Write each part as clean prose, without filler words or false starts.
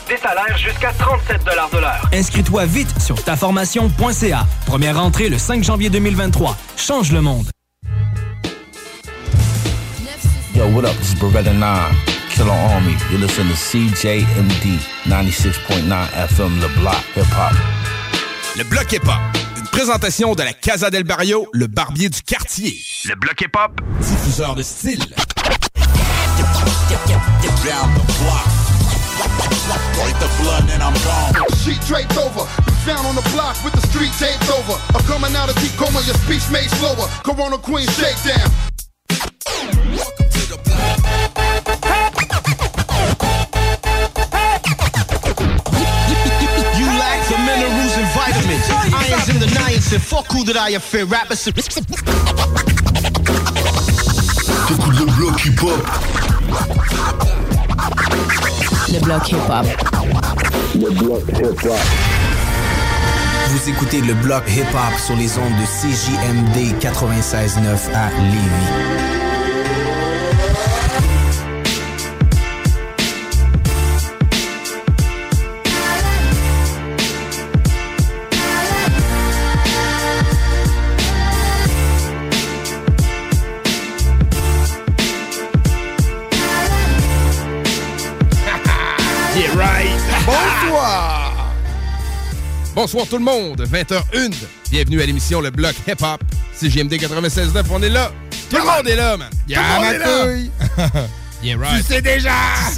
Des salaires jusqu'à 37 $ de l'heure. Inscris-toi vite sur taformation.ca. Première rentrée le 5 janvier 2023. Change le monde. Yo, what up? This is Beretta 9, Killer Army. You listen to CJMD 96.9 FM, Le Bloc Hip Hop. Le Bloc Hip Hop. Une présentation de la Casa del Barrio, le barbier du quartier. Le Bloc Hip Hop. Diffuseur de style. Down the block. Break the blood and I'm gone. Sheet draped over, down on the block with the street taped over. I'm coming out of deep coma, your speech made slower. Corona Queen shakedown. Welcome to the block. You lack the minerals and vitamins. Irons and the niacin. Fuck who that I fear. Rappers. T'écoutes le bloc hip-hop. Le Bloc Hip Hop. Le Bloc Hip Hop. Vous écoutez le Bloc Hip Hop sur les ondes de CJMD 96.9 à Lévis. Bonsoir tout le monde, 20h01. Bienvenue à l'émission Le Bloc Hip Hop. CJMD 96.9, on est là. Tout le monde est là, man. Tout le monde est là. Yeah, right. Tu sais déjà!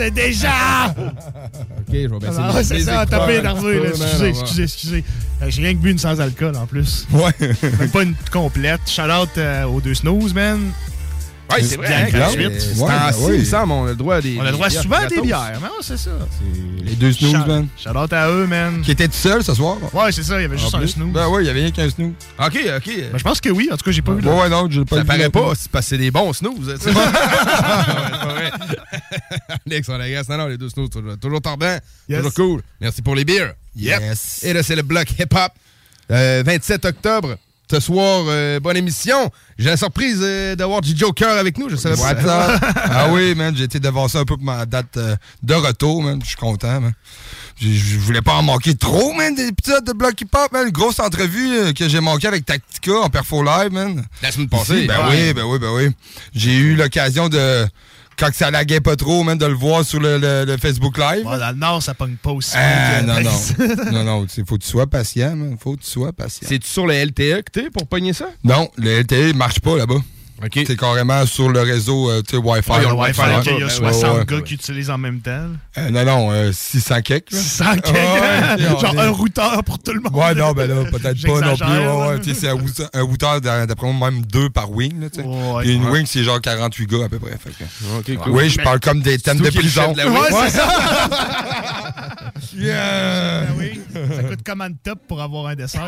OK, je vais baisser Ah, c'est ça, t'as pas énervé, là. Excusez. J'ai rien que bu une sans alcool, en plus. Ouais. Même pas une complète. Shout-out aux deux snooze, man. Ouais, c'est vrai. C'est ainsi, il semble, on a le droit à des. On a le droit souvent à des bières, mais c'est ça. Les deux snooze, man. Shout-out à eux, man. Qui étaient tout seuls ce soir? Ouais, c'est ça, il y avait juste un snooze. Ben ouais, il y avait rien qu'un snooze. OK. Ben, je pense que oui, en tout cas, j'ai pas vu. Ouais, non, j'ai pas vu. Ça paraît pas, c'est parce que c'est des bons snooze. C'est pas vrai. Alex, on agace. Non, les deux snooze, toujours tordant, toujours cool. Merci pour les bières. Yep. Yes. Et là, c'est le Bloc Hip Hop. 27 octobre. Ce soir, bonne émission. J'ai la surprise d'avoir du Joker avec nous. Je savais pas ça. Ah oui, man, j'ai été devancer un peu pour ma date de retour, man. Je suis content, man. Je voulais pas en manquer trop, man, des épisodes de Bloc Hip Hop, man. Une grosse entrevue que j'ai manqué avec Tactica en Perfo Live, man. La semaine passée. Ben oui. J'ai eu l'occasion de... Quand ça laguait pas trop, man, de le voir sur le Facebook Live. Bon, dans le Nord, ça pogne pas aussi. Non, faut que tu sois patient, man. C'est-tu sur le LTE que t'es pour pogner ça? Non, le LTE marche pas là-bas. OK. C'est carrément sur le réseau, tu sais, Wi-Fi. Il y a le Wi-Fi, il y a 60 gars qui utilisent en même temps. Non, 600 kek. 600 kek? Genre un routeur pour tout le monde. Ouais, non, ben là, peut-être pas non plus. Tu sais, c'est un routeur, d'après moi, même 2 par wing, là, tu sais. Et une wing, c'est genre 48 gars à peu près. OK, cool. Oui, je parle comme des thèmes de prison. Ouais, c'est ça. Yeah! Oui, ça coûte comme un top pour avoir un dessert.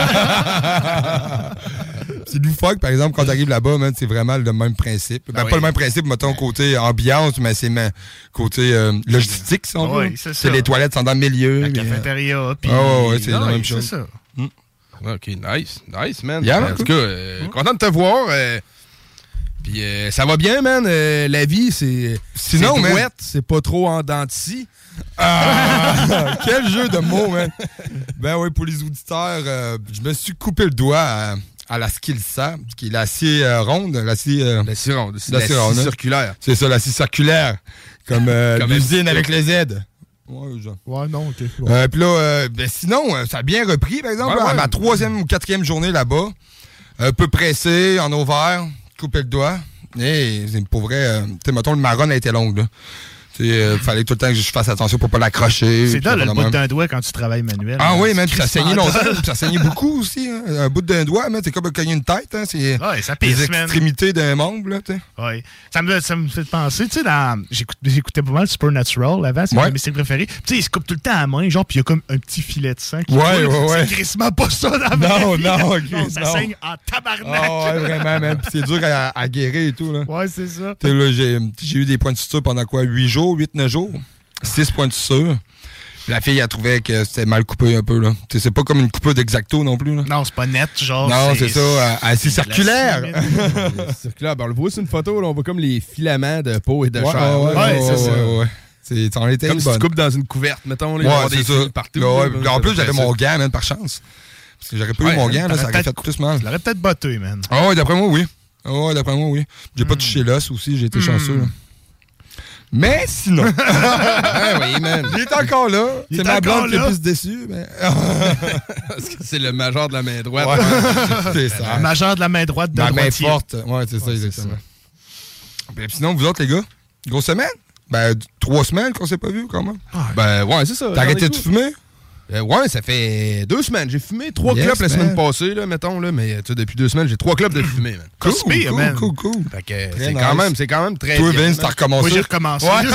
C'est loufoque, par exemple, quand t'arrives là-bas, man, c'est vraiment le même principe. Pas le même principe, mettons, côté ambiance, mais c'est côté logistique, si on veut. C'est les toilettes sont dans le milieu. La cafétéria. Ouais, c'est la même chose. C'est ça. OK, nice, man. Yeah, en tout cas, content de te voir. Puis ça va bien, man. La vie, c'est douette, c'est pas trop en dents de scie. Quel jeu de mots, man. Ben oui, pour les auditeurs, je me suis coupé le doigt à la Skilsa, qui est l'acier ronde. L'acier ronde. L'acier circulaire. C'est ça, l'acier circulaire. Comme l'usine avec les Z. Ouais, genre. Ouais, non, OK. Puis là, sinon, ça a bien repris, par exemple. À ma 3e ou 4e journée là-bas, un peu pressé, en ovaire, coupé le doigt. Et pour vrai, tu sais, mettons, le marron a été longue, là. Il fallait tout le temps que je fasse attention pour pas l'accrocher. C'est là le bout d'un doigt quand tu travailles manuel. Ah oui, même, ça saignait longtemps. Ça saignait beaucoup aussi. Hein. Un bout d'un doigt, c'est comme cogner une tête. Hein. C'est ça pisse, les extrémités d'un membre. Là, oui. Ça me fait penser, tu sais, j'écoutais pas mal Supernatural avant, c'est un de mes séries préférées. Tu sais, il se coupe tout le temps à la main, genre, puis il y a comme un petit filet de sang qui coule. C'est crissement pas ça dans la vie. Ça saigne en tabarnak. Ah ouais, vraiment, même. Puis c'est dur à guérir et tout. Là. Ouais, c'est ça. Là, j'ai eu des points de suture pendant 8 jours, 8-9 jours. 6 points de suture. La fille, elle trouvait que c'était mal coupé un peu, là. T'sais, c'est pas comme une coupure d'X-Acto non plus, là. Non, c'est pas net, genre. Non, c'est ça. C'est circulaire. Circulaire. Ben, on le voit sur une photo, là, on voit comme les filaments de peau et de chair. Ouais, c'est ça. C'en était comme une si bonne. tu coupes dans une couverte, mettons. Là, Ouais, des c'est ça. fils partout. Ouais, là, en plus, j'avais mon gant, man, par chance. Parce que j'aurais pas eu mon gant, là, ça aurait fait plus mal. Je l'aurais peut-être botté, man. Ah ouais, d'après moi, oui. J'ai pas touché l'os aussi, j'ai été chanceux. Là. Mais sinon. Oui, man. Il est encore là. C'est ma blonde qui est plus déçue. Mais... Parce que c'est le majeur de la main droite. Ouais. C'est ça. Le majeur de la main droite de ma droitier. main forte. Ouais, c'est ça, exactement. Puis sinon, vous autres, les gars, grosse semaine? Ben, 3 semaines qu'on s'est pas vu, quand même. Ben, ouais, c'est ça. T'as arrêté de fumer? Ouais, ça fait 2 semaines. J'ai fumé 3 clopes la semaine passée, là, mettons, là, mais depuis 2 semaines, j'ai 3 clopes de fumée, man. Cool. Fait que c'est quand même très Toi, bien. Vince, t'as recommencé? Oui, j'ai recommencé. Ouais.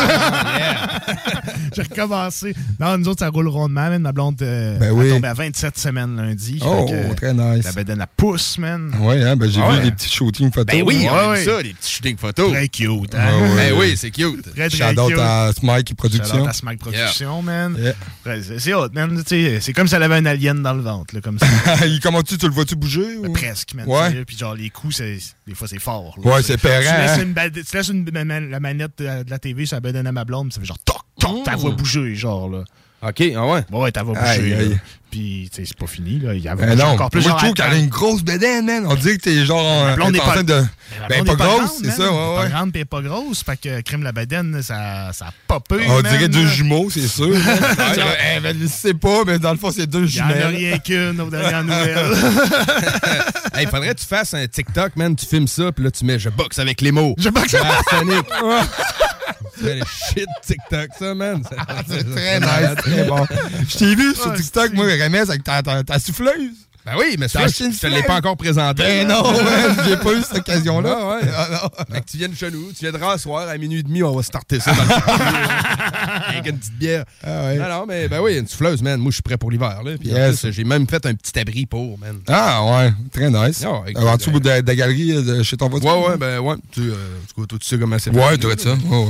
J'ai recommencé. Non, nous autres, ça roule rondement, man. Ma blonde est tombée à 27 semaines lundi. Oh, très nice. La bedaine à pouce, man. Ouais, hein, ben j'ai vu les petits shootings photos. Ben oui, on a vu ça, les petits shootings photos. Très cute, hein? Ben oui, c'est cute. Très, très Shout-out cute. à Smike Production. Shout-out à Smike Production, man. Yeah. C'est hot, man. C'est comme si elle avait un alien dans le ventre, là, comme ça. Comment tu le vois-tu bouger? Ou? Presque, man. Ouais. Puis genre, les coups, des fois, c'est fort. Là. Ouais, c'est pérant. Tu laisses la manette de la TV sur la bedaine à ma blonde, ça fait genre toc, toc, t'as voix bouger, genre, là. OK, ah ouais? Ouais, t'as voix bouger. Puis, tu sais, c'est pas fini, là. Il y a non, encore plus. Moi, je trouve qu'elle a une grosse bedaine, man. On dirait que t'es genre en train de. Ben, pas grosse, c'est ça, ouais. Pas grande, pis pas grosse. Fait que crème la bedaine, ça a popé. On dirait 2 jumeaux, c'est sûr. Ben, je sais pas, mais dans le fond, c'est 2 jumelles. Il n'y en a rien qu'une aux dernières nouvelles. Hey, faudrait que tu fasses un TikTok, man. Tu filmes ça, puis là, tu mets je boxe avec les mots. Je boxe avec les mots. C'est le shit TikTok, ça, man. C'est très nice, très bon. Je t'ai vu sur TikTok, moi, Remès, avec ta souffleuse. Ben oui, mais ça, je te l'ai pas encore présenté. Ben non, ouais, j'ai pas eu cette occasion-là. Ah, ouais. Fait que tu viennes chez nous, tu viens de rasseoir à 12h30, on va starter ça dans le avec une petite bière. Ah ouais. Non, mais ben oui, une souffleuse, man. Moi, je suis prêt pour l'hiver, là. Puis en plus, j'ai même fait un petit abri pour, man. Ah ouais, très nice. En dessous de la galerie chez ton voiture. Ouais, ben ouais. Tu sais comment c'est fait. Ouais, tu dois être ça. Ouais.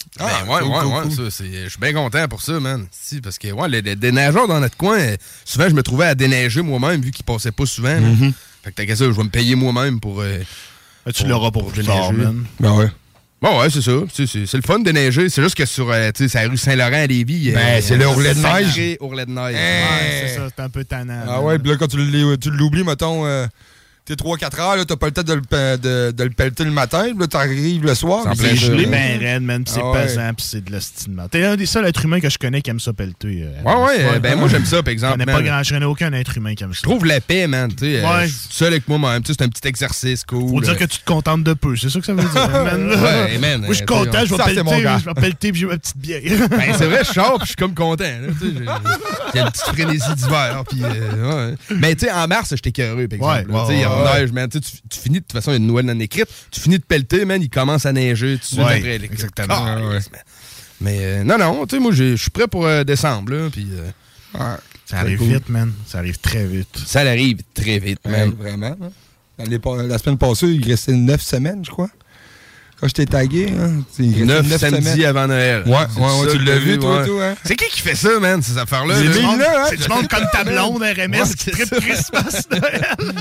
Ouais, ça, je suis bien content pour ça, man. Si, parce que les déneigeurs dans notre coin, souvent, je me trouvais à déneiger moi-même, vu qu'ils passaient pas souvent. Fait que t'as qu'à ça, je vais me payer moi-même pour. Tu l'auras pour plus tard, man. Ben ouais. Bon, ouais, c'est ça. C'est le fun de déneiger. C'est juste que sur la rue Saint-Laurent à Lévis. C'est le ourlet de neige. Ourlet de neige. Ouais, c'est ça, c'est un peu tannant. Ah ouais, puis là, quand tu l'oublies, mettons. T'es 3-4 heures, là, t'as pas le temps de le pelleter le matin, là, t'arrives le soir. C'est gelé ben raide, man, pis c'est pesant, pis c'est de l'ostinement. T'es un des seuls êtres humains que je connais qui aime ça pelleter. Ouais, ben moi j'aime ça, par exemple. Je connais aucun être humain qui aime ça. Je trouve la paix, man, tu sais. Je suis seul avec moi-même, c'est un petit exercice cool. Faut dire que tu te contentes de peu, c'est ça que ça veut dire, man. Ouais, man. Moi, je suis content, je vais pelleter pis j'ai ma petite bière. Ben, c'est vrai, je sors pis je suis comme content, là, tu sais. J'ai une petite frénésie d'hiver, pis mais tu sais, en mars, j'étais curieux, par exemple. Tu sais, il y a neige, man, tu finis, de toute façon, il y a une nouvelle non écrite, tu finis de pelleter, man, il commence à neiger tout de suite après. Exactement. Mais non, tu sais, moi, je suis prêt pour décembre, là, puis... ça arrive vite, man. Ça arrive très vite. Ça arrive très vite, man. Vraiment. La semaine passée, il restait 9 semaines, je crois. Quand je t'ai tagué, hein, 9 samedis avant Noël. Ouais, tu l'as vu, toi, hein? C'est qui fait ça, man, ces affaires-là? C'est du monde comme ta blonde RMS qui tripe Christmas Noël.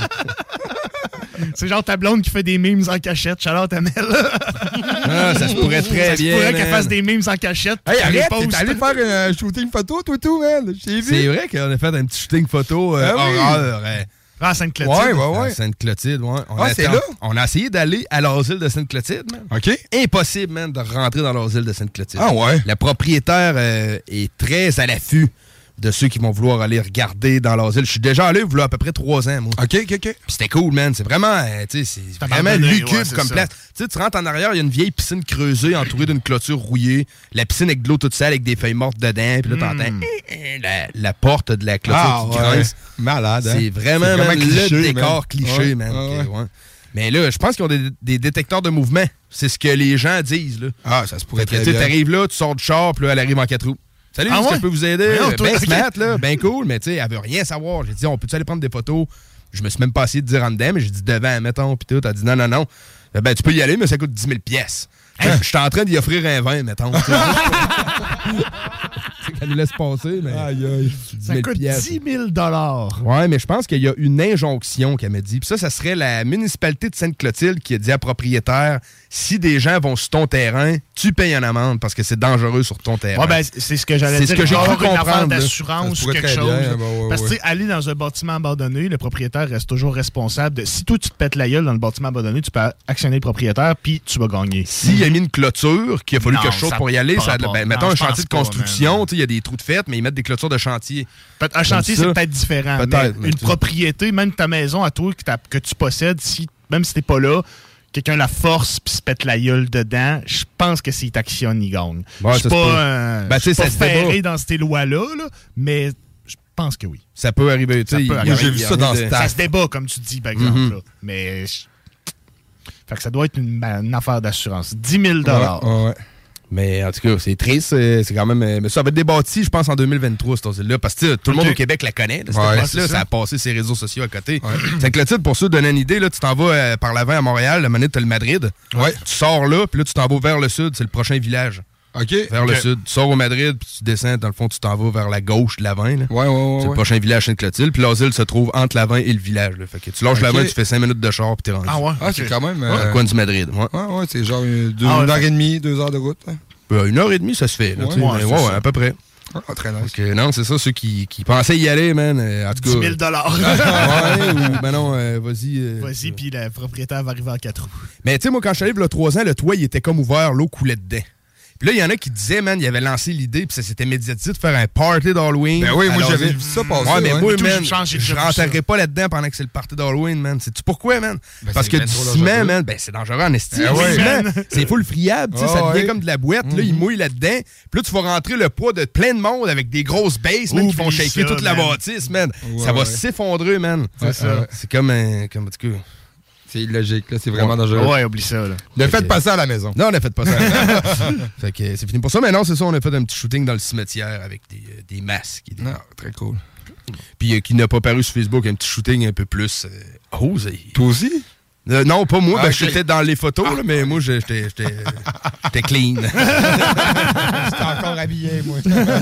C'est genre ta blonde qui fait des memes en cachette. Charlotte Amel. Ça se pourrait très bien. Ça se pourrait qu'elle fasse des memes en cachette. Hey, arrête, t'es allé faire un shooting photo, tout, man. J'ai vu. C'est vrai qu'on a fait un petit shooting photo horreur. À Sainte-Clotilde. Ouais. À Sainte-Clotilde, ouais. C'est là? On a essayé d'aller à l'asile de Sainte-Clotilde, man. OK. Impossible, man, de rentrer dans l'asile de Sainte-Clotilde. Ah ouais? Le propriétaire est très à l'affût de ceux qui vont vouloir aller regarder dans l'asile. Je suis déjà allé, il y a à peu près 3 ans, moi. OK. Puis c'était cool, man. C'est vraiment, c'est vraiment lugubre comme place. Tu sais, tu rentres en arrière, il y a une vieille piscine creusée entourée d'une clôture rouillée. La piscine avec de l'eau toute sale, avec des feuilles mortes dedans. Puis là, t'entends la porte de la clôture qui grince. Malade, hein? C'est vraiment le décor cliché, man. Mais là, je pense qu'ils ont des détecteurs de mouvement. C'est ce que les gens disent, là. Ah, ça se pourrait très bien. Tu arrives là, tu sors du char, puis là, elle arrive en 4 roues. Salut, est-ce que je peux vous aider? Ben smart, là, ben cool, mais tu sais, elle veut rien savoir. J'ai dit, on peut-tu aller prendre des photos? Je me suis même pas essayé de dire en dedans, mais j'ai dit devant, mettons, pis tout. Elle a dit non. Ben, tu peux y aller, mais ça coûte 10 000 pièces. Je suis en train d'y offrir un 20, mettons. Elle nous laisse passer, mais. Aïe. Ça coûte 10 000 $. Ouais, mais je pense qu'il y a une injonction qu'elle m'a dit. Puis ça serait la municipalité de Sainte-Clotilde qui a dit à propriétaire, si des gens vont sur ton terrain, tu payes une amende parce que c'est dangereux sur ton terrain. Ouais, ben, c'est ce que j'allais dire. C'est ce que j'ai cru comprendre. Une affaire d'assurance ou quelque chose. Bien, parce que, tu sais, aller dans un bâtiment abandonné, le propriétaire reste toujours responsable de... Si toi, tu te pètes la gueule dans le bâtiment abandonné, tu peux actionner le propriétaire, puis tu vas gagner. S'il a mis une clôture, qu'il a fallu quelque chose pour y aller, ça mettons un chantier de construction, il y a des trous de fête, mais ils mettent des clôtures de chantier. Un chantier, c'est peut-être différent. Peut-être, mais une propriété, même ta maison à toi que tu possèdes, même si t'es pas là, quelqu'un la force puis se pète la gueule dedans, je pense que s'il t'actionne, il gagne. Ouais, je suis pas ferré dans ces lois-là, mais je pense que oui. Ça peut arriver. J'ai vu ça dans ce Ça se débat, comme tu dis, par exemple. Là. Mais fait que ça doit être une affaire d'assurance. 10 000 $. Ouais. Mais en tout cas, c'est triste. C'est quand même. Mais ça va être débattu, je pense, en 2023, cette là parce que tout le monde au Québec la connaît. Ça a passé ses réseaux sociaux à côté. Ouais. C'est que le titre, pour ceux donner une idée, là, tu t'en vas par l'avant à Montréal, la manette, tu as le Madrid. Ouais. Tu sors là, puis là, tu t'en vas vers le sud. C'est le prochain village. OK. Vers le sud. Tu sors au Madrid, puis tu descends. Dans le fond, tu t'en vas vers la gauche de l'Avin. C'est le prochain village Sainte-Clotilde. Puis l'asile se trouve entre l'Avin et le village. Là. Fait que tu lâches l'Avin, tu fais 5 minutes de char, puis t'es rendu. Ah ouais? C'est quand même... le coin du Madrid. Ouais, c'est genre 1h30, 2 heures de route. Hein. 1h30, ça se fait. Là, ouais, à peu près. Ah, très nice. Donc, non, c'est ça, ceux qui pensaient y aller, man. En tout cas, 10 000 ben non, vas-y. Vas-y, puis le propriétaire va arriver en 4 roues. Mais tu sais, moi, quand je suis allé il y a 3 ans, le toit, il était comme ouvert, l'eau coulait dedans. Puis là, il y en a qui disaient, man, il avait lancé l'idée, puis ça s'était médiatisé de faire un party d'Halloween. Ben oui, moi, j'avais vu ça passer. Ouais, mais moi, man, je rentrerai pas là-dedans pendant que c'est le party d'Halloween, man. Sais-tu pourquoi, man? Parce que du ciment, man, c'est dangereux en estime. C'est full friable, tu sais, ça devient comme de la boîte. Là, il mouille là-dedans. Puis là, tu vas rentrer le poids de plein de monde avec des grosses basses, man, qui font shaker toute la bâtisse, man. Ça va s'effondrer, man. C'est comme en tout cas... C'est illogique, là, c'est vraiment dangereux. Ouais, oublie ça, là. Ne faites pas ça à la maison. Non, ne faites pas ça à la maison. Fait que c'est fini pour ça, mais non, c'est ça, on a fait un petit shooting dans le cimetière avec des masques. Non, très cool. Puis qui n'a pas paru sur Facebook, un petit shooting un peu plus osé. Toi aussi? Non, pas moi, j'étais dans les photos, là, mais moi, j'étais clean. J'étais encore habillé, moi.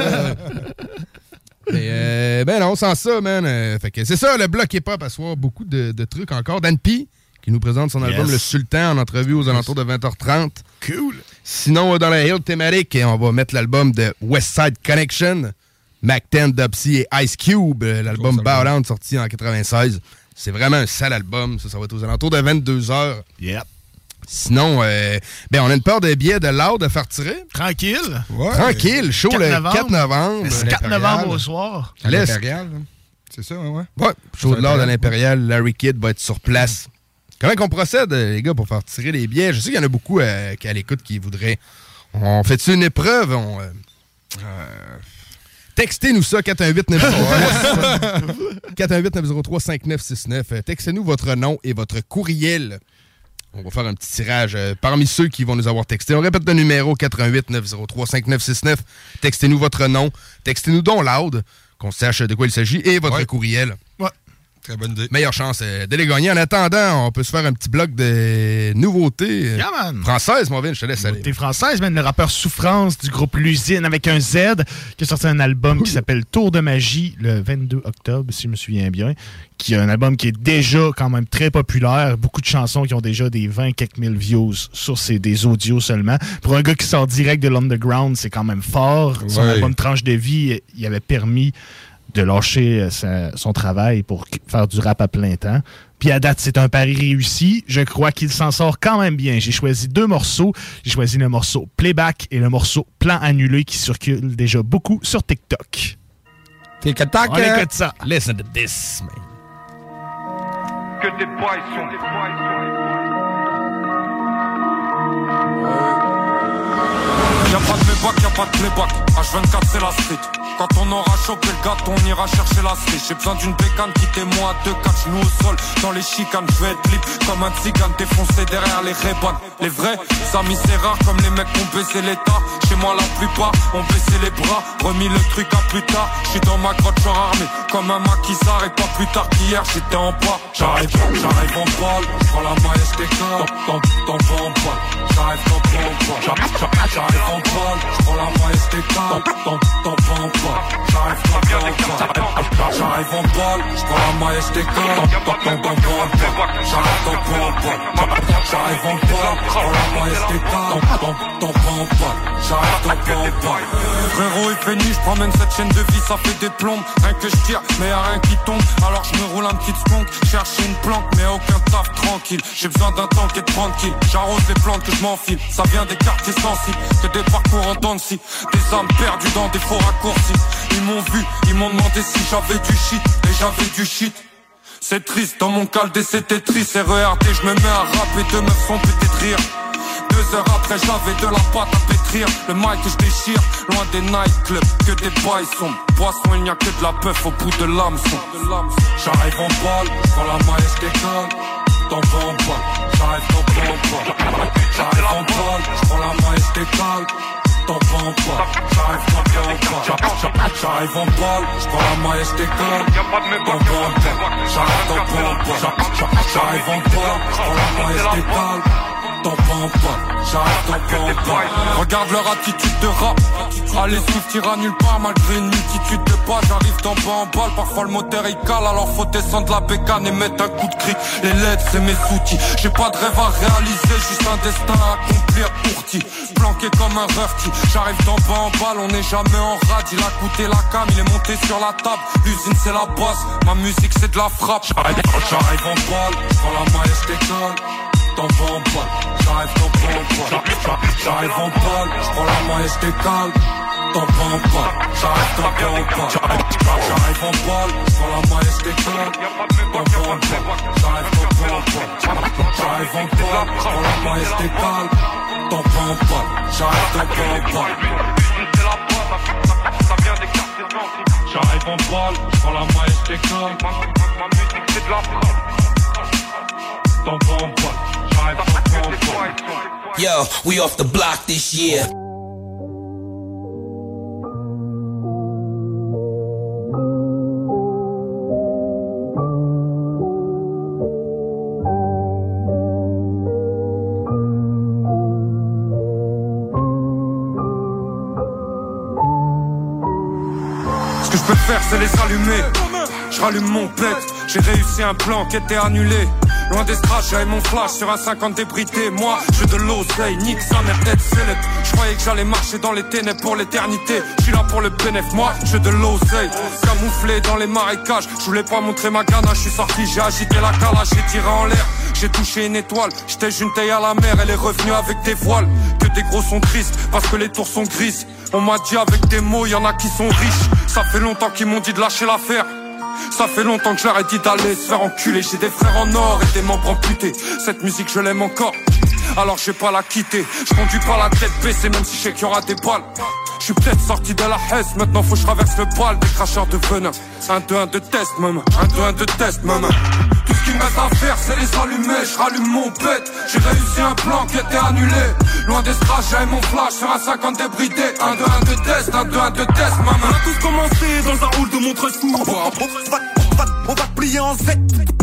Mais, ben non, sans ça, man. Fait que c'est ça, le bloc hip-hop à soir. Beaucoup de trucs encore. Dan P, qui nous présente son album Le Sultan en entrevue aux alentours de 20h30. Cool. Sinon, dans la Hill thématique, on va mettre l'album de West Side Connection, Mac 10, Dubsy et Ice Cube, l'album Bow Down sorti en 96. C'est vraiment un sale album. Ça va être aux alentours de 22h. Yep. Sinon, on a une paire de billets de Loud à faire tirer. Tranquille. Ouais. Tranquille. Show le 4 novembre. C'est 4 novembre au soir. À l'Impérial. C'est ça, ouais. Ouais. Show de Loud à l'Impérial. Larry Kidd va être sur place. Comment qu'on procède, les gars, pour faire tirer les billets? Je sais qu'il y en a beaucoup qui à l'écoute qui voudraient. On fait-tu une épreuve? Textez-nous ça, 418-903-5969. Textez-nous votre nom et votre courriel. On va faire un petit tirage parmi ceux qui vont nous avoir texté. On répète le numéro 418-903-5969. Textez-nous votre nom. Textez-nous donc Loud, qu'on sache de quoi il s'agit, et votre courriel. Ouais. Très bonne idée. Meilleure chance de les gagner. En attendant, on peut se faire un petit bloc de nouveautés françaises, mon Vin, je te laisse aller. Nouveautés françaises, le rappeur Souffrance du groupe L'Usine avec un Z qui a sorti un album qui s'appelle Tour de magie le 22 octobre, si je me souviens bien, qui est un album qui est déjà quand même très populaire. Beaucoup de chansons qui ont déjà des 20 quelques mille views sur des audios seulement. Pour un gars qui sort direct de l'underground, c'est quand même fort. Son album Tranche de vie, il avait permis de lâcher son travail pour faire du rap à plein temps. Puis à date, c'est un pari réussi. Je crois qu'il s'en sort quand même bien. J'ai choisi 2 morceaux. J'ai choisi le morceau Playback et le morceau Plan annulé qui circule déjà beaucoup sur TikTok. On écoute ça. Listen to this, man. Que des poissons. Y'a pas de mébac, y'a pas de playback. H24 c'est la street. Quand on aura chopé le gâteau, on ira chercher la street. J'ai besoin d'une bécane, quittez-moi à 2 catch, nous au sol. Dans les chicanes, je vais être libre comme un tzigane défoncé derrière les rébans. Les vrais, amis c'est rare comme les mecs qui ont baissé l'état. Chez moi la plupart ont baissé les bras, remis le truc à plus tard. J'suis dans ma grotte, j'suis armé comme un maquisard. Et pas plus tard qu'hier, j'étais en bas. J'arrive en balle, j'prends la maille et j'décale. T'en vas en balle, j'arrive en balle. J'arrive en balle, j'prends la maille et j'décale. T'en vas en balle, j'arrive J'arrive en balle, j'prends la maille et j'décolle. J'arrive en balle, j'prends la maille et j'décolle. J'arrive en balle. Frérot il fait nuit, j'promène cette chaîne de vie, ça fait des plombes. Rien que j'tire, mais y'a rien qui tombe. Alors j'me roule un petit skunk, chercher une planque, mais aucun taf tranquille. J'ai besoin d'un temps qui est tranquille. J'arrose les plantes que j'm'enfile. Ça vient des quartiers sensibles, que des parcours en dents de scie. Des âmes perdues dans des faux raccourcis. Ils m'ont vu, ils m'ont demandé si j'avais du shit. Et j'avais du shit. C'est triste, dans mon caldé c'était triste. RERD, je me mets à rapper, deux meufs sont peut-être rire. 2 heures après j'avais de la pâte à pétrir. Le mic que je déchire, loin des nightclubs, que des bails sombres. Poisson, il n'y a que de la puff au bout de l'hameçon. J'arrive en balle, j'prends la maille et j'décolle. T'en vas en balle, j'arrive en balle. J'arrive en balle, j'prends la maille et j'décolle. T'en vas en balle, j'arrive en balle. J'arrive en balle, j'prends la maille et j'décolle. T'en vas en balle, j'arrive en balle. J'arrive en balle, j'prends la maille et j'décolle. Regarde leur attitude de rap. Allez Swift ira nulle part malgré une multitude de pas. J'arrive d'en bas en balle, parfois le moteur il cale. Alors faut descendre la bécane et mettre un coup de cri. Les LED c'est mes outils. J'ai pas de rêve à réaliser, juste un destin à accomplir courti. Planqué comme un rufty. J'arrive d'en bas en balle, on n'est jamais en rade. Il a coûté la cam, il est monté sur la table. L'usine c'est la basse, ma musique c'est de la frappe. J'arrive en balle, j'prends la maille et j'décolle. T'en vas en balle, j'arrive en balle. J'arrive en balle, j'prends la maille et j'décale. T'en vas en balle, j'arrive en balle. J'arrive en balle, j'prends la maille et j'décale. T'en vas en balle, j'arrive en balle. J'arrive en balle, j'prends la maille et j'décale. T'en vas en balle, j'arrive en balle. J'arrive en balle, j'prends la maille et j'décale. Ma musique c'est de la frappe. T'en vas en balle. Yo, we off the block this year. Ce que je peux faire c'est les allumer. Je rallume mon pet. J'ai réussi un plan qui était annulé. Loin des strass, j'avais mon flash sur un 50 débridé. Moi, je de l'oseille, nique sa mère tête select. Je croyais que j'allais marcher dans les ténèbres pour l'éternité. Je suis là pour le bénéf, moi, je de l'oseille. Camouflé dans les marécages, je voulais pas montrer ma ganache. Je suis sorti, j'ai agité la calage, j'ai tiré en l'air. J'ai touché une étoile, j'étais une taille à la mer. Elle est revenue avec des voiles, que des gros sont tristes parce que les tours sont grises. On m'a dit avec des mots, y'en a qui sont riches. Ça fait longtemps qu'ils m'ont dit de lâcher l'affaire. Ça fait longtemps que je leur ai dit d'aller se faire enculer. J'ai des frères en or et des membres amputés. Cette musique je l'aime encore, alors je vais pas la quitter. Je conduis pas la tête baissée même si je sais qu'il y aura des balles. Je suis peut-être sorti de la Hesse, maintenant faut que je traverse le bal des cracheurs de venin. 1-2-1 de test, maman. 1-2-1 de test, maman. Tout ce qu'il me reste à faire c'est les allumer. Je rallume mon pet. J'ai réussi un plan qui était annulé. Loin des strass, j'avais mon flash sur un 50 débridé. 1-2-1 de test, 1-2-1 de test, maman. On a tous commencé dans un hall de Montresou. On va plier en Z.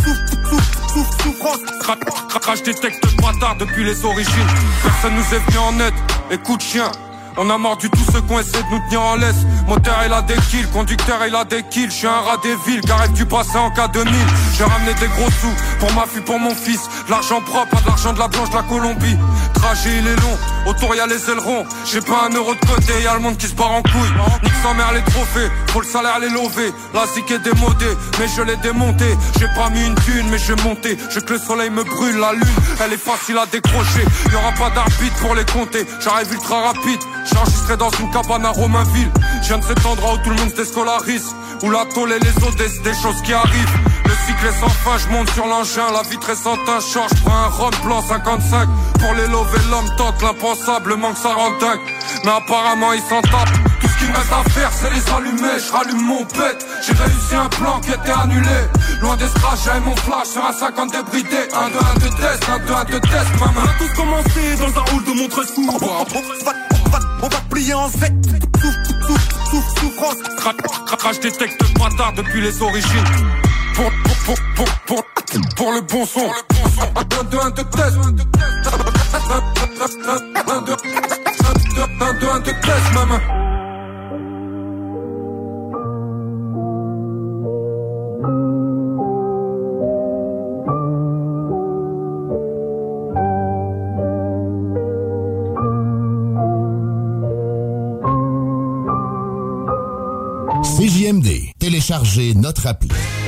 Souffrance. Crash détecte bâtard depuis les origines. Personne nous est venu en aide. Écoute chien, on a mordu tous ceux qui ont essayé de nous tenir en laisse. Moteur il a des kills, conducteur il a des kills. Je suis un rat des villes, Gareth du passé en K2000. J'ai ramené des gros sous pour ma fille, pour mon fils. De l'argent propre, pas de l'argent de la blanche de la Colombie. Trajet il est long, autour y'a les ailerons. J'ai pas un euro de côté, y'a le monde qui se barre en couille. Nique sa mère les trophées, faut le salaire les lever. La zik est démodée, mais je l'ai démonté. J'ai pas mis une thune, mais je vais monter. Je veux que le soleil me brûle, la lune, elle est facile à décrocher. Y'aura pas d'arbitre pour les compter, j'arrive ultra rapide. J'ai enregistré dans une cabane à Romainville. Je viens de cet endroit où tout le monde se déscolarise, où la tôle et les autres, des choses qui arrivent. Le cycle est sans fin, je monte sur l'engin. La vitre est sans teint, je prends un rhum blanc 55. Pour les lever l'homme tente l'impensable, manque ça rend dingue. Mais apparemment ils s'en tapent. Tout ce qu'il me reste à faire c'est les allumer. Je rallume mon pet. J'ai réussi un plan qui était annulé. Loin des strass, j'avais mon flash sur un 50 débridé. 1-2-1 de test, 1-2-1 de test, maman. On a tous commencé dans un hall de Montresou. On va plier en Z. Souffrance. Crash détecte bâtard depuis les origines. Pour le bon son. 1-2-1 de test. 1-2-1 de test, maman. CJMD. Téléchargez notre appli.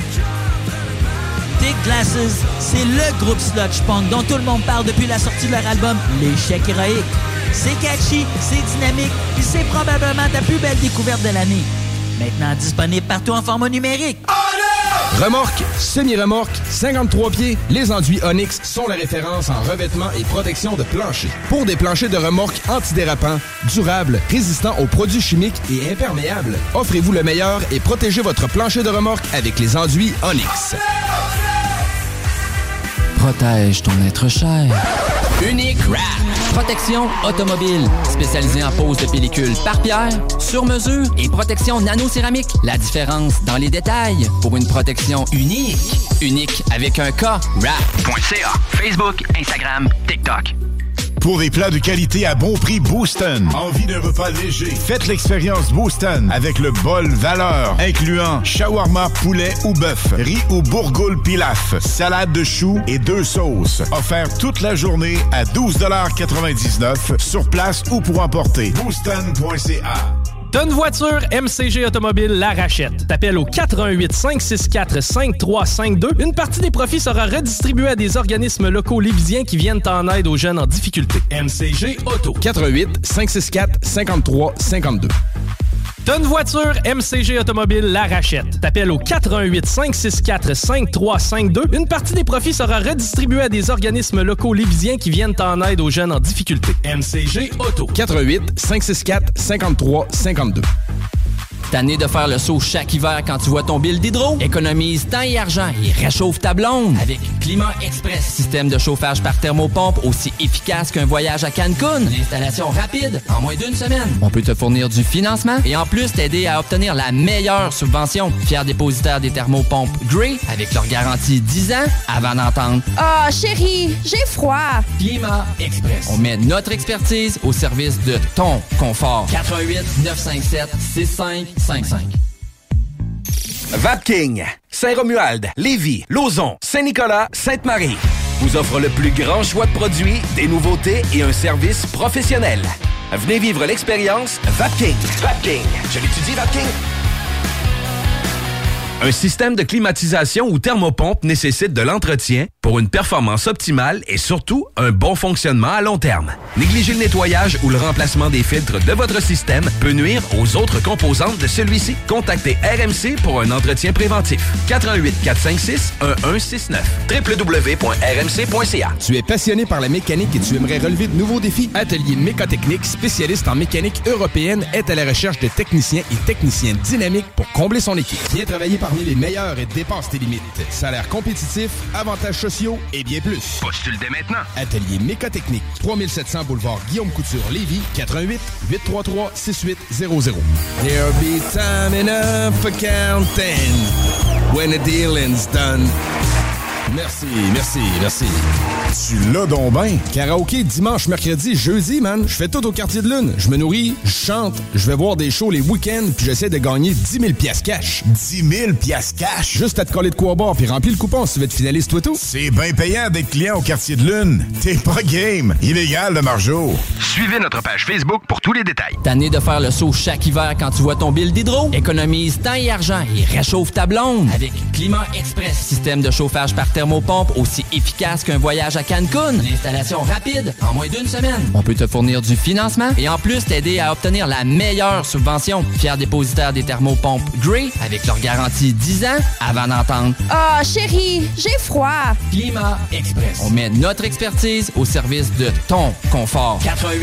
Big Glasses, c'est le groupe sludge punk dont tout le monde parle depuis la sortie de leur album L'échec héroïque. C'est catchy, c'est dynamique, puis c'est probablement ta plus belle découverte de l'année. Maintenant disponible partout en format numérique. Remorque, semi-remorque, 53 pieds, les enduits Onyx sont la référence en revêtement et protection de plancher. Pour des planchers de remorque antidérapants, durables, résistants aux produits chimiques et imperméables, offrez-vous le meilleur et protégez votre plancher de remorque avec les enduits Onyx. Protège ton être cher. Unique Wrap. Protection automobile. Spécialisée en pose de pellicule par pierre, sur mesure et protection nano-céramique. La différence dans les détails pour une protection unique. Unique avec un K. Wrap.ca. Facebook, Instagram, TikTok. Pour des plats de qualité à bon prix, Booston. Envie d'un repas léger? Faites l'expérience Booston avec le bol valeur, incluant shawarma, poulet ou bœuf, riz ou bourgoule pilaf, salade de choux et 2 sauces. Offert toute la journée à 12,99 $ sur place ou pour emporter. Booston.ca. T'as une voiture, MCG Automobile la rachète. T'appelles au 418-564-5352. Une partie des profits sera redistribuée à des organismes locaux lévisiens qui viennent en aide aux jeunes en difficulté. MCG Auto. 418-564-5352. T'as une voiture, MCG Automobile la rachète. T'appelles au 418-564-5352. Une partie des profits sera redistribuée à des organismes locaux lévisiens qui viennent en aide aux jeunes en difficulté. MCG Auto. 418-564-5352. Tanné de faire le saut chaque hiver quand tu vois ton bill d'hydro? Économise temps et argent et réchauffe ta blonde avec Climat Express. Système de chauffage par thermopompe aussi efficace qu'un voyage à Cancun. Une installation rapide en moins d'1 semaine. On peut te fournir du financement et en plus t'aider à obtenir la meilleure subvention. Fier dépositaire des thermopompes Grey avec leur garantie 10 ans avant d'entendre « Ah, chérie, j'ai froid! » Climat Express. On met notre expertise au service de ton confort. 88-957-6555. Vapking, Saint-Romuald, Lévis, Lauson, Saint-Nicolas, Sainte-Marie vous offre le plus grand choix de produits, des nouveautés et un service professionnel. Venez vivre l'expérience Vapking. Vapking, je l'étudie Vapking. Un système de climatisation ou thermopompe nécessite de l'entretien pour une performance optimale et surtout un bon fonctionnement à long terme. Négliger le nettoyage ou le remplacement des filtres de votre système peut nuire aux autres composantes de celui-ci. Contactez RMC pour un entretien préventif. 418-456-1169. www.rmc.ca. Tu es passionné par la mécanique et tu aimerais relever de nouveaux défis? Atelier Mécotechnique, spécialiste en mécanique européenne, est à la recherche de techniciens et techniciennes dynamiques pour combler son équipe. Viens travailler parmi les meilleurs et dépasse tes limites. Salaire compétitif, avantages sociaux et bien plus. Postule dès maintenant. Atelier Mécotechnique, 3700 boulevard Guillaume Couture, Lévis, 88-833-6800. There'll be time enough for counting when the dealing's done. Merci, merci, merci. Tu l'as donc ben. Karaoké dimanche, mercredi, jeudi, man. Je fais tout au Quartier de Lune. Je me nourris, je chante, je vais voir des shows les week-ends, puis j'essaie de gagner 10 000 piastres cash. 10 000 piastres cash? Juste à te coller de quoi boire, puis remplis le coupon si tu veux être finaliste toi tout. C'est bien payant d'être client au Quartier de Lune. T'es pas game. Illégal de Marjo. Suivez notre page Facebook pour tous les détails. Tanné de faire le saut chaque hiver quand tu vois ton bill d'hydro? Économise temps et argent et réchauffe ta blonde avec Climat Express. Système de chauffage par thermopompe aussi efficace qu'un voyage à Cancun. Une installation rapide en moins d'1 semaine. On peut te fournir du financement et en plus t'aider à obtenir la meilleure subvention. Fier dépositaire des thermopompes Grey avec leur garantie 10 ans avant d'entendre « Ah, chérie, j'ai froid! » Climat Express. On met notre expertise au service de ton confort.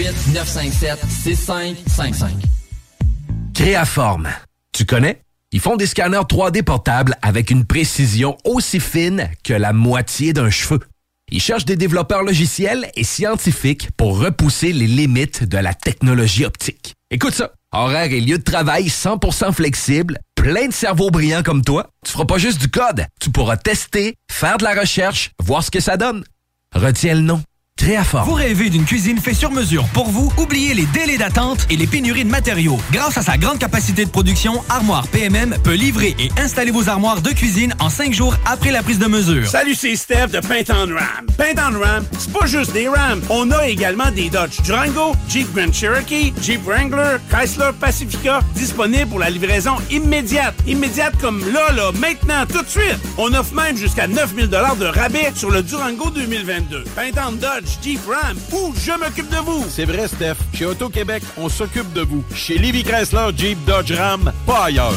418-957-6555. Créaforme. Tu connais? Ils font des scanners 3D portables avec une précision aussi fine que la moitié d'un cheveu. Ils cherchent des développeurs logiciels et scientifiques pour repousser les limites de la technologie optique. Écoute ça, horaire et lieu de travail 100% flexible, plein de cerveaux brillants comme toi. Tu feras pas juste du code, tu pourras tester, faire de la recherche, voir ce que ça donne. Retiens le nom, Créaforme. Vous rêvez d'une cuisine faite sur mesure pour vous? Oubliez les délais d'attente et les pénuries de matériaux. Grâce à sa grande capacité de production, Armoire PMM peut livrer et installer vos armoires de cuisine en 5 jours après la prise de mesure. Salut, c'est Steph de Paint on Ram. Paint on Ram, c'est pas juste des Rams. On a également des Dodge Durango, Jeep Grand Cherokee, Jeep Wrangler, Chrysler Pacifica, disponibles pour la livraison immédiate. Immédiate comme là, maintenant, tout de suite. On offre même jusqu'à 9 000 $ de rabais sur le Durango 2022. Paint on Dodge, Jeep Ram, ou je m'occupe de vous. C'est vrai, Steph. Chez Auto-Québec, on s'occupe de vous. Chez Lévi Chrysler, Jeep, Dodge, Ram, pas ailleurs.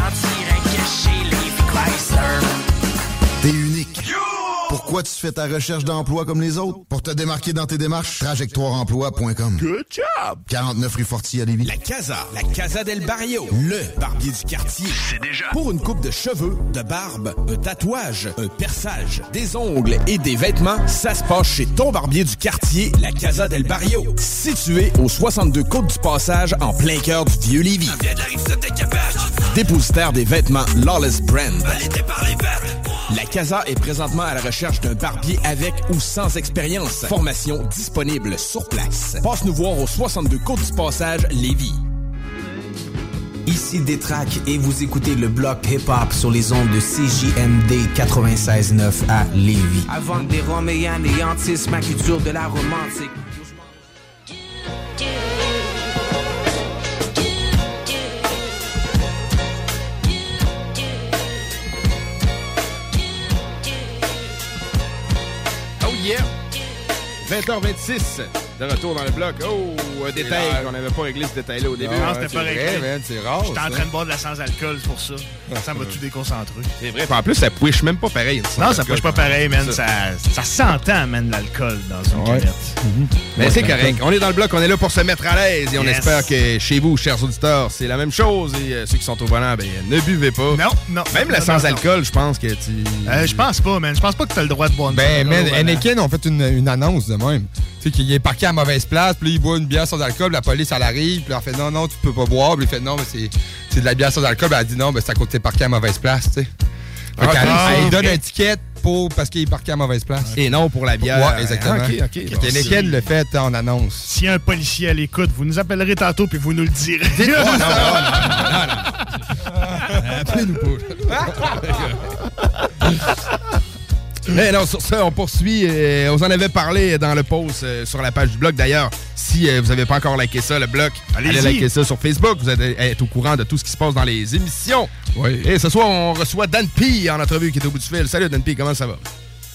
T'es unique. Pourquoi tu fais ta recherche d'emploi comme les autres? Pour te démarquer dans tes démarches, trajectoireemploi.com. Good job! 49 rue Fortier à Lévis. La Casa del Barrio, le barbier du quartier. C'est déjà. Pour une coupe de cheveux, de barbe, un tatouage, un perçage, des ongles et des vêtements, ça se passe chez ton barbier du quartier, la Casa del Barrio. Situé au 62 Côte du Passage, en plein cœur du vieux Lévis. Dépositaire des vêtements Lawless Brand. La Casa est présentement à la recherche d'un barbier avec ou sans expérience. Formation disponible sur place. Passe nous voir au 62 Côte du Passage, Lévis. Ici Détraque et vous écoutez le bloc hip-hop sur les ondes de CJMD 96.9 à Lévis. Avant des Roms et anéantissent ma culture de la romantique. Yeah. 20h26, de retour dans le bloc. Oh, un détail qu'on n'avait pas réglé, ce détail-là au début. Non, c'était pas réglé. C'est rare. J'étais en train de boire de la sans-alcool pour ça. Ça m'a tout déconcentré. C'est vrai. En plus, ça push même pas pareil. Non, ça push pas pareil, man. Ça s'entend, man, l'alcool dans une canette. Mais c'est correct. On est dans le bloc, on est là pour se mettre à l'aise et on espère que chez vous, chers auditeurs, c'est la même chose. Et ceux qui sont au volant, ben, ne buvez pas. Non. Même la sans-alcool, je pense que tu... je pense pas, man. Je pense pas que t'as le droit de boire une mais Heineken ont fait une annonce de même. Tu sais, qu'il est parqué à mauvaise place, puis il boit une bière sans alcool, la police, elle arrive, puis elle fait non, tu peux pas boire. Puis il fait non, mais c'est de la bière sans alcool. Puis elle dit non, mais c'est à cause que t'es parqué à mauvaise place, tu sais. Elle donne un ticket parce qu'il est parqué à mauvaise place. Et non pour la bière. Ouais, exactement. OK. Heineken le fait en annonce. S'il y a un policier à l'écoute, vous nous appellerez tantôt, puis vous nous le direz. Non. Appelez-nous pas. Mais non, sur ça, on poursuit. On en avait parlé dans le post sur la page du blog. D'ailleurs, si vous n'avez pas encore liké ça, le blog, allez liker ça sur Facebook. Vous allez être au courant de tout ce qui se passe dans les émissions. Oui. Et ce soir, on reçoit Dan P en entrevue qui est au bout du fil. Salut Dan P, comment ça va?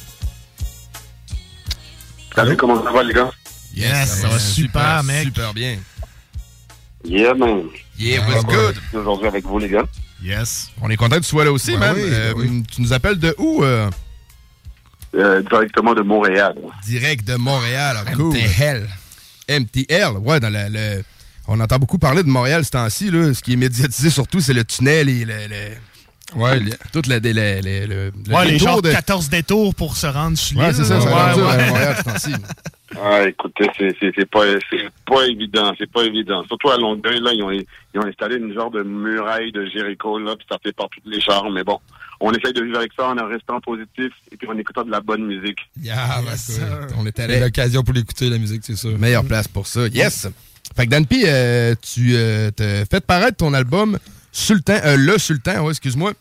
Salut, comment ça va les gars? Yes, ça va super, mec. Super bien. Yeah, man. Yeah, what's good? Aujourd'hui avec vous, les gars. Yes. On est content que tu sois là aussi, man. Oui. Tu nous appelles de où? Directement de Montréal. Direct de Montréal, cool. MTL, ouais, dans on entend beaucoup parler de Montréal ce temps-ci, là. Ce qui est médiatisé surtout, c'est le tunnel et tout les genres de 14 détours pour se rendre sur l'île. Ouais, c'est ça, Montréal ce temps-ci. Ah, écoutez, c'est pas évident, Surtout à Longueuil, là, ils ont installé une genre de muraille de Jéricho, là, puis ça fait par toutes les chars, mais bon. On essaye de vivre avec ça en restant positif et puis en écoutant de la bonne musique. On est allé à l'occasion pour l'écouter, la musique, c'est sûr. Meilleure place pour ça. Yes! Fait que Dan P, tu t'as fait paraître ton album Sultan, Le Sultan, excuse-moi.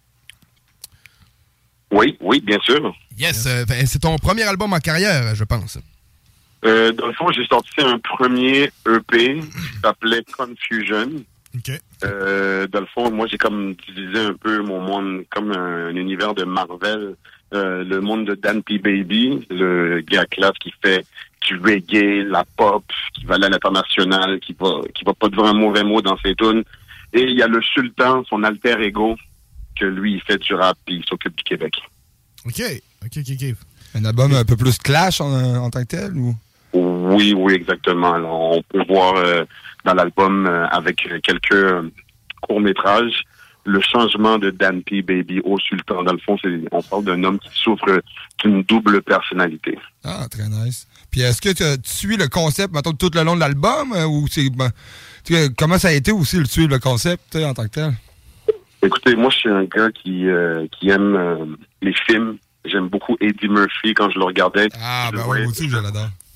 Oui, bien sûr. Yes, c'est ton premier album en carrière, je pense. Dans le fond, j'ai sorti un premier EP qui s'appelait Confusion. Okay. Dans le fond, moi, j'ai comme divisé un peu mon monde comme un univers de Marvel. Le monde de Dan P. Baby, le gars classe qui fait du reggae, la pop, qui va aller à l'international, qui va pas dire un mauvais mot dans ses tunes. Et il y a le Sultan, son alter ego, que lui, il fait du rap et il s'occupe du Québec. OK. Un album un peu plus clash en tant que tel, ou? Oui, exactement. Alors, on peut voir dans l'album avec quelques courts-métrages le changement de Dan P. Baby au Sultan. Dans le fond, on parle d'un homme qui souffre d'une double personnalité. Ah, très nice. Puis est-ce que tu suis le concept, mettons, tout le long de l'album, ou c'est... comment ça a été aussi de suivre le concept en tant que tel? Écoutez, moi, je suis un gars qui aime les films. J'aime beaucoup Eddie Murphy quand je le regardais. Ah, ben oui, moi aussi, je l'adore.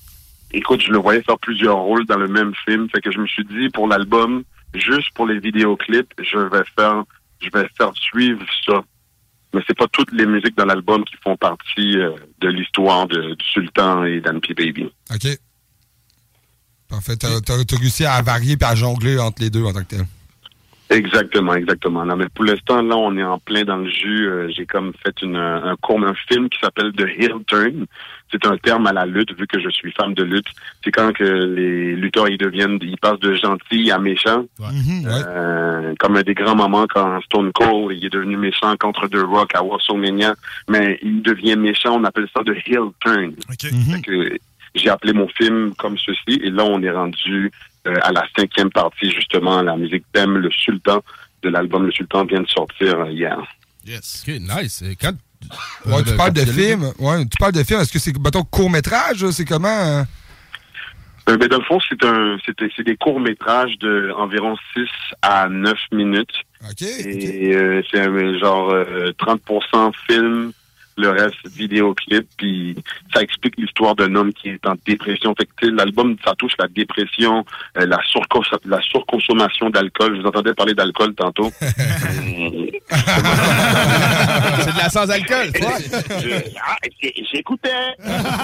écoute, je le voyais faire plusieurs rôles dans le même film. Fait que je me suis dit, pour l'album, juste pour les vidéoclips, je vais faire suivre ça. Mais c'est pas toutes les musiques dans l'album qui font partie de l'histoire du Sultan et d'Anne P. Baby. OK. Parfait. T'as réussi à varier et à jongler entre les deux en tant que tel. Exactement. Non, mais pour l'instant, là, on est en plein dans le jus. J'ai comme fait un film qui s'appelle The Heel Turn. C'est un terme à la lutte, vu que je suis fan de lutte. C'est quand que les lutteurs, ils passent de gentils à méchants. Ouais. Comme des grands moments quand Stone Cold, il est devenu méchant contre The Rock à WrestleMania. Mais il devient méchant, on appelle ça The Heel Turn. Fait que j'ai appelé mon film comme ceci, et là, on est rendu à la 5e partie, justement, la musique thème, Le Sultan, de l'album Le Sultan vient de sortir hier. Yes. OK, nice. Quand, tu parles de film. Ouais, tu parles de film. Est-ce que c'est, mettons, court-métrage? C'est comment? Ben, dans le fond, c'est des courts-métrages de environ 6 à 9 minutes. OK. Et c'est genre 30% film, le reste vidéoclip, puis ça explique l'histoire d'un homme qui est en dépression. Fait que l'album, ça touche la dépression, la surconsommation d'alcool. Je vous entendais parler d'alcool tantôt. C'est de la sans-alcool, toi. J'écoutais.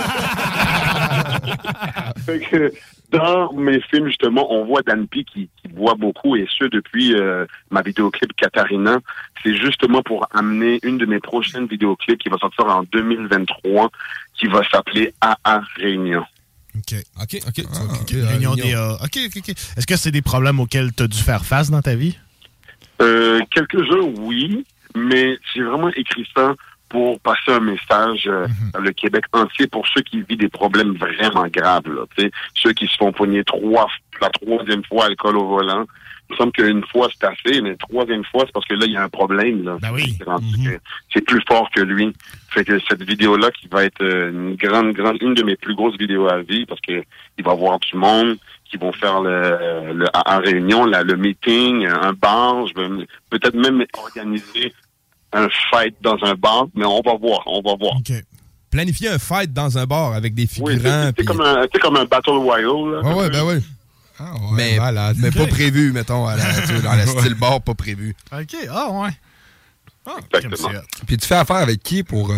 Fait que dans mes films, justement, on voit Dan P qui boit beaucoup, et ce, depuis ma vidéoclip Katharina. C'est justement pour amener une de mes prochaines vidéoclips qui va sortir en 2023, qui va s'appeler AA Réunion. OK. Réunion des... OK. Est-ce que c'est des problèmes auxquels tu as dû faire face dans ta vie? Quelques-uns, oui, mais j'ai vraiment écrit ça pour passer un message dans le Québec entier pour ceux qui vivent des problèmes vraiment graves, là, ceux qui se font pogner la 3e fois alcool au volant. Il me semble qu'une fois c'est assez, mais 3e fois, c'est parce que là, il y a un problème. Là. Ben oui. C'est plus fort que lui. Fait que cette vidéo-là, qui va être une de mes plus grosses vidéos à vie, parce que il va y avoir du monde qui vont faire le AA Réunion, le meeting, un bar. Je vais peut-être même organiser un fight dans un bar, mais on va voir. Okay. Planifier un fight dans un bar avec des figurants. Oui, c'est comme un Battle Royale. Là, ouais, ben oui. Ah ouais, mais pas prévu, mettons, dans le style bar, pas prévu. OK, ouais. Exactement. Puis tu fais affaire avec qui pour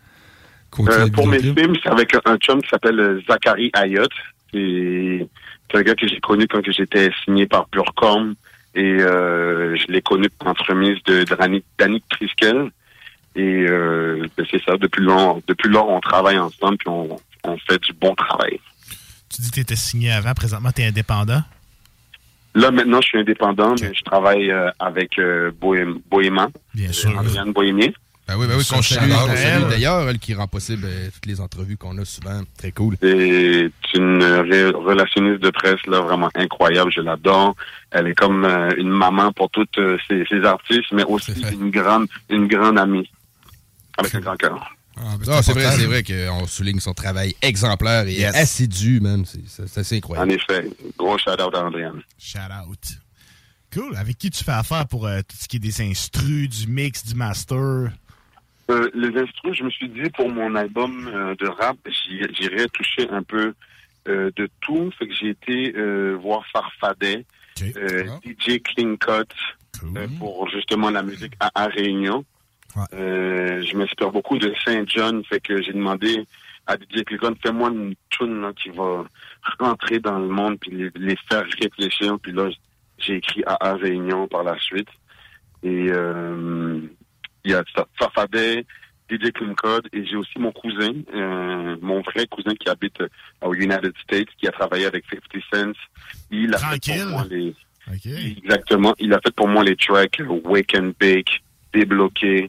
pour mes films, c'est avec un chum qui s'appelle Zachary Ayotte. C'est un gars que j'ai connu quand j'étais signé par Purecorn. Et je l'ai connu par l'entremise de Danick Triskel. Et c'est ça, depuis lors, on travaille ensemble, puis on fait du bon travail. Tu dis que tu étais signé avant, présentement, tu es indépendant? Là, maintenant, je suis indépendant, mais je travaille avec Bohéma. Bien sûr. Adrienne Bohémier. Ben oui, qu'on salue d'ailleurs, elle qui rend possible toutes les entrevues qu'on a souvent. Très cool. C'est une relationniste de presse là vraiment incroyable, je l'adore. Elle est comme une maman pour toutes ces artistes, mais aussi une grande amie. Avec un grand cœur. C'est vrai qu'on souligne son travail exemplaire et assidu, man. C'est assez incroyable. En effet. Gros shout-out à Andréane. Shout-out. Cool. Avec qui tu fais affaire pour tout ce qui est des instrus, du mix, du master? Les instrus, je me suis dit, pour mon album de rap, j'irais toucher un peu de tout. Fait que j'ai été voir Farfadet, DJ Clean Cut, pour justement la musique à Réunion. Ouais. Je m'inspire beaucoup de Saint John, fait que j'ai demandé à DJ Clean Cut, fais-moi une tune là, qui va rentrer dans le monde puis les faire réfléchir. Puis là, j'ai écrit à Réunion par la suite. Et il y a Farfadet, DJ Clean Code, et j'ai aussi mon cousin, mon vrai cousin qui habite aux United States, qui a travaillé avec 50 Cent. Il a fait pour moi Exactement. Il a fait pour moi les tracks Wake and Bake, Débloqué,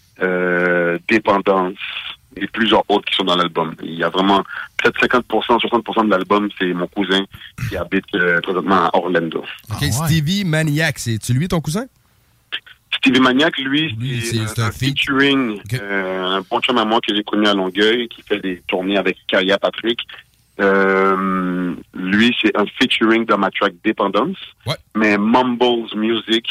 Dépendance, et plusieurs autres qui sont dans l'album. Il y a vraiment peut-être 50%, 60% de l'album, c'est mon cousin qui habite présentement à Orlando. OK, Stevie Maniac, c'est-tu lui ton cousin? Stevie Maniac, lui, c'est un featuring, un bon chum à moi que j'ai connu à Longueuil, qui fait des tournées avec Kaya Patrick. Lui, c'est un featuring dans ma track Dépendance. Ouais. Mais Mumbles Music,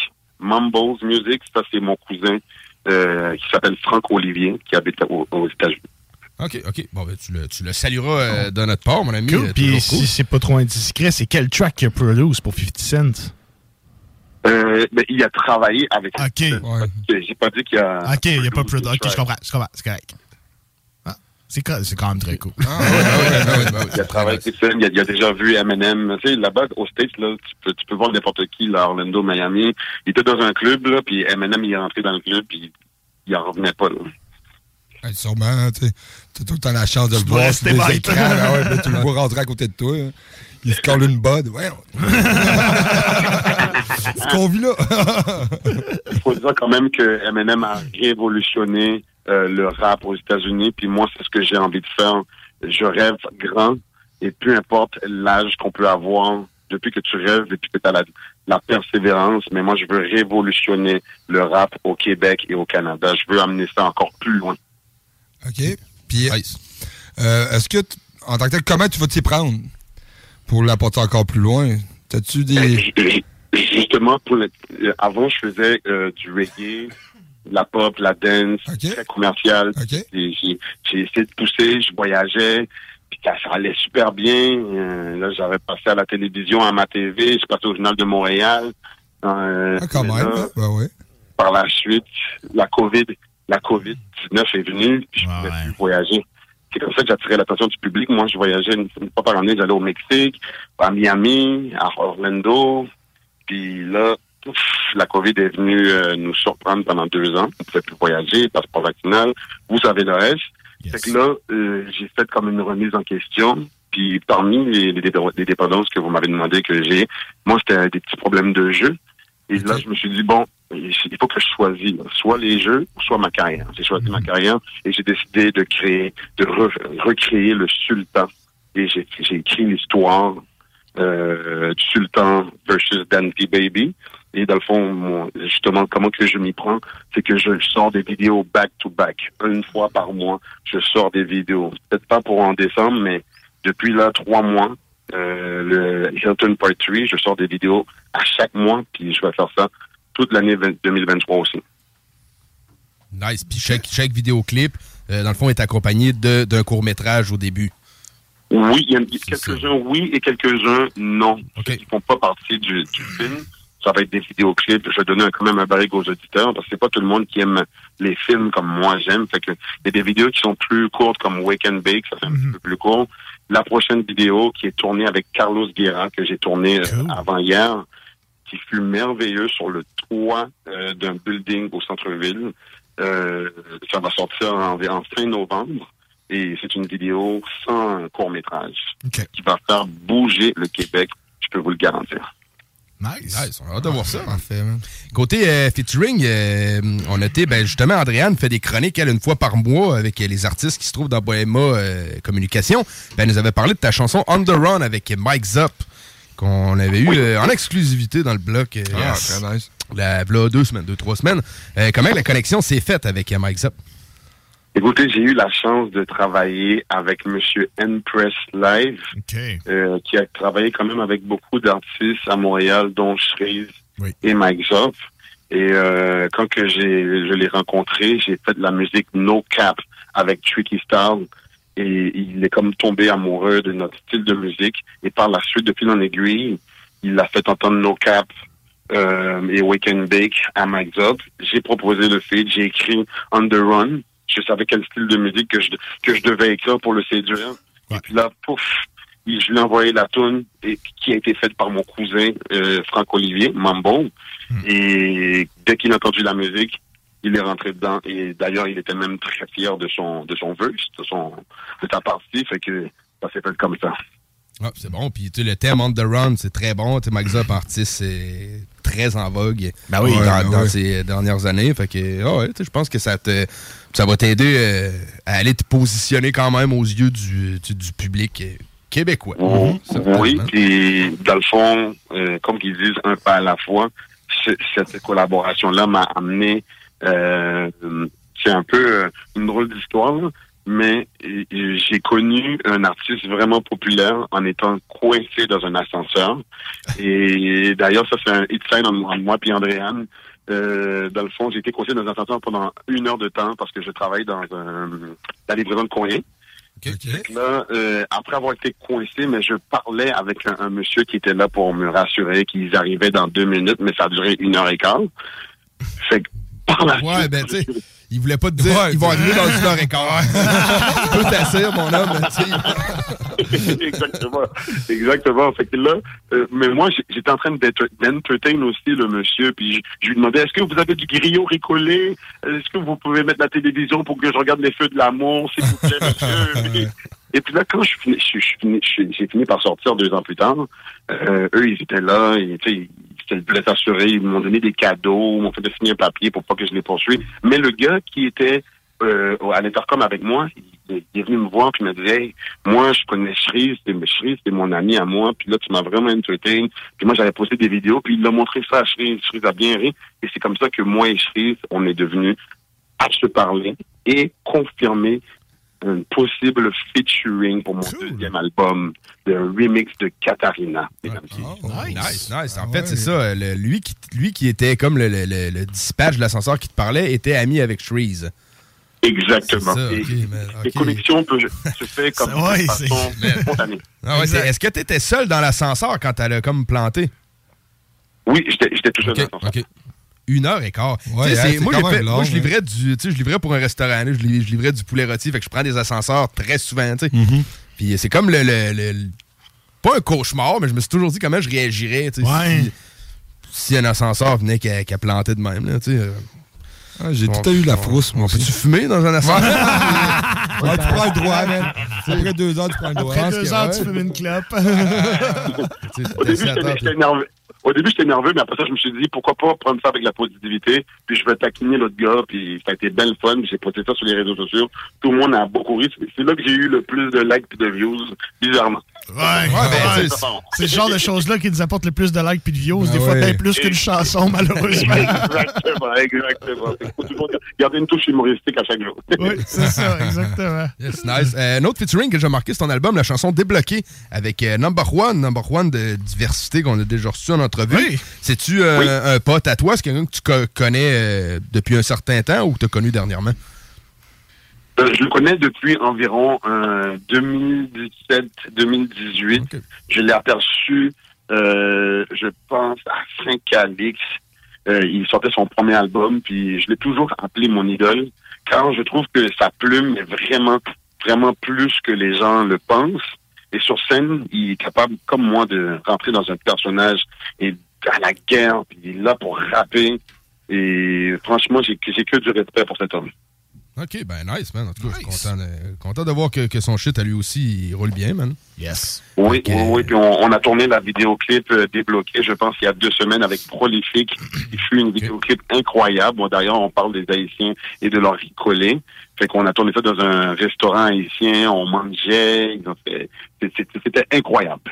ça c'est mon cousin qui s'appelle Franck Olivier, qui habite aux États-Unis. OK. Bon, ben, tu le salueras de notre part, mon ami. Cool. Puis si c'est pas trop indiscret, c'est quel track qu'il a produit pour 50 Cent? Ben, il a travaillé avec... OK. Ouais. J'ai pas dit qu'il a... OK, il a pas produit. OK, je comprends. C'est correct. Ah, c'est quand même très cool. Il a travaillé avec Cent. Il a déjà vu Eminem. Tu sais, là-bas, aux States, là, tu peux voir n'importe qui, là, Orlando, Miami. Il était dans un club, là, puis Eminem, il est rentré dans le club, puis il en revenait pas, là. Sûrement, tu as tout le temps la chance de le voir sur des écrans. Là, tu le vois rentrer à côté de toi. Hein. Il se colle une bode. Ouais. Ce qu'on vit là. Il faut dire quand même que Eminem a révolutionné le rap aux États-Unis. Puis moi, c'est ce que j'ai envie de faire. Je rêve grand. Et peu importe l'âge qu'on peut avoir, depuis que tu rêves et puis que tu as la persévérance, mais moi, je veux révolutionner le rap au Québec et au Canada. Je veux amener ça encore plus loin. OK. Puis, est-ce que, en tant que tel, comment tu vas t'y prendre pour l'apporter encore plus loin? T'as-tu des... Justement, avant, je faisais du reggae, de la pop, la dance, très commercial. J'ai essayé de pousser, je voyageais, puis ça allait super bien. Là, j'avais passé à la télévision, à ma TV, je suis passé au Journal de Montréal. quand même, ouais. Par la suite, la COVID-19 est venue, puis je ne pouvais plus voyager. C'est comme ça que j'attirais l'attention du public. Moi, je voyageais une fois par année, j'allais au Mexique, à Miami, à Orlando. Puis là, la COVID est venue nous surprendre pendant 2 ans. On ne pouvait plus voyager, passeport vaccinal. Vous savez le reste. Fait que là, j'ai fait comme une remise en question. Puis parmi les dépendances que vous m'avez demandé que j'ai, moi, c'était des petits problèmes de jeu. Et là, je me suis dit, bon, il faut que je choisisse soit les jeux, soit ma carrière. J'ai choisi ma carrière et j'ai décidé de recréer le Sultan. Et j'ai écrit l'histoire du Sultan versus Dan P. Baby. Et dans le fond, justement, comment que je m'y prends, c'est que je sors des vidéos back-to-back. Une fois par mois, je sors des vidéos. Peut-être pas pour en décembre, mais depuis là, 3 mois, le Hilton Part 3, je sors des vidéos à chaque mois, puis je vais faire ça toute l'année 2023 aussi. Nice. Puis chaque vidéoclip, dans le fond, est accompagné d'un court-métrage au début. Oui, il y a quelques-uns oui et quelques-uns non. Ils ne font pas partie du film. Ça va être des vidéoclips. Je vais donner quand même un barrique aux auditeurs parce que c'est pas tout le monde qui aime les films comme moi j'aime. Fait que il y a des vidéos qui sont plus courtes comme Wake and Bake, ça fait un petit peu plus court. La prochaine vidéo qui est tournée avec Carlos Guerra, que j'ai tournée avant hier, qui fut merveilleux sur le toit d'un building au centre-ville. Ça va sortir en fin novembre. Et c'est une vidéo sans court-métrage qui va faire bouger le Québec, je peux vous le garantir. Nice. On a hâte de voir ça. Parfait, côté featuring, on a été, justement, Andréane fait des chroniques, elle, une fois par mois avec les artistes qui se trouvent dans Bohéma Communication. Elle nous avait parlé de ta chanson On the Run avec Mike Zop, qu'on avait eu en exclusivité dans le bloc. Très nice. Là, 2-3 semaines. Comment la connexion s'est faite avec Mike Zop? Écoutez, j'ai eu la chance de travailler avec Monsieur N-Press Live, qui a travaillé quand même avec beaucoup d'artistes à Montréal, dont Shreeze et Mike Zop. Et quand que je l'ai rencontré, j'ai fait de la musique No Cap avec Tricky Style. Et il est comme tombé amoureux de notre style de musique. Et par la suite, de fil en aiguille, il a fait entendre No Cap et Wake and Bake à Mike Zop. J'ai proposé le feat, j'ai écrit On the Run. Je savais quel style de musique que je devais écrire pour le séduire. Et puis là, pouf, je lui ai envoyé la toune qui a été faite par mon cousin Franck-Olivier, Mambo. Et dès qu'il a entendu la musique, il est rentré dedans. Et d'ailleurs, il était même très fier de son verse, de sa partie. Fait que ça s'est fait comme ça. Ah, c'est bon. Puis le thème On the Run, c'est très bon. Mike Zop, artiste, c'est très en vogue dans ces dernières années. Fait que je pense que ça va t'aider à aller te positionner quand même aux yeux du public québécois. Oui, puis dans le fond, comme ils disent, un pas à la fois, cette collaboration-là m'a amené, c'est un peu une drôle d'histoire, là, mais j'ai connu un artiste vraiment populaire en étant coincé dans un ascenseur. Et d'ailleurs, ça, c'est un hit sign entre moi et Andréane. Dans le fond, j'ai été coincé dans un ascenseur pendant 1 heure de temps parce que je travaille dans la livraison de courrier. Là, après avoir été coincé, mais je parlais avec un monsieur qui était là pour me rassurer qu'ils arrivaient dans 2 minutes, mais ça a duré 1h15. Fait que par la suite, ben tu sais, il voulait pas te dire ils vont arriver dans 1h15. Tu peux t'asseoir, mon homme, tu sais. Exactement. Fait que là, mais moi, j'étais en train d'entertain aussi le monsieur, puis je lui demandais, est-ce que vous avez du griot récollé? Est-ce que vous pouvez mettre la télévision pour que je regarde les feux de l'amour, s'il vous plaît, monsieur? Et puis là, quand j'ai fini par sortir 2 ans plus tard, eux, ils étaient là, ils voulaient s'assurer, ils m'ont donné des cadeaux, m'ont fait signer un papier pour pas que je les poursuive. Mais le gars qui était à l'intercom avec moi, il est venu me voir puis il m'a dit, hey, moi je connais Shreeze, c'est mon ami à moi, puis là tu m'as vraiment entertain. Puis moi j'avais posté des vidéos, puis il a montré ça à Shreeze. Shreeze a bien ri, et c'est comme ça que moi et Shreeze, on est devenus à se parler et confirmer un possible featuring pour mon 2e album, le remix de Katarina. Nice. En fait, c'est ça. Lui qui était comme le dispatch de l'ascenseur qui te parlait était ami avec Shreeze. Exactement. Ça, les connexions se font comme de façon spontanée. Est-ce que tu étais seul dans l'ascenseur quand elle a comme planté? Oui, j'étais tout seul dans l'ascenseur. 1h15. Ouais, moi, je livrais pour un restaurant. Là, je livrais du poulet rôti. Fait que je prends des ascenseurs très souvent. Puis c'est comme pas un cauchemar, mais je me suis toujours dit comment je réagirais si un ascenseur venait qu'à planter de même. Là, j'ai tout eu la frousse, moi. Peux-tu fumer dans un ascenseur? Tu prends le droit, man. Après 2 heures, tu prends le droit. Après 2 heures, tu fumes une clope. Au début, j'étais nerveux, mais après ça, je me suis dit, pourquoi pas prendre ça avec la positivité, puis je vais taquiner l'autre gars, puis ça a été belle fun, j'ai posté ça sur les réseaux sociaux. Tout le monde a beaucoup ri. C'est là que j'ai eu le plus de likes et de views, bizarrement. C'est le genre de choses-là qui nous apportent le plus de likes et de views, des fois bien plus qu'une chanson, malheureusement. Exactement. Il faut toujours garder une touche humoristique à chaque jour. Oui, c'est ça, exactement. Yes, nice. Un autre featuring que j'ai marqué sur ton album, la chanson Débloqué, avec Number One de diversité qu'on a déjà reçu en entrevue. Oui. C'est-tu un pote à toi? C'est quelqu'un que tu connais depuis un certain temps ou que tu as connu dernièrement? Je le connais depuis environ 2017-2018. Okay. Je l'ai aperçu, je pense, à Saint-Calix. Il sortait son premier album, puis je l'ai toujours appelé mon idole, car je trouve que sa plume est vraiment, vraiment plus que les gens le pensent. Et sur scène, il est capable, comme moi, de rentrer dans un personnage et à la guerre, puis il est là pour rapper. Et franchement, j'ai que du respect pour cet homme. OK, ben nice, man. En tout cas, je suis content de voir que son shit, à lui aussi, il roule bien, man. Yes. Oui, puis on a tourné la vidéoclip Débloqué, je pense, il y a 2 semaines avec Prolifique. Il fut une vidéoclip incroyable. Bon, d'ailleurs, on parle des Haïtiens et de leur ricolé. Fait qu'on a tourné ça dans un restaurant haïtien, on mangeait. C'était incroyable.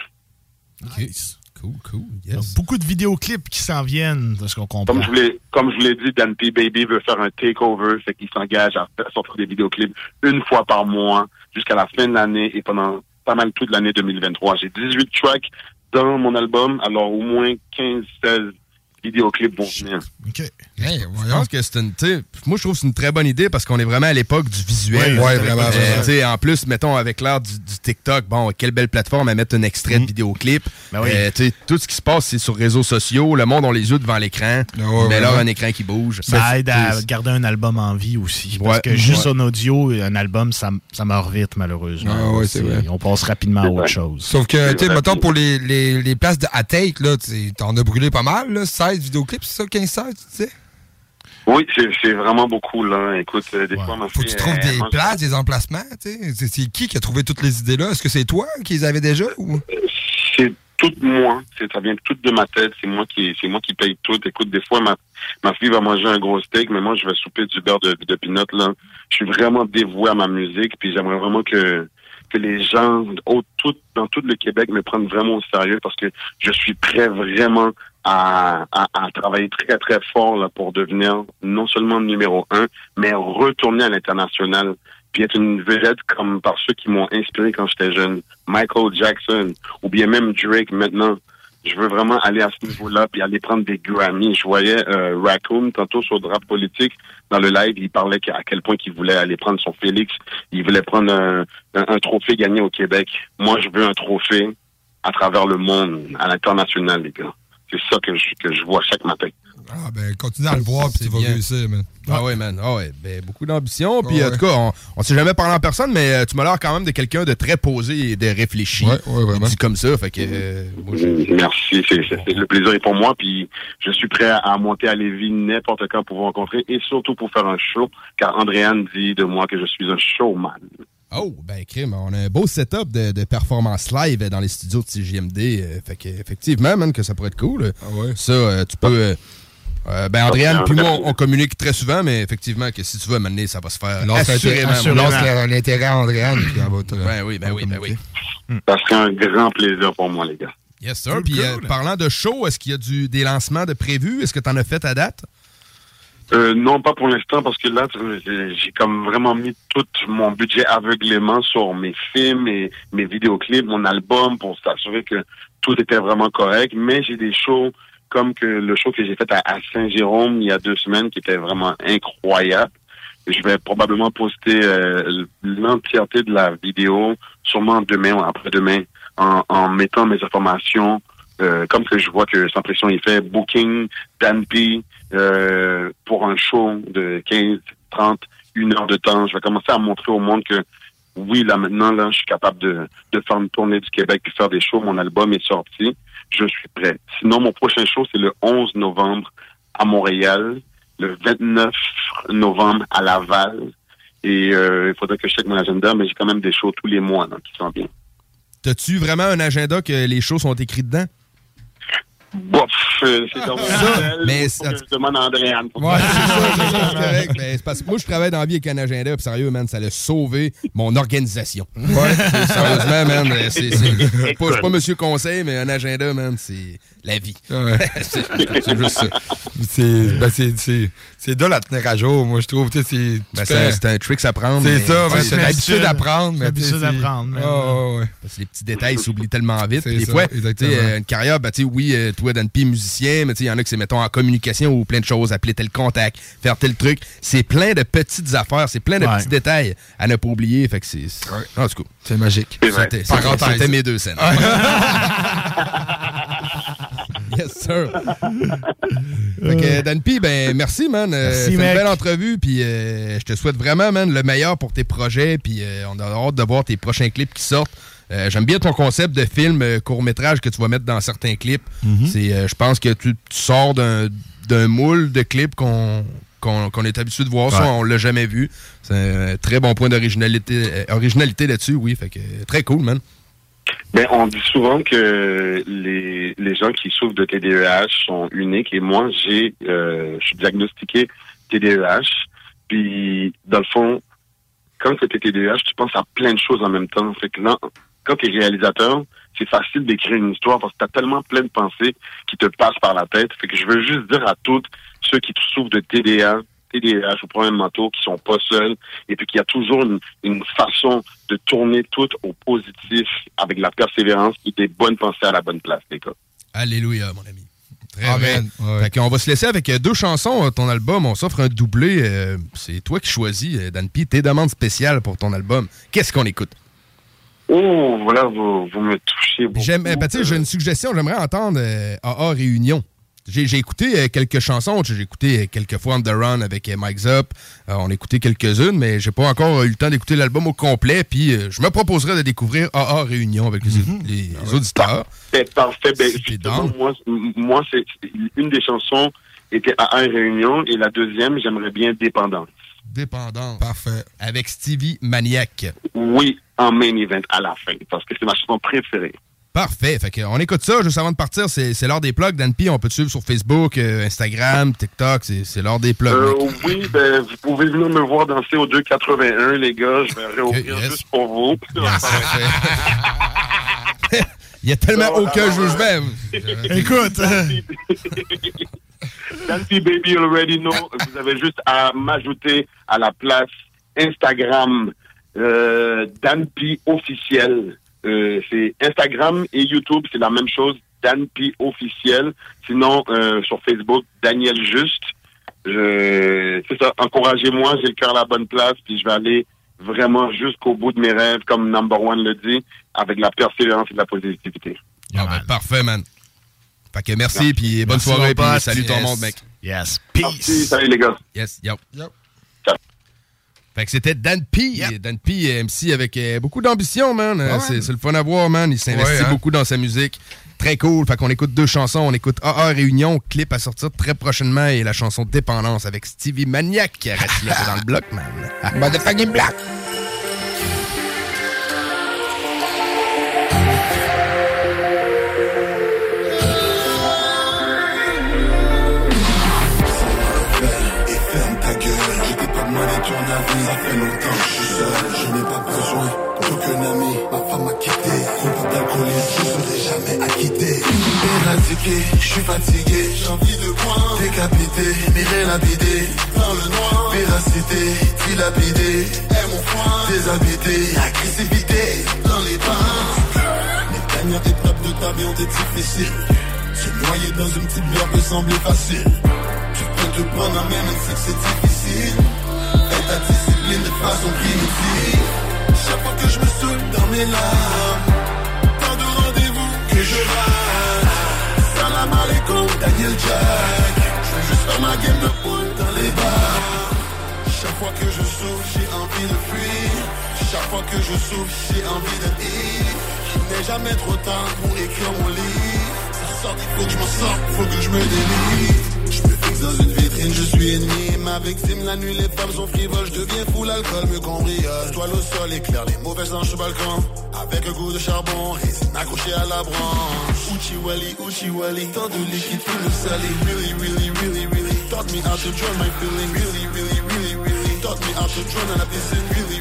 Nice. Cool. Yes. Beaucoup de vidéoclips qui s'en viennent, de ce qu'on comprend. Comme je l'ai dit, Dan P. Baby veut faire un takeover, fait qu'il s'engage à sortir des vidéoclips 1 fois par mois jusqu'à la fin de l'année et pendant pas mal toute l'année 2023. J'ai 18 tracks dans mon album, alors au moins 15-16 vidéoclips vont venir. OK. Je pense que c'est moi, je trouve que c'est une très bonne idée parce qu'on est vraiment à l'époque du visuel. Oui, vraiment. En plus, mettons, avec l'ère du TikTok, bon, quelle belle plateforme à mettre un extrait de vidéoclip. Tout ce qui se passe, c'est sur les réseaux sociaux. Le monde, on les yeux devant l'écran. Mais là, un écran qui bouge. Ça aide à garder un album en vie aussi. Parce que juste en audio, un album, ça meurt vite, malheureusement. C'est vrai. On passe rapidement à autre chose. Sauf que, tu sais, mettons, pour les places de à take, là, t'en as brûlé pas mal, là, 16 vidéoclips, c'est ça, 15-16, tu sais? Oui, c'est vraiment beaucoup, là. Écoute, des fois, faut que tu trouves des places, des emplacements, tu sais. C'est qui a trouvé toutes les idées-là? Est-ce que c'est toi qui les avais déjà, ou? C'est tout moi. Ça vient tout de ma tête. C'est moi qui paye tout. Écoute, des fois, ma fille va manger un gros steak, mais moi, je vais souper du beurre de pinot, là. Je suis vraiment dévoué à ma musique, puis j'aimerais vraiment que les gens dans tout le Québec me prennent vraiment au sérieux parce que je suis prêt vraiment à travailler très, très fort là, pour devenir non seulement numéro 1, mais retourner à l'international puis être une vedette comme par ceux qui m'ont inspiré quand j'étais jeune. Michael Jackson ou bien même Drake maintenant. Je veux vraiment aller à ce niveau-là puis aller prendre des Grammys. Je voyais Raccoon tantôt sur Drape Politique dans le live, il parlait à quel point qu'il voulait aller prendre son Félix. Il voulait prendre un trophée gagné au Québec. Moi, je veux un trophée à travers le monde, à l'international, les gars. C'est ça que je vois chaque matin. Ah, ben, continue à le voir, puis tu vas réussir, man. Ah ouais, man. Ah ouais, ben, beaucoup d'ambition. Puis, en tout cas, on s'est jamais parlé en personne, mais tu m'as l'air quand même de quelqu'un de très posé et de réfléchi. Ouais, vraiment. Dit comme ça, fait que... Merci, le plaisir est pour moi, puis je suis prêt à monter à Lévis n'importe quand pour vous rencontrer, et surtout pour faire un show, car Andréane dit de moi que je suis un showman. Oh, ben, crime, on a un beau setup de performance live dans les studios de CJMD. Fait que, effectivement, man, que ça pourrait être cool. Ah ouais. Ça, tu peux... ben, Andréane puis moi, on communique très souvent, mais effectivement, que si tu veux m'amener, ça va se faire assurément. L'intérêt à Andréane. Ben oui. Ça serait un grand plaisir pour moi, les gars. Yes, sir. Puis, parlant de show, est-ce qu'il y a des lancements de prévus? Est-ce que tu en as fait à date? Non, pas pour l'instant, parce que là, j'ai comme vraiment mis tout mon budget aveuglément sur mes films, mes vidéoclips, mon album, pour s'assurer que tout était vraiment correct. Mais j'ai des shows comme que le show que j'ai fait à Saint-Jérôme il y a 2 semaines, qui était vraiment incroyable. Je vais probablement poster l'entièreté de la vidéo, sûrement demain ou après-demain, en mettant mes informations, comme que je vois que Sans Pression il fait booking, Dan P, pour un show de 15, 30, 1 heure de temps. Je vais commencer à montrer au monde que oui, là maintenant, là, je suis capable de faire une tournée du Québec et faire des shows. Mon album est sorti. Je suis prêt. Sinon, mon prochain show, c'est le 11 novembre à Montréal, le 29 novembre à Laval. Et il faudrait que je check mon agenda, mais j'ai quand même des shows tous les mois là, qui sont bien. T'as-tu vraiment un agenda que les shows sont écrits dedans? Bof, c'est dans mon mais je demande à Andréane. Ouais, c'est correct. Mais c'est parce que moi, je travaille dans la vie avec un agenda, puis sérieux, man, ça a sauvé mon organisation. Ouais, sérieusement, man, c'est pas Monsieur Conseil, mais un agenda, man, c'est la vie. Ouais. c'est juste ça. C'est de la tenir à jour, moi, je trouve. C'est un trick à prendre. C'est ça, c'est l'habitude à prendre. C'est l'habitude à prendre. Parce que les petits détails s'oublient tellement vite. Des fois, une carrière, oui, toi, Dan P, musicien, mais il y en a que c'est, mettons, en communication ou plein de choses, appeler tel contact, faire tel truc. C'est plein de petites affaires, c'est plein de petits détails à ne pas oublier. Fait que c'est... En tout cas, c'est magique. C'était mes 2 scènes. Yes, sir. Fait que, Dan P, ben, merci, man. C'est une belle entrevue, puis je te souhaite vraiment, man, le meilleur pour tes projets, puis on a hâte de voir tes prochains clips qui sortent. J'aime bien ton concept de film court-métrage que tu vas mettre dans certains clips. C'est, je pense que tu sors d'un moule de clips qu'on est habitué de voir. Ça, on l'a jamais vu. C'est un très bon point d'originalité là-dessus, oui. Fait que très cool, man. Ben, on dit souvent que les gens qui souffrent de TDEH sont uniques, et moi, je suis diagnostiqué TDEH. Puis, dans le fond, quand tu es TDEH, tu penses à plein de choses en même temps. Fait que là, quand tu es réalisateur, c'est facile d'écrire une histoire parce que tu as tellement plein de pensées qui te passent par la tête. Fait que je veux juste dire à tous ceux qui souffrent de TDAH ou problèmes mentaux, qui sont pas seuls, et puis qu'il y a toujours une façon de tourner tout au positif avec la persévérance et des bonnes pensées à la bonne place, les gars. Alléluia, mon ami. Très bien. Ouais. Fait qu'on va se laisser avec 2 chansons, ton album. On s'offre un doublé. C'est toi qui choisis, Dan P, tes demandes spéciales pour ton album. Qu'est-ce qu'on écoute? Oh, voilà, vous me touchez beaucoup. J'ai une suggestion. J'aimerais entendre AA Réunion. J'ai écouté quelques chansons. J'ai écouté quelques fois On The Run avec Mike Zop. On a écouté quelques-unes, mais j'ai pas encore eu le temps d'écouter l'album au complet. Puis je me proposerais de découvrir AA Réunion avec les auditeurs. Parfait. Ben, justement, moi, c'est une des chansons était AA Réunion, et la deuxième, j'aimerais bien Dépendance. Dépendance. Parfait. Avec Stevie Maniac. Oui, en main event à la fin, parce que c'est ma chanson préférée. Parfait. Fait qu'on écoute ça. Juste avant de partir, c'est l'heure des plugs. Dan P, on peut te suivre sur Facebook, Instagram, TikTok. C'est l'heure des plugs. Oui, ben, vous pouvez venir me voir danser au 281, les gars. Je vais réouvrir juste pour vous. Il y a tellement aucun jugement. Écoute. Dan P Baby Already Know. Vous avez juste à m'ajouter à la place Instagram Dan P officiel. C'est Instagram et YouTube, c'est la même chose. Dan P officiel. Sinon, sur Facebook, Daniel Juste. C'est ça, encouragez-moi, j'ai le cœur à la bonne place, puis je vais aller vraiment jusqu'au bout de mes rêves, comme Number One le dit, avec la persévérance et de la positivité. Ah ben, parfait, man. Fait que merci, puis bonne soirée, puis salut ton monde, mec. Yes, peace. Merci, salut les gars. Yes, yo. Fait que c'était Dan P. Yep. Dan P, MC avec beaucoup d'ambition, man. C'est le fun à voir, man. Il s'investit beaucoup dans sa musique. Très cool. Fait qu'on écoute 2 chansons. On écoute AA Réunion, clip à sortir très prochainement, et la chanson Dépendance avec Stevie Maniac qui reste là dans le bloc, man. Motherfucking block. Ça fait longtemps que je suis seul, je n'ai pas besoin d'aucun ami. Ma femme m'a quitté, coupable d'alcoolisme, je serai jamais acquitté. Éradiqué, je suis fatigué, j'ai envie de boire. Décapité, mirer labidé, dans le noir. Véracité, dilapidé, est mon foin. Déshabité, agressivité, dans les bars. Les dernières étapes de ta vie ont été difficiles. Se noyer dans une petite bière peut sembler facile. Tu peux te prendre en main, même si c'est difficile. Et ta discipline de façon primitive. Chaque fois que je me saoule dans mes larmes, tant de rendez-vous que je rate. Salam alaikum, Daniel Jack. Je veux juste faire ma game de poule dans les bars. Chaque fois que je souffre, j'ai envie de fuir. Chaque fois que je souffre, j'ai envie de dire qu'il n'est jamais trop tard pour écrire mon livre. Ça sort, il faut que je m'en sorte, faut que je me délivre. Je me fixe dans une vitrine, je suis ennemi. Ma victime, la nuit, les femmes sont frivoles. Je deviens fou, l'alcool me cambriole. Toile au sol, éclaire, les mauvaises anges sur le balcon. Avec un goût de charbon, résine accroché à la branche. Uchi wali, tant de liquide, tout le salé. Really, taught me how to drown my feeling. Really, taught me how to drown à la piscine. Really.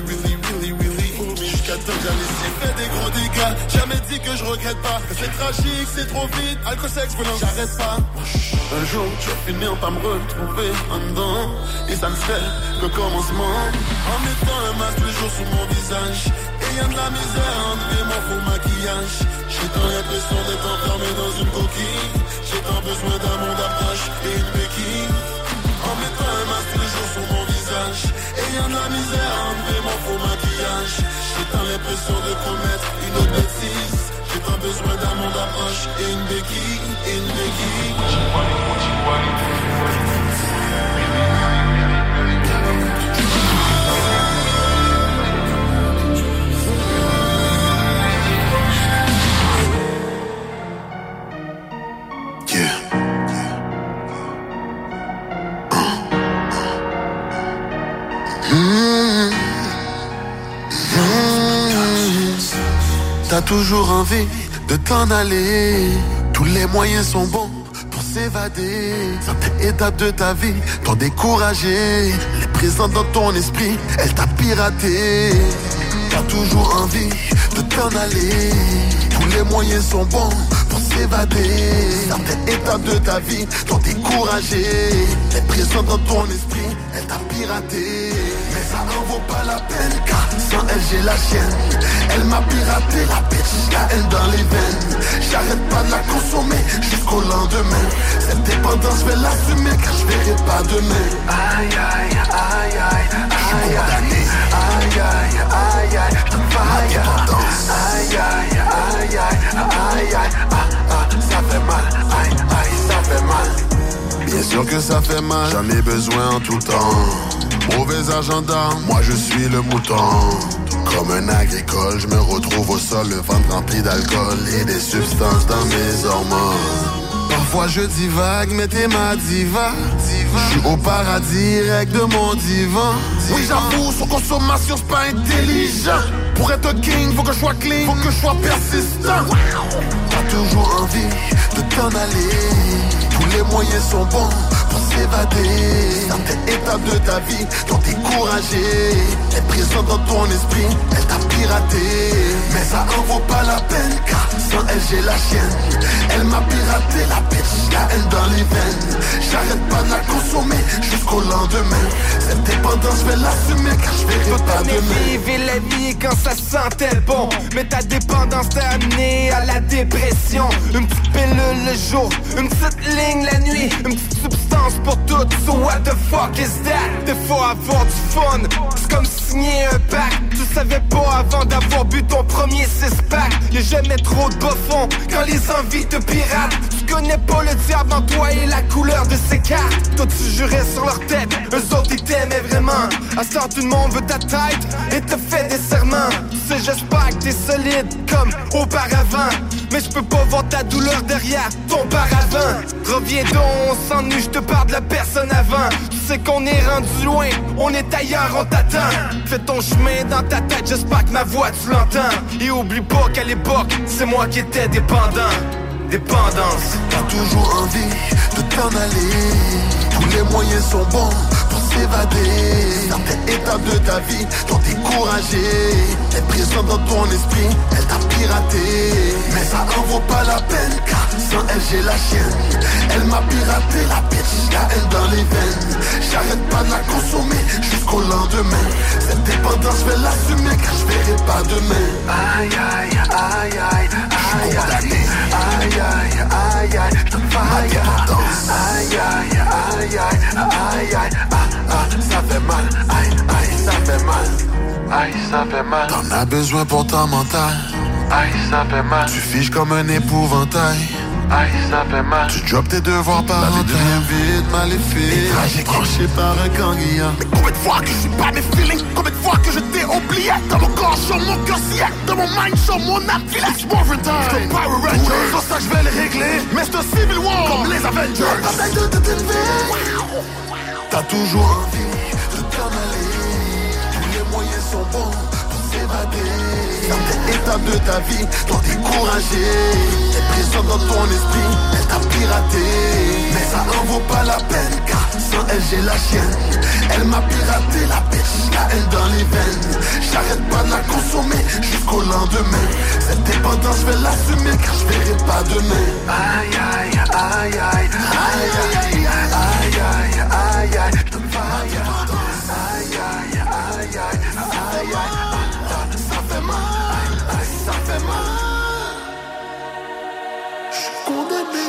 Jusqu'à temps que j'allais fait des gros dégâts. Jamais dit que je regrette pas. C'est tragique, c'est trop vite. Alcool, sexe, violence, j'arrête pas. Un jour, je vais finir par me retrouver en dedans. Et ça ne serait que commencement. En mettant un masque tous les jours sur mon visage. Ayant de la misère à enlever mon faux maquillage. J'ai tant l'impression d'être enfermé dans une coquille. J'ai tant besoin d'un monde d'approche et une béquille. En mettant un masque tous les jours sur mon visage. Ayant de la misère à enlever mon faux maquillage. J'ai tant l'impression de commettre une autre bêtise. J'ai tant besoin d'un monde d'approche et une béquille, T'as toujours envie de t'en aller. Tous les moyens sont bons pour s'évader. Certaines étapes de ta vie t'ont découragé. Les présentes dans ton esprit, elle t'a piraté. T'as toujours envie de t'en aller. Tous les moyens sont bons pour s'évader. Certaines étapes de ta vie t'ont découragé. Les présentes dans ton esprit, elle t'a piraté. Mais ça n'en vaut pas la peine, car sans elle j'ai la chienne. Elle m'a piraté la bitch, la haine dans les veines. J'arrête pas de la consommer jusqu'au lendemain. Cette dépendance je vais l'assumer, car je verrai pas demain. Aïe aïe aïe aïe, je suis condamné. Aïe aïe aïe aïe, je te ma dépendance. Aïe aïe aïe aïe aïe aïe, ça fait mal. Aïe aïe, ça fait mal. Bien sûr que ça fait mal, j'en ai besoin en tout temps. Mauvais agenda, moi je suis le mouton. Comme un agricole, je me retrouve au sol, le ventre rempli d'alcool et des substances dans mes hormones. Parfois je divague, mais t'es ma diva. Je suis au paradis, règle de mon divan. Oui j'avoue, sur consommation c'est pas intelligent. Pour être king, faut que je sois clean, faut que je sois persistant. T'as toujours envie de t'en aller. Tous les moyens sont bons pour s'évader. Certaines étapes de ta vie t'ont découragé. Elle est présente dans ton esprit, elle t'a piraté. Mais ça en vaut pas la peine, car sans elle j'ai la chienne. Elle m'a piraté la bitch, la haine dans les veines. J'arrête pas de la consommer jusqu'au lendemain. Cette dépendance dépendance, je vais l'assumer car je verrai pas demain. Vivre la vie quand ça sentait bon. Mais ta dépendance t'a amené à la dépression. Une petite pilule le jour, une petite ligne la nuit, une petite substance pour tout. So what the fuck is that? Des fois avoir du fun, c'est comme signer un pacte. Tu savais pas avant d'avoir bu ton premier 6-pack. Y'a jamais trop de bas fond quand les envies te piratent. Tu connais pas le diable en toi et la couleur de ses cartes. Toi tu jurais sur leur tête, eux autres ils t'aimaient vraiment. À ce temps tout le monde veut ta tête et te fait des serments. Tu sais j'espère que t'es solide comme auparavant. Mais je peux pas voir ta douleur derrière ton paravent. Reviens donc, on s'ennuie, je te parle de la personne avant. Tu sais qu'on est rendu loin, on est ailleurs, on t'attend. Fais ton chemin dans ta tête, j'espère que ma voix tu l'entends. Et oublie pas qu'à l'époque, c'est moi qui étais dépendant. Dépendance. T'as toujours envie de t'en aller. Tous les moyens sont bons pour s'évader. Certaines étapes de ta vie t'ont découragé. Elle est présente dans ton esprit, elle t'a piraté. Mais ça en vaut pas la peine car sans elle j'ai la chienne. Elle m'a piraté la bitch, la haine dans les veines. J'arrête pas de la consommer jusqu'au lendemain. Cette dépendance je vais l'assumer car je verrai pas demain. Aïe aïe aïe aïe aïe aïe aïe aïe aïe aïe, je te faille. Aïe aïe aïe aïe aïe aïe, ça fait mal, aïe aïe ça fait mal, aïe ça fait mal. T'en as besoin pour ton mental, aïe ça fait mal. Tu fiches comme un épouvantail, aïe ça fait mal. Tu drops tes devoirs par an, devient vide, maléfique, tragique, tranché par un ganguillant. Mais combien de fois que je suis pas mes feelings, combien de fois que je t'ai oublié. Dans mon corps, sur mon cœur, si dans mon mind, sur mon âme, feel it's more time. C'est un Power Ranger, c'est pour ça que je vais les régler. Mais c'est un Civil War, comme les Avengers. Bataille de t'élever. T'as toujours envie de t'en aller. Tous les moyens sont bons pour s'évader. Certaines étapes de ta vie t'ont découragé. Elle est présente dans ton esprit, elle t'a piraté. Mais ça en vaut pas la peine car sans elle j'ai la chienne. Elle m'a piraté la bitch, la haine dans les veines. J'arrête pas de la consommer jusqu'au lendemain. Cette dépendance je vais l'assumer car je verrai pas demain. Aïe aïe aïe aïe aïe aïe aïe aïe aïe aïe, je te faille. Aïe aïe aïe aïe aïe aïe, ça fait mal, ça fait mal. Je suis condamné,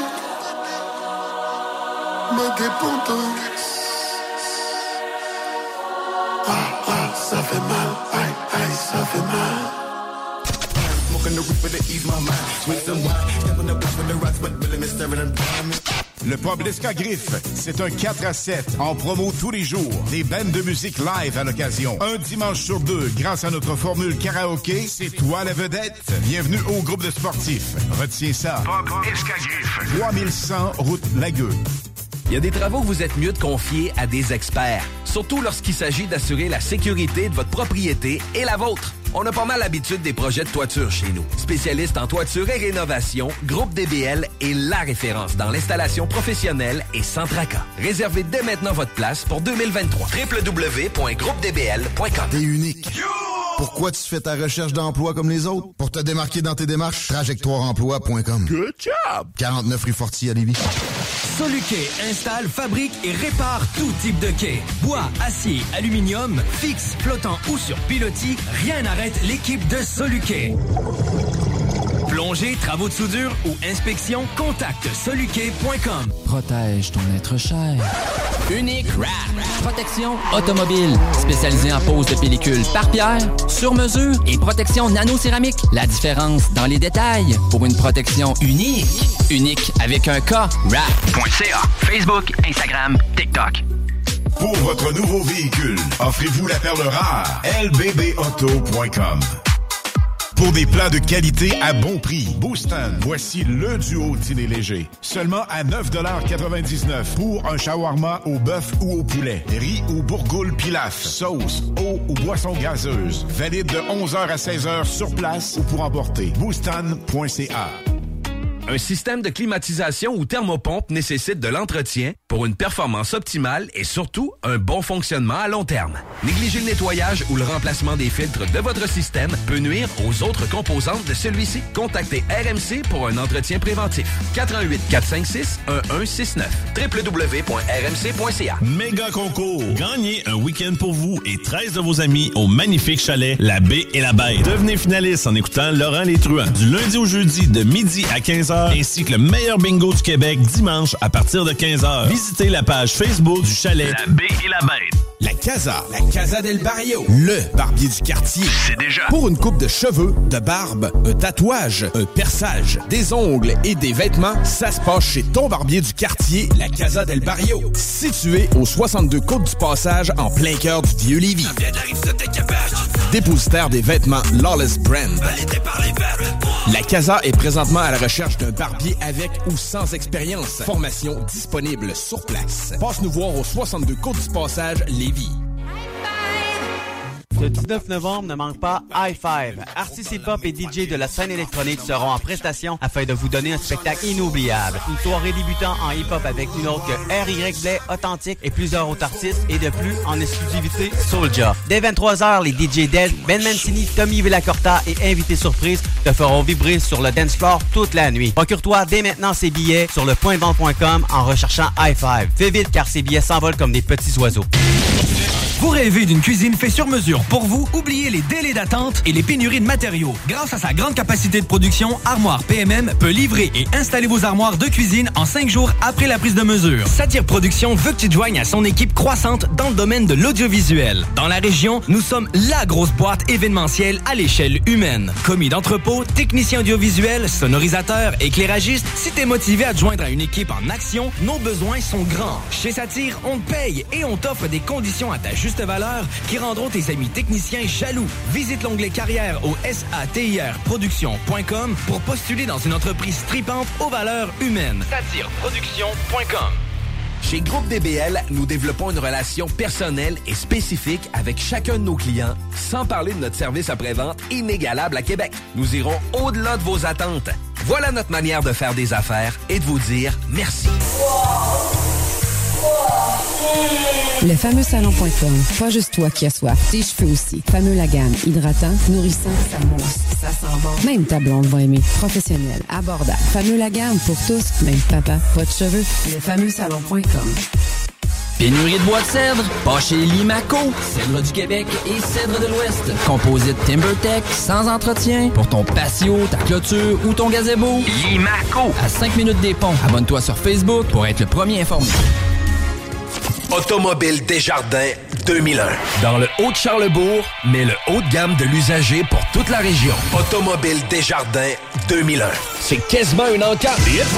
ma dépendance. Ça fait mal, aïe aïe, ça fait mal. Le pub L'Escagriffe, c'est un 4 à 7 en promo tous les jours. Des bandes de musique live à l'occasion. Un dimanche sur deux, grâce à notre formule karaoké, c'est toi la vedette. Bienvenue au groupe de sportifs. Retiens ça. Pub L'Escagriffe. 3100 route Lagueux. Il y a des travaux que vous êtes mieux de confier à des experts, surtout lorsqu'il s'agit d'assurer la sécurité de votre propriété et la vôtre. On a pas mal l'habitude des projets de toiture chez nous. Spécialiste en toiture et rénovation, Groupe DBL est la référence dans l'installation professionnelle et sans tracas. Réservez dès maintenant votre place pour 2023. www.groupedbl.com. T'es unique. Pourquoi tu fais ta recherche d'emploi comme les autres? Pour te démarquer dans tes démarches, trajectoireemploi.com. Good job! 49 rue Fortier à Lévis. Soluquet installe, fabrique et répare tout type de quai. Bois, acier, aluminium, fixe, flottant ou sur pilotis, rien n'arrête l'équipe de Soluquet. Plongée, travaux de soudure ou inspection, contacte soluquet.com. Protège ton être cher. Unique Wrap. Protection automobile. Spécialisée en pose de pellicule par pierre, sur mesure et protection nano-céramique. La différence dans les détails pour une protection unique. Unique avec un K. Wrap.ca. Facebook, Instagram, TikTok. Pour votre nouveau véhicule, offrez-vous la perle rare. lbbauto.com. Pour des plats de qualité à bon prix, Booston, voici le duo dîner léger. Seulement à 9,99$ pour un shawarma au bœuf ou au poulet. Riz ou bourgoule pilaf, sauce, eau ou boisson gazeuse. Valide de 11h à 16h sur place ou pour emporter. Booston.ca. Un système de climatisation ou thermopompe nécessite de l'entretien pour une performance optimale et surtout un bon fonctionnement à long terme. Négliger le nettoyage ou le remplacement des filtres de votre système peut nuire aux autres composantes de celui-ci. Contactez RMC pour un entretien préventif. 88 456 1169 www.rmc.ca. Méga concours. Gagnez un week-end pour vous et 13 de vos amis au magnifique chalet La Baie et la Bête. Devenez finaliste en écoutant Laurent Les Truands du lundi au jeudi de midi à 15h ainsi que le meilleur bingo du Québec dimanche à partir de 15h. Visitez la page Facebook du chalet La Baie et la Bête. La Casa del Barrio, le barbier du quartier. C'est déjà. Pour une coupe de cheveux, de barbe, un tatouage, un perçage, des ongles et des vêtements, ça se passe chez ton barbier du quartier, la Casa del Barrio. Situé au 62 Côte du Passage, en plein cœur du Vieux-Lévis. Dépositaire des vêtements Lawless Brand. La Casa est présentement à la recherche d'un barbier avec ou sans expérience. Formation disponible sur place. Passe nous voir au 62 Côte du Passage, Lévis. Le 19 novembre, ne manque pas High Five. Artistes hip-hop et DJ de la scène électronique seront en prestation afin de vous donner un spectacle inoubliable. Une soirée débutant en hip-hop avec une autre que R.Y. Blais, Authentique et plusieurs autres artistes et de plus en exclusivité Soulja. Dès 23h, les DJ Dead, Ben Mancini, Tommy Villacorta et invités surprises te feront vibrer sur le dance floor toute la nuit. Procure-toi dès maintenant ces billets sur lepointdevente.com en recherchant High Five. Fais vite car ces billets s'envolent comme des petits oiseaux. Vous rêvez d'une cuisine faite sur mesure pour vous? Oubliez les délais d'attente et les pénuries de matériaux. Grâce à sa grande capacité de production, Armoire PMM peut livrer et installer vos armoires de cuisine en 5 jours après la prise de mesure. Satire Production veut que tu te joignes à son équipe croissante dans le domaine de l'audiovisuel. Dans la région, nous sommes la grosse boîte événementielle à l'échelle humaine. Commis d'entrepôt, technicien audiovisuel, sonorisateur, éclairagiste, si t'es motivé à te joindre à une équipe en action, nos besoins sont grands. Chez Satire, on te paye et on t'offre des conditions à ta juste valeur qui rendront tes amis techniciens jaloux. Visite l'onglet carrière au satirproduction.com pour postuler dans une entreprise tripante aux valeurs humaines. Satireproduction.com. Chez Groupe DBL, nous développons une relation personnelle et spécifique avec chacun de nos clients, sans parler de notre service après-vente inégalable à Québec. Nous irons au-delà de vos attentes. Voilà notre manière de faire des affaires et de vous dire merci. Le fameux salon.com. Pas juste toi qui as soif, tes cheveux aussi. Fameux la gamme. Hydratant, nourrissant, ça mousse, ça sent bon. Même ta blonde va aimer. Professionnel, abordable. Fameux la gamme pour tous, même papa, pas de cheveux. Le fameux salon.com. Pénurie de bois de cèdre? Pas chez Limaco. Cèdre du Québec et cèdre de l'Ouest. Composite TimberTech, sans entretien. Pour ton patio, ta clôture ou ton gazebo. Limaco. À 5 minutes des ponts. Abonne-toi sur Facebook pour être le premier informé. Automobile Desjardins 2001. Dans le Haut-de-Charlebourg, mais le haut de gamme de l'usager pour toute la région. Automobile Desjardins 2001. C'est quasiment une encarte.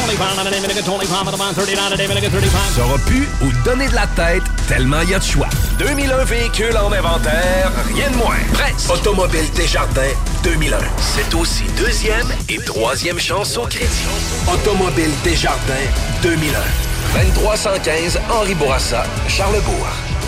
Saura plus où donner de la tête tellement il y a de choix. 2001 véhicules en inventaire, rien de moins. Presse. Automobile Desjardins 2001. C'est aussi deuxième et troisième chance au crédit. Automobile Desjardins 2001. 2315 Henri Bourassa, Charlebourg.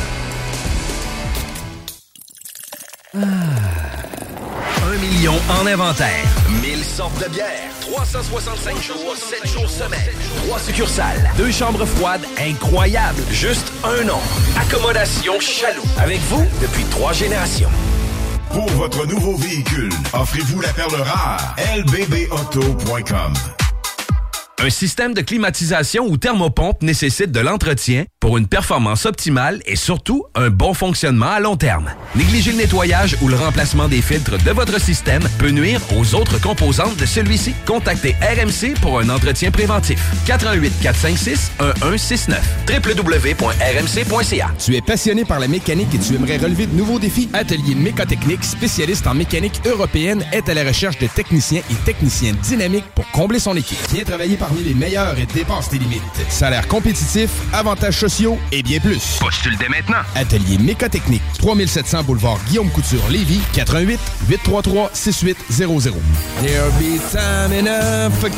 1 million en inventaire. 1000 sortes de bières. 365 jours, 7 jours semaine. 3 succursales. 2 chambres froides incroyables. Juste un nom. Accommodation Chaloux. Avec vous depuis 3 générations. Pour votre nouveau véhicule, offrez-vous la perle rare. lbbauto.com. Un système de climatisation ou thermopompe nécessite de l'entretien pour une performance optimale et surtout un bon fonctionnement à long terme. Négliger le nettoyage ou le remplacement des filtres de votre système peut nuire aux autres composantes de celui-ci. Contactez RMC pour un entretien préventif. 88 456 1169 www.rmc.ca. Tu es passionné par la mécanique et tu aimerais relever de nouveaux défis? Atelier Mécotechnique, spécialiste en mécanique européenne, est à la recherche de techniciens et techniciennes dynamiques pour combler son équipe. Viens travailler parmi les meilleurs et dépasse tes limites. Salaire compétitif, avantages sociaux et bien plus. Postule dès maintenant. Atelier Mécotechnique, 3700 boulevard Guillaume Couture, Lévis, 88 833 6800. There'll be time enough for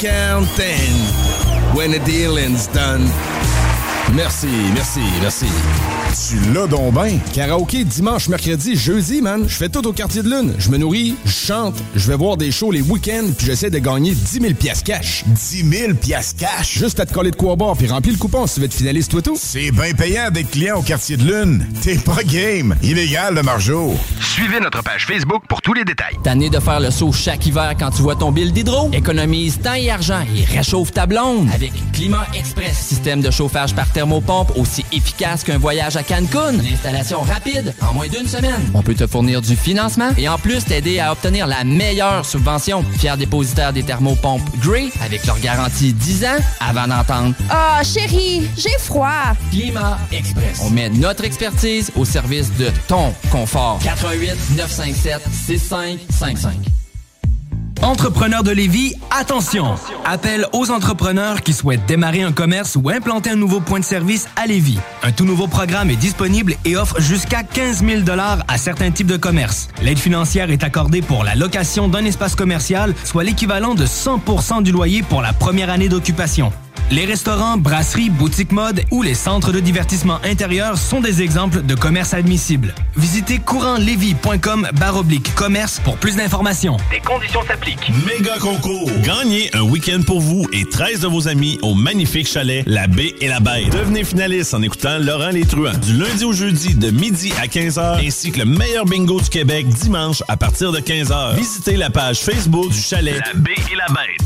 counting when the dealing's done. Merci, merci, merci. Tu l'as donc ben. Karaoké dimanche, mercredi, jeudi, man. Je fais tout au Quartier de Lune. Je me nourris, je chante, je vais voir des shows les week-ends, puis j'essaie de gagner 10 000 piastres cash. 10 000 piastres cash? Juste à te coller de quoi boire, puis remplis le coupon si tu veux être finaliste, toi tout. C'est bien payant d'être client au Quartier de Lune. T'es pas game. Illégal, le margeau. Suivez notre page Facebook pour tous les détails. Tanné de faire le saut chaque hiver quand tu vois ton bill d'hydro? Économise temps et argent et réchauffe ta blonde avec Climat Express. Système de chauffage par thermopompe aussi efficace qu'un voyage à Cancun. Une installation rapide en moins d'1 semaine. On peut te fournir du financement et en plus t'aider à obtenir la meilleure subvention. Fier dépositaire des thermopompes Grey avec leur garantie 10 ans avant d'entendre « Ah, chérie, j'ai froid! » Climat Express. On met notre expertise au service de ton confort. 88 957 6555. Entrepreneurs de Lévis, attention! Appel aux entrepreneurs qui souhaitent démarrer un commerce ou implanter un nouveau point de service à Lévis. Un tout nouveau programme est disponible et offre jusqu'à 15 000 $ à certains types de commerces. L'aide financière est accordée pour la location d'un espace commercial, soit l'équivalent de 100% du loyer pour la première année d'occupation. Les restaurants, brasseries, boutiques mode ou les centres de divertissement intérieur sont des exemples de commerces admissibles. Visitez courantlévis.com/commerce pour plus d'informations. Des conditions s'appliquent. Méga concours. Gagnez un week-end pour vous et 13 de vos amis au magnifique chalet La Baie et la Bête. Devenez finaliste en écoutant Laurent Les Truands du lundi au jeudi de midi à 15h ainsi que le meilleur bingo du Québec dimanche à partir de 15h. Visitez la page Facebook du chalet La Baie et la Bête.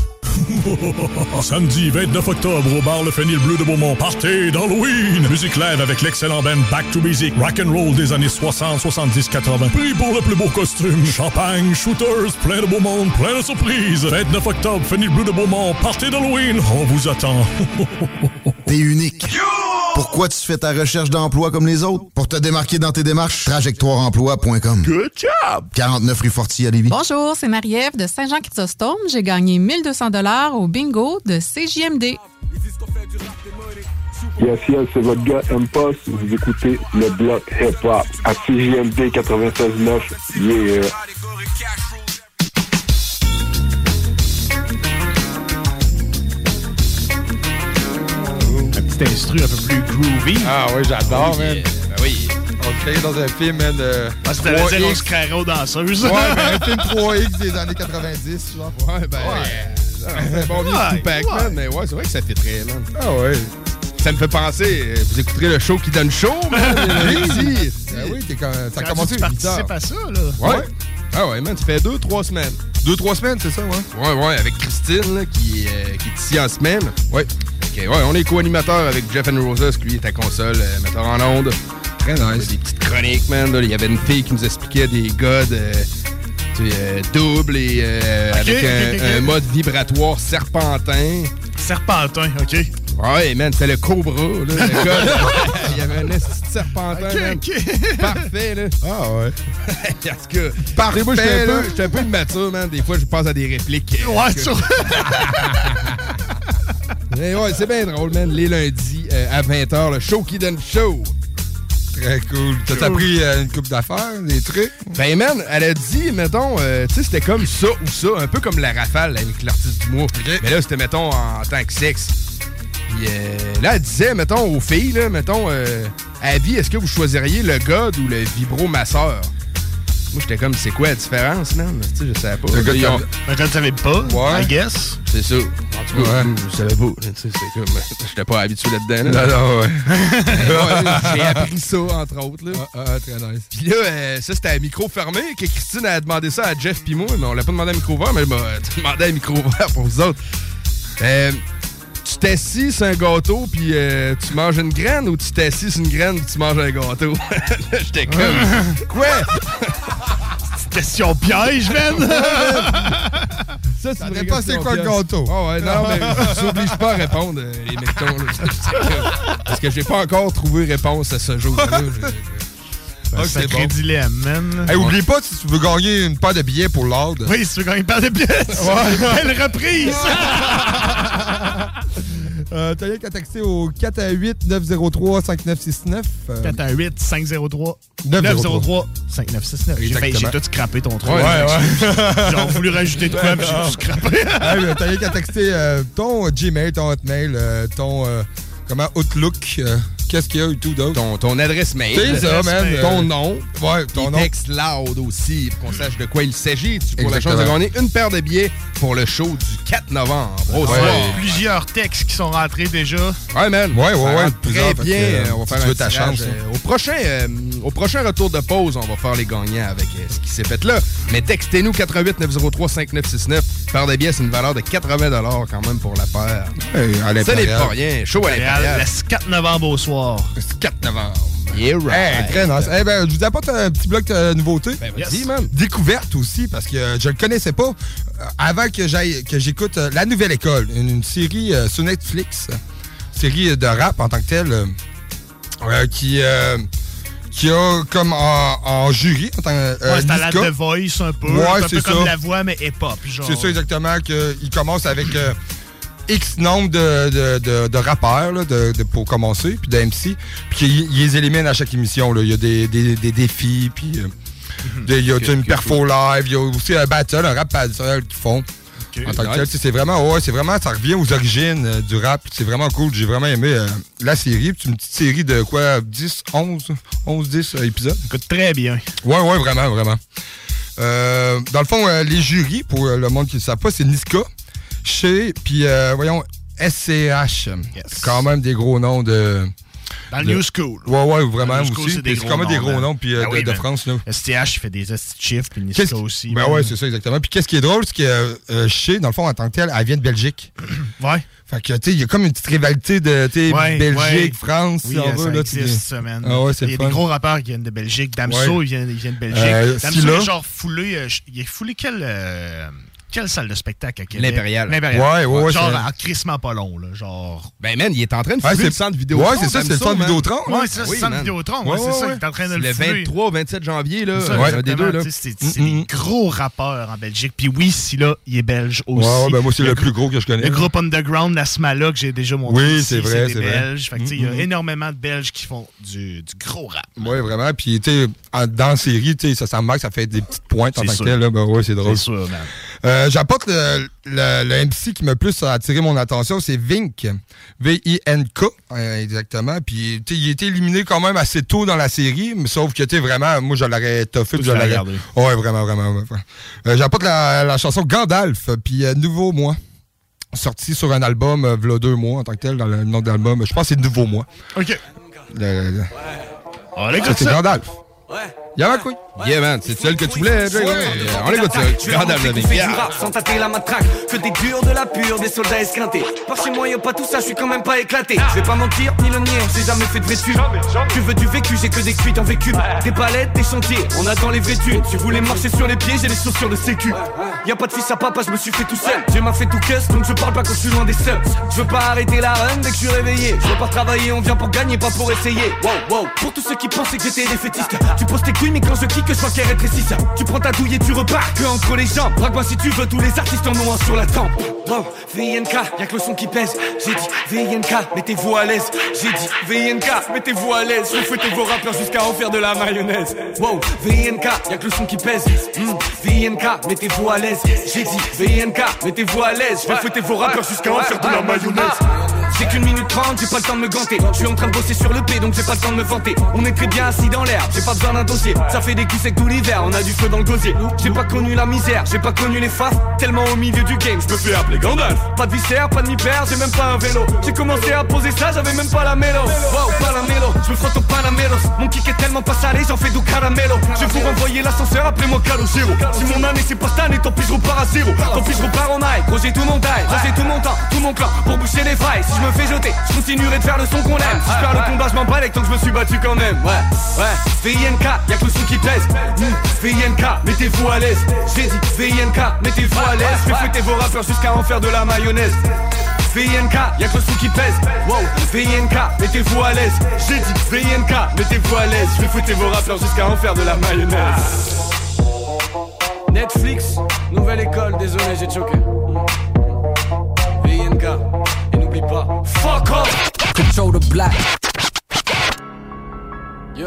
Samedi 29 octobre au bar Le Fenil Bleu de Beaumont, partez d'Halloween! Musique live avec l'excellent band Back to Basic, rock'n'roll des années 60, 70, 80. Prix pour le plus beau costume, champagne, shooters, plein de beau monde, plein de surprises. 29 octobre, Fenil Bleu de Beaumont, partez d'Halloween, on vous attend. T'es unique. Pourquoi tu fais ta recherche d'emploi comme les autres? Pour te démarquer dans tes démarches, trajectoireemploi.com. Good job! 49 rue Fortier à Lévis. Bonjour, c'est Marie-Ève de Saint-Jean-Chrysostome. J'ai gagné 1200 $ au bingo de CJMD. Yes, c'est votre gars M-Post. Vous écoutez le bloc hip-hop à CJMD 96.9. Yeah! Petit instru un peu plus groovy. Ah oui, j'adore, man. Ben oui. On le créait dans un film, man, de... Ah, c'était la Rose Carreau danseuse. Ouais, ben un film 3X des années 90, genre. Ouais, ben... C'est bon vieux Tupac, man, mais ouais, c'est vrai que ça fait très, man. Ah ouais. Ça me fait penser, vous écouterez le show qui donne chaud, man. Oui, t'es quand ça a commencé. Tu participes à ça, là. Ouais. Ah ouais, man, ça fait 2-3 semaines. 2-3 semaines, c'est ça, ouais? Ouais, avec Christine, là, qui est ici en semaine. Ouais. OK, ouais, on est co-animateur avec Jeff and Roses, qui lui est à console, metteur en onde. Très nice. Des petites chroniques, man. Il y avait une fille qui nous expliquait des gars doubles et avec un mode vibratoire serpentin. Serpentin, OK. Ouais, man, c'était le Cobra, là. Le gars, il y avait un esti de serpentin, man. Parfait, là. Ah ouais. Parce que... Parfait, moi, je suis un peu immature, man. Des fois, je pense à des répliques. Ouais, sûr. Mais ouais, c'est bien drôle, man. Les lundis à 20h, le show qui donne chaud. Très cool. T'as appris une couple d'affaires, des trucs? Ben, man, elle a dit, mettons, tu sais, c'était comme ça ou ça, un peu comme la rafale avec l'artiste du mois. Okay. Mais là, c'était, mettons, en tant que sexe. Puis là, elle disait, mettons, aux filles, là, mettons, à vie, est-ce que vous choisiriez le God ou le vibromasseur? Moi, j'étais comme, c'est quoi la différence, man? Tu sais, je savais pas. Je ne savais pas, ouais. I guess. C'est ça. En tout cas, je savais pas. Tu sais, c'est comme, j'étais pas habitué là-dedans. Là. Non, ouais. J'ai appris ça, entre autres. Là. Très nice. Puis là, ça, c'était à micro fermé, que Christine a demandé ça à Jeff pis moi, mais on l'a pas demandé à micro ouvert, mais elle m'a demandé à micro ouvert pour vous autres. Tu t'assis sur un gâteau puis tu manges une graine ou tu t'assis sur une graine puis tu manges un gâteau? J'étais comme... Quoi? Question piège, man! Ça, c'est vrai pas c'est quoi le gâteau? Oh ouais, non, mais je s'oblige pas à répondre, les mettons. Parce que j'ai pas encore trouvé réponse à ce jour-là. Un sacré dilemme, man. Hey, oublie pas, si tu veux gagner une paire de billets pour l'ordre. Oui, si tu veux gagner une paire de billets. Quelle reprise! T'as rien qu'à texter au 418-903-5969. 418-503-903-5969. J'ai tout scrappé ton truc. Ouais. J'ai voulu rajouter de quoi, mais j'ai tout scrappé. T'as rien qu'à texter ton Gmail, ton Hotmail, ton Outlook, qu'est-ce qu'il y a et tout d'autre. Ton adresse mail. C'est ça, man. Ton nom. Ouais, ton nom. Texte loud aussi, pour qu'on sache de quoi il s'agit. Tu pour la chance de gagner une paire de billets pour le show du 4 novembre. Plusieurs textes qui sont rentrés déjà. Ouais, man. Ouais. Très bien. On va faire ta chance. Au prochain retour de pause, on va faire les gagnants avec ce qui s'est fait là. Mais textez-nous 88 903 5969. Paire de billets, c'est une valeur de 80 $ quand même pour la paire. Ça n'est pas rien. Show à l'Impérial. Le 4 novembre au soir. Le 4 novembre. Yeah, right. Très nice. Je vous apporte un petit bloc de nouveautés. Vas-y, man. Découverte aussi, parce que je le connaissais pas. Avant que j'écoute La Nouvelle École, une série sur Netflix, série de rap en tant que telle, qui a comme en jury en tant que c'est à la The Voice un peu. Ouais, c'est un peu comme La Voix, mais hip-hop. C'est ça exactement, qu'il commence avec X nombre de rappeurs là, pour commencer, puis de MC, puis qu'ils les éliminent à chaque émission. Là. Il y a des défis, puis il y a une perfo live, il y a aussi un battle, un rap battle qu'ils font. En tant que tel, c'est vraiment, ça revient aux origines du rap. C'est vraiment cool. J'ai vraiment aimé la série. C'est une petite série de quoi, 10 épisodes. Écoute, très bien. Ouais, vraiment. Dans le fond, les jurys, pour le monde qui ne le savent pas, c'est Niska, puis SCH. Yes. Quand même des gros noms de... Dans le New School. Ouais, vraiment aussi. C'est quand même des gros noms puis, de France. Là. STH, il fait des chiffres, puis Niska aussi. Ben ouais, c'est ça, exactement. Puis qu'est-ce qui est drôle, c'est que Shea, dans le fond, en tant que tel, elle vient de Belgique. Ouais. Fait que, tu sais, il y a comme une petite rivalité de Belgique, France, si on veut. Ça existe, ça, man. Ah ouais, c'est il y a des gros rappeurs qui viennent de Belgique. Damso, il vient de Belgique. Damso, il est genre foulé. Il est foulé quelle salle de spectacle à Québec? L'Impérial. Ouais. Genre, en crissement pas long, là. Genre. Ben, man, il est en train de fouler le centre Vidéotron. Ouais, c'est ça, c'est le centre Vidéotron. Ouais, c'est ça, c'est le centre Vidéotron. Ouais, c'est ça, il est en train de le fouler. Le 23-27 janvier, là. C'est des deux, là. C'est des gros rappeurs en Belgique. Puis oui, Scylla, il est belge aussi. Ouais, ben, moi, c'est le plus gros que je connais. Le groupe Underground, la Smala, que j'ai déjà montré. Oui, c'est vrai, c'est des Belges. Fait que, il y a énormément de Belges qui font du gros rap. Ouais, vraiment. Puis, tu sais, dans la série, tu sais, ça me marque, ça fait des petites pointes en tant que tel, là. Ben, ouais, c'est drôle. C'est sûr, man. J'apporte le MC qui m'a plus attiré mon attention, c'est Vink. V-I-N-K, exactement. Puis, tu sais, il a été éliminé quand même assez tôt dans la série, mais sauf que, tu sais, vraiment, moi, je l'aurais toffé. Je l'aurais regardé. Ouais, vraiment. J'apporte la chanson Gandalf, puis Nouveau Moi. Sorti sur un album, v'là 2 mois, en tant que tel, dans le nom de l'album. Je pense que c'est Nouveau Moi. OK. On écoute ça. C'est Gandalf. Ouais. Y'a quoi? Yeah, man, c'est celle que tu voulais, Jay. On écoute ça. Gandalf, le du rap sans tâter la matraque. Que des durs, de la pure, des soldats esquintés. Par chez moi, y'a pas tout ça, je suis quand même pas éclaté. Je vais pas mentir, ni le nier, j'ai jamais fait de vécu. Tu veux du vécu, j'ai que des cuites en vécu. Des palettes, des chantiers, on attend les vêtus. Tu voulais marcher sur les pieds, j'ai les chaussures de sécu. Y'a pas de fils à papa, je me suis fait tout seul. J'ai m'a fait tout cuss, donc je parle pas quand je suis loin des seuls. Je veux pas arrêter la run dès que je suis réveillé. Je veux pas travailler, on vient pour gagner, pas pour essayer. Wow. Pour tous ceux qui pensaient que j'étais défaitiste, tu poses tes couilles, mais quand je kick, je vois qu'elles rétrécissent. Tu prends ta douille et tu repars que entre les jambes. Braque-moi si tu veux, tous les artistes en ont un sur la tempe. Wow, VNK, y'a que le son qui pèse. J'ai dit VNK, mettez-vous à l'aise. J'ai dit VNK, mettez-vous à l'aise. Je vais fouetter vos rappeurs jusqu'à en faire de la mayonnaise. Wow, VNK, y'a que le son qui pèse. VNK, mettez-vous à l'aise. J'ai dit VNK, mettez-vous à l'aise. Je vais fouetter vos rappeurs jusqu'à en faire de la mayonnaise. J'ai qu'une minute 30, j'ai pas le temps de me ganter. Je suis en train de bosser sur le P, donc j'ai pas le temps de me vanter. On est très bien assis dans l'herbe, j'ai pas besoin d'un dossier. Ça fait des coups secs tout l'hiver, on a du feu dans le gosier. J'ai pas connu la misère, j'ai pas connu les faces. Tellement au milieu du game, je me fais appeler Gandalf. Pas de viscère, pas de mi-père, j'ai même pas un vélo. J'ai commencé à poser ça, j'avais même pas la mélo. Wow, pas la mélo, je me frotte au Panamelos. Mon kick est tellement pas salé, j'en fais du caramelo. Je vais vous renvoyer l'ascenseur, appelez-moi Calogero. Si mon année c'est pas cette année, tant pis je repars à zéro. Tant pis je repars en high, gros j'ai tout mon taille. J'ai tout mon temps, tout mon clan pour boucher les failles. Si je me fais jeter, je continuerai de faire le son qu'on aime. Si je perds le combat, je m'en bats tant que je me suis battu quand même. Ouais, VNK, y'a que le son qui pèse. VNK, mettez-vous à l'aise. J'ai dit VNK, mettez-vous à l'aise. Je vais fouetter vos rappeurs jusqu'à en faire de la mayonnaise. VNK, y'a que le son qui pèse. Wow, VNK, mettez-vous à l'aise. J'ai dit VNK, mettez-vous à l'aise. Je vais fouetter vos rappeurs jusqu'à en faire de la mayonnaise. Netflix, nouvelle école, désolé j'ai choqué. VNK, et n'oublie pas, fuck off. Control the black. Yeah.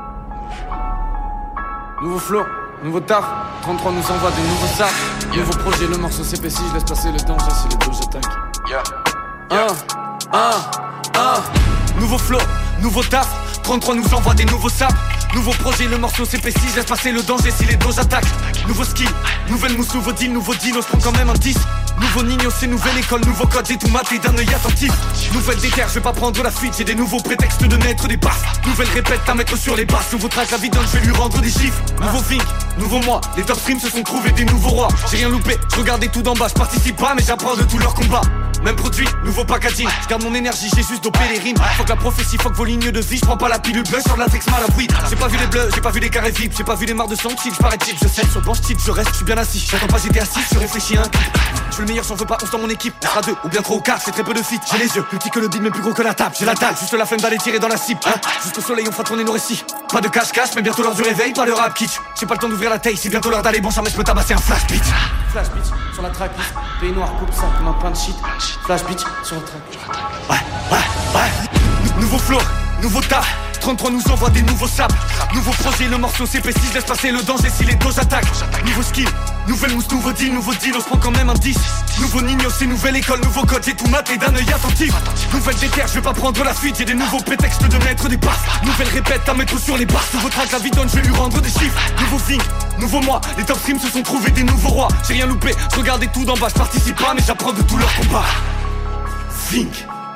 Nouveau flow, nouveau taf. 33 nous envoie de nouveaux sacs. Yeah. Nouveau projet, le morceau s'épaissit. Je laisse passer le temps, c'est les deux, j'attaque. Yeah. Nouveau flow, nouveau taf. 33 nous envoie des nouveaux saps. Nouveau projet, le morceau s'épaissit, laisse passer le danger si les doses attaquent. Nouveau skill, nouvelle mousse, nouveau deal, on se prend quand même un 10. Nouveau Nino, c'est nouvelle école, nouveau code, j'ai tout maté d'un œil attentif. Nouvelle déterre, je vais pas prendre la fuite, j'ai des nouveaux prétextes de mettre des baffes. Nouvelle répète à mettre sur les basses, nouveau track, la vie donne, je vais lui rendre des chiffres. Nouveau Vink, nouveau moi, les top streams se sont trouvés des nouveaux rois. J'ai rien loupé, je regardais tout d'en bas, je participe pas mais j'apprends de tous leurs combats. Même produit, nouveau packaging, je garde mon énergie, j'ai juste dopé les rimes. Fuck la prophétie, fuck vos lignes de vie, je prends pas la pilule bleue sur la latex mal à bruit. J'ai pas vu les bleus, j'ai pas vu les carrés vides, j'ai pas vu les marres de sang type, je parais type, je sais, sur le banc type, je reste, je suis bien assis, j'attends pas j'étais assis, je réfléchis un clip. Je veux le meilleur, j'en veux pas 11 dans mon équipe, on sera 2 ou bien 3 ou 4, c'est très peu de fit. J'ai les yeux, plus petits que le beat mais plus gros que la table, j'ai la dalle, juste la flemme d'aller tirer dans la cible, hein. Jusqu'au soleil on fera tourner nos récits. Pas de cache-cache, mais bientôt l'heure du réveil, pas le rap kitsch. J'ai pas le temps d'ouvrir la taille, c'est bientôt l'heure d'aller bon, jamais je peux tabasser un flash beat. Flash beat, sur la track, pays noir, coupe ça comme un pain de shit. Flash beat, sur la track. Ouais. Nouveau flow, nouveau taf. 33 nous envoie des nouveaux saps. Nouveau projet, le morceau s'épaissit, laisse passer le danger si les doses attaquent. Nouveau skill, nouvelle mousse, nouveau deal, on se prend quand même un 10. Nouveau Nino, c'est nouvelle école, nouveau code, j'ai tout maté d'un œil attentif. Nouvelle déterre, je vais pas prendre la fuite, j'ai des nouveaux prétextes de mettre des baffes. Nouvelle répète à mettre sur les basses, nouveau track, la vie donne, je vais lui rendre des chiffres. Nouveau Vink, nouveau moi, les top streams se sont trouvés des nouveaux rois. J'ai rien loupé, je regardais tout d'en bas, je participe pas mais j'apprends de tous leurs combats. Vink.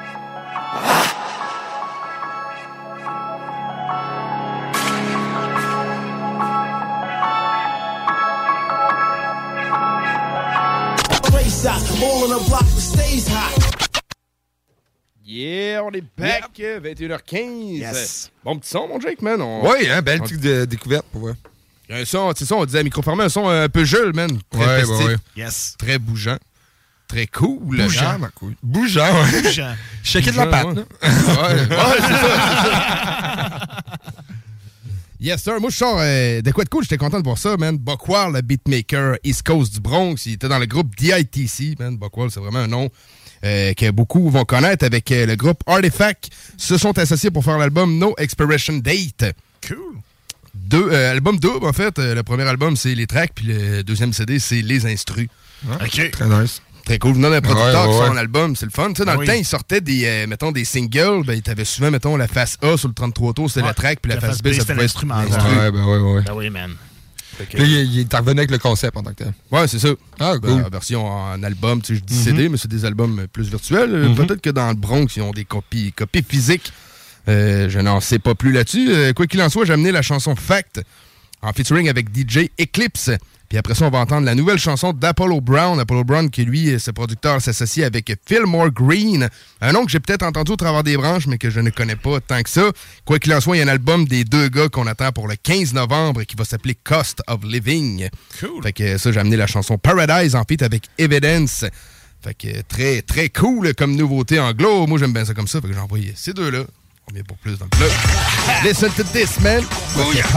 All on the block stays hot. Yeah, on est back, 21h15. Yes. Bon petit son, mon Jake, man. Oui, hein, belle petite découverte pour voir. Un son, c'est ça, on disait à micro fermé, un son un peu jeune, man. Très festif. Ouais. Yes. Très bougeant. Très cool. Bougeant, ma couille. Bougeant, ouais. Bougeant. Shaker de la patte, ouais. Ouais, c'est ça. Yes, sir. Moi, je sors de quoi de cool. J'étais content de voir ça, man. Buckwall, le beatmaker East Coast du Bronx. Il était dans le groupe DITC, man. Buckwall, c'est vraiment un nom que beaucoup vont connaître. Avec le groupe Artifact, se sont associés pour faire l'album No Expiration Date. Cool. Album double, en fait. Le premier album, c'est les tracks, puis le deuxième CD, c'est les instrus. OK. Très nice. Très cool. Venant d'un producteur qui sort un album, c'est le fun. Tu sais, dans le temps, il sortait des, mettons, des singles. Ben, il avait souvent, mettons, la face A sur le 33 tours, c'était la track, puis la face B, ça pouvait être l'instrument. Ouais. Ben oui, man. Puis il est revenu avec le concept en tant que tel. Ouais, c'est ça. Ah, cool. Version en album, tu sais, je dis CD, mais c'est des albums plus virtuels. Peut-être que dans le Bronx, ils ont des copies physiques. Je n'en sais pas plus là-dessus. Quoi qu'il en soit, j'ai amené la chanson Fact en featuring avec DJ Eclipse. Puis après ça, on va entendre la nouvelle chanson d'Apollo Brown. Apollo Brown, qui lui, ce producteur, s'associe avec Fillmore Green. Un nom que j'ai peut-être entendu au travers des branches, mais que je ne connais pas tant que ça. Quoi qu'il en soit, il y a un album des deux gars qu'on attend pour le 15 novembre qui va s'appeler Cost of Living. Cool. Fait que ça, j'ai amené la chanson Paradise en feat avec Evidence. Fait que très, très cool comme nouveauté anglo. Moi, j'aime bien ça comme ça. Fait que j'ai envoyé ces deux-là. On vient pour plus dans le club. Listen to this, man. Oh, yeah.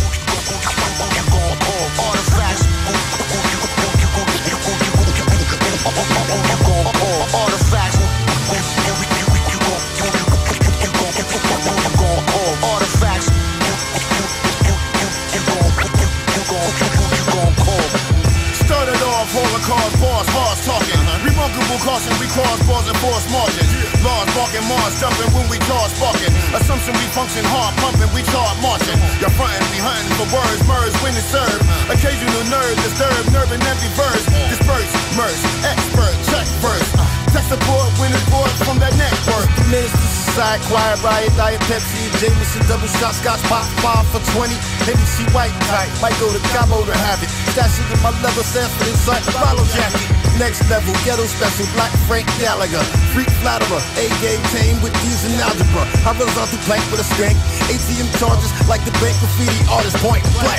Remarkable caution, we cross bars and force margins. Large barking, Mars jumping when we charge sparking. Assumption we function hard pumping, we start marching. You're frontin', we hunting for words, merge when it's served. Occasional nerve disturbed, nerve and empty verse. Disperse, merge, expert, check first. Tech support when it's bored from that network. Minister side, quiet riot, diet Pepsi, Jameson, double shot, scotch, pop, 5 for 20. Hennessy white type, might go to Cabo to have it. Stash it in my leather Sanford inside the follow jacket. Next level, ghetto special, Black Frank Gallagher. Freak flatterer, A-game tame with D's and algebra. Horizontal plank with a skank. ATM charges like the bank graffiti artist point blank.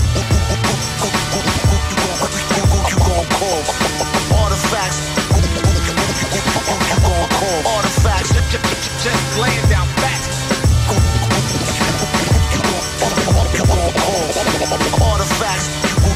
Artifacts. Artifacts. Just laying down facts. Artifacts.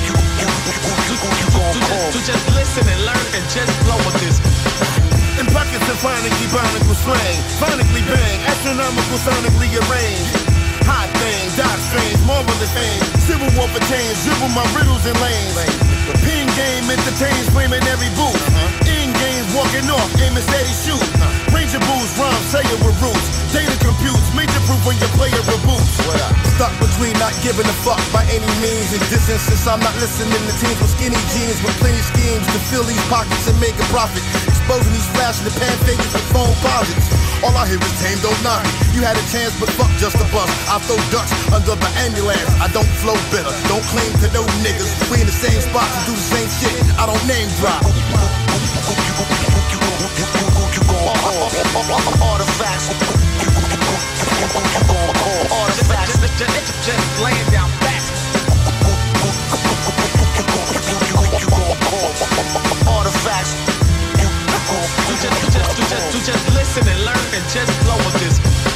To just listen and learn and just flow with this. In buckets of phonically bionical slang, phonically bang, astronomical sonically arranged. Hot thing, dot strange, marvelous fame. Civil war for change, dribble my riddles and lanes. Pin game entertains, flaming every booth. In games, walking off, aiming steady shoot. Ranger boots, rhymes, say it with roots. Data computes, major proof when your player reboots. Stuck between not giving a fuck by any means and distance, since I'm not listening to teams with skinny jeans with plenty schemes to fill these pockets and make a profit. Exposing these flash in the pan figures with phone posits. All I hear is tame, don't knock it. You had a chance, but fuck just a bust. I throw ducks under the ambulance. I don't flow bitter, don't claim to know niggas. We in the same spots and do the same shit. I don't name drop. Artifacts. Artifacts. Just laying down facts. Artifacts. Just listen and learn and just flow with this.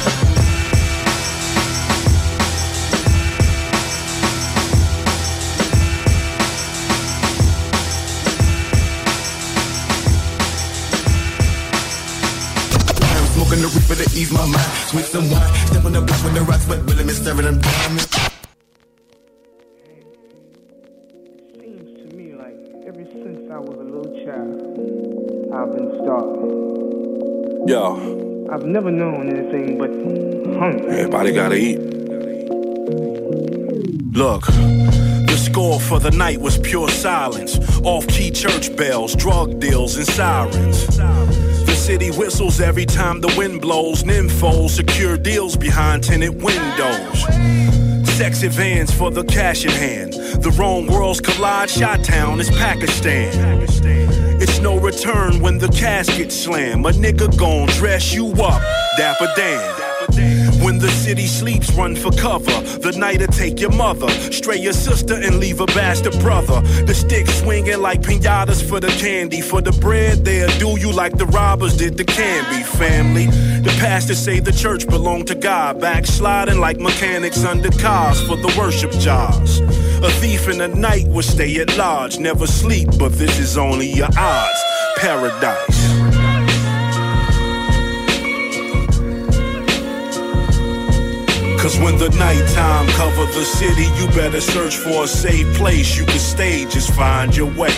Smoking the reaper to ease my mind. Switch some wine, step on the block with the rocks, but really miss staring them down. Seems to me like ever since I was a little child, I've been starving. Yo. I've never known anything but hunger. Everybody gotta eat. Look, the score for the night was pure silence. Off-key church bells, drug deals, and sirens. The city whistles every time the wind blows. Nymphos secure deals behind tinted windows. Sexy vans for the cash in hand. The wrong worlds collide. Shot-town is Pakistan. It's no return when the casket slam. A nigga gon' dress you up, Dapper Dan. When the city sleeps, run for cover. The night'll take your mother, stray your sister and leave a bastard brother. The stick swinging like pinatas for the candy. For the bread, they'll do you like the robbers did the Canby family. The pastors say the church belonged to God. Backsliding like mechanics under cars for the worship jars. A thief in the night will stay at large. Never sleep, but this is only your odds. Paradise. Cause when the nighttime cover the city, you better search for a safe place you can stay, just find your way.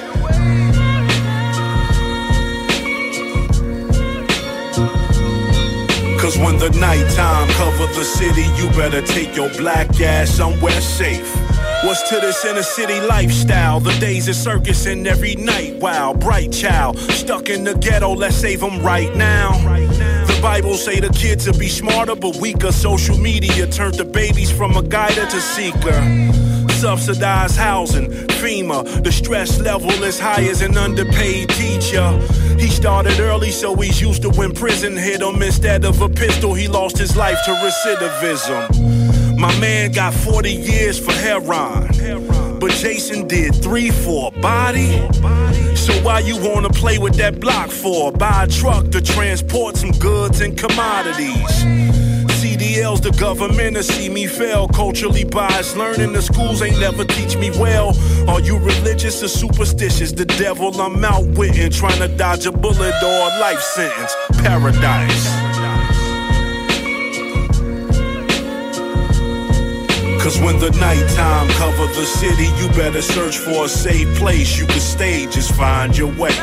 Cause when the nighttime cover the city, you better take your black ass somewhere safe. What's to this inner city lifestyle? The days of circus and every night, wow, bright child. Stuck in the ghetto, let's save them right now. The Bible say the kids will be smarter but weaker. Social media turned the babies from a guider to seeker. Subsidized housing, FEMA. The stress level is high as an underpaid teacher. He started early so he's used to when prison hit him. Instead of a pistol, he lost his life to recidivism. My man got 40 years for heroin, but Jason did 3 for a body. So why you wanna play with that block for? Buy a truck to transport some goods and commodities. CDL's the government to see me fail. Culturally biased, learning the schools ain't never teach me well. Are you religious or superstitious? The devil I'm outwitting, trying to dodge a bullet or a life sentence. Paradise. Cause when the nighttime cover the city, you better search for a safe place you can stay, just find your way.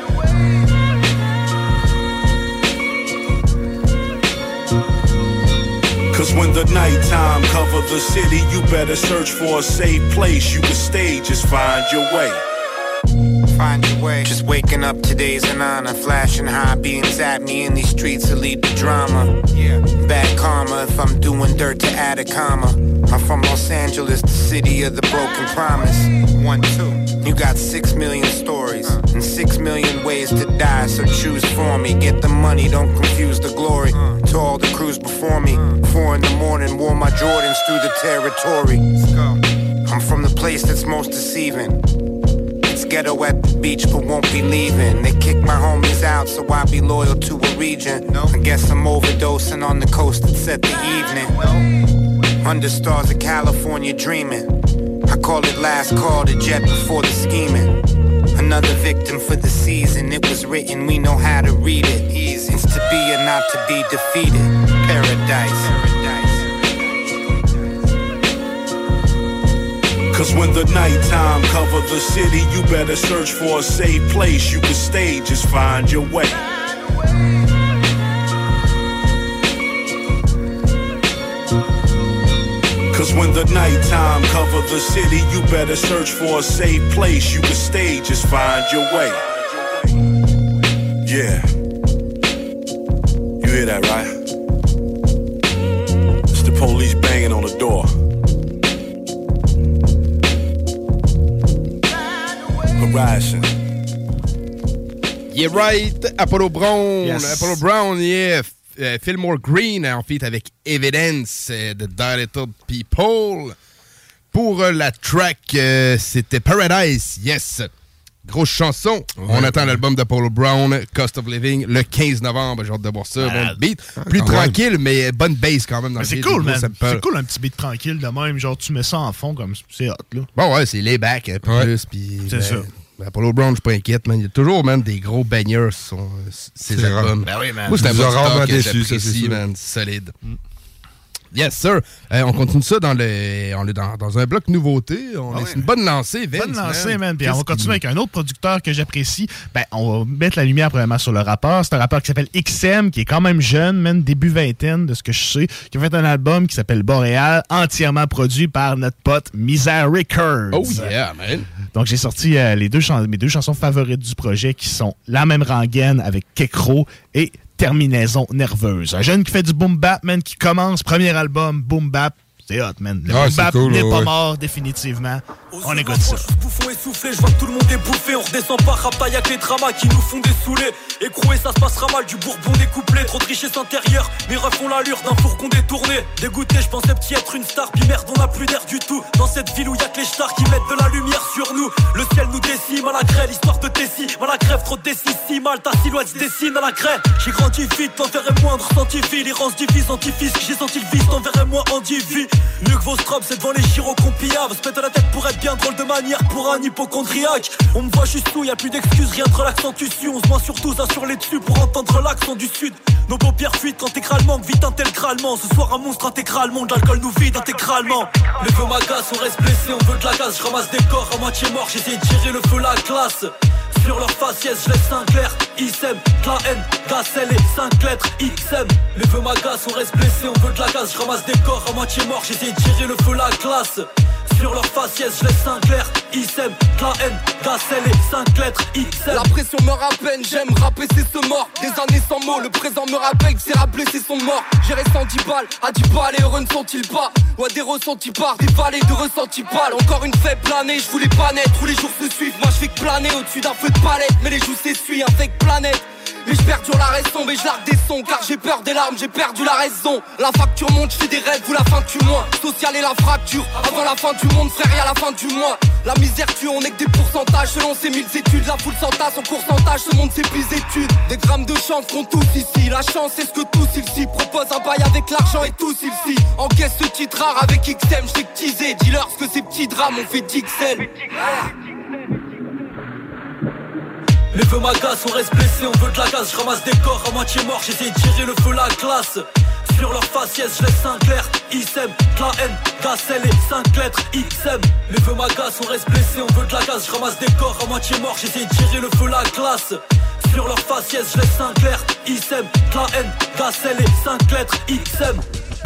Cause when the nighttime cover the city, you better search for a safe place you can stay, just find your way. Find your way. Just waking up, today's an honor. Flashing high beams at me in these streets to lead the drama. Yeah. Bad karma if I'm doing dirt to add a comma. I'm from Los Angeles, the city of the broken promise. 1, 2. You got 6 million stories and 6 million ways to die, so choose for me. Get the money, don't confuse the glory. To all the crews before me, 4 in the morning, wore my Jordans through the territory. I'm from the place that's most deceiving. Ghetto at the beach, but won't be leaving. They kick my homies out, so I be loyal to a region. I guess I'm overdosing on the coast that set the evening. Under stars of California dreaming. I call it last call, the jet before the scheming. Another victim for the season. It was written, we know how to read it. Easy. It's to be or not to be defeated. Paradise. Cause when the nighttime cover the city, you better search for a safe place you can stay, just find your way. Cause when the nighttime cover the city, you better search for a safe place you can stay, just find your way. Yeah. You hear that, right? It's the police banging on the door. Horizon. Yeah, right. Apollo Brown. Yes. Apollo Brown, yeah. Fillmore Green en feat avec Evidence de Dilated People. Pour la track, c'était Paradise, yes. Grosse chanson. Ouais. On attend l'album d'Apollo Brown, Cost of Living, le 15 novembre. J'ai hâte de voir ça. Bon beat. Plus tranquille, mais bonne bass quand même dans le beat. C'est cool, man. C'est cool, un petit beat tranquille de même. Genre, tu mets ça en fond comme c'est hot, là. Bon, ouais, c'est layback un peu plus. Pis, c'est ça. Apollo Brown, je suis pas inquiète, man. Il y a toujours, man, des gros bangers sur ses albums. Ben oui, man. Moi, c'est un rarement que déçu, j'apprécie, man. Solide. Yes, sir. On continue ça on est dans un bloc nouveauté. C'est une bonne lancée, Vince. Bonne lancée, man. Puis on va continuer avec un autre producteur que j'apprécie. Ben, on va mettre la lumière premièrement sur le rappeur. C'est un rappeur qui s'appelle XM, qui est quand même jeune, man, début vingtaine, de ce que je sais, qui a fait un album qui s'appelle Boréal, entièrement produit par notre pote Misère Records. Oh yeah, man. Donc, j'ai sorti mes deux chansons favorites du projet, qui sont La même rengaine avec Kekro et Terminaison nerveuse. Un jeune qui fait du boom bap, man, qui commence, premier album, boom bap. C'est hot, man. Le boom bap n'est pas mort, définitivement. On écoute ça. Bouffon essoufflé, je vois que tout le monde est bouffé. On redescend pas, rap, y'a que les dramas qui nous font dessouler. Écroué, ça se passera mal, du bourbon découplé. Trop de richesse intérieure, mes refs ont l'allure d'un fourgon détourné. Dégoûté, je pensais petit être une star, puis merde, on a plus d'air du tout. Dans cette ville où y'a que les stars qui mettent de la lumière sur nous. Le ciel nous décime à la craie, l'histoire de Tessie. À la crève, trop de décis, si mal, ta silhouette se dessine à la craie. J'ai grandi vite, l'envers est moindre, senti vie. L'errance divise, anti-fisc, j'ai senti le vice, l'envers est moins endivi. Mieux que vos strobes, c'est devant les gyros qu'on pillave. Se mettre la tête pour être bien drôle de manière pour un hypochondriaque. On me voit juste où, y'a plus d'excuses, rien de relaxant tu sues. On se voit surtout ça sur les dessus pour entendre l'accent du sud. Nos paupières fuitent intégralement, vite intégralement. Ce soir un monstre intégralement, de l'alcool nous vide intégralement. Les feux m'agacent, on reste blessé, on veut de la gaz. Je ramasse des corps à moitié morts, j'essaie de tirer le feu la glace. Sur leur faciès, je laisse un clair, ISM, de la haine, gacelle et 5 lettres, XM. Les feux m'agacent, on reste blessé, on veut de la gaz. Je ramasse des corps à moitié morts, j'essaie de tirer le feu la glace. Sur leur faciès, je laisse un clair, ISM, de la haine, gacelle et 5 lettres, XM. La pression me rappelle, j'aime rapper, c'est ce mort. Des années sans mots, le présent me rappelle que c'est rappelé, c'est son mort. J'ai resté en 10 balles, à 10 balles et heureux ne sont-ils pas. Ouais, des ressentis par des vallées de ressentis pâles. Encore une faible planée, je voulais pas naître, tous les jours se suivent. Moi je fais que planer au-dessus d'un feu de palette. Mais les joues s'essuient, un fake planète. Mais je perdure la raison, mais je largue des sons. Car j'ai peur des larmes, j'ai perdu la raison. La facture monte, je fais des rêves ou la fin du mois. Social et la fracture, avant la fin du monde, frère, y'a la fin du mois. La misère tue, on est que des pourcentages. Selon ces 1000 études, la foule s'entasse en pourcentage. Ce monde c'est plus études. Des grammes de chance qu'on tous ici. La chance c'est ce que tous ils proposent un bail avec l'argent et tous ils encaisse ce titre rare avec XM, j't'ai teasé. Dis-leur ce que ces petits drames ont fait d'XL. Les feux m'agacent, on reste blessé, on veut de la gaz. Je ramasse des corps à moitié morts, j'essaie de tirer le feu la glace. Sur leur faciès, je laisse un clair, ISM, de la haine, gacelle et 5 lettres, XM. Les feux m'agacent, on reste blessé, on veut de la gaz. Je ramasse des corps à moitié morts, j'essaie de tirer le feu la glace. Sur leur faciès, je laisse un clair, ISM, de la haine, gacelle et 5 lettres, XM.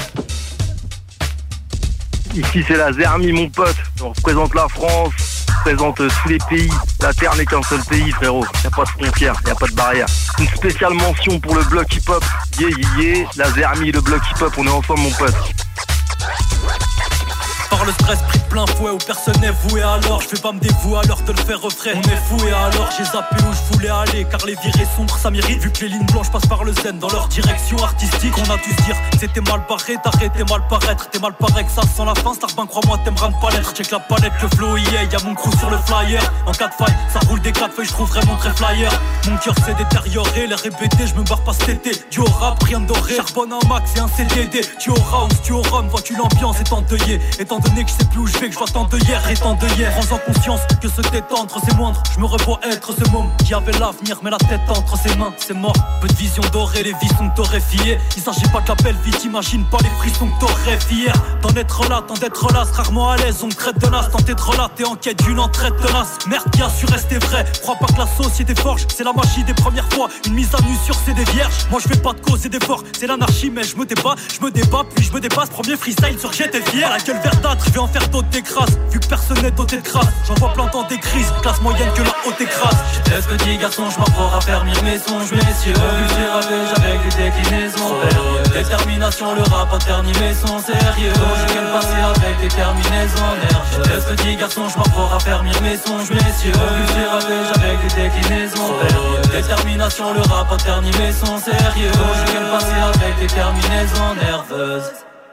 Ici c'est la Zermi mon pote, on représente la France, on représente tous les pays. La terre n'est qu'un seul pays frérot, y'a pas de frontières, y'a pas de barrière. Une spéciale mention pour le bloc hip-hop, la Zermi, le bloc hip-hop, on est ensemble mon pote. Par le stress pris de plein fouet où personne n'est voué alors je vais pas me dévouer à l'heure de le faire refrain. On est fou et alors j'ai zappé où je voulais aller car les virées sombres ça m'irrite. Vu que les lignes blanches passent par le zen dans leur direction artistique. On a dû se dire c'était mal barré, t'arrêtais mal paraître. T'es mal paré que ça sent la fin, Starbin crois-moi t'aimeras ne pas l'être. Check la palette, le flow yeah, y'a mon crew sur le flyer. En 4 failles, ça roule des 4 feuilles, je trouve vraiment très flyer. Mon cœur s'est détérioré, les répétés, je me barre pas cet été. Du au rap, rien de doré, charbonne un max et un CDD. Tu au round, tu au rhum, vois-tu l'ambiance est endeuillée. Étant donné que je sais plus où je vais, fait que je vois tant de hier et tant de hier. Prends en conscience que se détendre c'est moindre. Je me revois être ce môme qui avait l'avenir mais la tête entre ses mains. C'est mort, peu de vision dorée, les vies sont torréfiées. Il s'agit pas de la belle vie, t'imagines pas les frissons que t'aurais fier. D'en être là, tant d'être là, rarement à l'aise, on me traite de nas. Tant d'être là, t'es en quête d'une entraide tenace. Merde, bien sûr, rester vrai. Crois pas que la société forge, c'est la magie des premières fois. Une mise à nu sur c'est des vierges. Moi je fais pas de cause et d'efforts, c'est l'anarchie, mais je me débat, puis je me dépasse. Premier freestyle sur j'étais fier. La gueule verdâtre, je vais en faire d'autres des crasses. Vu que personne n'est doté de crasse, j'en vois plein dans des crises. Classe moyenne que la haute écrase. J'étais ce petit garçon, je m'apprends à faire mes songes, messieurs. J'ai ravage avec des déclinaisons. Détermination, le rap interdit mais son sérieux. J'ai le passé avec des terminaisons nerfs. J'étais ce petit garçon, je m'apprends à faire mes songes, messieurs. J'ai ravage avec des déclinaisons. Détermination, le rap interdit mais son sérieux. J'ai le passé avec des terminaisons nerveuses.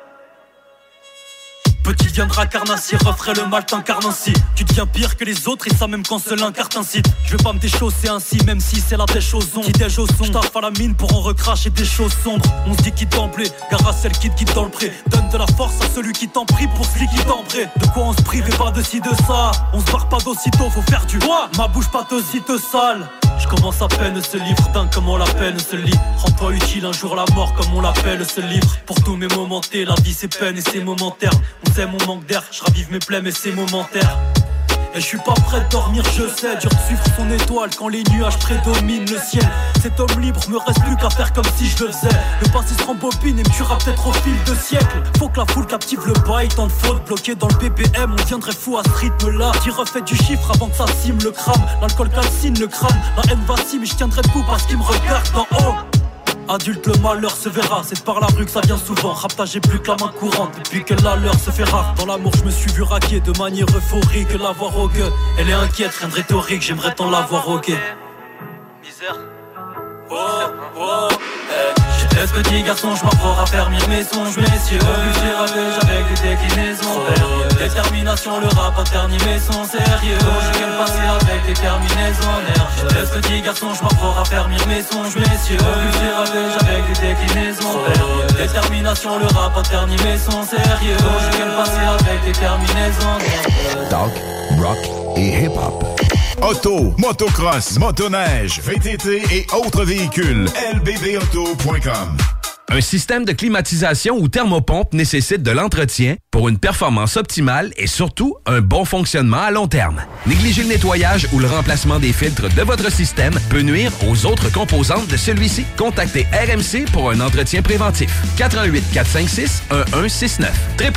Petit viendra carnassier, referait le mal t'incarne ainsi. Tu deviens pire que les autres et ça même quand seul un carte incite. Je vais pas me déchausser ainsi, même si c'est la dèche au son. Qui dèche au son, j'taffe à la mine pour en recracher des choses sombres. On se dit quitte d'emblée, gare à celle qui te quitte dans le pré. Donne de la force à celui qui t'en prie pour celui qui t'en bré. De quoi on se prive et pas de ci de ça. On se barre pas d'aussitôt, faut faire du roi. Ma bouche pas te sale. Je commence à peine ce livre, dingue comment la peine se lit. Rends-toi utile un jour la mort comme on l'appelle ce livre. Pour tous mes momentés, la vie c'est peine et c'est momentaire. On sait mon manque d'air, je ravive mes plaies mais c'est momentaire. Et je suis pas prêt de dormir, je sais, dur de suivre son étoile quand les nuages prédominent le ciel. Cet homme libre me reste plus qu'à faire comme si je le faisais. Le passé se rembobine et me tuera peut-être au fil de siècles. Faut que la foule captive le bail, tant de fautes bloquées dans le BPM. On viendrait fou à ce rythme-là. Qui refait du chiffre avant que ça cime le crâne. L'alcool calcine le crâne, la haine vacille mais je tiendrai debout parce qu'il me regarde d'en haut. Adulte, le malheur se verra, c'est par la rue que ça vient souvent. Rapta, j'ai plus que la main courante depuis que la leur se fait rare. Dans l'amour, je me suis vu raquer de manière euphorique. La voir au gueux, elle est inquiète, rien de rhétorique, j'aimerais tant la voir au guet. Misère. Oh, oh, hey. J'étais ce petit garçon, je m'apprends à faire mes songes, messieurs. J'ai ravage avec des déclinaisons. Détermination, le rap interdit mais son sérieux. J'ai le passé avec des terminaisons nerfs. J'étais ce petit garçon, je m'apprends à faire mes songes, messieurs. J'ai ravage avec des déclinaisons. Détermination, le rap interdit mais son sérieux. J'ai le passé avec des terminaisons nerfs. Talk, rock et hip-hop. Auto, motocross, motoneige, VTT et autres véhicules. lbbauto.com. Un système de climatisation ou thermopompe nécessite de l'entretien pour une performance optimale et surtout un bon fonctionnement à long terme. Négliger le nettoyage ou le remplacement des filtres de votre système peut nuire aux autres composantes de celui-ci. Contactez RMC pour un entretien préventif. 88 456 1169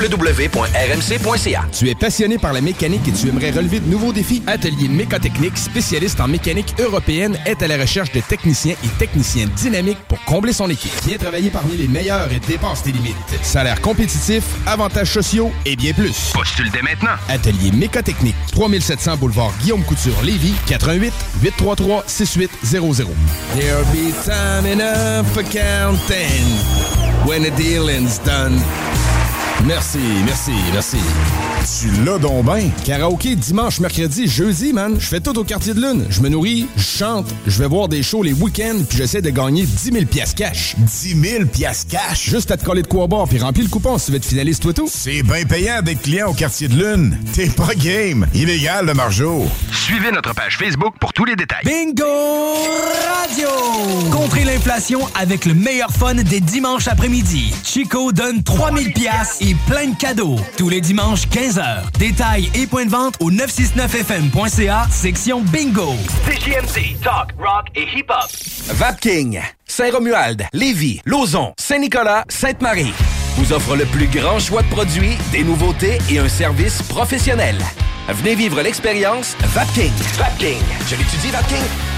www.rmc.ca. Tu es passionné par la mécanique et tu aimerais relever de nouveaux défis? Atelier Mécotechnique, spécialiste en mécanique européenne, est à la recherche de techniciens et techniciennes dynamiques pour combler son équipe. Viens travailler parmi les meilleurs et dépasse tes limites. Salaire compétitif, avantages sociaux et bien plus. Postule dès maintenant. Atelier Mécotechnique, 3700 boulevard Guillaume Couture, Lévis, 88 833 6800. There'll be time enough for counting when the dealing's done. Merci, merci, merci. Tu l'as donc ben. Karaoké dimanche, mercredi, jeudi, man. Je fais tout au Quartier de Lune. Je me nourris, je chante, je vais voir des shows les week-ends, puis j'essaie de gagner 10 000 piastres cash. 10 000 piastres cash? Juste à te coller de quoi boire, puis remplis le coupon si tu veux être finaliste, toi tout. C'est bien payant d'être client au Quartier de Lune. T'es pas game. Illégal, le margeau. Suivez notre page Facebook pour tous les détails. Bingo Radio! Contrez l'inflation avec le meilleur fun des dimanches après-midi. Chico donne 3000 piastres et plein de cadeaux. Tous les dimanches, 15h. Détails et points de vente au 969fm.ca, section Bingo. CJMD, talk, rock et hip-hop. Vapking, Saint-Romuald, Lévis, Lauson, Saint-Nicolas, Sainte-Marie vous offre le plus grand choix de produits, des nouveautés et un service professionnel. Venez vivre l'expérience Vapking. Vapking. Je l'étudie, Vapking.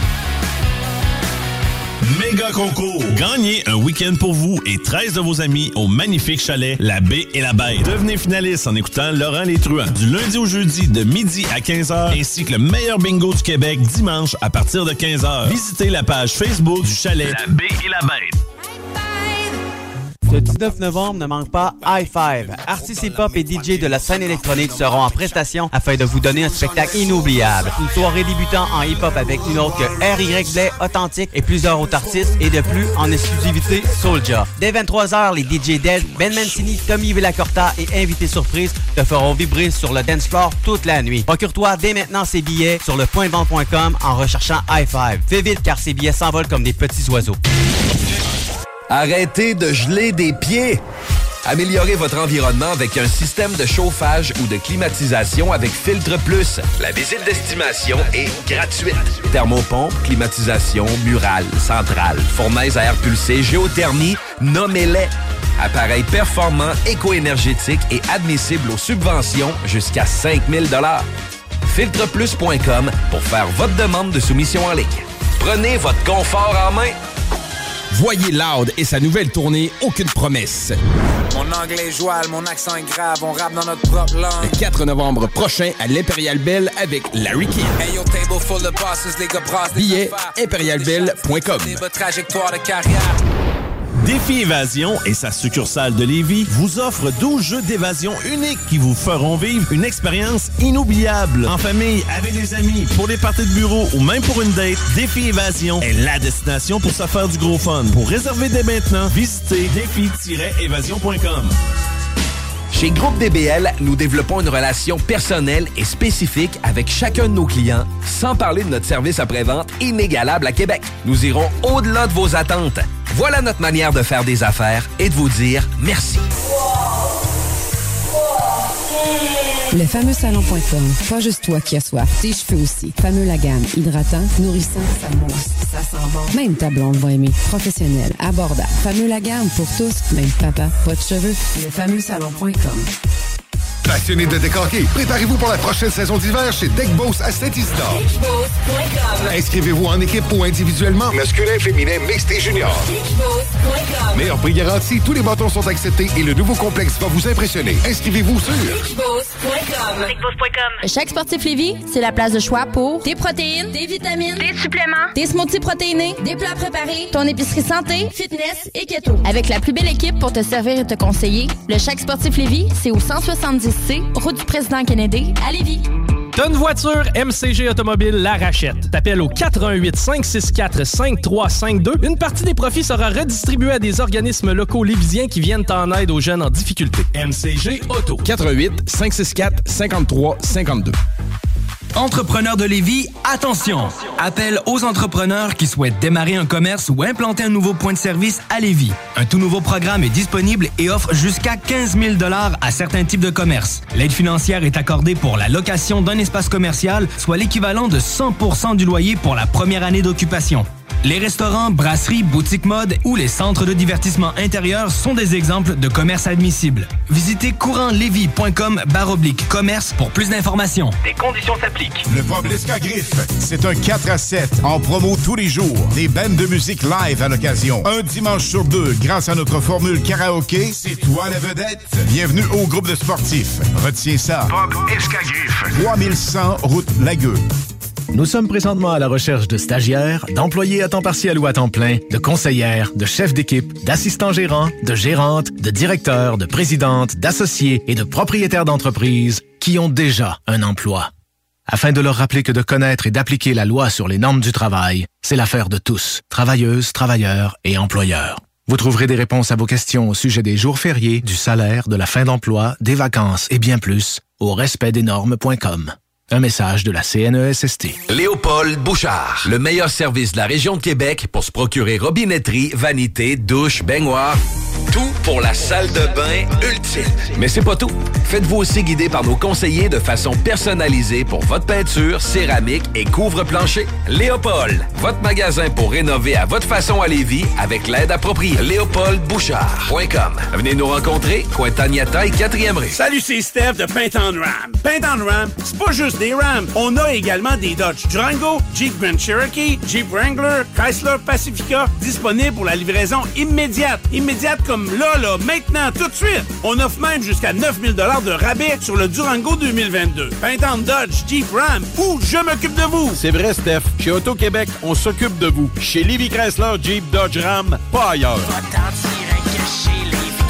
Méga concours. Gagnez un week-end pour vous et 13 de vos amis au magnifique chalet La Baie et la Bête. Devenez finaliste en écoutant Laurent Les Truands du lundi au jeudi de midi à 15h ainsi que le meilleur bingo du Québec dimanche à partir de 15h. Visitez la page Facebook du chalet La Baie et la Bête. Le 19 novembre, ne manque pas High Five. Artistes hip-hop et DJ de la scène électronique seront en prestation afin de vous donner un spectacle inoubliable. Une soirée débutant en hip-hop avec une autre que R.Y. Blais, Authentique et plusieurs autres artistes et de plus en exclusivité Soulja. Dès 23h, les DJ Dead, Ben Mancini, Tommy Villacorta et invités surprises te feront vibrer sur le dance floor toute la nuit. Procure-toi dès maintenant ces billets sur le pointvente.com en recherchant High Five. Fais vite car ces billets s'envolent comme des petits oiseaux. Arrêtez de geler des pieds! Améliorez votre environnement avec un système de chauffage ou de climatisation avec Filtre Plus. La visite d'estimation est gratuite. Thermopompe, climatisation, murale, centrale, fournaise à air pulsé, géothermie, nommez-les. Appareil performant, éco-énergétique et admissible aux subventions jusqu'à 5 000 $. Filtreplus.com pour faire votre demande de soumission en ligne. Prenez votre confort en main. Voyez Loud et sa nouvelle tournée Aucune promesse. Mon anglais est joual, mon accent est grave, on rappe dans notre propre langue. Le 4 novembre prochain à l'Imperial Bell avec Larry King. Hey, yo, table full of bosses, les gars brassent des Billets affaires. imperialbell.com. Trajectoire de carrière. Défi Évasion et sa succursale de Lévis vous offre 12 jeux d'évasion uniques qui vous feront vivre une expérience inoubliable. En famille, avec des amis, pour les parties de bureau ou même pour une date, Défi Évasion est la destination pour se faire du gros fun. Pour réserver dès maintenant, visitez défi-évasion.com. Chez Groupe DBL, nous développons une relation personnelle et spécifique avec chacun de nos clients, sans parler de notre service après-vente inégalable à Québec. Nous irons au-delà de vos attentes. Voilà notre manière de faire des affaires et de vous dire merci. Le fameux salon.com. Pas juste toi qui as soif, tes cheveux aussi. Fameux la gamme. Hydratant, nourrissant, ça mousse, ça sent bon. Même ta blonde va aimer. Professionnel, abordable. Fameux la gamme pour tous, même papa, pas de cheveux. Le fameux salon.com. Passionné de déc hockey, préparez-vous pour la prochaine saison d'hiver chez Deck Boss à Saint-Isidore. Inscrivez-vous en équipe ou individuellement, masculin, féminin, mixte et junior. Meilleur prix garanti, tous les bâtons sont acceptés et le nouveau complexe va vous impressionner. Inscrivez-vous sur Le Chèque Sportif Lévis, c'est la place de choix pour des protéines, des vitamines, des suppléments, des smoothies protéinés, des plats préparés, ton épicerie santé, fitness et keto. Avec la plus belle équipe pour te servir et te conseiller, le Chèque Sportif Lévis, c'est au 170C, route du président Kennedy, à Lévis. T'as une voiture, MCG Automobile la rachète. T'appelles au 418-564-5352. Une partie des profits sera redistribuée à des organismes locaux lévisiens qui viennent en aide aux jeunes en difficulté. MCG Auto. 418-564-5352. Entrepreneurs de Lévis, attention! Appel aux entrepreneurs qui souhaitent démarrer un commerce ou implanter un nouveau point de service à Lévis. Un tout nouveau programme est disponible et offre jusqu'à 15 000 $ à certains types de commerces. L'aide financière est accordée pour la location d'un espace commercial, soit l'équivalent de 100% du loyer pour la première année d'occupation. Les restaurants, brasseries, boutiques mode ou les centres de divertissement intérieur sont des exemples de commerces admissibles. Visitez courantlévis.com/commerce pour plus d'informations. Des conditions s'appliquent. Le Pub l'Escagriffe, c'est un 4-7 en promo tous les jours. Des bandes de musique live à l'occasion. Un dimanche sur deux, grâce à notre formule karaoké, c'est toi la vedette. Bienvenue au groupe de sportifs. Retiens ça. Pub Escagriffe. 3100 route Lagueux. Nous sommes présentement à la recherche de stagiaires, d'employés à temps partiel ou à temps plein, de conseillères, de chefs d'équipe, d'assistants gérants, de gérantes, de directeurs, de présidentes, d'associés et de propriétaires d'entreprises qui ont déjà un emploi. Afin de leur rappeler que de connaître et d'appliquer la loi sur les normes du travail, c'est l'affaire de tous, travailleuses, travailleurs et employeurs. Vous trouverez des réponses à vos questions au sujet des jours fériés, du salaire, de la fin d'emploi, des vacances et bien plus au respectdesnormes.com. Un message de la CNESST. Léopold Bouchard, le meilleur service de la région de Québec pour se procurer robinetterie, vanité, douche, baignoire. Tout pour la salle de bain ultime. Mais c'est pas tout. Faites-vous aussi guider par nos conseillers de façon personnalisée pour votre peinture, céramique et couvre-plancher. Léopold, votre magasin pour rénover à votre façon à Lévis avec l'aide appropriée. LéopoldBouchard.com. Venez nous rencontrer, Cointagnata et 4e rue. Salut, c'est Steph de Paint on Ram. Paint on Ram, c'est pas juste des Rams. On a également des Dodge Durango, Jeep Grand Cherokee, Jeep Wrangler, Chrysler Pacifica, disponibles pour la livraison immédiate. Immédiate comme là, maintenant, tout de suite. On offre même jusqu'à 9 000 $ de rabais sur le Durango 2022. Paint on Dodge, Jeep Ram, ou je m'occupe de vous. C'est vrai, Steph. Chez Auto-Québec, on s'occupe de vous. Chez Lévis Chrysler, Jeep, Dodge, Ram, pas ailleurs.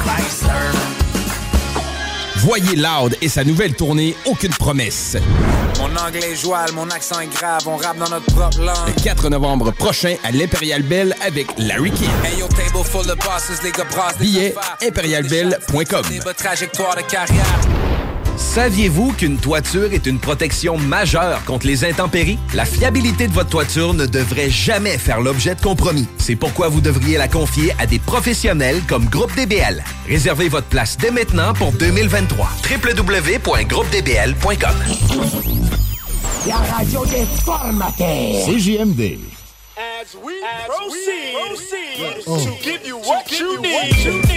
Voyez Loud et sa nouvelle tournée Aucune promesse. Mon anglais est joual, mon accent est grave, on rappe dans notre propre langue. Le 4 novembre prochain à l'Imperial Bell avec Larry King. Hey, yo, table full of bosses, les gars brassent des Billets affaires. imperialbell.com. Trajectoire de carrière. Saviez-vous qu'une toiture est une protection majeure contre les intempéries? La fiabilité de votre toiture ne devrait jamais faire l'objet de compromis. C'est pourquoi vous devriez la confier à des professionnels comme Groupe DBL. Réservez votre place dès maintenant pour 2023. www.groupedbl.com. La radio des formateurs. CJMD. As we proceed to give you what you need.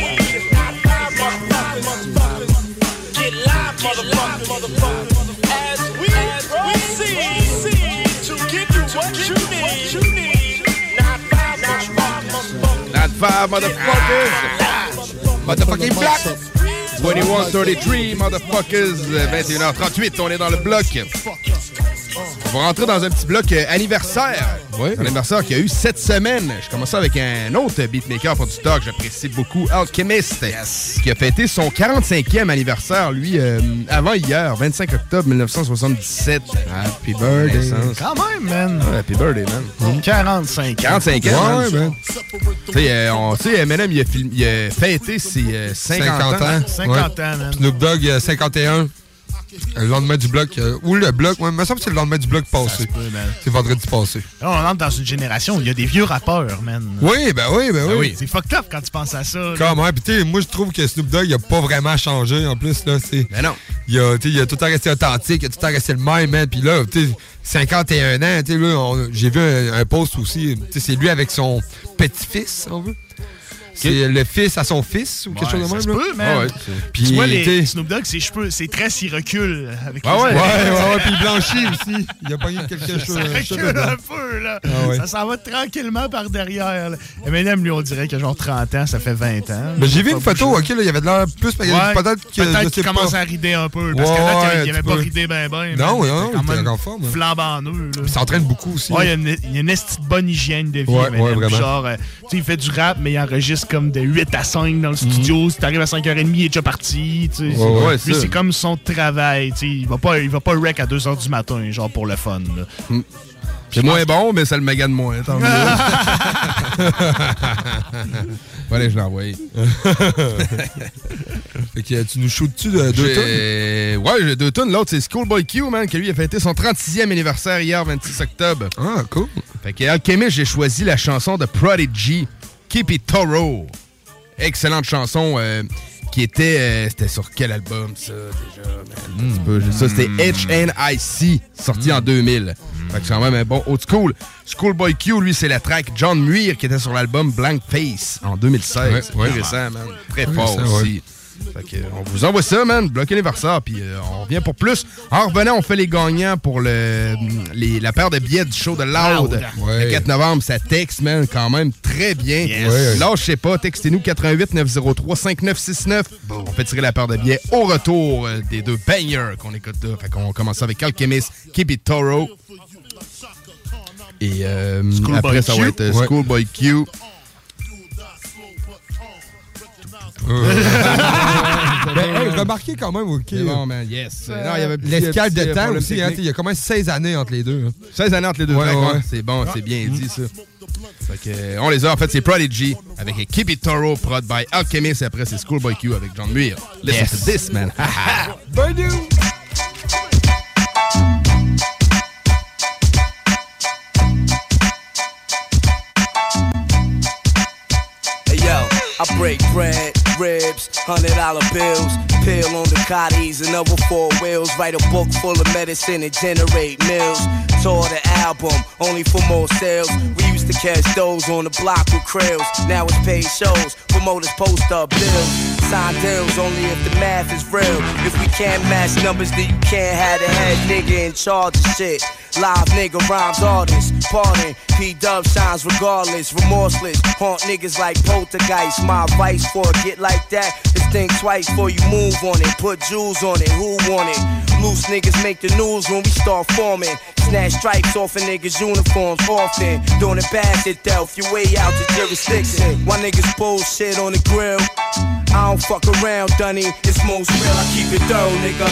Get live, motherfucker. As we proceed to give you what you need. Not five, motherfuckers. Motherfucking black. 2133, motherfuckers. 21h38, on est dans le bloc. On va rentrer dans un petit bloc anniversaire. Oui. Un anniversaire qui a eu cette semaine. Je commence avec un autre beatmaker pour du stock. J'apprécie beaucoup, Alchemist, qui a fêté son 45e anniversaire, lui, avant hier, 25 octobre 1977. Happy birthday. Quand même, man. Ouais, happy birthday, man. 45 ans. 45 ans. Ouais, man. Tu sais, Eminem, il a fêté ses 50 ans. 50 ans, man. Snoop Dogg, 51. Le lendemain du bloc, ou le bloc, ouais, il me semble que c'est le lendemain du bloc passé. C'est vendredi passé. Là, on entre dans une génération où il y a des vieux rappeurs, man. Oui, ben oui. C'est fucked up quand tu penses à ça. Comment? Puis moi, je trouve que Snoop Dogg, il a pas vraiment changé. En plus, là, c'est... Mais non. Il a tout le temps resté authentique, il a tout le temps resté le même, man. Puis là, tu sais, 51 ans, tu sais, là, j'ai vu un post aussi. Tu sais, c'est lui avec son petit-fils, si on veut. C'est le fils à son fils ou quelque chose de même. Ça se peut, man. Puis tu vois, Snoop Dogg, ses cheveux, ses tresses, il recule avec les ouais, puis il blanchit aussi. Il a pogné quelque chose. Ça recule un peu, là. Ça s'en va tranquillement par derrière. Eminem, lui, on dirait qu'il a genre 30 ans, ça fait 20 ans. Mais j'ai vu une photo, OK, là, il y avait de l'air plus... Peut-être qu'il commence à rider un peu. Parce que là, il avait pas ridé ben. Non, il était en forme. Flambant nœud. Il s'entraîne beaucoup aussi. Ouais, il y a une bonne hygiène de vie. Ouais, vraiment. Genre, tu sais, il fait du rap, mais il enregistre comme de 8 à 5 dans le studio. Si t'arrives à 5h30, il est déjà parti. Lui, c'est comme son travail. Il va pas rec à 2h du matin, genre pour le fun. C'est moins bon, mais ça le magane moins. Tant mieux. Allez, je l'envoie. Fait que tu nous shootes-tu de 2 tonnes? Ouais, j'ai 2 tonnes. L'autre, c'est Schoolboy Q, man, qui lui a fêté son 36e anniversaire hier, 26 octobre. Ah, cool. Fait que Alchemist, j'ai choisi la chanson de Prodigy, Keep It Thorough. Excellente chanson qui était... c'était sur quel album, ça, déjà? Ça, c'était HNIC, sorti en 2000. Fait que c'est quand même un bon old school. Schoolboy Q, lui, c'est la track John Muir qui était sur l'album Blank Face en 2016. Très récent, man. Très fort aussi. Fait que, on vous envoie ça, man. Bloc anniversaire, puis on revient pour plus. En revenant, on fait les gagnants pour la paire de billets du show de Loud. Le 4 novembre, ça texte, man, quand même très bien. Là, je sais pas, textez-nous 88 903 5969. On fait tirer la paire de billets au retour des 2 bangers qu'on écoute là. Fait qu'on commence avec Alchemist, Keep It Thorough. Et après, ça va être Schoolboy Q. Remarquez quand même, OK. Bon, man, yes. L'escale de temps aussi, il y a quand même 16 années entre les deux. 16 années entre les deux tracks, c'est bon, c'est bien dit, ça. Fait que, on les a, en fait, c'est Prodigy avec Keep It Thorough, prod by Alchemist, et après, c'est Schoolboy Q avec John Muir. Listen to this, man. Bye, dude. I break bread, ribs, $100 bills, pill on the Cotties and other 4 wheels, write a book full of medicine and generate mills. Tour the album, only for more sales. We used to catch those on the block with krills. Now it's paid shows, promoters post up bills. Sign deals only if the math is real. If we can't match numbers, then you can't have the head nigga in charge of shit. Live nigga rhymes artists, pardon. P-Dub shines regardless, remorseless. Haunt niggas like poltergeist. My advice for a get like that is think twice before you move on it. Put jewels on it, who want it? Loose niggas make the news when we start forming. Snatch stripes off of niggas' uniforms often. Doing it bad shit, Delph, you way out the jurisdiction. Why niggas bullshit on the grill? I don't fuck around, Dunny. It's most real, I keep it thorough, nigga.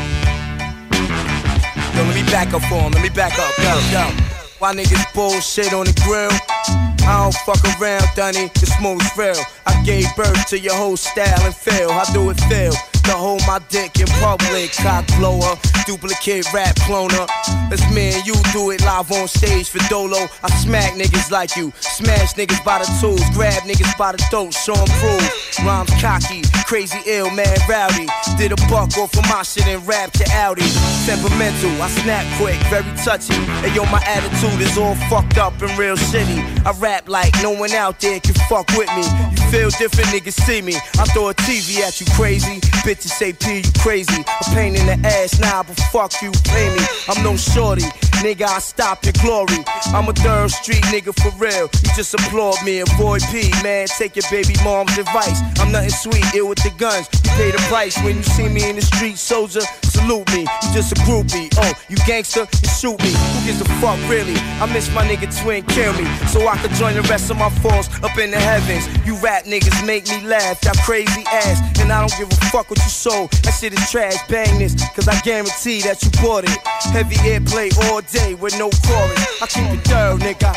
Yo, let me back up for him, let me back up, yo. Why niggas bullshit on the grill? I don't fuck around, Dunny, it's most real. I gave birth to your whole style and feel. How do it feel? To hold my dick in public, cock blower, duplicate rap cloner. That's me and you do it live on stage for Dolo. I smack niggas like you, smash niggas by the tools, grab niggas by the throat, show 'em prove. Rhymes cocky, crazy ill, mad rowdy. Did a buck off of my shit and rap to Audi. Temperamental, I snap quick, very touchy. And yo, my attitude is all fucked up and real shitty. I rap like no one out there can fuck with me. You feel different, niggas see me. I throw a TV at you, crazy. Bitches say P, you crazy. A pain in the ass, nah, but fuck you, pay me. I'm no shorty, nigga, I stop your glory. I'm a third street nigga for real. You just applaud me, avoid P, man. Take your baby mom's advice. I'm nothing sweet, ill with the guns. You pay the price when you see me in the street, soldier. Salute me, you just a groupie. Oh, you gangster, you shoot me. Who gives a fuck, really? I miss my nigga Twin, kill me. So I could join the rest of my force up in the heavens. You rap niggas make me laugh, that crazy ass. And I don't give a fuck what you sold. That shit is trash, bang this, cause I guarantee that you bought it. Heavy airplay all day with no chorus. I keep it thorough, nigga.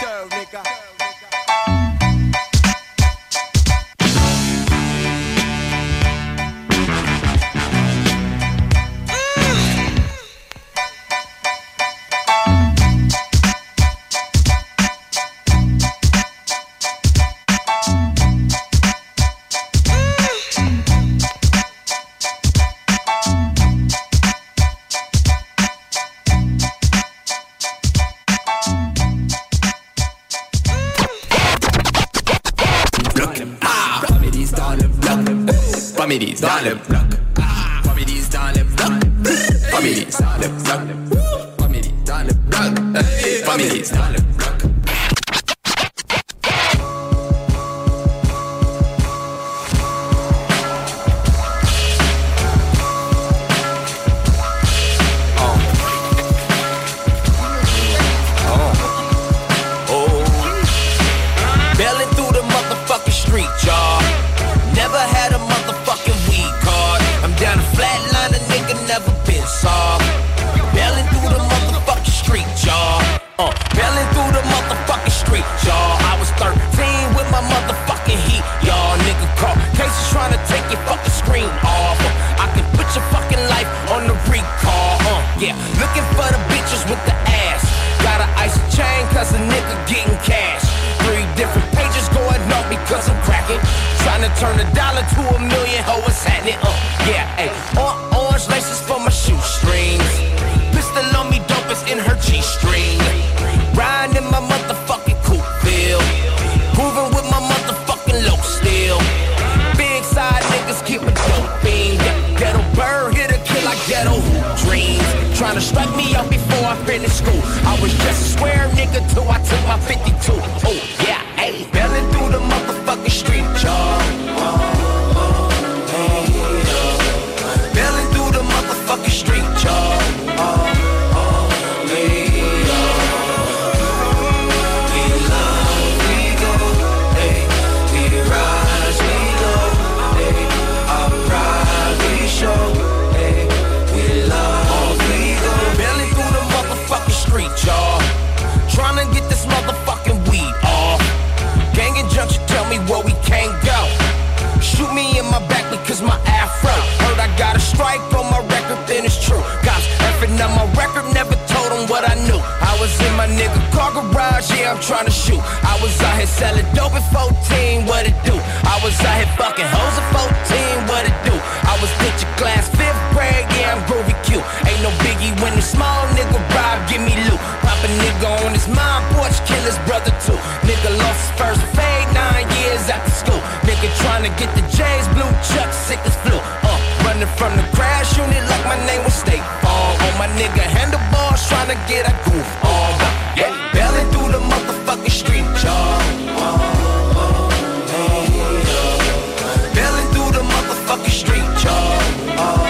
Families dans le bloc. Families dans le bloc. Families dans le bloc. Families dans le bloc. Families dans le bloc. Bailing through the motherfucking street, y'all. Never had a motherfucking weed card. I'm down a flatline, a nigga never been soft. Bailing through the motherfucking street, y'all. Bailing through the motherfucking street, y'all. I was 13 with my motherfucking heat, y'all. Nigga call cases trying to take your fucking screen off. I can put your fucking life on the recall. Yeah, looking for the bitches with the ass. Gotta ice a chain cause a nigga getting cash. 3 different pages going up because I'm cracking. Trying to turn $1 to $1 million, ho, what's happening? Yeah, ayy. Orange laces for my shoestrings. Pistol on me, dope is in her G-string. Riding in my motherfucking coupe bill. Moving with my motherfucking low steel. Big side niggas keep a dope beam. Ghetto bird, hit a kill like ghetto dreams. Trying to strike me out before I finish school. I was just a square nigga till I took my 52. Oh, yeah, ayy. Bailing through the motherfucking street, y'all. Bailing through the motherfucking street, y'all. Trying to get this motherfucking weed off. Gang and junction tell me where we can't go. Shoot me in my back because my afro. Heard I got a strike on my record, then it's true. Cops effing on my record, never told them what I knew. I was in my nigga car garage, yeah, I'm trying to shoot. I was out here selling dope at 14, what it do? I was out here fucking hoes at 14, what it do? I was picture class, 5th grade, yeah, I'm groovy Q. Ain't no biggie when the small nigga rob, give me loot. Pop a nigga on his mom porch, kill his brother too. Nigga lost his first fade 9 years after school. Nigga trying to get the J's, blue chuck, sick as flu. Running from the crash unit like my name was State Farm. On my nigga handlebars, trying to get a goof on. Yeah, bailing through the motherfucking street, y'all. Bailing through the motherfucking street, y'all.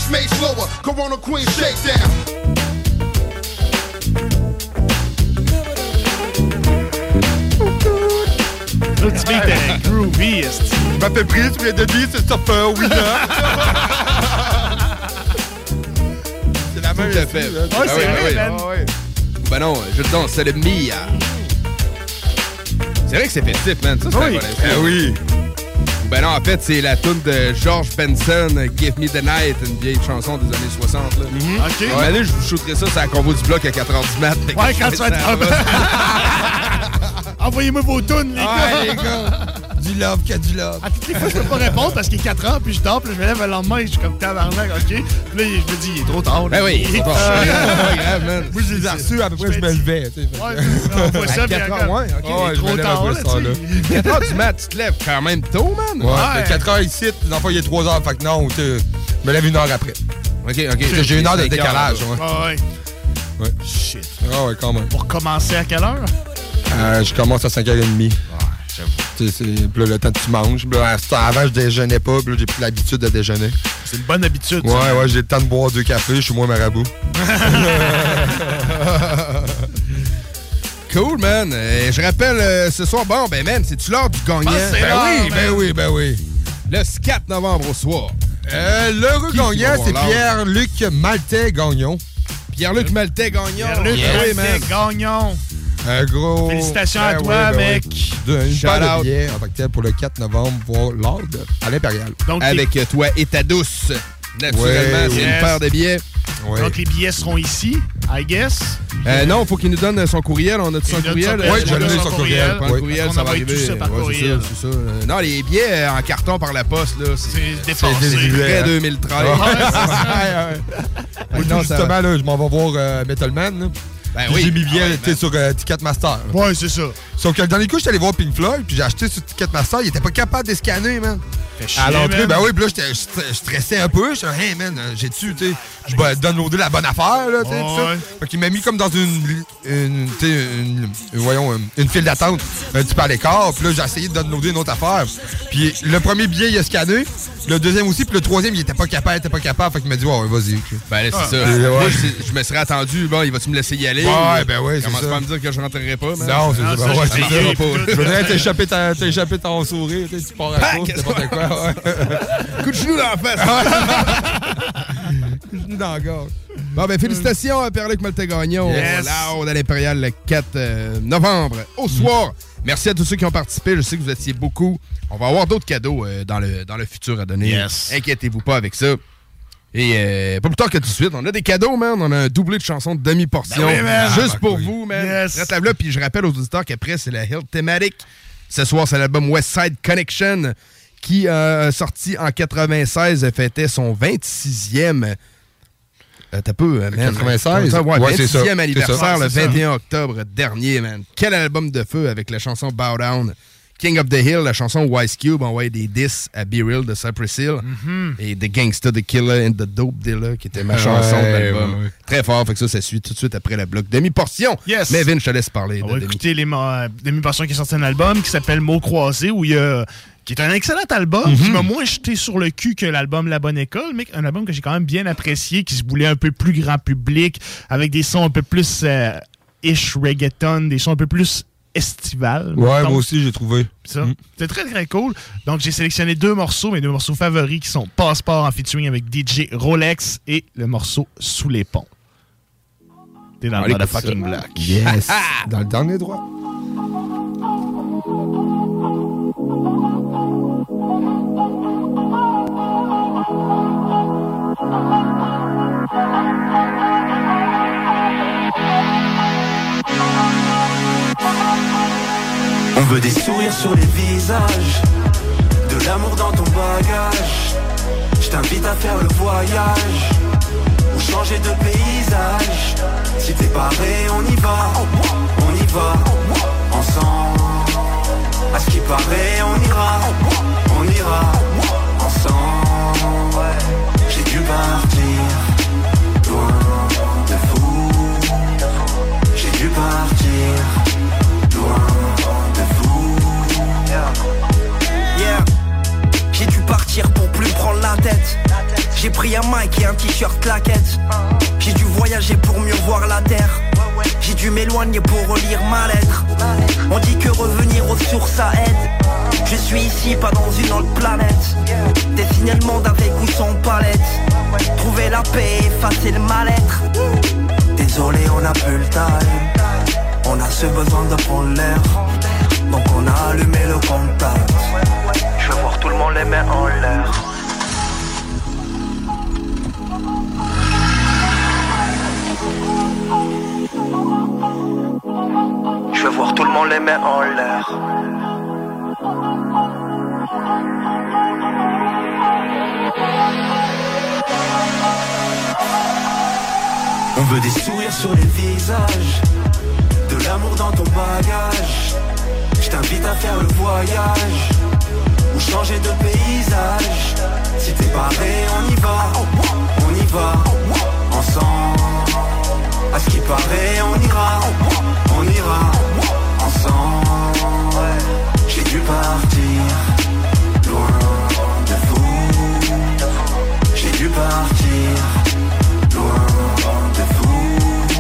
Wrist made slower, Corona Queen shakedown. L'autre beat est groovy, est-ce que... Je m'appelle Prince, je viens de dire, c'est Stopper, winner. C'est la même fait. Ouais, c'est vrai, man. Ben non, je le danse, c'est le Mia. C'est vrai que c'est festif, man. Ça, c'est un bon info. Oui. Ben non, en fait, c'est la tune de George Benson, Give Me the Night, une vieille chanson des années 60. Là. OK. Ouais, allez, je vous shooterai ça sur la convo du bloc à 4h du mat. Ouais, quand tu vas être... Envoyez-moi vos tunes, les gars. Ouais, les gars. Du love, qu'il y a du love. À toutes les fois, je peux pas répondre parce qu'il est 4 ans, puis je dors, puis je me lève le lendemain et je suis comme tabarnak, OK? Puis là, je me dis, il est trop tard. Ben oui, il est trop tard. C'est pas grave, man. Moi, je les ai reçus, à peu près, je me levais. Ouais, on voit ça, puis ouais, il est trop tard, là, tu sais. 4h du mat, tu te lèves quand même tôt, man. Ouais, 4h ici, dans le fond, il est 3h, fait que non, je me lève 1 heure après. OK. J'ai 1 heure de décalage, ouais. Shit. Ah ouais, quand même. Pour commencer à quelle heure? Je commence à 5h30. Puis là, le temps que tu manges. Là, avant, je déjeunais pas. Puis là, j'ai pris l'habitude de déjeuner. C'est une bonne habitude. Ouais, j'ai le temps de boire 2 cafés. Je suis moins marabout. Cool, man. Je rappelle, ce soir, bon, ben, man, c'est-tu l'heure du gagnant? Ben oui. Le 4 novembre au soir. L'heureux gagnant, c'est Pierre-Luc Maltais-Gagnon. Pierre-Luc Maltais-Gagnon. Pierre-Luc Maltais-Gagnon. Un gros... Félicitations à toi, mec. Une paire de billets en tant que tel pour le 4 novembre voir l'ordre à l'Impérial. Avec toi et ta douce. Naturellement, c'est une paire de billets. Ouais. Donc, les billets seront ici, I guess. Non, il faut qu'il nous donne son courriel. On a son courriel. Oui, je l'ai son courriel. Le courriel, ça va arriver. Tout ça par courriel. C'est ça. Non, les billets en carton par la poste, là, c'est dépassé. C'est près 2013. Non, justement, là, je m'en vais voir Metal Man. Là. Ben j'ai mis bien sur Ticketmaster. Ouais, c'est ça. Sauf que le dernier coup, j'étais allé voir Pink Floyd, puis j'ai acheté sur Ticketmaster, il était pas capable de scanner, man. À l'entrée, ben oui, puis là, je stressais un peu. Je suis hey, man, j'ai-tu, tu sais, je vais downloader la bonne affaire, là, tu sais, tout ça. Fait qu'il m'a mis comme dans une file d'attente un petit peu à l'écart, puis là, j'ai essayé de downloader une autre affaire. Puis le premier billet, il a scanné, le deuxième aussi, puis le troisième, il était pas capable, Fait qu'il m'a dit, ouais, vas-y. Ben là, c'est ça. Moi, je me serais attendu, bon, il va-tu me laisser y aller? Ouais, ben oui, c'est ça. Commence pas à me dire que je rentrerai pas, man. Non, c'est ça. Je voudrais t'échapper ton sourire, tu pars à cause, n'importe quoi. Coup de genou dans la face. Coup de genou dans la gorge. Bon, ben, félicitations à Pierre-Luc Maltais-Gagnon. Loud à l'Impérial le 4 novembre au soir. Merci à tous ceux qui ont participé. Je sais que vous étiez beaucoup. On va avoir d'autres cadeaux dans le futur à donner. Inquiétez-vous pas avec ça. Et pas plus tard que tout de suite, on a des cadeaux, man. On a un doublé de chansons de demi-portion. Ben oui, juste pour vous, man. Reste là, puis je rappelle aux auditeurs qu'après, c'est la Hill Thematic. Ce soir, c'est l'album West Side Connection qui, sorti en 96, fêtait son 26e... T'as peu, man. 96? Ouais, 26e anniversaire, le 21 ça. octobre dernier, man. Quel album de feu avec la chanson Bow Down. King of the Hill, la chanson Wise Cube envoyait des diss à Be Real de Cypress Hill. Et The Gangsta, The Killer and The Dope Dealer, qui était ma chanson de l'album. Ouais. Très fort, fait que ça suit tout de suite après le bloc demi-portion. Yes. Mais Vin, je te laisse parler. On va écouter les demi-portions qui est sorti un album qui s'appelle Mots croisés, qui est un excellent album, qui m'a moins jeté sur le cul que l'album La Bonne École, mais un album que j'ai quand même bien apprécié, qui se voulait un peu plus grand public, avec des sons un peu plus ish reggaeton, des sons un peu plus estival. Ouais, moi aussi, j'ai trouvé. C'était très, très cool. Donc, j'ai sélectionné mes deux morceaux favoris, qui sont Passeport en featuring avec DJ Rolex et le morceau Sous les ponts. T'es dans le motherfucking block. Yes. Dans le dernier droit. On veut des sourires sur les visages, de l'amour dans ton bagage. Je t'invite à faire le voyage, ou changer de paysage. Si t'es paré, on y va, ensemble. À ce qui paraît, on ira, ensemble. J'ai dû partir, loin de vous. J'ai dû partir, loin. J'ai dû partir pour plus me prendre la tête. J'ai pris un mic et un t-shirt claquette. J'ai dû voyager pour mieux voir la terre. J'ai dû m'éloigner pour relire ma lettre. On dit que revenir aux sources ça aide. Je suis ici, pas dans une autre planète. Dessiner le monde avec ou sans palette. Trouver la paix, effacer le mal-être. Désolé, on a plus le time. On a ce besoin de prendre l'air. Donc on a allumé le contact. Je veux voir tout le monde les mains en l'air. Je veux voir tout le monde les mains en l'air. On veut des sourires sur les visages, de l'amour dans ton bagage. Je t'invite à faire le voyage, ou changer de paysage. Si t'es paré, on y va, ensemble. À ce qui paraît, on ira ensemble. J'ai dû partir loin de vous. J'ai dû partir loin de vous.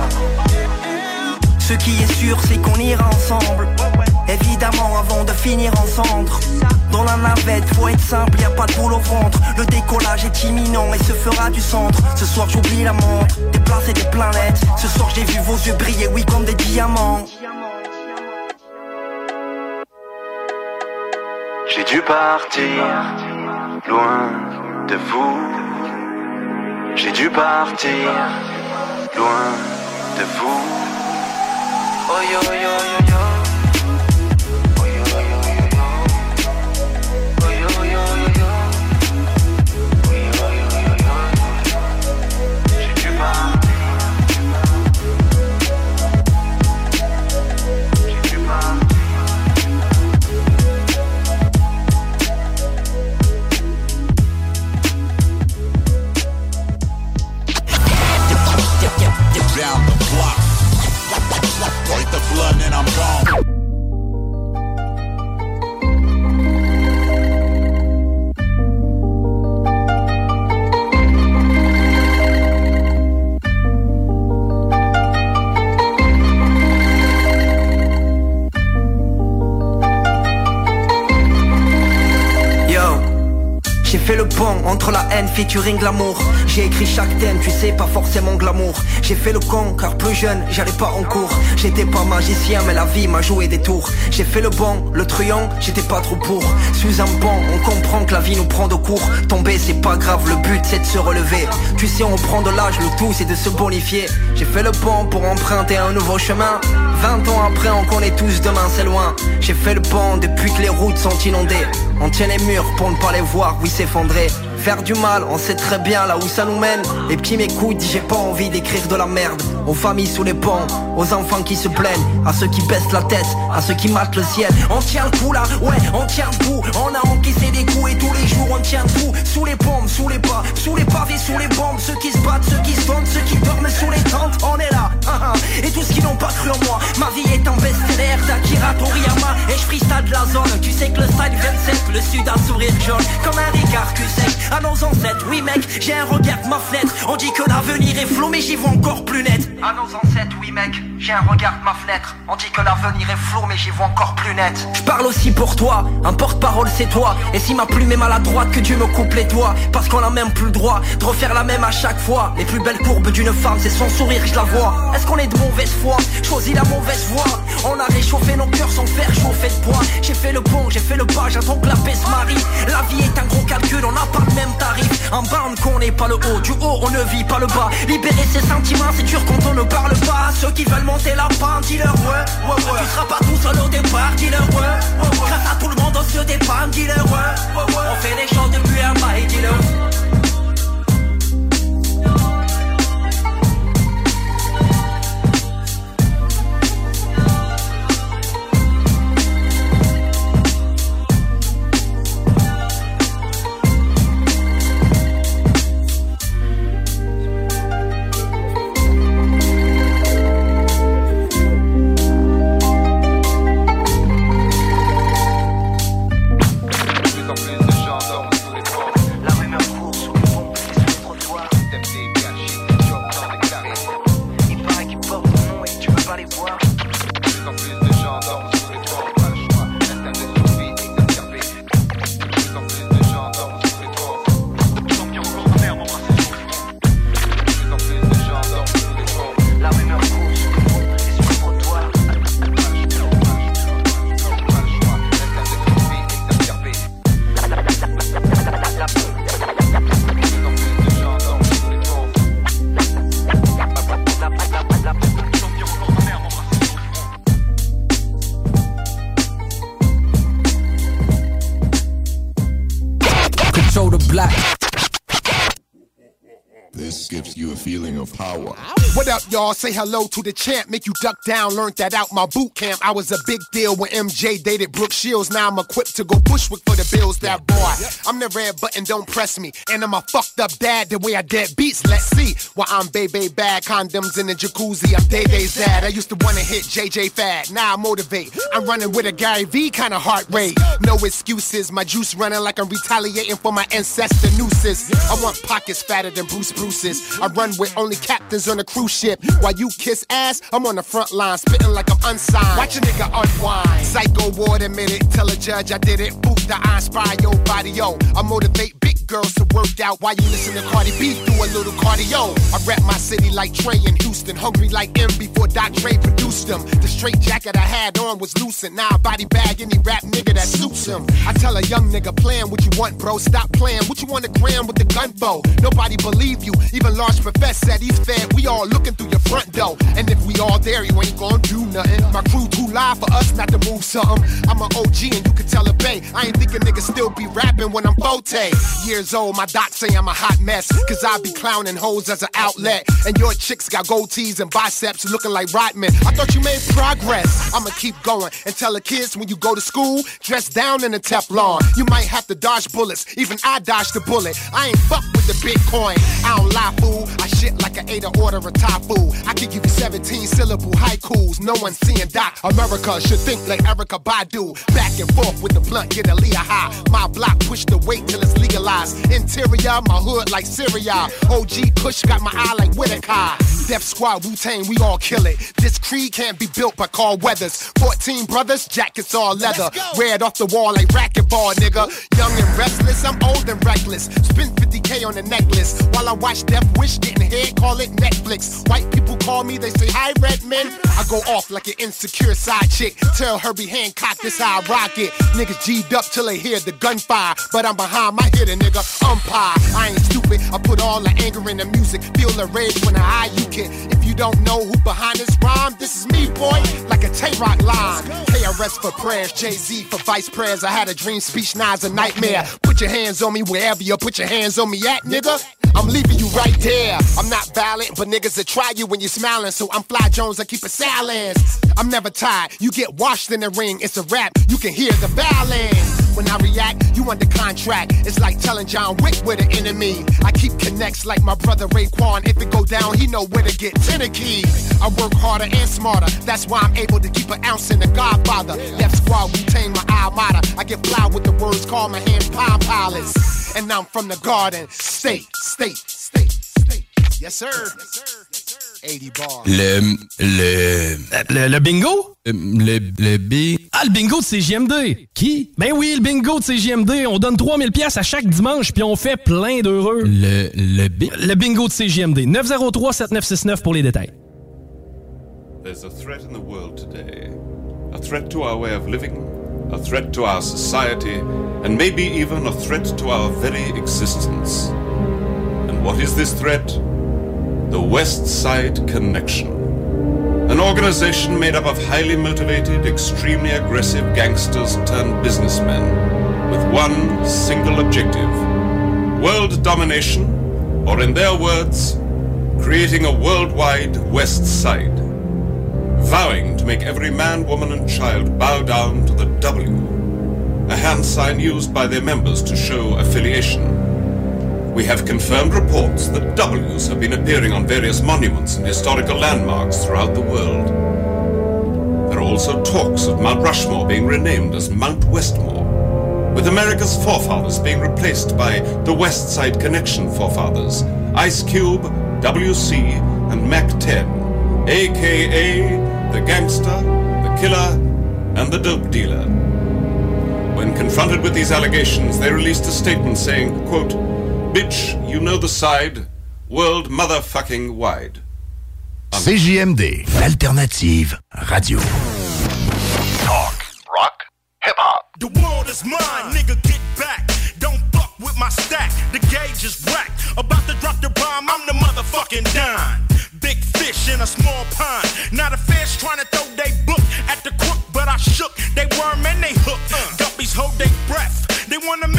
Ce qui est sûr, c'est qu'on ira ensemble. Évidemment, avant de finir en cendres. Dans la navette, faut être simple, y a pas de boule au ventre. Le décollage est imminent et se fera du centre. Ce soir j'oublie la montre, déplacer des planètes. Ce soir j'ai vu vos yeux briller, oui, comme des diamants. J'ai dû partir loin de vous. J'ai dû partir loin de vous. Oh yo yo yo yo. Down the block, break the blood and I'm gone. J'ai fait le pont entre la haine featuring l'amour. J'ai écrit chaque thème, tu sais, pas forcément glamour. J'ai fait le con car plus jeune, j'allais pas en cours. J'étais pas magicien mais la vie m'a joué des tours. J'ai fait le bon, le truand, j'étais pas trop pour. Suis un bon, on comprend que la vie nous prend de court. Tomber c'est pas grave, le but c'est de se relever. Tu sais on prend de l'âge, le tout c'est de se bonifier. J'ai fait le pont pour emprunter un nouveau chemin. 20 ans après on connaît tous demain c'est loin. J'ai fait le pont depuis que les routes sont inondées. On tient les murs pour ne pas les voir, oui s'effondrer. Faire du mal, on sait très bien là où ça nous mène. Les petits m'écoutent, j'ai pas envie d'écrire de la merde. Aux familles sous les ponts, aux enfants qui se plaignent, à ceux qui baissent la tête, à ceux qui matent le ciel. On tient le coup là, ouais, on tient le coup. On a encaissé des coups et tous les jours on tient le coup. Sous les bombes, sous les pas, sous les pavés, sous les bombes. Ceux qui se battent, ceux qui se vendent, ceux qui dorment sous les tentes. On est là, et tous ceux qui n'ont pas cru en moi. Ma vie est un best-seller d'Akira Toriyama. Et je freestyle de la zone, tu sais que le style 27, le sud a sourire jaune. Comme un Ricard Cusec, à nos ancêtres, oui mec, j'ai un regard de ma fenêtre. On dit que l'avenir est flou mais j'y vois encore plus net. À nos ancêtres, oui mec, j'ai un regard de ma fenêtre. On dit que l'avenir est flou mais j'y vois encore plus net. Je parle aussi pour toi, un porte-parole c'est toi. Et si ma plume est maladroite, que Dieu me coupe les doigts. Parce qu'on a même plus le droit de refaire la même à chaque fois. Les plus belles courbes d'une femme, c'est son sourire, je la vois. Est-ce qu'on est de mauvaise foi, choisis la mauvaise voie. On a réchauffé nos cœurs sans faire chauffer de poids. J'ai fait le pont, j'ai fait le pas, j'attends que la paix se marie. La vie est un gros calcul, on n'a pas le même tarif. En bas on connaît pas le haut, du haut on ne vit pas le bas. Libérer ses sentiments c'est dur quand on ne parle pas. Ceux qui veulent monter la pente, dis-leur ouais. Tu seras pas tout seul au départ, dis-leur ouais. Grâce à tout le monde on se dépanne, dis-leur ouais. On fait les choses depuis un bail, dis-leur. La rumeur court the feeling of power. What up, y'all? Say hello to the champ. Make you duck down. Learned that out my boot camp. I was a big deal when MJ dated Brooke Shields. Now I'm equipped to go Bushwick for the Bills. That boy, I'm the red button. Don't press me. And I'm a fucked up dad. The way I dead beats. Let's see. While I'm baby bad. Condoms in the jacuzzi. I'm Day-Day's dad. I used to wanna hit JJ Fad. Now I motivate. I'm running with a Gary V kind of heart rate. No excuses. My juice running like I'm retaliating for my ancestor nooses. I want pockets fatter than Bruce's. I run with only captains on a cruise ship. While you kiss ass, I'm on the front line, spitting like I'm unsigned. Watch a nigga unwind. Psycho ward admitted. Tell a judge I did it. Boot the I inspire your body, yo. I motivate big girls to work out while you listen to Cardi B. Do a little cardio. I rap my city like Trey in Houston. Hungry like M before Doc Dre produced them. The straight jacket I had on was loosened. Now I body bag any rap nigga that suits him. I tell a young nigga, plan what you want, bro. Stop playing. What you want to gram with the gun for? Nobody believe you. Even Large Professor said he's fed. We all looking through your front door. And if we all there, you ain't gonna do nothing. My crew too live for us not to move something. I'm an OG and you can tell a bay. I ain't thinking niggas still be rapping when I'm 40 years old. My doc say I'm a hot mess. Cause I be clowning hoes as an outlet. And your chicks got gold tees and biceps looking like Rodman. I thought you made progress. I'ma keep going and tell the kids when you go to school, dress down in a Teflon. You might have to dodge bullets. Even I dodged the bullet. I ain't fuck with the Bitcoin. I don't lie, fool. I shit like an 8 order of Thai food. I can give you 17 syllable haikus. No one's seeing Doc. America should think like Erykah Badu. Back and forth with the blunt, get a Leah high. My block push the weight till it's legalized. Interior, my hood like Syria. OG Kush got my eye like Whitaker. Def Squad, Wu-Tang, we all kill it. This creed can't be built by Carl Weathers. 14 brothers, jackets all leather. Red off the wall like racquetball, nigga. Young and restless, I'm old and reckless. Spend 50K on a necklace. While I watch Death Wish getting head, call it Netflix. White people call me, they say, hi, Redman. I go off like an insecure side chick. Tell Herbie Hancock this how I rock it. Niggas G'd up till they hear the gunfire. But I'm behind my hitter, nigga, umpire. I ain't stupid, I put all the anger in the music. Feel the rage when I eye you kid. If you don't know who behind this rhyme, this is me, boy, like a Tay-Rock line. KRS for prayers, Jay-Z for vice prayers. I had a dream speech, now it's a nightmare. Put your hands on me wherever you put your hands on me at, nigga. I'm leaving you right there. I'm not violent, but niggas will try you when you're smiling. So I'm Fly Jones, I keep a silence. I'm never tired, you get washed in the ring. It's a rap, you can hear the violence. When I react, you under contract. It's like telling John Wick we're the enemy. I keep connects like my brother Raekwon. If it go down, he know where to get 10 keys. I work harder and smarter. That's why I'm able to keep an ounce in the Godfather. Def Squad, Wu-Tang, my alma mater. I get fly with the words, call my hands Palm Pilots. And I'm from the Garden State. Yes, sir. 80 bars. Le bingo? Ah, le bingo de CJMD. Qui? Ben oui, le bingo de CJMD. On donne 3000 pièces à chaque dimanche, puis on fait plein d'heureux. Le bingo de CJMD. 903-7969 pour les détails. There's a threat in the world today. A threat to our way of living. A threat to our society. And maybe even a threat to our very existence. And what is this threat? The West Side Connection. An organization made up of highly motivated, extremely aggressive gangsters turned businessmen with one single objective: world domination, or in their words, creating a worldwide West Side. Vowing to make every man, woman and child bow down to the W, a hand sign used by their members to show affiliation. We have confirmed reports that W's have been appearing on various monuments and historical landmarks throughout the world. There are also talks of Mount Rushmore being renamed as Mount Westmore, with America's forefathers being replaced by the West Side Connection forefathers, Ice Cube, WC, and Mac 10, a.k.a. the gangster, the killer, and the dope dealer. When confronted with these allegations, they released a statement saying, quote, "Bitch, you know the side, world motherfucking wide." CJMD, l'alternative radio. Talk, rock, hip-hop. The world is mine, nigga, get back. Don't fuck with my stack, the gauge is whack. About to drop the bomb, I'm the motherfucking Don. Big fish in a small pond. Not a fish trying to throw they book at the crook, but I shook. They worm and they hook. Guppies hold their breath. They wanna miss me when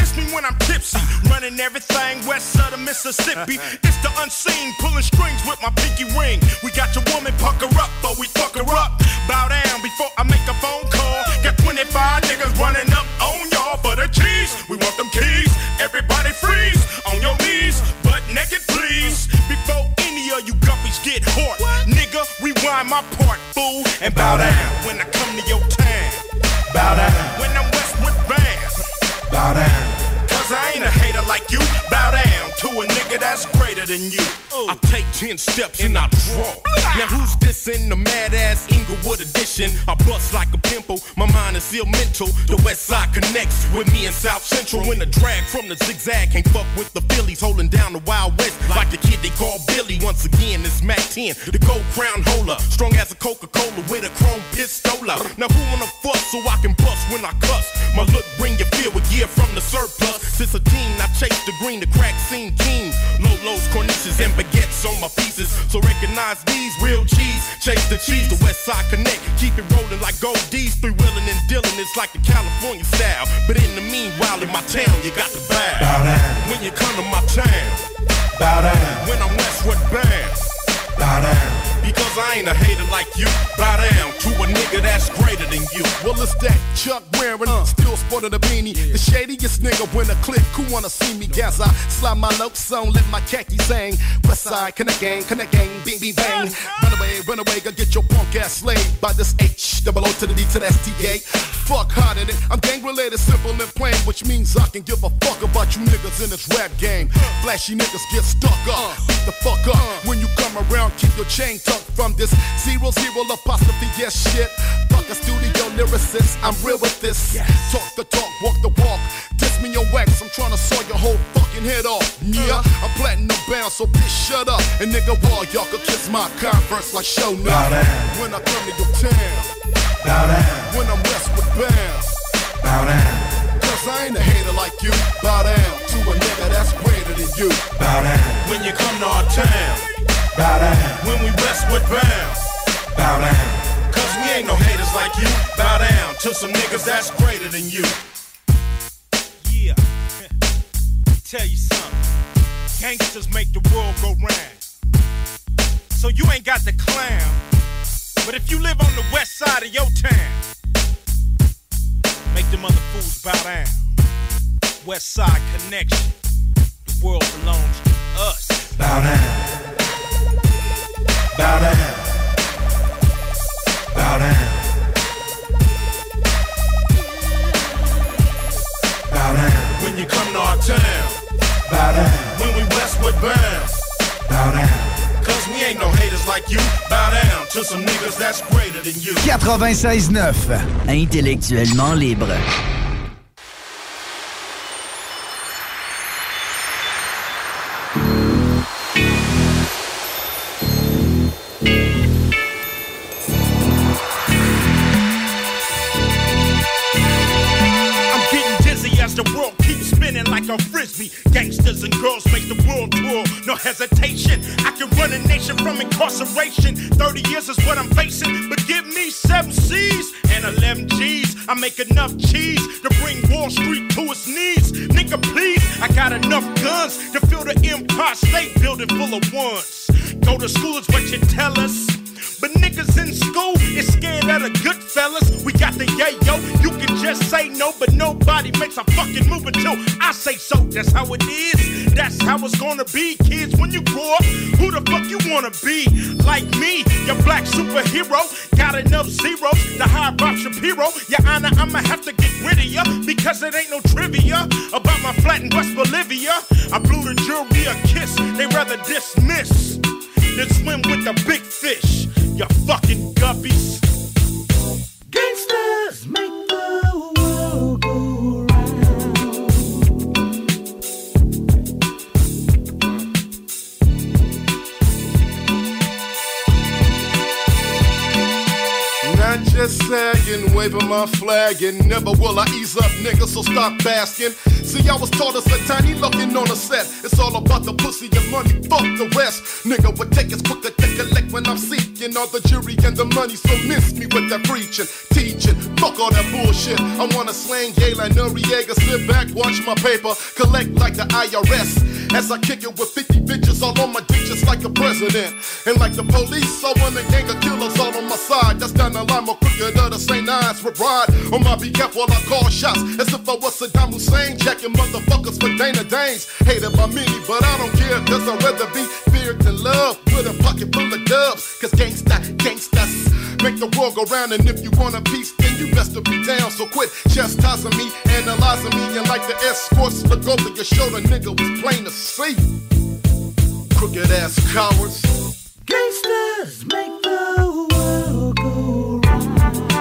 when I'm tipsy, running everything west of the Mississippi. It's the unseen, pulling strings with my pinky ring. We got your woman, pucker up, but we fuck her up. Bow down before I make a phone call. Got 25 niggas running up on y'all for the cheese. We want them keys. Everybody freeze on your knees, butt naked, please. Before any of you guppies get hot, nigga, rewind my part, fool, and bow down when I come to your town. Bow down when I'm Westwood Bound. Bow down, cause I ain't a hater like you. Bow down to a nigga that's greater than you. I take 10 steps and I draw. Now who's this in the mad ass Inglewood edition? I bust like a pimple, my mind is ill mental. The West Side connects with me in South Central. When the drag from the zigzag can't fuck with the Phillies, holding down the Wild West like the kid they call Billy. Once again, it's Mac 10, the gold crown holder, strong as a Coca-Cola with a chrome pistola. Now who wanna fuss so I can bust when I cuss? My look bring you fear with gear from the surplus. Since a teen, I chase the green, the crack scene king. Lolos, cornices, and baguettes on my pieces. So recognize these real cheese. Chase the cheese, the West Side Connect. Keep it rolling like gold D's. Three-wheeling and dealing, it's like the California style. But in the meanwhile, in my town, you got to bow. Bow down. When you come to my town. Bow down. When I'm Westwood Bound. Bow down. Because I ain't a hater like you. Bow down to a nigga that's greater than you. Well, it's that Chuck wearing, still sporting a beanie. The shadiest nigga when a click, who wanna see me? Gas, I slide my lopes on, let my khakis hang. Westside, connect gang, bing, bing, bang. Run away, go get your punk ass slayed by this H, double O to the D to the STA. Fuck harder than I'm gang related, simple and plain, which means I can give a fuck about you niggas in this rap game. Flashy niggas get stuck up, beat the fuck up. When you come around, keep your chain tucked from this 00 apostrophe, yes shit. Fuck a studio lyricist, I'm real with this. Talk the talk, walk the walk. Diss me on wax, I'm trying to saw your whole fucking head off. Yeah, I'm platinum bound, so bitch shut up. And nigga, wall, y'all could kiss my Converse like show now. When I come to your town. Bow down. When I'm Westwood Bound. Bow down. Cause I ain't a hater like you. Bow down to a nigga that's greater than you. Bow down. When you come to our town. Bow down. When we Westwood Bound. Bow down. Cause we ain't no haters like you. Bow down to some niggas that's greater than you. Yeah. Tell you something. Gangsters make the world go round. So you ain't got the clown. But if you live on the west side of your town, make them other fools bow down. West Side Connection. The world belongs to us. Bow down. Bow down. Bow down. Bow down. When you come to our town. Bow down. When we Westwood Bound. Bow down. Cause we ain't no haters like you. Bow down to some niggas that's greater than you. 96.9 Intellectuellement libre. The world keeps spinning like a frisbee. Gangsters and girls make the world tour, no hesitation. I can run a nation from incarceration. 30 years is what I'm facing, but give me 7 C's and 11 G's. I make enough cheese to bring Wall Street to its knees. Nigga, please, I got enough guns to fill the Empire State Building full of ones. Go to school is what you tell us. But niggas in school is scared of the good fellas. We got the yayo, you can just say no, but nobody makes a fucking move until I say so. That's how it is, that's how it's gonna be. Kids, when you grow up, who the fuck you wanna be? Like me, your black superhero. Got enough zeros to hire Bob Shapiro. Your Honor, I'ma have to get rid of ya, because it ain't no trivia about my flat in West Bolivia. I blew the jury a kiss, they rather dismiss than swim with the big fish. You fucking guppies. Gangsters make the world go round. Not just sagging, waving my flag, and never will I ease up, nigga, so stop basking. See, I was taught as a tiny looking on a set. It's all about the pussy and money, fuck the rest. Nigga would take his quicker to collect when I'm seeking all the jury and the money, so miss me with that preaching, teaching. Fuck all that bullshit. I wanna slang gay like Noriega, sit back, watch my paper, collect like the IRS. As I kick it with 50 bitches all on my dick just like the president. And like the police, I want a gang of killers all on my side. That's down the line, more quicker than the St. Nines would ride. On my behalf while I call shots, as if I was Saddam Hussein, jacking motherfuckers for Dana Danes. Hated by many, but I don't care, cause I'd rather be feared than loved. With a pocket full of dubs, cause gangsters make the world go round. And if you want a piece, then you best to be down. So quit chastising me, analyzing me, and like the escorts look over your shoulder, nigga was plain to see. Crooked ass cowards. Gangsters make the world go round.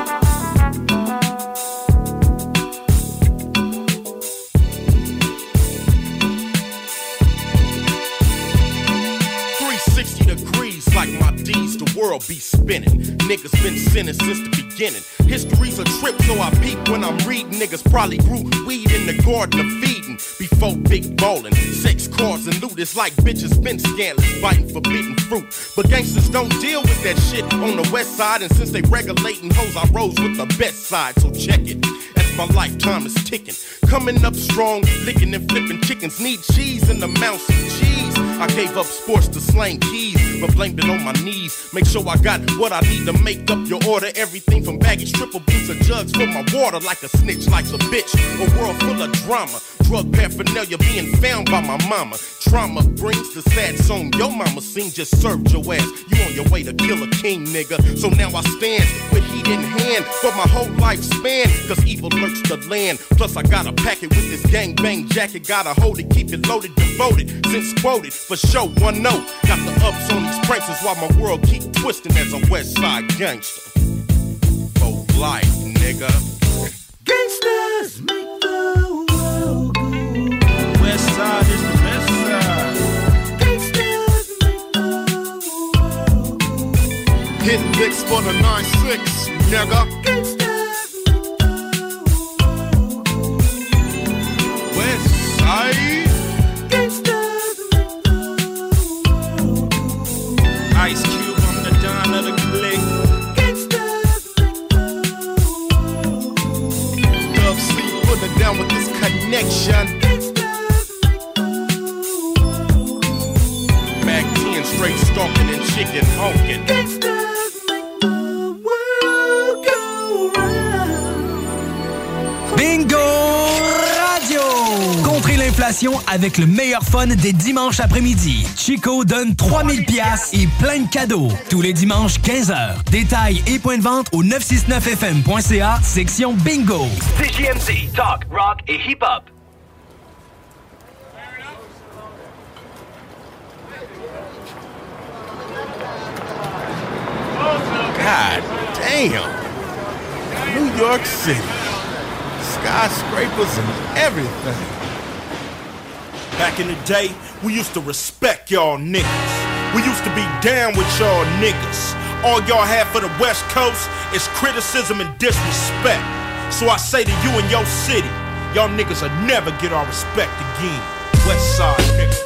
360 degrees like my D's, the world be spinning. Niggas been sinning since the beginning. History's a trip, so I peep when I'm reading. Niggas probably grew weed in the garden of Eden before big ballin'. Sex, cars, and loot. It's like bitches been scandalous, fighting forbidden fruit. But gangsters don't deal with that shit on the west side. And since they regulating hoes, I rose with the best side. So check it, as my lifetime is ticking. Coming up strong, licking and flipping chickens. Need cheese in the mouse of cheese. I gave up sports to slang keys, but blamed it on my knees. Make sure I got what I need to make up your order. Everything from baggage, triple beans, or jugs for my water. Like a snitch, like a bitch. A world full of drama. Drug paraphernalia being found by my mama. Trauma brings the sad song your mama sing. Just served your ass. You on your way to kill a king, nigga. So now I stand with heat in hand for my whole lifespan. Cause evil lurks the land. Plus I got a packet with this gang bang jacket. Gotta hold it, keep it loaded, devoted. Since quoted, for sure, one note. Got the ups on these pranks is why my world keep twisting as a west side gangster. For life, nigga. Gangsters make the world go round. West side is the best side. Gangsters make the world go round. Hitting licks for the 9-6, nigga. Gangsters make the world go round. West side. Gangsters make the world go round. Ice Cube, I'm the Don of the clique. Love sleep, put it down with this connection. Mac 10 straight stalking and chicken honking. Bingo Radio! Contrez l'inflation avec le meilleur fun des dimanches après-midi. Chico donne 3000 pièces et plein de cadeaux. Tous les dimanches, 15h. Détails et points de vente au 969fm.ca, section Bingo. CJMD, talk, rock et hip-hop. God damn. New York City. Skyscrapers and everything. Back in the day, we used to respect y'all niggas. We used to be down with y'all niggas. All y'all have for the West Coast is criticism and disrespect. So I say to you and your city, y'all niggas will never get our respect again. West Side niggas.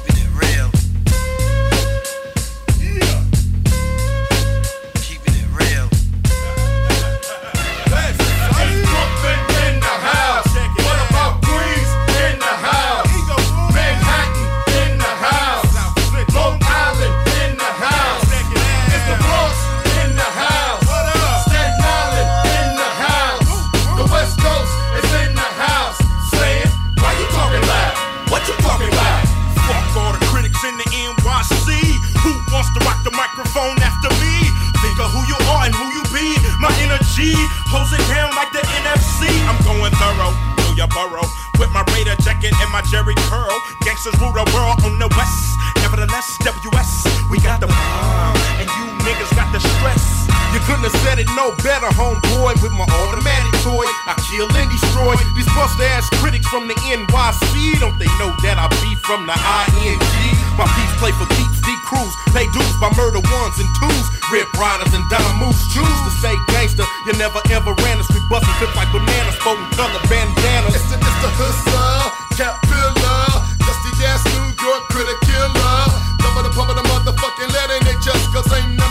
Hose it down like the NFC. I'm going thorough through your borough with my Raider jacket and my Jerry curl. Gangsters rule the world on the west. Nevertheless, WS, we got the bomb, and you niggas got the stress. You couldn't have said it no better, homeboy. With my automatic toy, I kill and destroy these bust-ass critics from the NYC. Don't they know that I be from the ING? My beats play for keeps, D-Crews, pay dues by murder ones and twos. Rip riders and dime moves, choose to say gangster. You never ever ran the street bustin' clips like bananas, sporting color bandanas. It's the hustler, Cap Pillar, dusty ass New York critic killer. Number the pump of the motherfucking lead, ain't they just cause ain't no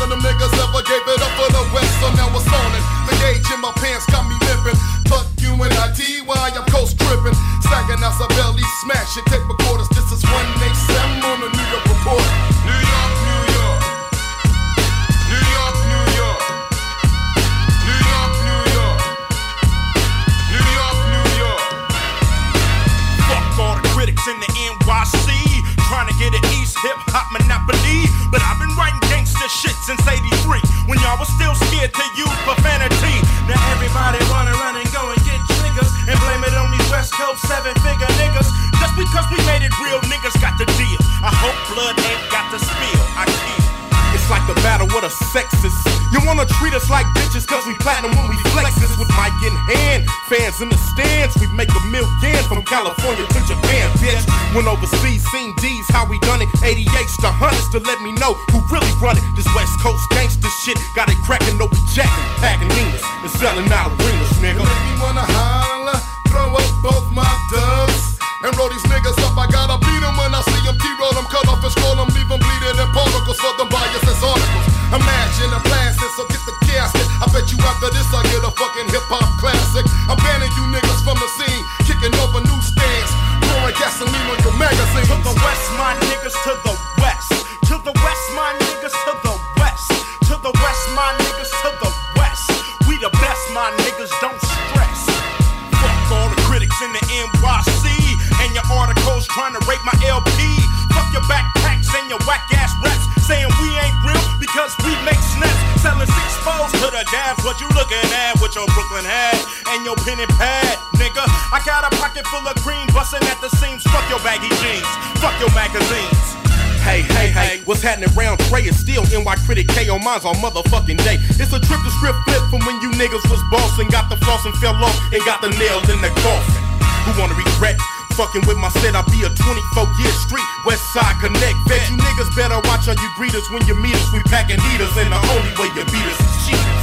the battle with a sexist. You wanna treat us like bitches cause we platinum when we flex this with mic in hand. Fans in the stands, we make $1 million from California to Japan, bitch. Went overseas, seen D's, how we done it. 88s to hundreds to let me know who really run it. This West Coast gangsta shit got it cracking, no jacking, packing Ninas and selling out arenas, nigga. Make me wanna holler, throw up both my dubs and roll these niggas up. I gotta beat them when I see them, T-roll them, cut off and scroll them, leave them bleeding in particles for them bias as articles. Imagine a blasting, so get the casket. I bet you after this I get a fucking hip-hop classic. I'm banning you niggas from the scene, kicking over newsstands, pouring gasoline on your magazine. To the west, my niggas, to the west. To the west, my niggas, to the west. To the west, my niggas, to the west. We the best, my niggas, don't stress. Fuck all the critics in the NYC and your articles trying to rate my LP. Fuck your backpacks and your whack-ass raps saying we ain't real because we make snaps. Selling 6-4s to the dabs. What you looking at with your Brooklyn hat and your pen and pad, nigga? I got a pocket full of cream busting at the seams. Fuck your baggy jeans. Fuck your magazines. Hey, hey, hey, what's happening round Trey is still NY Critic K on mine's on motherfucking day. It's a trip to script flip from when you niggas was bossing, got the floss and fell off and got the nail in the coffin. Who wanna regret fucking with my set? I'll be a 24-year street, West Side Connect vet. You niggas better watch how you greet us when you meet us. We packing heaters and the only way you beat us is cheaters.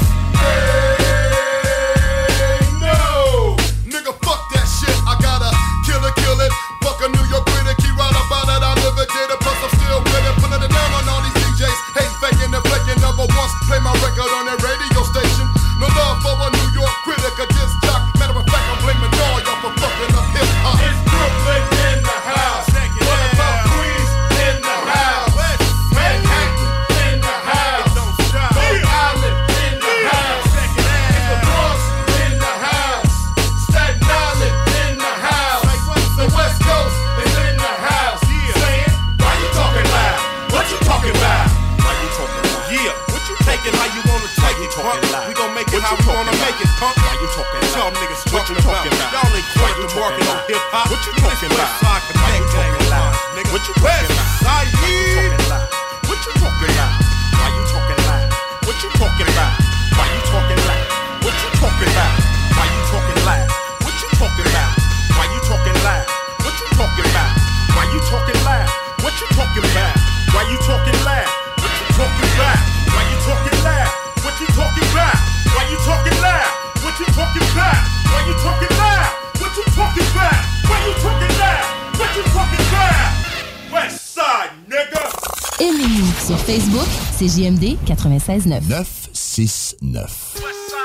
Hey, no, nigga, fuck that shit. I gotta kill it. Fuck a New York critic, he right about it. I live it, did it, plus I'm still with it. Putting it down on all these DJs, hate faking and flaking. Never once play my record on that radio station. No love for a New York critic, a disc jock. Matter of fact, I'm blaming all y'all for fucking up hip hop. It's Brooklyn in the house. What about Queens in the house? Manhattan in the house. Long Island in the house. The Bronx in the house. Staten Island in the house. The West Coast is in the house. Saying, why you talking loud? What you talking about? Why you talking loud? Yeah, what you taking how you wanna take it, punk? We gon' make it how we wanna make it, punk. Why you talking loud? Y'all niggas talking about. Y'all ain't quite the market on hip hop. What you talking about? Why you talking loud? What you talking about? What you talking about? Why you talking loud? What you talking about? Why you talking loud? What you talking about? Why you talking loud? What you talking about? Why you talking loud? What you talking about? Why you talking loud? What you talking about? Why you talking loud? What you talking about? Why you talking loud? What you talking about? Why you talking loud? What you talking about? Why you talking loud? What you talking about? Why you talking loud? What you talking about? West Side, nigga. Aimez-nous sur Facebook, c'est JMD 96.9. 969.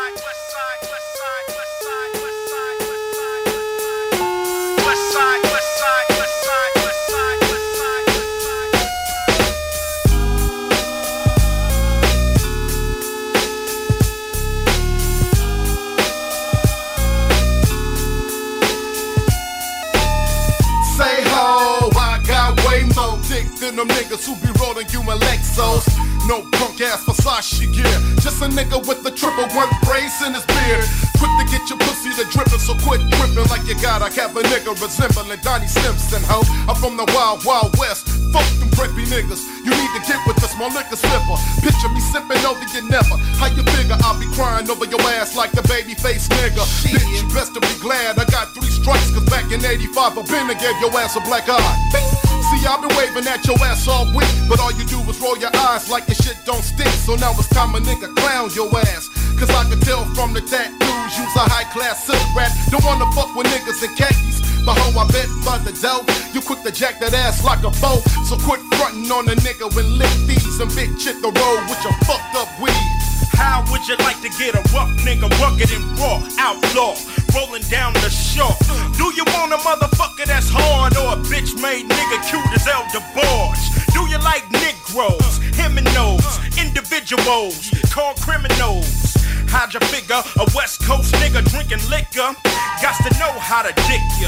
Than them niggas who be rolling you in Lexus. No punk ass Versace gear. Just a nigga with the triple one brace in his beard. Quick to get your pussy to drippin', so quit trippin' like you got a cap a nigga resembling Donnie Simpson, ho. I'm from the wild, wild west. Fuck them preppy niggas. You need to get with the small liquor slipper. Picture me sippin' over you never. How you figure I'll be crying over your ass like the baby face nigga? Bitch, you best to be glad I got 3 strikes, cause back in 85 a Bender gave your ass a black eye. See, I've been waving at your ass all week, but all you do is roll your eyes like your shit don't stink. So now it's time a nigga clown your ass. Cause I can tell from the tattoos, you's a high class silk rat. Don't wanna fuck with niggas in khakis. The hoe I bet by the dough. You quick to jack that ass like a foe. So quit frontin' on a nigga with lick thieves and bitch hit the road with your fucked up weed. How would you like to get a rough nigga rugged and raw, outlaw, rolling down the shore? Do you want a motherfucker that's hard or a bitch made nigga cute as El DeBarge? Do you like Negroes, Heminos, individuals called criminals? How'd you figure a West Coast nigga drinking liquor? Got to know how to dick ya.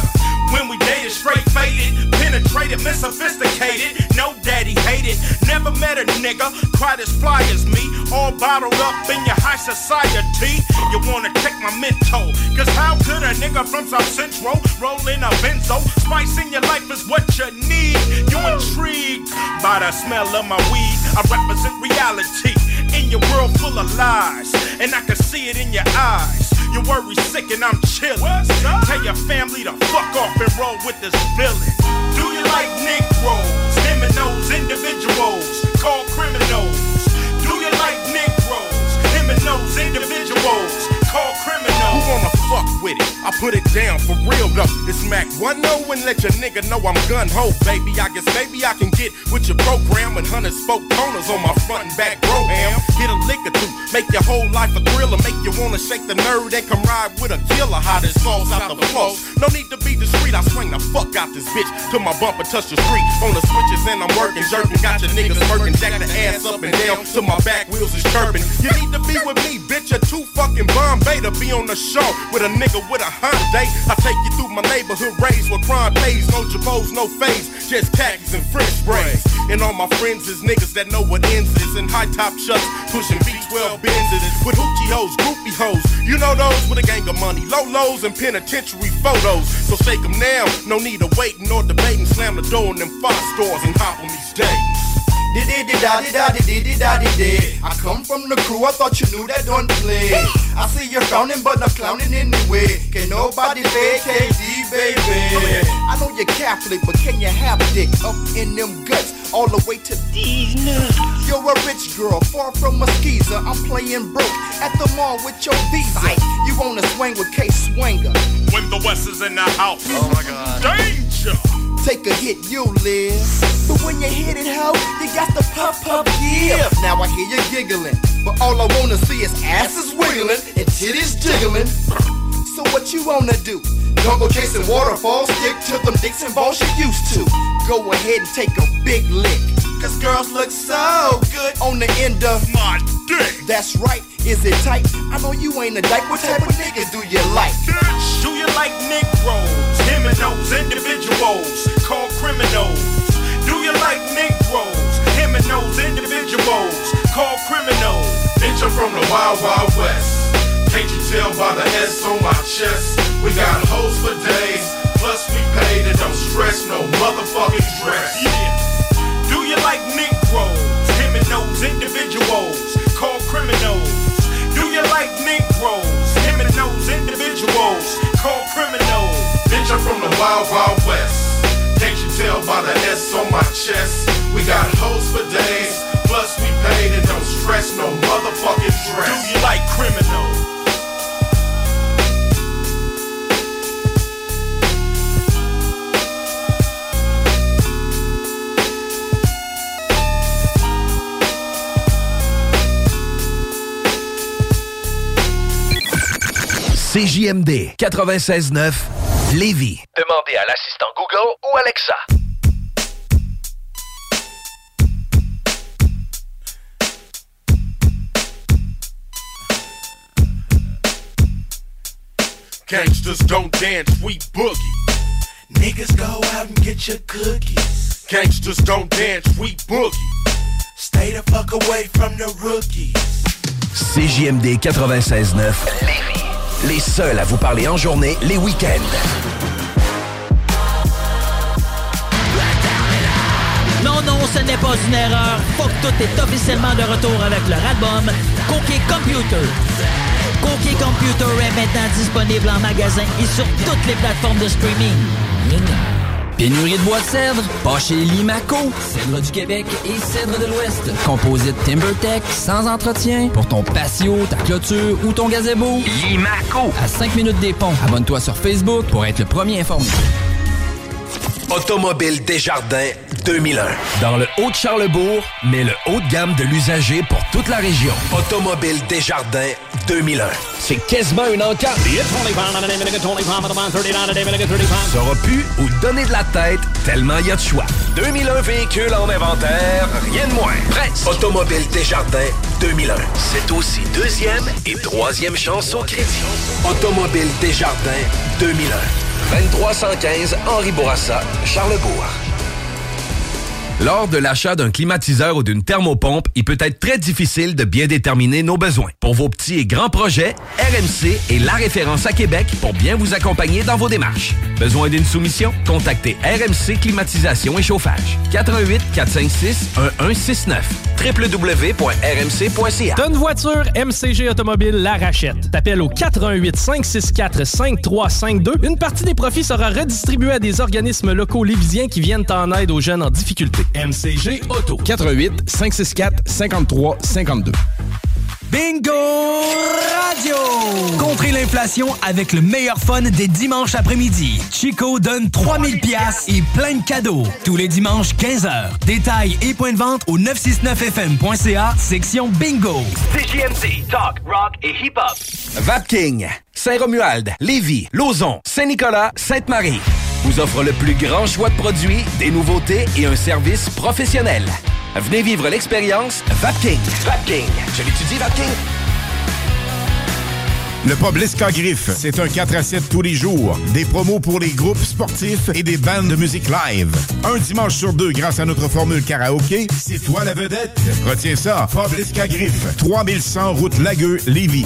When we dated, straight faded, penetrated, unsophisticated, no daddy hated. Never met a nigga quite as fly as me, all bottled up in your high society. You wanna take my mental, cause how could a nigga from South Central roll in a benzo? Spice in your life is what you need. You intrigued by the smell of my weed. I represent reality in your world full of lies, and I can see it in your eyes. Your worry sick and I'm chillin'. Tell your family to fuck off and roll with this villain. Do you like Negroes? Him and those individuals called criminals. Do you like Negroes? Him and those individuals called criminals. Who wanna fuck with it? I put it down for real though. It's Mac 1-0 and let your nigga know I'm gun-ho, baby. I guess maybe I can get with your program and 100 spoke toners on my front and back bro-ham. Hit a lick or two, make your whole life a thriller, make you wanna shake the nerd and come ride with a killer. How this falls out the flow. No need to be discreet, I swing the fuck out this bitch till my bumper touch the street. On the switches and I'm working, jerking, got your niggas working, jack the ass up and down till my back wheels is chirping. You need to be with me, bitch, you're too fucking Bombay to be on the show with a nigga with a Hyundai. I take you through my neighborhood raised with crime pays, no jabos, no fades, just khakis and French braids. And all my friends is niggas that know what ends is, in high top shuts, pushing V12 Benzes with hoochie hoes, groupie hoes. You know those with a gang of money, low lows and penitentiary photos. So shake them now, no need of waiting or debating. Slam the door in them 5 stores and hop on these days. I come from the crew, I thought you knew that don't play. I see you frowning, but I'm clowning anyway. Can nobody fake KD, baby? I know you're Catholic, but can you have dick up in them guts all the way to these nuts? You're a rich girl, far from a skeezer. I'm playing broke at the mall with your visa. You wanna swing with K-Swinger when the West is in the house. Oh my God. Danger! Take a hit, you live. But when you hit it, ho, you got the pop, give. Now I hear you giggling, but all I wanna see is asses wiggling and titties jiggling. So what you wanna do? Don't go chasing waterfalls, stick to them dicks and balls you used to. Go ahead and take a big lick, cause girls look so good on the end of my dick. That's right, is it tight? I know you ain't a dyke, what type of niggas do you like? Bitch, do you like Negroes? Him and those individuals called criminals. Do you like Negroes? Him and those individuals called criminals. Bitch, I'm from the Wild Wild West. Can't you tell by the S on my chest? We got hoes for days, plus we paid and don't stress no motherfucking dress. Yeah. Do you like Negroes? Him and those individuals called criminals. Do you like Negroes? Him and those individuals called criminals. Bitch, I'm from the Wild Wild West. Can't you tell by the S on my chest? We got hoes for days, plus we paid and don't stress no motherfucking dress. Do you like criminals? CJMD 96.9 Lévis. Demandez à l'assistant Google ou Alexa. Gangsters don't dance, we boogie. Niggas go out and get your cookies. Gangsters don't dance, we boogie. Stay the fuck away from the rookies. CJMD 96.9 Lévis. Les seuls à vous parler en journée, les week-ends. Non, ce n'est pas une erreur. Fuck Tout est officiellement de retour avec leur album Coquet Computer. Coquet Computer est maintenant disponible en magasin et sur toutes les plateformes de streaming. Pénurie de bois de cèdre? Pas chez Limaco. Cèdre du Québec et cèdre de l'Ouest. Composite TimberTech, sans entretien, pour ton patio, ta clôture ou ton gazebo. Limaco. À 5 minutes des ponts. Abonne-toi sur Facebook pour être le premier informé. Automobile Desjardins 2001. Dans le Haut-de-Charlebourg, mais le haut de gamme de l'usager pour toute la région. Automobile Desjardins 2001. C'est quasiment une encarte. Saura plus où donner de la tête tellement il y a de choix. 2001 véhicules en inventaire, rien de moins. Presse. Automobile Desjardins 2001. C'est aussi deuxième et troisième chance au crédit. Automobile Desjardins 2001. 2315 Henri Bourassa, Charlebourg. Lors de l'achat d'un climatiseur ou d'une thermopompe, il peut être très difficile de bien déterminer nos besoins. Pour vos petits et grands projets, RMC est la référence à Québec pour bien vous accompagner dans vos démarches. Besoin d'une soumission? Contactez RMC Climatisation et Chauffage. 88 456 1169 www.rmc.ca. T'as une voiture, MCG Automobile la rachète. T'appelles au 88 564 5352. Une partie des profits sera redistribuée à des organismes locaux lévisiens qui viennent en aide aux jeunes en difficulté. MCG Auto. 88 564 53 52. Bingo Radio! Contrez l'inflation avec le meilleur fun des dimanches après-midi. Chico donne 3000 pièces et plein de cadeaux. Tous les dimanches, 15h. Détails et points de vente au 969fm.ca, section Bingo. CJMD, talk, rock et hip-hop. Vapking, Saint-Romuald, Lévis, Lauson, Saint-Nicolas, Sainte-Marie vous offre le plus grand choix de produits, des nouveautés et un service professionnel. Venez vivre l'expérience Vapking. Vapking. Je l'étudie, Vapking. Le pub l'Escagriffe, c'est un 4 à 7 tous les jours. Des promos pour les groupes sportifs et des bandes de musique live. Un dimanche sur deux grâce à notre formule karaoké. C'est toi la vedette. Retiens ça, pub l'Escagriffe, 3100 route Lagueux, Lévis.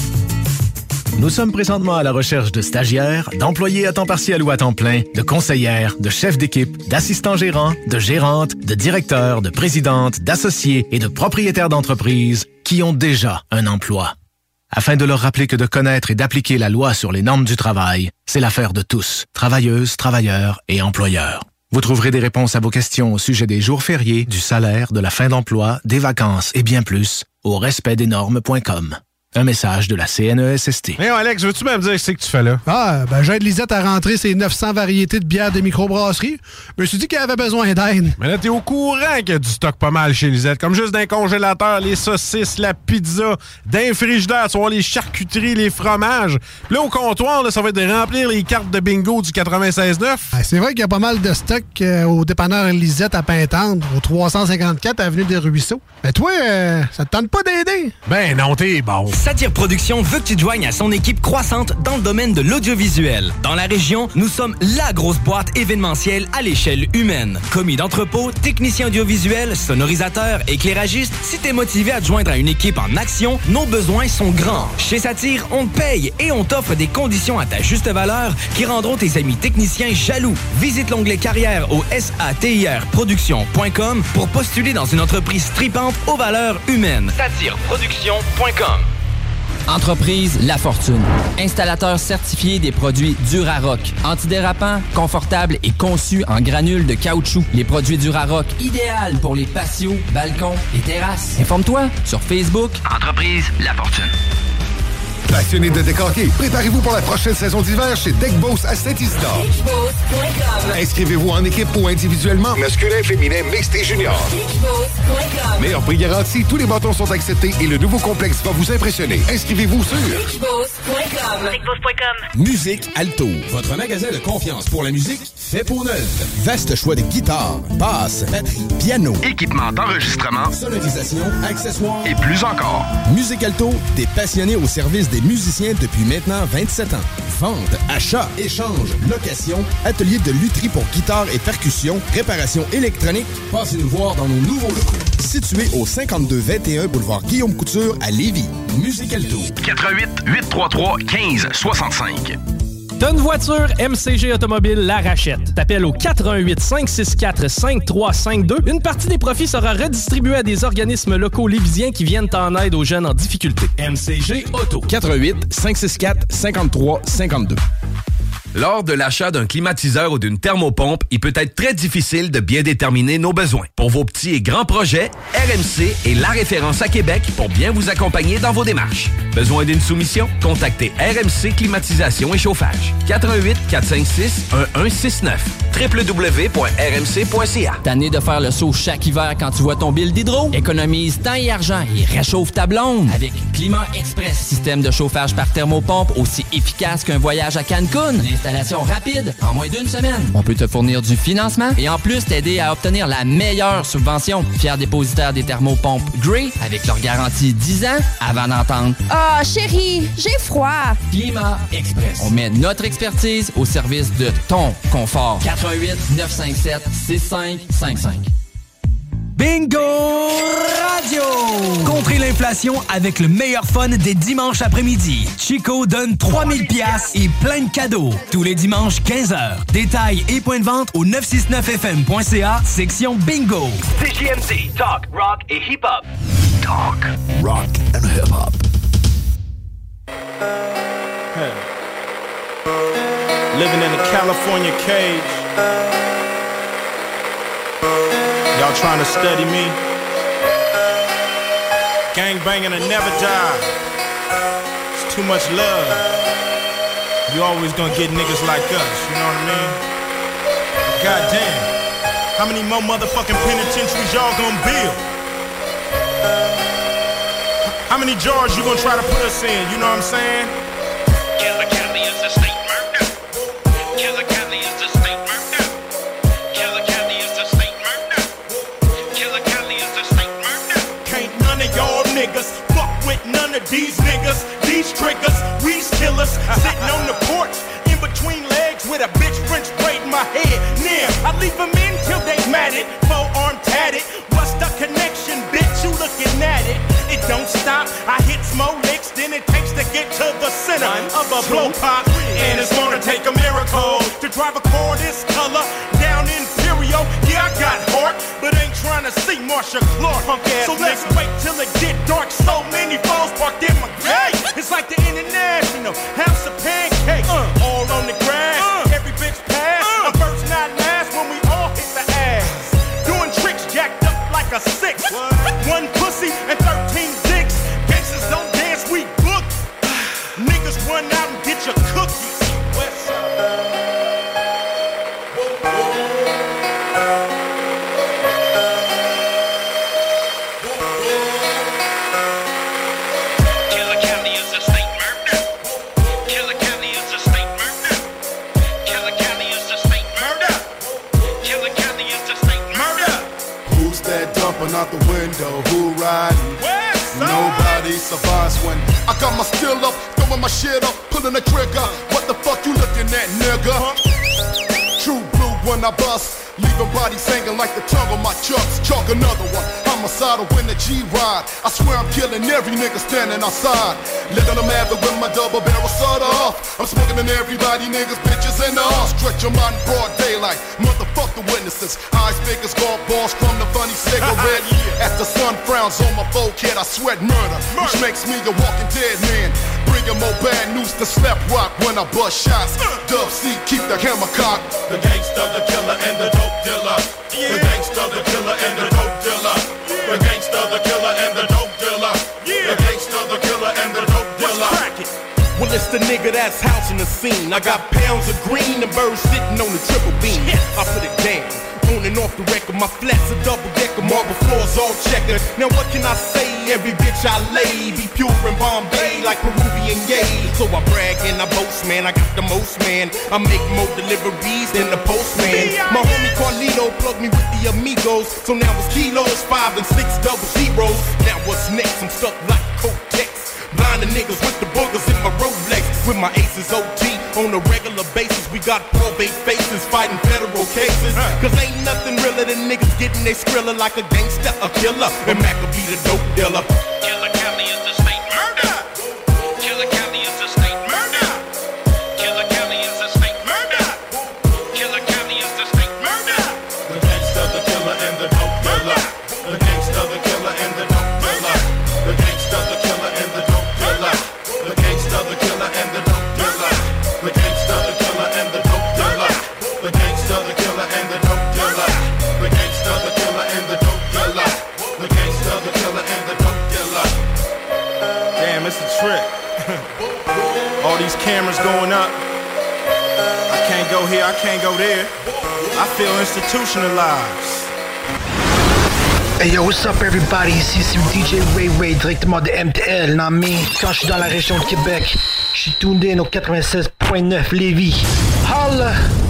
Nous sommes présentement à la recherche de stagiaires, d'employés à temps partiel ou à temps plein, de conseillères, de chefs d'équipe, d'assistants gérants, de gérantes, de directeurs, de présidentes, d'associés et de propriétaires d'entreprises qui ont déjà un emploi. Afin de leur rappeler que de connaître et d'appliquer la loi sur les normes du travail, c'est l'affaire de tous, travailleuses, travailleurs et employeurs. Vous trouverez des réponses à vos questions au sujet des jours fériés, du salaire, de la fin d'emploi, des vacances et bien plus au respectdesnormes.com. Un message de la CNESST. Hey Alex, veux-tu me dire ce que tu fais là? J'aide Lisette à rentrer ses 900 variétés de bières de microbrasserie. Je me suis dit qu'elle avait besoin d'aide. Mais là, t'es au courant qu'il y a du stock pas mal chez Lisette. Comme juste d'un congélateur, les saucisses, la pizza, d'un frigidaire, tu vois, les charcuteries, les fromages. Puis là, au comptoir, là, ça va être de remplir les cartes de bingo du 96.9. C'est vrai qu'il y a pas mal de stock au dépanneur Lisette à Pintendre, au 354 Avenue des Ruisseaux. Mais toi, ça te tente pas d'aider? Ben non, t'es bon. Satire Productions veut que tu te joignes à son équipe croissante dans le domaine de l'audiovisuel. Dans la région, nous sommes la grosse boîte événementielle à l'échelle humaine. Commis d'entrepôt, technicien audiovisuel, sonorisateur, éclairagiste, si t'es motivé à te joindre à une équipe en action, nos besoins sont grands. Chez Satire, on te paye et on t'offre des conditions à ta juste valeur qui rendront tes amis techniciens jaloux. Visite l'onglet carrière au satirproduction.com pour postuler dans une entreprise tripante aux valeurs humaines. Satireproduction.com. Entreprise La Fortune. Installateur certifié des produits Durarock. Antidérapant, confortable et conçu en granules de caoutchouc. Les produits Durarock, idéal pour les patios, balcons et terrasses. Informe-toi sur Facebook. Entreprise La Fortune. Passionné de décorquer, préparez-vous pour la prochaine saison d'hiver chez Deck Boss à Saint-Isidore. Inscrivez-vous en équipe ou individuellement, masculin, féminin, mixte et junior. Meilleur prix garanti, tous les bâtons sont acceptés et le nouveau complexe va vous impressionner. Inscrivez-vous sur Musique Alto, votre magasin de confiance pour la musique fait pour neuf. Vaste choix de guitares, basses, batteries, piano, équipement d'enregistrement, sonorisation, accessoires et plus encore. Musique Alto, des passionnés au service des musiciens depuis maintenant 27 ans. Vente, achat, échange, location, atelier de lutherie pour guitare et percussion, réparation électronique. Passez nous voir dans nos nouveaux locaux. Situé au 5221 boulevard Guillaume Couture à Lévis. Musique Alto. 88 833 15 65. T'as une voiture, MCG Automobile la rachète. T'appelles au 88 564 5352. Une partie des profits sera redistribuée à des organismes locaux lévisiens qui viennent en aide aux jeunes en difficulté. MCG Auto. 88 564 53 52. Lors de l'achat d'un climatiseur ou d'une thermopompe, il peut être très difficile de bien déterminer nos besoins. Pour vos petits et grands projets, RMC est la référence à Québec pour bien vous accompagner dans vos démarches. Besoin d'une soumission? Contactez RMC Climatisation et Chauffage. 88 456 1169 www.rmc.ca. Tanné de faire le saut chaque hiver quand tu vois ton bill d'hydro? Économise temps et argent et réchauffe ta blonde avec Climat Express. Système de chauffage par thermopompe aussi efficace qu'un voyage à Cancun. Installation rapide, en moins d'1 semaine. On peut te fournir du financement et en plus t'aider à obtenir la meilleure subvention. Fier dépositaire des thermopompes Grey avec leur garantie 10 ans avant d'entendre « Ah, chérie, j'ai froid. » Climat Express. On met notre expertise au service de ton confort. 88 957 6555. Bingo Radio! Contrez l'inflation avec le meilleur fun des dimanches après-midi. Chico donne 3000 pièces et plein de cadeaux. Tous les dimanches, 15h. Détails et points de vente au 969fm.ca, section Bingo. CJMD, talk, rock et hip-hop. Talk, rock and hip-hop. Hey. Living in a California cage. Y'all trying to study me? Gang banging and never die. It's too much love. You always gonna get niggas like us, you know what I mean? Goddamn. How many more motherfucking penitentiaries y'all gonna build? How many jars you gonna try to put us in, you know what I'm saying? Killer Kelly is a state murder. Killer Kelly is a state murder. Killer Kelly is a state murder. Killer Kelly is a state murder. Can't none of y'all niggas fuck with none of these niggas. These triggers, we's killers. Sitting on the porch in between legs with a bitch French braid in my head. Now, I leave them in till they matted. Four-arm tatted. What's the connection, bitch? You looking at it. It don't stop. I hit more licks than it takes to get to the center of a blow pop. And it's gonna take a miracle to drive a car this color down Imperial. Yeah, I got heart, but ain't trying to see Marsha Clark. So let's wait till it get dark. So many falls parked in my gate. It's like the International House of Pancakes. All on the grass, every bitch pass. I'm first, not last when we all hit the ass. Doing tricks jacked up like a 6. One pussy and 13 dicks. Gangsters don't dance, we book. Niggas run out and get your cookies. West Killer Kelly is a state murder. Killer Kelly is a state murder. Killer Kelly is a state murder. Killer Kelly is a state murder. Who's that dumping out the window? Who riding? Nobody survives when I got my still up, throwing my shit up, pulling the trigger. What the fuck you looking at, nigga? True blue when I bust, leaving bodies hanging like the tongue on my chucks. Chalk another one, homicidal when the G-ride. I swear I'm killing every nigga standing outside. Letting them have it with my double barrel soda off. I'm smoking in everybody, niggas, bitches, and all. Stretch your mind in broad daylight, motherfuck the witnesses. Eyes big as golf balls from the funny cigarette. As the sun frowns on my forehead, I sweat murder, which makes me a walking dead man. Bringing more bad news to slap rock when I bust shots. Dub C, keep the hammer cocked. The gangster, the killer, and the dope dealer. The gangster, the killer, and the dope dealer. The gangster, the killer, and the dope dealer. The gangster, the killer, and the dope dealer. Well, it's the nigga that's housing the scene. I got pounds of green and birds sitting on the triple beam. I put it down, on and off the record. My flats are double decker, marble floors all checkered. Now what can I say? Every bitch I lay be pure in Bombay like Peruvian yay. So I brag and I boast, man. I got the most, man. I make more deliveries than the postman. My homie Carlito plugged me with the amigos. So now it's kilos, 5 and 6 double zeros. Now what's next? I'm stuck like Kotex. Blinding niggas with the boogers in my Rolex. With my aces OT on a regular basis. We got probate faces fighting federal cases. Cause ain't nothing realer than niggas getting they skrilla like a gangster, a killer. And Mac will be the dope dealer. Killer Kelly is the state murder. Killer Kelly is the state murder. Killer Kelly is the state murder. Killer Kelly is the state murder. The gangster, the killer, and the dope dealer. The gangster, the killer, and the dope dealer. The gangster, the killer, and the dope dealer. The gangster, the killer, and the dope dealer. The gangster, the killer, and the dope dealer. The gangster, the killer, and the dope dealer. The gangster, the killer, and the dope dealer. The gangster, the killer, and the dope dealer. Damn, it's a trip. All these cameras going up. I can't go here, I can't go there. I feel institutionalized. Hey yo, what's up everybody, ici c'est DJ Ray Ray directement de MTL, non mais quand je suis dans la région de Québec, je suis tuned in au 96.9 Lévis. Holla!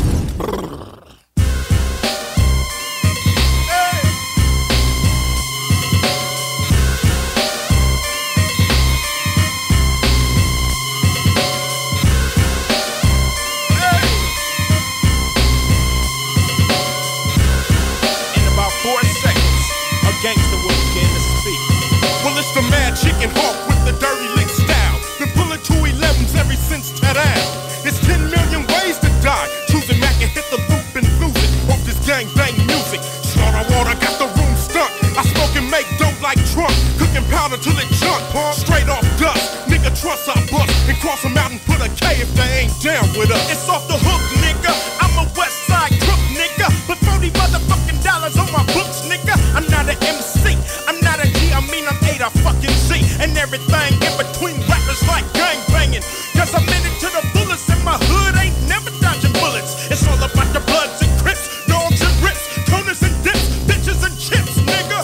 Gangster will begin to speak. Well, it's the mad chicken hawk with the dirty lick style. Been pulling 211s ever since Ted-Al. It's 10 million ways to die. Choosing Mac and hit the loop and lose it. Off this gang bang music. Slaughter water got the room stuck. I smoke and make dope like Trump. Cooking powder till it junk. Straight off dust. Nigga trust I bust. And cross them out and put a K if they ain't down with us. It's off the hook, nigga. I'm a west side crook, nigga. But $40 motherfucking dollars on my books, nigga. I'm not an MC, I'm not a G, I mean I'm A to fucking Z. And everything in between rappers like gang banging. Cause I'm in it to the fullest and my hood ain't never dodging bullets. It's all about the bloods and crips, dogs and rips, corners and dips, bitches and chips, nigga.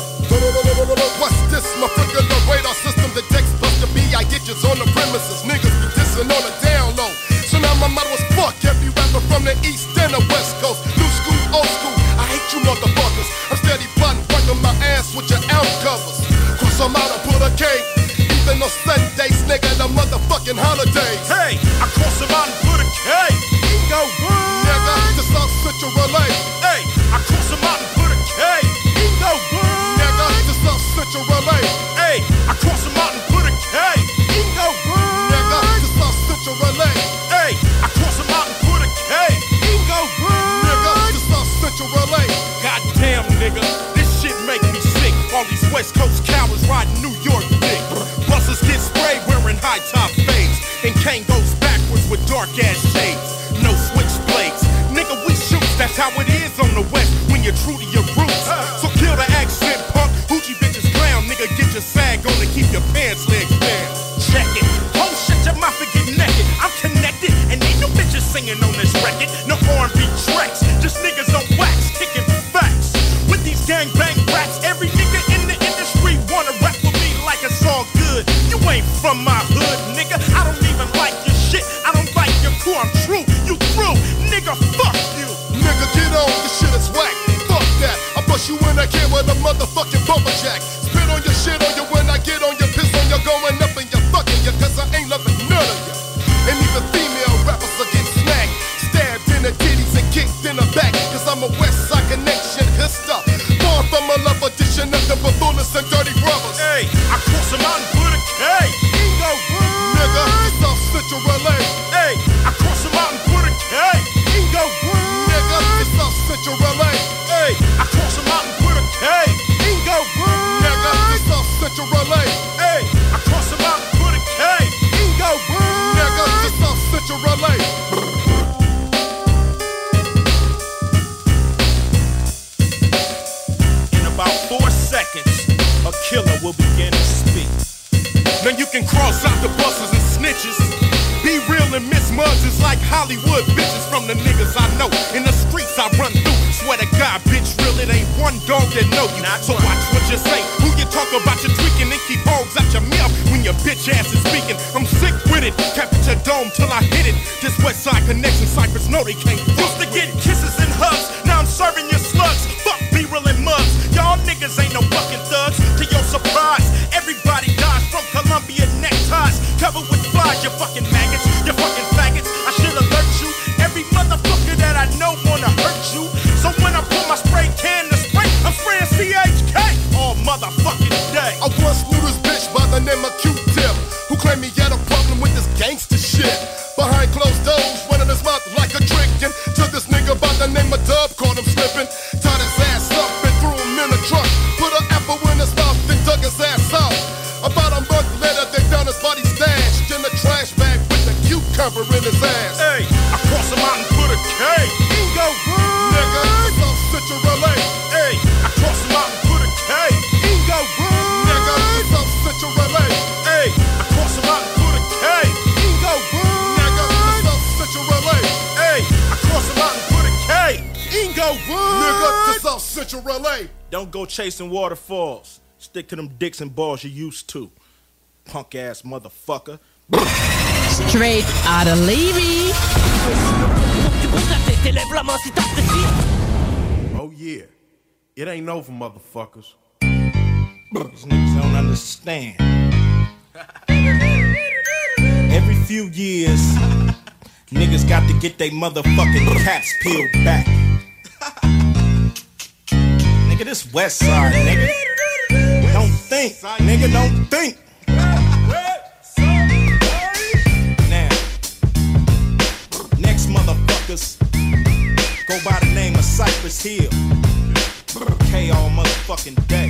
What's this? My freaking radar system detects plus the B.I. ditches on the premises. Niggas be dissing on the down low. So now my motto is fuck every rapper from the east and the west coast. New school, old school, I hate you motherfuckers. I'm steady plotting, working my ass with your album covers. Cross them out and put a K. Even on Sundays, nigga, the motherfucking holidays. Hey, I cross them out and put a K. Go what? Nigga, the South Central Relay. Hey, I cross them out and put a K. Go what? Nigga, the South Central Relay. Hey, I cross them out and put a K. Go what? Nigga, the South Central Relay. Hey, I cross them out and put a K. Go what? Nigga, the South Central Relay. Goddamn, nigga, this shit make me sick. All these West Coast cowards riding New York dick. Buses get sprayed wearing high top fades. And Kane goes backwards with dark ass shades. No switchblades. Nigga, we shoot. That's how it is on the West when you're true to your roots. So kill the accent, punk. Hoochie bitches clown. Nigga, get your sag on and keep your pants legs down. Check it. Oh shit, your mouth and get naked. I'm connected. And ain't no bitches singing on this record. No R&B tracks. Just niggas on wax. Kicking facts. With these gang bang raps. Every nigga in the industry wanna rap with me like it's all good. You ain't from my hood, nigga. I don't even like your shit. I don't like your crew. I'm true. You through. Nigga, fuck you. Nigga, get on. This shit is whack. Fuck that. I bust you in again with a motherfucking bumper jack. Spit on your shit on you when I get on your piss on you going up and you're fucking you. Cause I ain't loving none of you. And even female rappers are getting snagged. Stabbed in the titties and kicked in the back. Cause I'm a West Side Connection hipster. Born from a love edition of the Babooners and Dirty Brothers. Hey, I cross them out and put a K. Go what? Nigga, the South Central Relay. Hey, I cross them out and put a K. Go what? Nigga, the South Central Relay. Hey, I cross them out and put a K. Go what? Nigga, the South Central Relay. Hey, I cross them out and put a K. Go what? Nigga, the South Central Relay. In about 4 seconds, a killer will begin to speak. Now you can cross out the buses and snitches. Be real and miss mugs is like Hollywood bitches from the niggas I know. In the streets I run through. Swear to God, bitch, real, it ain't one dog that know you. So watch what you say. Who you talk about, you tweaking and keep hogs out your mouth when your bitch ass is speaking. I'm sick with it. Kept it your dome till I hit it. This West Side Connection cyphers know they can't. Used to get kisses and hugs. Now I'm serving your slugs. Fuck B-real and mugs. Y'all niggas ain't no fucking thugs. To your surprise, everybody dies from Columbia neckties. Covered with flies, you fucking maggots. You fucking faggots. I should alert you. Every motherfucker that I know wanna hurt you. So when I pull my spray can to spray, I'm spraying CHK all motherfucking day. I once knew this bitch by the name of Q-Tip, who claimed he had a problem with this gangster shit. Behind closed doors, running his mouth like a trick. And to this nigga by the name of Dub, caught him slipping. Tied his ass up and threw him in a truck. Put an apple in his mouth and dug his ass out. About a month later, they found his body stashed in a trash bag with a cucumber in his ass. Hey, I cross him out and put a K. Go what? Nigga, South Central Relay. Hey, I cross him out and put a K. Go what? Nigga, South Central Relay. Hey, I cross him out and put a K. Go what? Nigga, South Central Relay. Hey, I cross him out and put a K. Go what? Nigga, the South Central Relay. Don't go chasing waterfalls. Stick to them dicks and balls you used to. Punk ass motherfucker. Straight out of Levy. Ouvre tes téléplements si t'apprécies. Oh yeah, it ain't over, motherfuckers. These niggas don't understand. Every few years, niggas got to get they motherfucking caps peeled back. Nigga, this West Side, nigga. Don't think, nigga, don't think. Now, next motherfuckers go by the name of Cypress Hill. K all motherfucking day.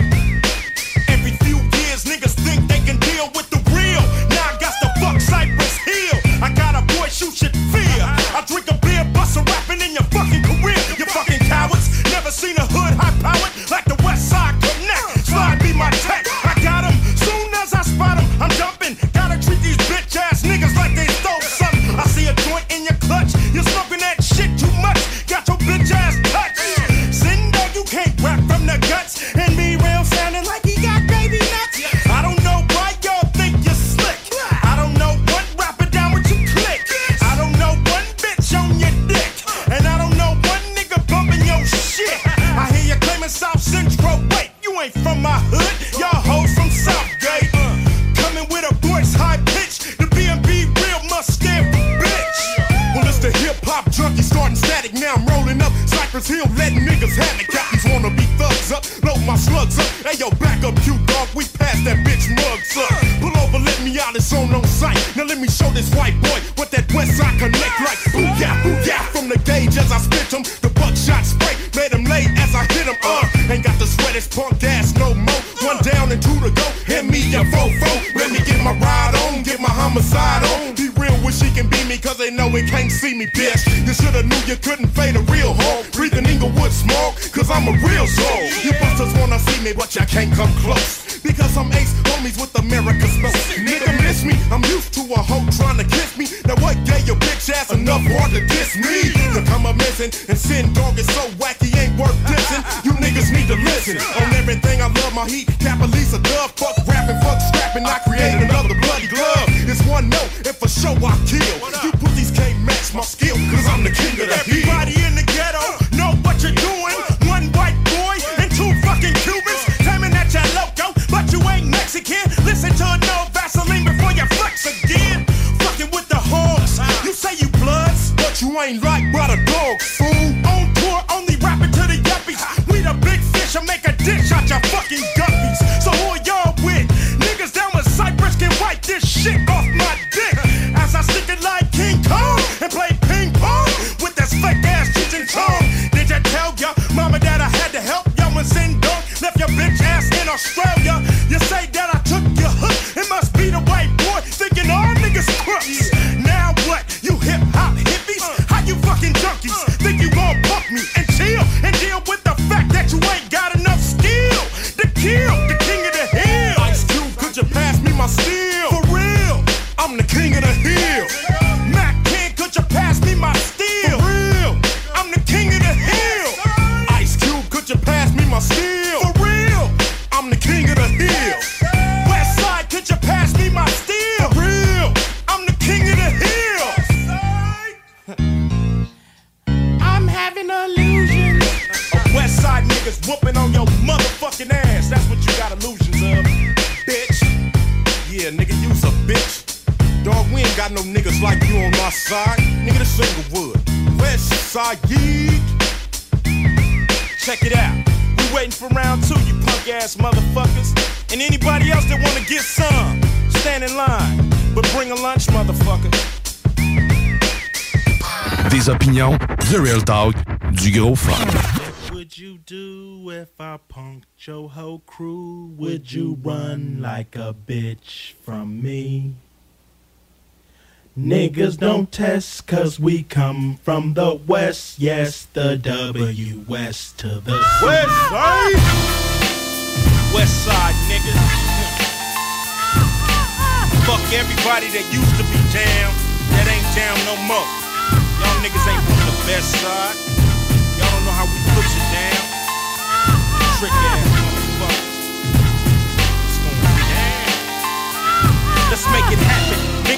Every few years, niggas think they can deal with the real. Now I got to fuck Cypress Hill. I got a voice you should fear. I drink a beer, bust a rapping in your fucking career. You fucking cowards. Never seen a hood high-powered like the West Side Connect. Slide be my tech. I got them. Soon as I spot them, I'm jumping. Gotta treat these bitch-ass niggas like they stole something. I see a joint in your clutch. You're smoking that shit too much. Got your bitch-ass touch. Sitting there, you can't rap from the guts. And me real sounding like he got baby nuts. I don't know why y'all think you're slick. I don't know what rapper down with you click. I don't know one bitch on your dick. And I don't know one nigga bumping your shit. I hear you claiming South Central. Wait, you ain't from my hood. Y'all hoes from Southgate. Coming with a voice high pitch. The B&B real must stand for bitch. Well, it's the hip-hop junkie starting static. Now I'm rolling up Cypress Hill, letting niggas have it. Got these wanna be thugs up, load my slugs up. Hey yo, back up, you dog, we passed that bitch mugs up. Pull over, let me out, it's on sight. Now let me show this white boy what that West Side Connect like. Booyah, from the gauge as I spit him. The buckshot spray, made him late as I hit him. Ain't got to sweat his punk ass no more. One down and two to go, hit me a fofo. Let me get my ride on, get my homicide on. Be real wish he can be me, cause they know he can't see me, bitch. You shoulda knew you couldn't fade a real hog. Breathing Inglewood smoke, cause I'm a real soul. You busters wanna see me, but you can't come close. Because I'm ace homies with America's smoke. Nigga miss me, I'm used to a hoe trying to kiss me. Now what gave your bitch ass enough hard to diss me? To come a missing and sin dog is so wacky ain't worth dissing. You niggas need to listen. On everything I love my heat, Capalisa dove. Fuck rapping, fuck scrapping, I created another bloody glove. It's one note, and for sure I kill. You pussies can't match my skill, cause I'm the king of the hill. Everybody in the ghetto know what you're doing. One white boy and two fucking Cubans claiming that you're loco, but you ain't Mexican. Listen to no Vaseline before you flex again. Fucking with the hogs. You say you bloods, but you ain't like brother dogs, fool. On tour, only rapping to the yuppies. We the big fish, I make a dish out your fucking guppies. So who are y'all with? Niggas down with Cypress can wipe this shit off my dick. As I stick it like King Kong and play ping pong with this fake ass Cheech and Chong. Did I tell ya, mama, that I had to help y'all when Sin Dog left your bitch ass in Australia? You say that I took your hook, it must be the white boy thinking all niggas crooks. Now what, you hip hop hippies? How you fucking junkies think you gon' pump me and chill and deal with the fact that you ain't got enough skill to kill the king of the hill? Ice Cube, could you pass me my steel? For real, I'm the king of the hill. Mac King, could you pass me my steel? For real, I'm the king of the hill. Ice Cube, could you pass me my steel? For real, I'm the king of the hill. West Side, could you pass me my steel? For real, I'm the king of the hill. I'm having illusions of West Side niggas whooping on your motherfucking ass. That's what you got illusions of, bitch. Yeah, nigga, you's a bitch. Dog, we ain't got no niggas like you on my side. Nigga, this Inglewood. West Side, yeet. Check it out. We waiting for round 2, you punk ass motherfuckers. And anybody else that wanna get some, stand in line. But bring a lunch, motherfucker. Des opinions, du real talk, du gros fun. What would you do if I punked your whole crew? Would you run like a bitch from me? Niggas don't test cause we come from the west. Yes, the W-West to the West Side. West Side niggas. Fuck everybody that used to be down, that ain't down no more. Y'all niggas ain't from the best side. Y'all don't know how we push it down. Trick ass motherfuckers. It's going down. Let's make it happen.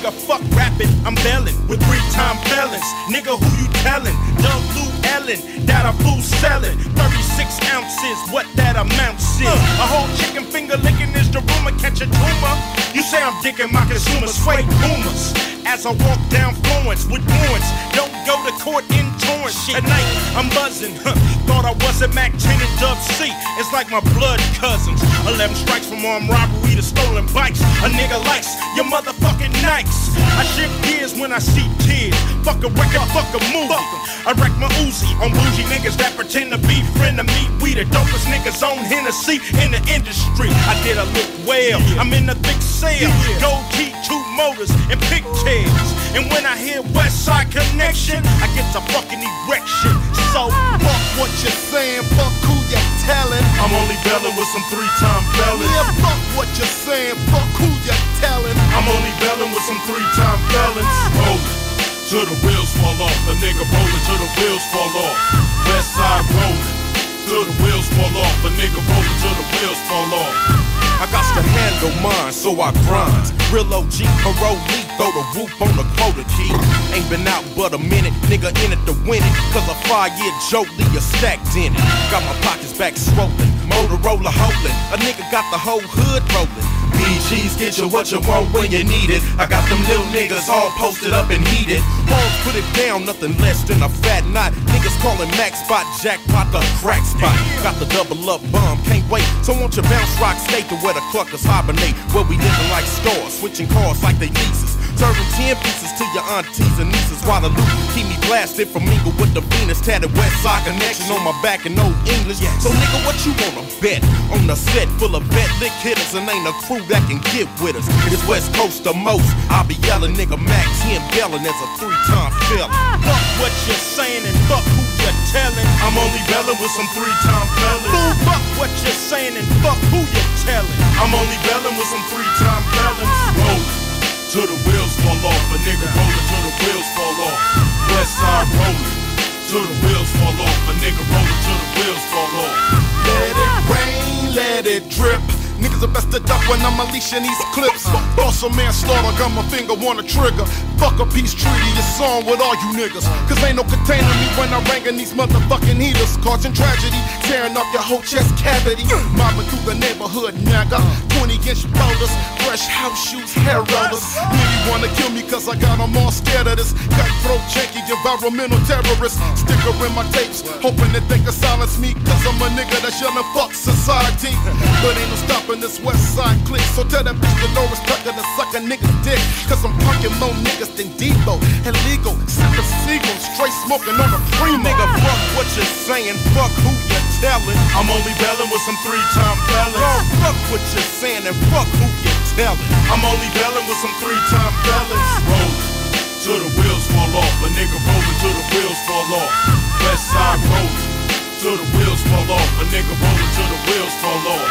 nigga, fuck rapping, I'm bellin' with 3-time felons. Nigga, who you tellin'? Doug Lou Ellen, that a fool sellin'. 36 ounces, what that amounts is. A whole chicken finger licking is the rumor, catch a tumor. You say I'm dicking my consumers, fake boomers. As I walk down Florence with warrants, don't go to court in Torrance. Tonight, I'm buzzing, thought I wasn't Mac 10 and Dub C. It's like my blood cousins. 11 strikes from armed robbery to stolen bikes. A nigga likes your motherfucking nights. I shift gears when I see tears. Fuck a record, fuck a movie. I wreck my Uzi on bougie niggas that pretend to be friend of me. We the dopest niggas on Hennessy in the industry. I did a look well, I'm in the thick cell. Gold key, 2 motors, and pigtails. And when I hear West Side Connection, I get a fucking erection. So fuck what you're saying, fuck who you're telling. I'm only bellin' with some 3-time felons. Yeah, fuck what you're saying, fuck who you're telling. I'm only bellin' with some 3-time felons. Rollin' till the wheels fall off. A nigga rollin' till the wheels fall off. West Side rollin' till the wheels fall off. A nigga rollin' till the wheels fall off. I got to handle mine, so I grind. Real OG, parolee, throw the roof on the quota key. Ain't been out but a minute, nigga in it to win it. Cause a 5-year Jolie is stacked in it. Got my pockets back swollen, Motorola holding. A nigga got the whole hood rolling. BG's get you what you want when you need it. I got them little niggas all posted up and heated. Homes put it down, nothing less than a fat knot. Niggas calling Max Spot, Jackpot the crack spot. Got the double up bomb, can't wait. So won't you bounce rock state to where the cluckers hibernate. Where we living like stores, switching cars like they leases. Serving 10 pieces to your aunties and nieces while the loot keep me blasted from mingle with the Venus. Tatted West Side Connection on my back in old English. So nigga, what you wanna bet? On the set full of vet lick hitters and ain't a crew that can get with us. It's West Coast the most. I'll be yelling nigga Mac 10 bellin' as a 3-time felon. Fuck what you're saying and fuck who you're telling. I'm only bellin' with some 3-time felons. Fuck what you're saying and fuck who you're telling. I'm only bellin' with some 3-time felons. Rollin' till the wheels fall off. A nigga rollin' till the wheels fall off. West Side rollin' till the wheels fall off. A nigga rollin' till the wheels fall off. Let it rain, let it drip. Niggas are best to duck when I'm unleashing these clips. Also manslaughter, got my finger on the trigger. Fuck a peace treaty, it's on with all you niggas. Cause ain't no containing me when I'm banging these motherfucking heaters. Causing tragedy, tearing up your whole chest cavity. Mobbing through the neighborhood, nigga. 20-inch boulders, fresh house shoes, hair rollers. Really wanna kill me cause I got them all scared of this. Cutthroat, janky, environmental terrorist. Sticker in my tapes, hoping that they can silence me. Cause I'm a nigga that's yelling fuck society. But ain't no stopping this West Side clique. So tell that bitch Dolores Tucker to suck a nigga's dick. Cause I'm punking more niggas than Debo. Illegal, sipping Seagull, straight smoking on a primo. Nigga, fuck what you're saying, fuck who you're telling. I'm only bellin' with some 3-time felons. Oh, fuck what you're saying and fuck who you're telling. I'm only bellin' with some 3-time felons. Rollin' till the wheels fall off. A nigga rollin' till the wheels fall off. West Side rollin' till the wheels fall off. A nigga rollin' till the wheels fall off.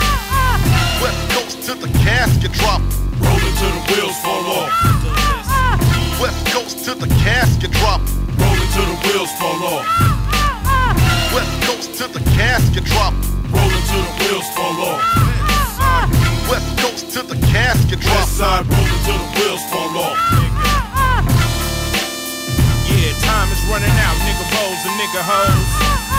West Coast till the casket drop. Rollin' till the wheels fall off. West Coast till the casket drop. Rollin' till the wheels fall off. West Coast till the casket drop. Rollin' till the wheels fall off. West Coast till the casket drop. West Side rollin' till the wheels fall off. Yeah, time is running out, nigga rolls and nigga hoes.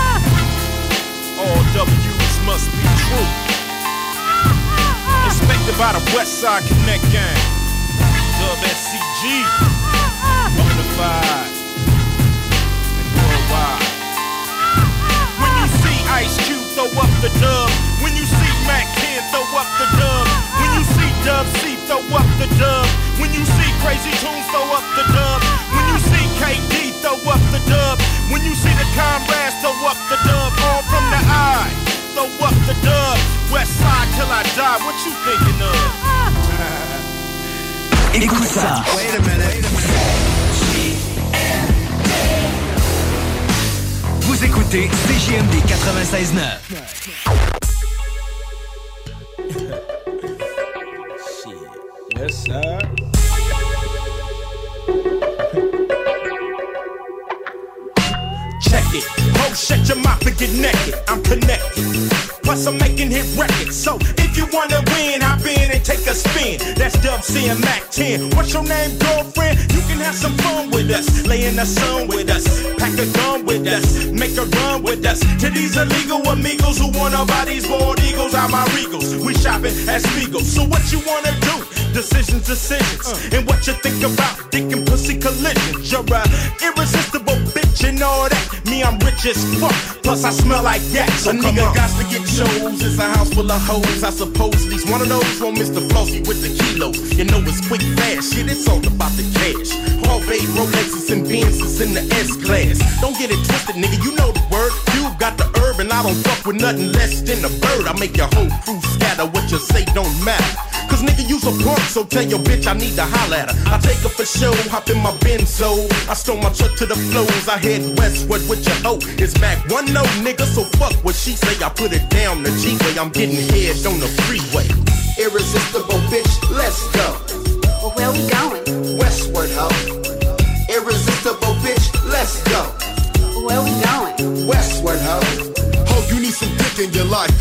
All W's must be true. Inspected by the West Side Connect gang. Dub SCG. Bonafide. And worldwide. When you see Ice Cube, throw up the dub. When you see Mac 10, throw up the dub. When you see Dub C, throw up the dub. When you see Crazy Tunes, throw up the dub. When you see KD, throw up the dub. When you see the comrades, throw up the dub. All from the eye, throw up the dub. West Side till I die, what you thinking of? Écoute ça. Wait a minute. Vous écoutez CJMD 96.9. Yes, sir. Check it. shut your mouth and get naked. I'm connected. Plus I'm making hit records. So if you wanna win, hop in and take a spin. That's Dub C and Mac 10. What's your name, girlfriend? You can have some fun with us. Lay in the sun with us. Pack a gun with us. Make a run with us. To these illegal amigos who wanna buy these bald eagles out my regals. We shopping at Spiegel. So what you wanna do? Decisions. And what you think about dick and pussy collisions. You're a irresistible bitch and all that. Me, I'm rich as fuck. Plus I smell like that. So a nigga got to get shows. It's a house full of hoes. I suppose at least one of those won't miss the flossy with the kilos. You know it's quick, fast shit. It's all about the cash. Harvey, Rolexes, and Benzes in the S-Class. Don't get it twisted, nigga. You know the word. You got the herb, and I don't fuck with nothing less than a bird. I make your whole crew scatter. What you say don't matter. Cause nigga, you's a punk, so tell your bitch I need to holler at her. I take her for show, hop in my Benzo. I stole my truck to the flows, I head westward with your hoe. It's Mac 1-0, nigga, so fuck what she say. I put it down the G-way, I'm getting head on the freeway. Irresistible bitch, let's go. Well, where we going? Westward, hoe. Irresistible bitch, let's go. Well, where we going? Westward, hoe. You need some dick in your life,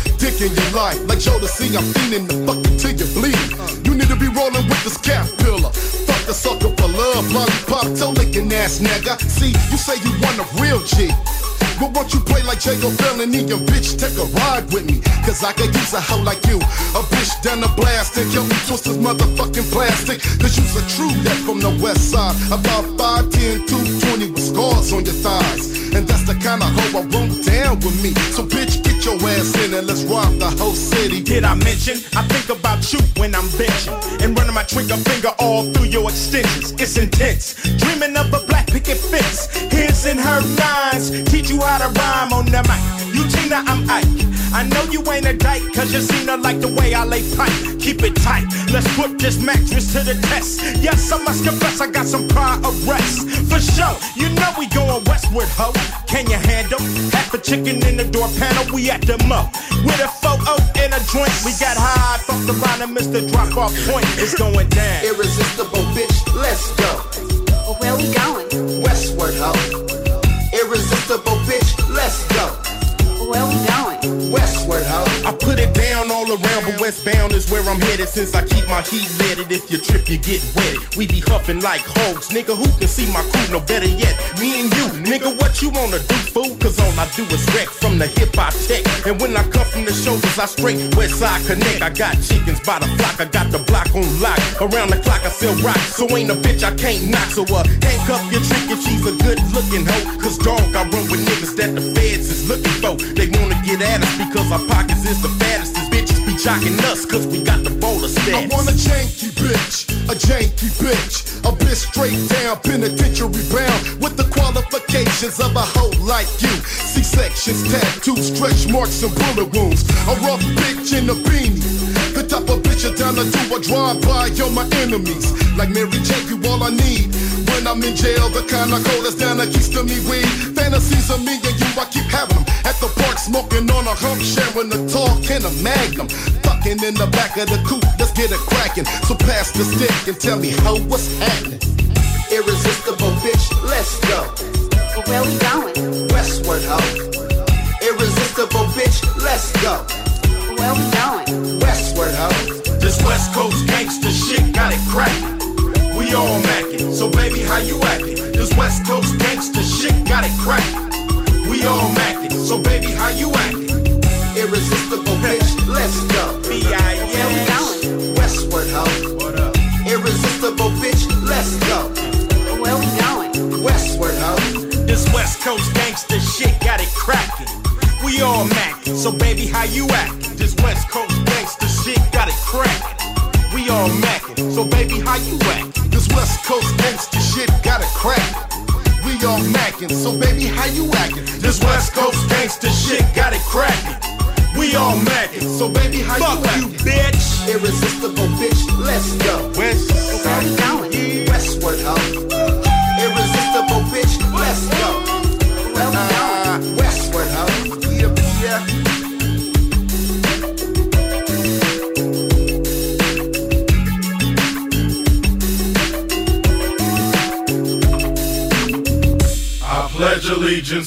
Like Jodeci, I'm feeding the fucking till you bleed. You need to be rolling with this caterpillar. Fuck the sucker for love, lollipop, toe licking ass nigga. See, you say you want a real G. But won't you play like Jago Felony and bitch, take a ride with me? Cause I could use a hoe like you. A bitch down the blast and kill me twist this motherfucking plastic. Cause you's a true that from the west side. About 5'10", 220 with scars on your thighs. And that's the kind of hoe I want down with me. So bitch, get your ass in and let's rob the whole city. Did I mention? I think about you when I'm benching. And running my trigger finger all through your extensions. It's intense. Dreaming of a black picket fence. His and her nines. Teach you how to rhyme on the mic. You Tina, I'm Ike. I know you ain't a dyke, cause you seen her like the way I lay pipe. Keep it tight, let's put this mattress to the test. Yes, I must confess, I got some prior arrests. For sure, you know we going westward, ho. Can you handle half a chicken in the door panel? We at the mo with a photo and a drink. We got high, fucked around and missed the drop off point. It's going down. Irresistible bitch, let's go. Well, where we going? Westward, ho. Irresistible bitch, let's go. Where we going? Westward, ho. I put it down all around, but westbound is where I'm headed. Since I keep my heat leaded, if you trip, you get wetted. We be huffing like hogs, nigga. Who can see my crew? No better yet, me and you, nigga. What you wanna do, fool? Cause all I do is wreck from the hip hop tech. And when I come from the shoulders, I straight west side connect. I got chickens by the flock, I got the block on lock. Around the clock, I sell rock, so ain't a bitch I can't knock. So handcuff your trick if she's a good looking hoe. Cause dog, I run with niggas that the feds is looking for. They wanna get at us because our pockets is the fattest. These bitches be jocking us cause we got the bowler stats. I want a janky bitch, a janky bitch. A bitch straight down, penitentiary bound. With the qualifications of a hoe like you. C-sections, tattoos, stretch marks and bullet wounds. A rough bitch in a beanie. The type of bitch you down to do a drive-by on my enemies. Like Mary J, you all I need. When I'm in jail, the kind of cold that's down that keeps to me weed. Fantasies of me and you, I keep having them. At the park, smoking on a hump, sharing a talk and a magnum. Fucking in the back of the coupe, let's get it cracking. So pass the stick and tell me how what's happening. Irresistible bitch, let's go. Well, where we going? Westward, ho. Irresistible bitch, let's go. Well, where we going? Westward, ho. This West Coast gangsta shit got it crackin'. We all mackin', so baby, how you actin'? This West Coast gangsta shit got it crackin'. We all mackin', so baby, how you actin'? Irresistible bitch, let's go. B.I.S. Where we going? Westward, ho. What up? Irresistible bitch, let's go. Well, where we going? Westward, ho. This West Coast gangsta shit got it crackin'. We all mackin', so baby, how you actin'? This West Coast gangsta shit got it crackin'. We all mackin', so baby, how you actin'? This West Coast gangsta shit got it crackin'. We all mackin', so baby, how you actin'? This West Coast gangsta shit got it crackin'. We all mackin', so baby, how Fuck you actin'? Bitch. Irresistible bitch, let's go. West Where we going? Westward, ho. Irresistible bitch, let's go. Where we going? Westward, ho. Yeah. I pledge allegiance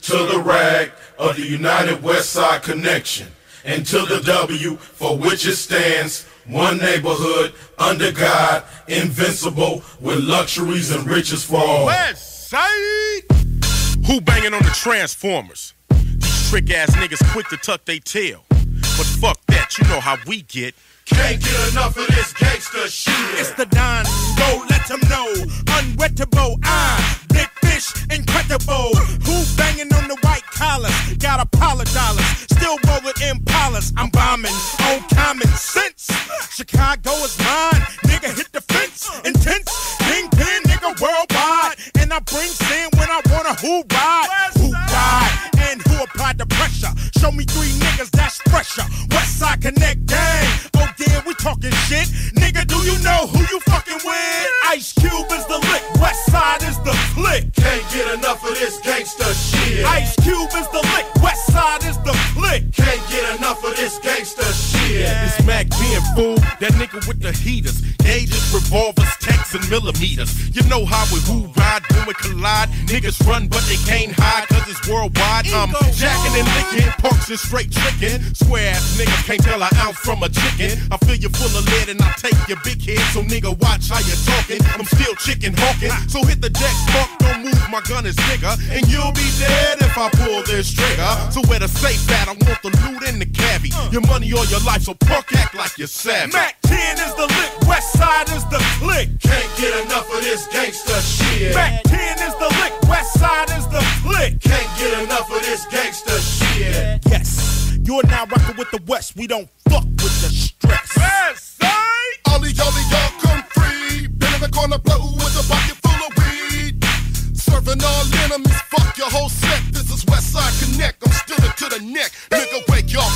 to the rag of the United West Side Connection, and to the W for which it stands. One neighborhood under God, invincible, with luxuries and riches for all. West Side! Who banging on the Transformers? These trick ass niggas quick to tuck they tail. But fuck that, you know how we get. Can't get enough of this gangster shit. It's the Don, go let them know. Unwettable, big fish, incredible. Who banging on the white collars? Got Apollo dollars, still rolling Impalas. I'm bombing on common sense. Chicago is mine, nigga hit the fence. Intense, kingpin, nigga worldwide. And I bring sin when I wanna who ride. Who ride and who applied the pressure. Show me 3 niggas that's fresher. Westside Connect gang. Oh yeah, we talking shit. Nigga, do you know who you fucking with? Ice Cube is the lick, Westside is the click. Can't get enough of this gangster shit. Ice Cube is the lick, Westside is the click. Can't get enough of this gangster shit. It's Mac being fool, that nigga with the heaters, gauges, revolvers, tanks, and millimeters. You know how we who ride when we collide. Niggas run but they can't hide cause it's worldwide. I'm jacking and licking, punks and straight tricking. Square ass niggas can't tell an ounce from a chicken. I fill you full of lead and I take your big head. So nigga watch how you talking. I'm still chicken hawking. So hit the deck, fuck, don't move, my gun is bigger. And you'll be dead if I pull this trigger. So where the safe at, I want the loot in the cabbie. Your money or your life, so punk act like you're savage. Mac 10 is the lick, Westside is the click. Can't get enough of this gangster shit. Mac 10 is the lick, Westside is the click. Can't get enough of this gangster shit. Yes, you're now rocking with the West. We don't fuck with the stress. Westside! Ollie, y'all come free. Been in the corner, blow with a bucket full of weed. Serving all enemies, fuck your whole set. This is Westside Connect, I'm still it to the neck. Nigga, where y'all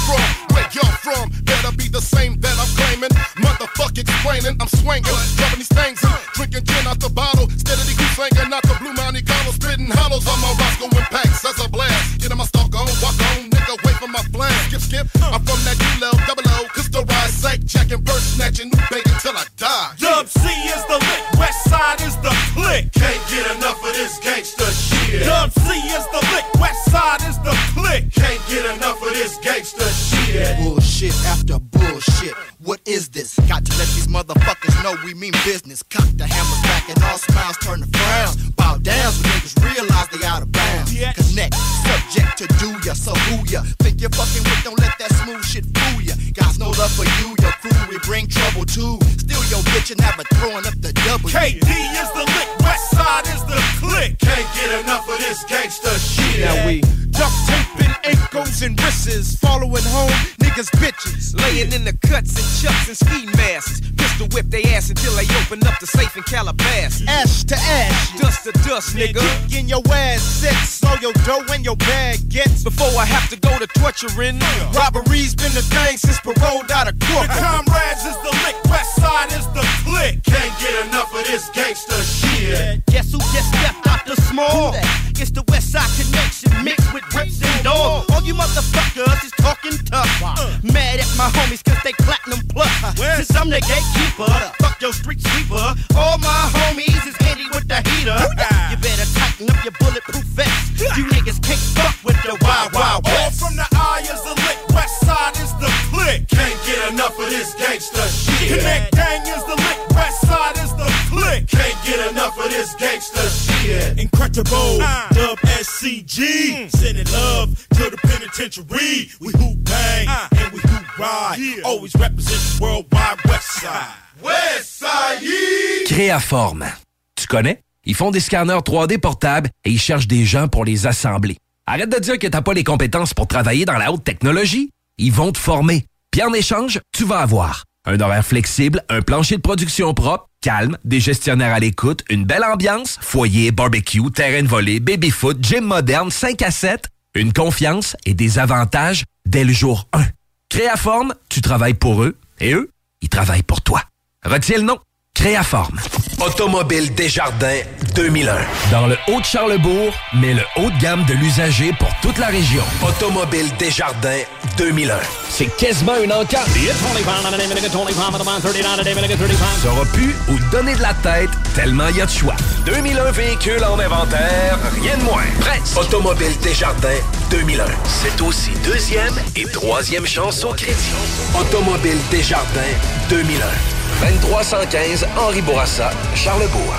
from? Better be the same that I'm claiming. Motherfuck explaining, I'm swinging, dropping these things, drinking gin out the bottle. Steadily keep singing out the Blue Mountain Carlo, spitting hollows on my Roscoe impacts as a blast. Get in my stalk on, walk on, nigga, wait for my plan. Skip, I'm from that D-Lo, double O, Crystal Rise, Sack, checking, bird snatching, new bacon till I die. Dub C is the lick, Westside is the click. Can't get enough of this gangster shit. Dub C is the lick, Westside is the click. Can't get enough of this gangster shit. Bullshit after bullshit. What is this? Got to let these motherfuckers know we mean business. Cock the hammers back and all smiles turn to frowns. Bow down when niggas realize they out of bounds. Connect, subject to do ya, so who ya? Think you're fucking with, don't let that smooth shit fool ya. Guys, no love for you, your crew, we bring trouble too. Steal your bitch and have her throwing up the W. KD is the lick, Westside is the click. Can't get enough of this gangster shit. Now we duct taping ankles and wrists, following home niggas bitches, laying in the cuts and chucks and ski masks. Pistol whip they ass until they open up the safe in Calabasas. Ash to ash, dust to dust, nigga. Getting your ass set, so your dough and your bag gets. Before I have to go to torturing, robbery's been the thing since paroled out of court. The comrades is the lick, Westside is the click. Can't get enough of this gangster shit. Guess who just stepped out the small? It's the Westside Connection mixed with rips and dogs. All you motherfuckers is talking tough. Mad at my homies cause they platinum plus. Since I'm the gatekeeper, fuck your street sweeper. All my homies is handy with the heater. You better tighten up your bulletproof vest. You niggas can't fuck with the Wild Wild West. All from the eye is the lick, Westside is the click. Can't get enough of this gangster shit. Connect gang is the lick, Westside is the click. Can't get enough of this gangster shit. Incredible, Dub SCG. Sending love to the penitentiary. We who bang and we who ride. Always represent the worldwide Westside. Westside. Créaforme. Tu connais? Ils font des scanners 3D portables et ils cherchent des gens pour les assembler. Arrête de dire que t'as pas les compétences pour travailler dans la haute technologie. Ils vont te former. Puis en échange, tu vas avoir un horaire flexible, un plancher de production propre, calme, des gestionnaires à l'écoute, une belle ambiance, foyer, barbecue, terrain de volley, baby-foot, gym moderne, 5 à 7, une confiance et des avantages dès le jour 1. Créaforme, tu travailles pour eux et eux, ils travaillent pour toi. Retiens le nom. Créaforme. Automobile Desjardins 2001. Dans le Haut-de-Charlebourg, mais le haut de gamme de l'usager pour toute la région. Automobile Desjardins 2001. C'est quasiment une encarde. Ça aura pu ou donner de la tête tellement il y a de choix. 2001 véhicules en inventaire, rien de moins. Presse. Automobile Desjardins 2001. C'est aussi deuxième et troisième chance au crédit. Automobile Desjardins 2001. 2315 Henri Bourassa, Charlebourg.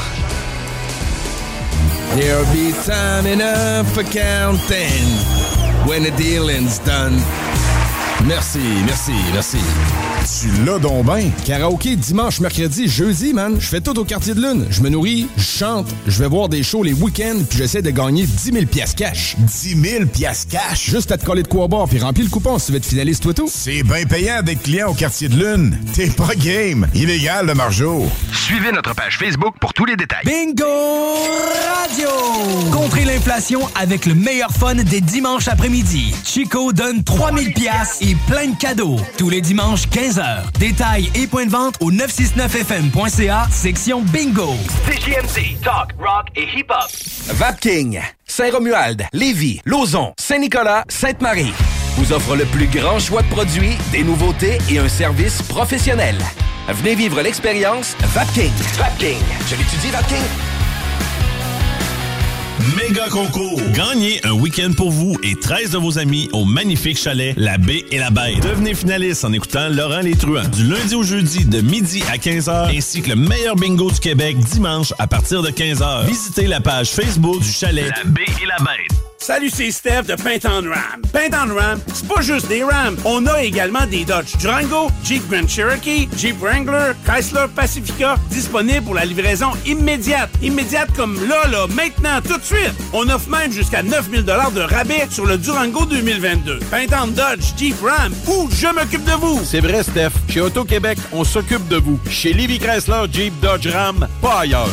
There'll be time enough for counting when the dealing's done. Merci. Tu l'as donc ben. Karaoké dimanche, mercredi, jeudi, man. Je fais tout au Quartier de Lune. Je me nourris, je chante, je vais voir des shows les week-ends, puis j'essaie de gagner 10 000 piastres cash. 10 000 piastres cash? Juste à te coller de quoi boire, puis remplis le coupon si tu veux être finaliste, toi tout. C'est bien payant d'être client au Quartier de Lune. T'es pas game. Illégal, le margeau. Suivez notre page Facebook pour tous les détails. Bingo Radio! Contrez l'inflation avec le meilleur fun des dimanches après-midi. Chico donne 3000 piastres et plein de cadeaux. Tous les dimanches, 15h. Détails et points de vente au 969fm.ca, section Bingo. CJMD, talk, rock et hip-hop. Vapking, Saint-Romuald, Lévis, Lauson, Saint-Nicolas, Sainte-Marie vous offre le plus grand choix de produits, des nouveautés et un service professionnel. Venez vivre l'expérience Vapking. Vapking. Je l'étudie, Vapking. Méga concours. Gagnez un week-end pour vous et 13 de vos amis au magnifique chalet La Baie et la Bête. Devenez finaliste en écoutant Laurent Les Truands du lundi au jeudi de midi à 15h ainsi que le meilleur bingo du Québec dimanche à partir de 15h. Visitez la page Facebook du chalet La Baie et la Bête. Salut, c'est Steph de Paint on Ram. Paint on Ram, c'est pas juste des Rams. On a également des Dodge Durango, Jeep Grand Cherokee, Jeep Wrangler, Chrysler Pacifica, disponibles pour la livraison immédiate. Immédiate comme là, maintenant, tout de suite. On offre même jusqu'à 9 000 $ de rabais sur le Durango 2022. Paint on Dodge, Jeep Ram, ou je m'occupe de vous. C'est vrai, Steph. Chez Auto-Québec, on s'occupe de vous. Chez Lévis Chrysler, Jeep, Dodge, Ram, pas ailleurs.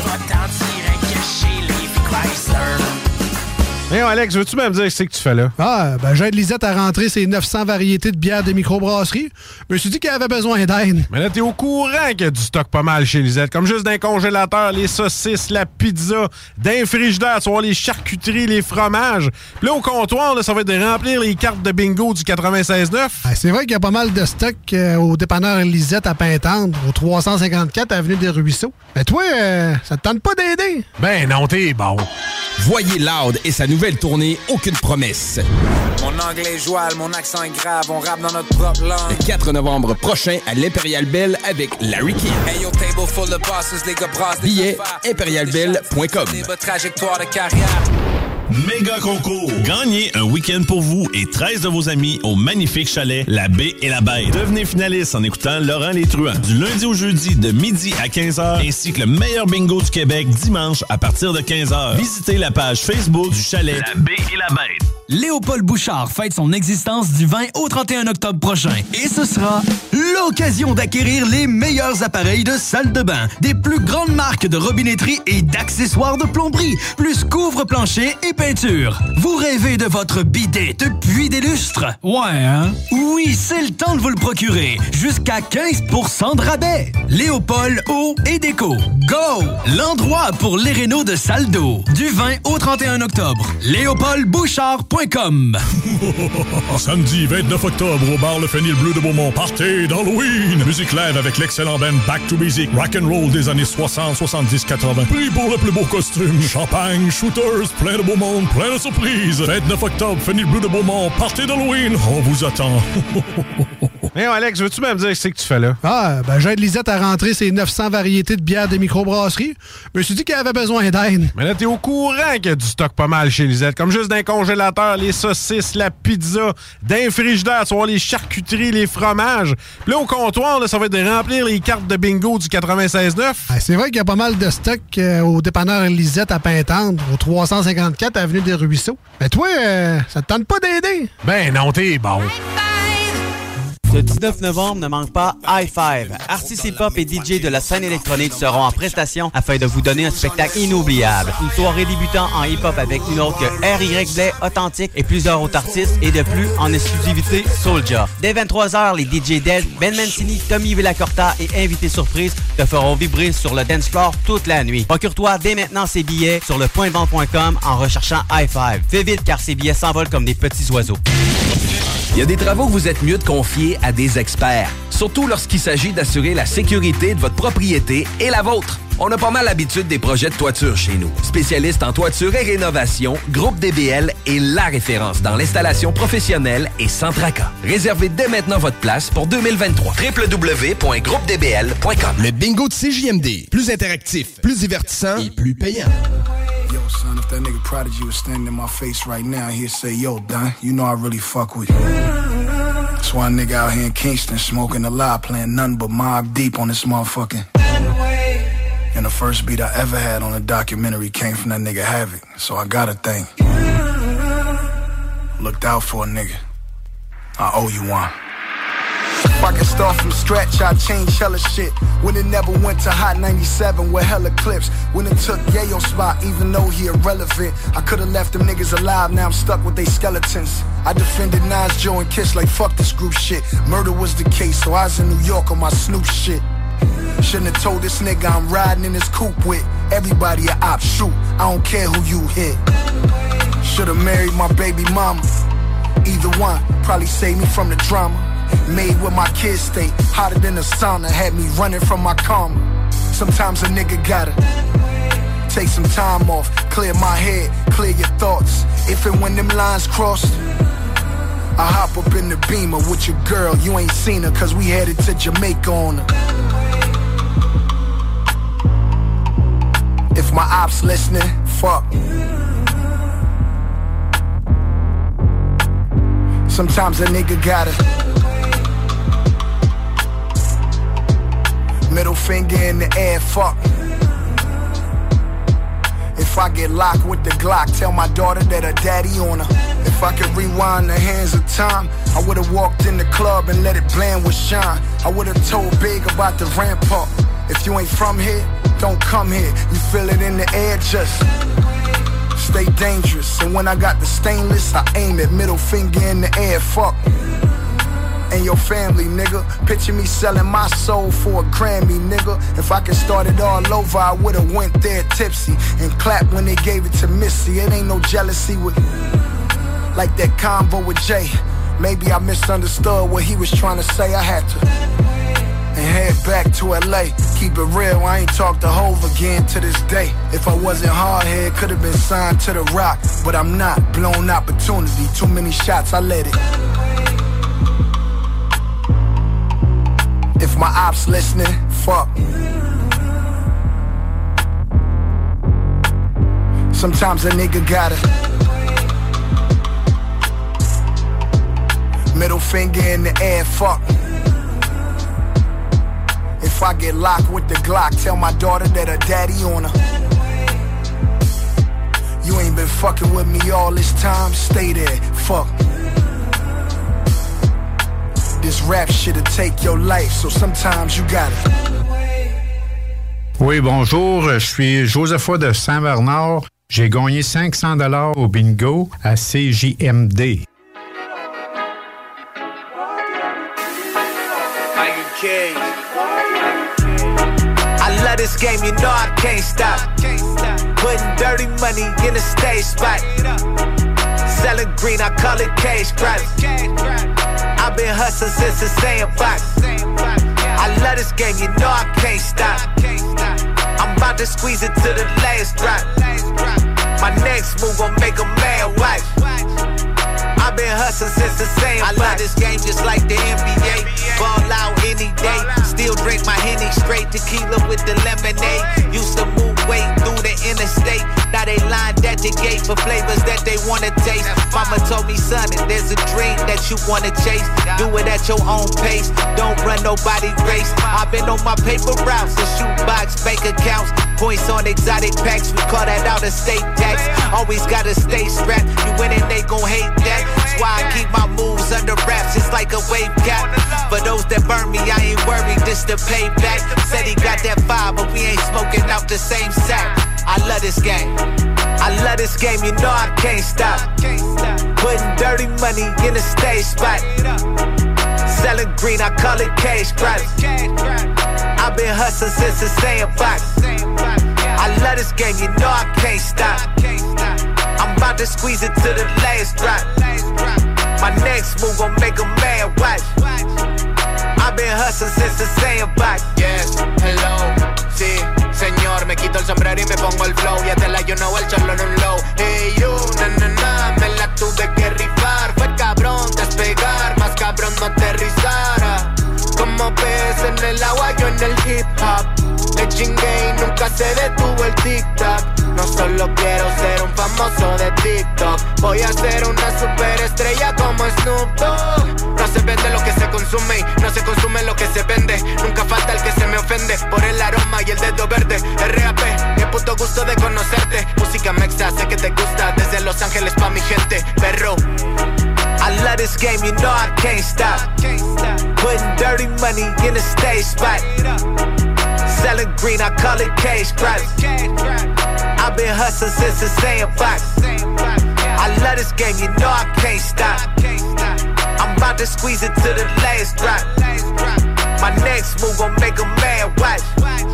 Hey, Alex, veux-tu même dire ce que tu fais là? Ah, ben j'aide Lisette à rentrer ses 900 variétés de bières de microbrasserie. Je me suis dit qu'elle avait besoin d'aide. Mais là, t'es au courant qu'il y a du stock pas mal chez Lisette. Comme juste d'un congélateur, les saucisses, la pizza, d'un frigidaire, tu vois, les charcuteries, les fromages. Puis là, au comptoir, là, ça va être de remplir les cartes de bingo du 96.9. Ah, c'est vrai qu'il y a pas mal de stock au dépanneur Lisette à Pintendre, au 354 Avenue des Ruisseaux. Mais toi, ça te tente pas d'aider? Ben non, t'es bon. Voyez Loud et sa nouvelle tournée Aucune promesse. Mon anglais est joual, mon accent est grave, on rappe dans notre propre langue. Le 4 novembre prochain à l'Imperial Bell avec Larry King. Hey, yo, table full of bosses, les gars brassent des Billets affaires. imperialbell.com. Trajectoire de carrière. Méga concours. Gagnez un week-end pour vous et 13 de vos amis au magnifique chalet La Baie et la Bête. Devenez finaliste en écoutant Laurent Les Truands du lundi au jeudi de midi à 15h ainsi que le meilleur bingo du Québec dimanche à partir de 15h. Visitez la page Facebook du chalet La Baie et la Bête. Léopold Bouchard fête son existence du 20 au 31 octobre prochain. Et ce sera l'occasion d'acquérir les meilleurs appareils de salle de bain, des plus grandes marques de robinetterie et d'accessoires de plomberie, plus couvre-plancher et peinture. Vous rêvez de votre bidet depuis des lustres? Ouais, hein? Oui, c'est le temps de vous le procurer. Jusqu'à 15% de rabais. Léopold Eau et Déco. Go! L'endroit pour les rénaux de salle d'eau. Du 20 au 31 octobre. LéopoldBouchard.com. Samedi 29 octobre au bar Le Fenil Bleu de Beaumont. Partez d'Halloween. Musique live avec l'excellent band Back to Basic. Rock'n'roll des années 60, 70, 80. Prix pour le plus beau costume. Champagne, shooters, plein de beau monde, plein de surprises. 29 octobre, Fenil Bleu de Beaumont. Partez d'Halloween. On vous attend. Hey, Alex, veux-tu même dire ce que tu fais là? Ah, ben j'aide Lisette à rentrer ses 900 variétés de bières de microbrasserie. Je me suis dit qu'elle avait besoin d'aide. Mais là, t'es au courant qu'il y a du stock pas mal chez Lisette. Comme juste d'un congélateur, les saucisses, la pizza, d'un frigidaire, tu vois, les charcuteries, les fromages. Puis là, au comptoir, là, ça va être de remplir les cartes de bingo du 96.9. Ah, c'est vrai qu'il y a pas mal de stock au dépanneur Lisette à Pintendre, au 354 Avenue des Ruisseaux. Mais toi, ça te tente pas d'aider? Ben non, t'es bon. Ce 19 novembre, ne manque pas Hi-Five. Artistes hip-hop et DJ de la scène électronique seront en prestation afin de vous donner un spectacle inoubliable. Une soirée débutant en hip-hop avec une autre que R.Y. Blay, Authentique et plusieurs autres artistes et de plus en exclusivité Soulja. Dès 23h, les DJ Dead, Ben Mancini, Tommy Villacorta et invités surprises te feront vibrer sur le dance floor toute la nuit. Procure-toi dès maintenant ces billets sur lepointdevente.com en recherchant Hi-Five. Fais vite car ces billets s'envolent comme des petits oiseaux. Il y a des travaux que vous êtes mieux de confier à des experts, surtout lorsqu'il s'agit d'assurer la sécurité de votre propriété et la vôtre. On a pas mal l'habitude des projets de toiture chez nous. Spécialiste en toiture et rénovation, Groupe DBL est la référence dans l'installation professionnelle et sans tracas. Réservez dès maintenant votre place pour 2023. www.groupedbl.com. Le bingo de CJMD. Plus interactif, plus divertissant et plus payant. Yo, son, if that nigga Prodigy was standing in my face right now, he'd say, yo, Don, you know I really fuck with you. That's why a nigga out here in Kingston smoking a lot, playing nothing but Mobb Deep on this motherfucking. And the first beat I ever had on a documentary came from that nigga Havoc, so I gotta thank. Looked out for a nigga. I owe you one. If I could start from scratch, I'd change hella shit. When it never went to Hot 97 with hella clips. When it took Yayo's spot, even though he irrelevant. I could've left them niggas alive, now I'm stuck with they skeletons. I defended Nas, Joe, and Kiss like fuck this group shit. Murder was the case, so I was in New York on my Snoop shit. Shouldn't have told this nigga I'm riding in this coupe with everybody a op, shoot, I don't care who you hit. Should've married my baby mama. Either one, probably saved me from the drama. Made with my kids stay hotter than a sauna. Had me running from my karma. Sometimes a nigga gotta take some time off, clear my head, clear your thoughts. If and when them lines cross, I hop up in the Beamer with your girl. You ain't seen her cause we headed to Jamaica on her. If my ops listening, fuck. Sometimes a nigga gotta middle finger in the air, fuck. If I get locked with the Glock, tell my daughter that her daddy on her. If I could rewind the hands of time, I would've walked in the club and let it blend with shine. I would've told Big about the rampart. If you ain't from here, don't come here. You feel it in the air, just stay dangerous. And when I got the stainless, I aim it, middle finger in the air, fuck. And your family, nigga. Picture me selling my soul for a Grammy, nigga. If I could start it all over, I would've went there tipsy and clapped when they gave it to Missy. It ain't no jealousy with like that combo with Jay. Maybe I misunderstood what he was trying to say. I had to and head back to LA. Keep it real, I ain't talked to Hove again to this day. If I wasn't hard head, could've been signed to the Rock. But I'm not, blown opportunity. Too many shots, I let it. If my ops listening, fuck. Sometimes a nigga gotta middle finger in the air, fuck. If I get locked with the Glock, tell my daughter that her daddy on her. You ain't been fucking with me all this time, stay there, fuck. This rap shit'll take your life, so sometimes you gotta. Oui, bonjour, je suis Josepha de Saint-Bernard. J'ai gagné 500 $ au bingo à CJMD. I love this game, you know I can't stop. Putting dirty money in a stage spot. Selling green, I call it cash crops. I've been hustling since the sandbox. I love this game, you know I can't stop. I'm about to squeeze it to the last drop. My next move gon' make a man watch. I've been hustling since the sandbox. I love this game just like the NBA. Ball out any day. Still drink my Henny straight tequila with the lemonade. Used to move weight through the interstate. Now they lined at the gate for flavors that they wanna taste. Mama told me, son, if there's a dream that you wanna chase, do it at your own pace. Don't run nobody race. I've been on my paper routes and shoot box bank accounts. Points on exotic packs, we call that out of state tax. Always gotta stay strapped, you win and they gon' hate that. That's why I keep my moves under wraps, it's like a wave cap. For those that burn me, I ain't worried, this the payback. Said he got that fire, but we ain't smoking out the same sack. I love this game, I love this game, you know I can't stop. Putting dirty money in a stage spot. Selling green, I call it cash crops. I've been hustling since the sandbox. I love this game, you know I can't stop. I'm about to squeeze it to the last drop. My next move gon' make a man watch. I've been hustling since the sandbox. Yes, hello, sí, señor. Me quito el sombrero y me pongo el flow. Ya te la yo no el charlo en un low. Hey you, na, me la tuve que rifar. Fue cabrón despegar, más cabrón no aterrizara. Como pez en el agua, yo en el hip hop. El chingue y nunca se detuvo el tic-tac. No solo quiero ser un famoso de TikTok, voy a ser una superestrella como Snoop Dogg. No se vende lo que se consume y no se consume lo que se vende. Nunca falta el que se me ofende por el aroma y el dedo verde. R.A.P, qué puto gusto de conocerte. Música mexa, sé que te gusta. Desde Los Ángeles pa' mi gente, perro. I love this game, you know I can't stop. Putting dirty money in a stage spot. Selling green, I call it cash crops. I've been hustling since the sandbox. I love this game, you know I can't stop. I'm about to squeeze it to the last drop. My next move gon' make a man watch.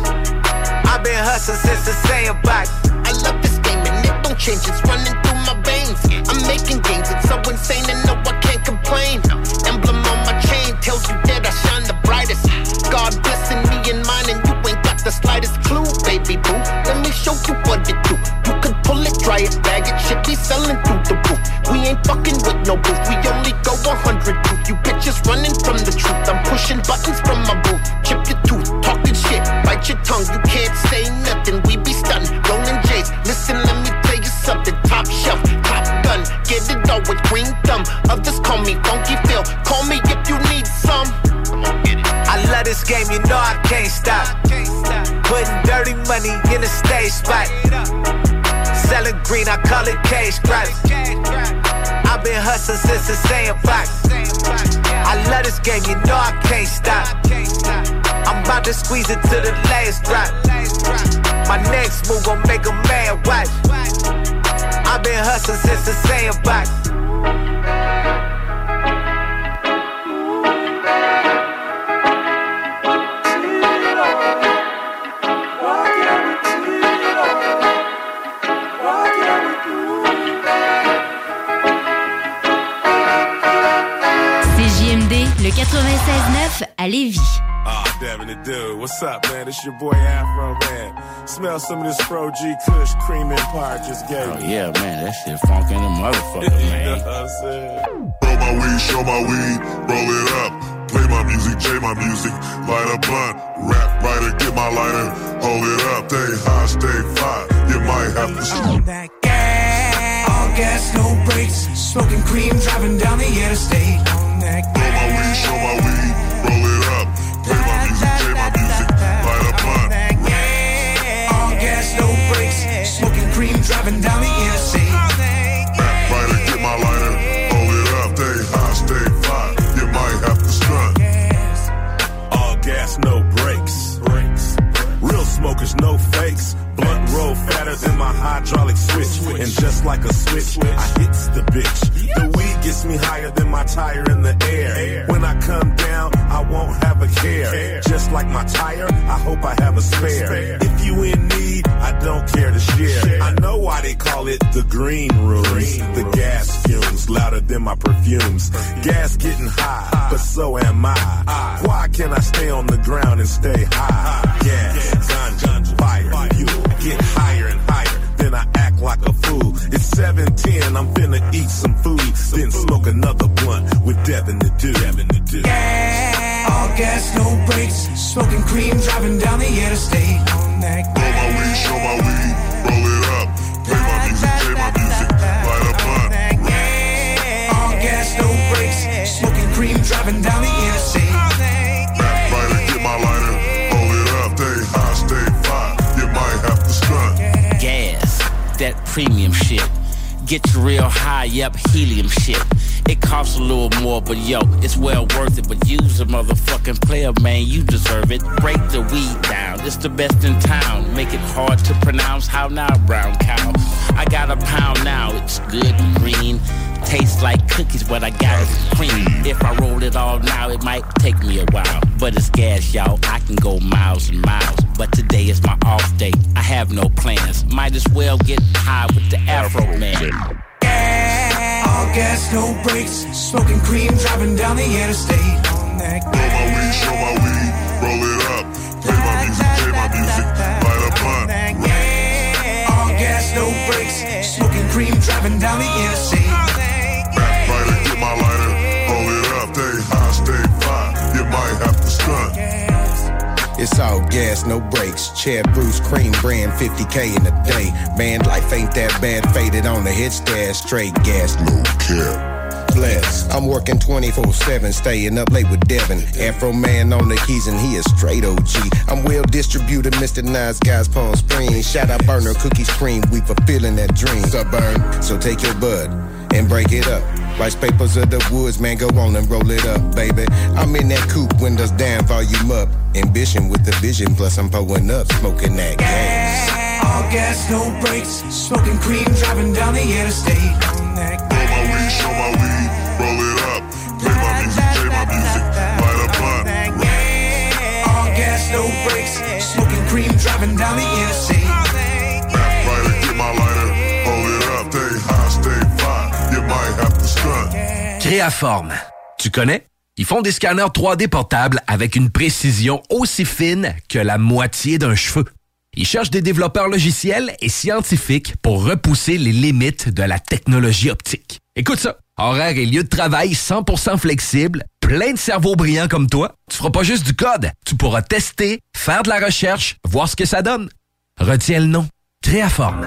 I've been hustling since the sandbox. I love this game and it don't change, it's running through my veins. I'm making gains, it's so insane and no, I can't complain. Emblem on my chain tells you that I shine the brightest. God blessing me and mine and you ain't got the slightest clue, baby boo. Let me show you what it do. You could pull it, try it, bag it, shit be selling through the roof. We ain't fucking with no booth, we only go 100 proof. You bitches running from the truth, I'm pushing buttons from my booth. Chip your tooth, talking shit, bite your tongue, you can't say nothing. We be stunning, rolling J's. Listen, let me tell you something. Top shelf, top gun, get it all with green thumb. Others call me Funky Phil, call me if you need some. I love this game, you know I can't stop. Putting dirty money in a stage spot. Selling green, I call it cash crops. I've been hustling since the sandbox. I love this game, you know I can't stop. I'm about to squeeze it to the last drop. My next move gon' make a man watch. I've been hustling since the sandbox. Le 96.9 à Lévis. Ah, damn it, dude. What's up, man? It's your boy Afro, man. Smell some of this Pro G Kush Cream Empire just gave me. Oh, yeah, man. That shit funky in the motherfucker, man. You know what I'm saying? Roll my weed, show my weed, roll it up. Play my music, J my music, light a blunt. Rap writer, get my lighter, hold it up. Stay high, stay fly. You might have to stop. That gas, all gas, no brakes. Smoking cream, driving down the interstate. On that gas. Roll my weed, show my weed, roll it up. Play my music, J my music, light a blunt. All gas, no brakes. Smoking cream, driving down the interstate. Rap writer, get my lighter, hold it up. Stay high, stay fly. You might have to stunt. All gas, no brakes. Real smokers, no fakes. Blunt roll fatter than my hydraulic switch. And just like a switch, I hits the bitch. The weed gets me higher than my tire in the air. When I come down, I won't have a care. Just like my tire, I hope I have a spare. If you in need, I don't care to share. I know why they call it the green rooms. The gas fumes louder than my perfumes. Gas getting high, but so am I. Why can't I stay on the ground and stay high? Gas, ganja, fire, fuel. Get higher and higher, then I act like a fool. It's 7:10, I'm finna eat some food, then smoke another blunt with Devin the Dude. Gas, all gas, no brakes. Smoking cream, driving down the interstate. On that gas. Roll my weed, show my weed, roll it up. Play my music, play my music, light a blunt. All gas, no brakes. Smoking cream, driving down the interstate. Rap writer, get my lighter, hold it up. Stay high, stay fly. You might have to premium shit. Get you real high up helium shit. It costs a little more, but yo, it's well worth it. But use a motherfucking player, man, you deserve it. Break the weed down, it's the best in town. Make it hard to pronounce, how now, brown cow. I got a pound now, it's good and green. Tastes like cookies, but I got it cream. If I roll it all now, it might take me a while. But it's gas, y'all, I can go miles and miles. But today is my off day, I have no plans. Might as well get high with the Afro Man. All gas, no brakes. Smoking cream, driving down the interstate. On that show my weed, roll it up. Play my music, play my music, light a blunt. All gas, no brakes. Smoking cream, driving down the interstate. Backbiter, get my lighter, hold it up. Stay high, stay fly, you might have to stunt. It's all gas, no brakes. Chad Bruce, cream brand, 50K in a day. Man, life ain't that bad. Faded on the hit stash, straight gas, no care. Bless. I'm working 24/7, staying up late with Devin. Afro Man on the keys and he a straight OG. I'm well distributed, Mr. Nice Guys, Palm Springs. Shout out Burner, Cookies Cream, we fulfilling that dream. Suburban, so take your bud and break it up. Rice papers of the woods, man, go on and roll it up, baby. I'm in that coupe, windows down, volume up. Ambition with the vision, plus I'm pulling up, smoking that gas. All gas, no brakes. Smoking cream, driving down the interstate. On that show my weed, roll it up. Play my music, play my music, light a blunt. All gas, no brakes. Smoking cream, driving down the interstate. Backbiter, get my lighter, hold it up. Stay high, stay fly, you might have to stunt. Créaforme, tu connais? Ils font des scanners 3D portables avec une précision aussi fine que la moitié d'un cheveu. Ils cherchent des développeurs logiciels et scientifiques pour repousser les limites de la technologie optique. Écoute ça, horaire et lieu de travail 100% flexible, plein de cerveaux brillants comme toi. Tu feras pas juste du code, tu pourras tester, faire de la recherche, voir ce que ça donne. Retiens le nom, Créaforme.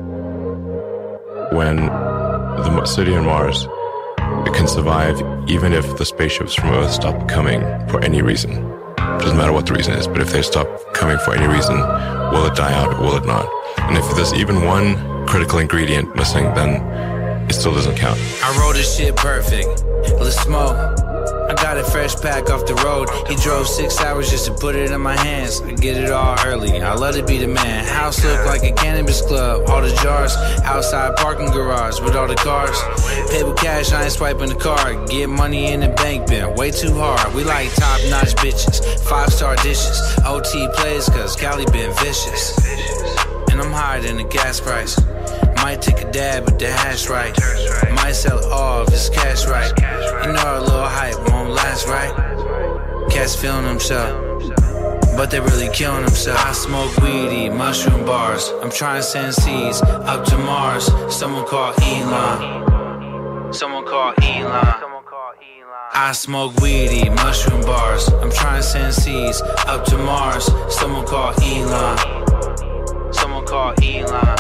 When the city on Mars, it can survive even if the spaceships from Earth stop coming for any reason. It doesn't matter what the reason is, but if they stop coming for any reason, will it die out or will it not? And if there's even one critical ingredient missing, then it still doesn't count. I wrote this shit perfect. Let's smoke. I got a fresh pack off the road. He drove 6 hours just to put it in my hands. I get it all early. I love to be the man. House look like a cannabis club. All the jars. Outside parking garage with all the cars. Pay with cash, I ain't swiping the card. Get money in the bank, been way too hard. We like top-notch bitches. 5-star dishes. OT plays cause Cali been vicious. And I'm higher than the gas price. Might take a dab with the hash right. Might sell it all if it's cash right. You know our little hype won't last, right? Cats feeling themselves, but they really killing themselves. I smoke weedy, mushroom bars. I'm trying to send seeds up to Mars. Someone call Elon. Someone call Elon. I smoke weedy, mushroom bars. I'm trying to send seeds up to Mars. Someone call Elon. Someone call Elon.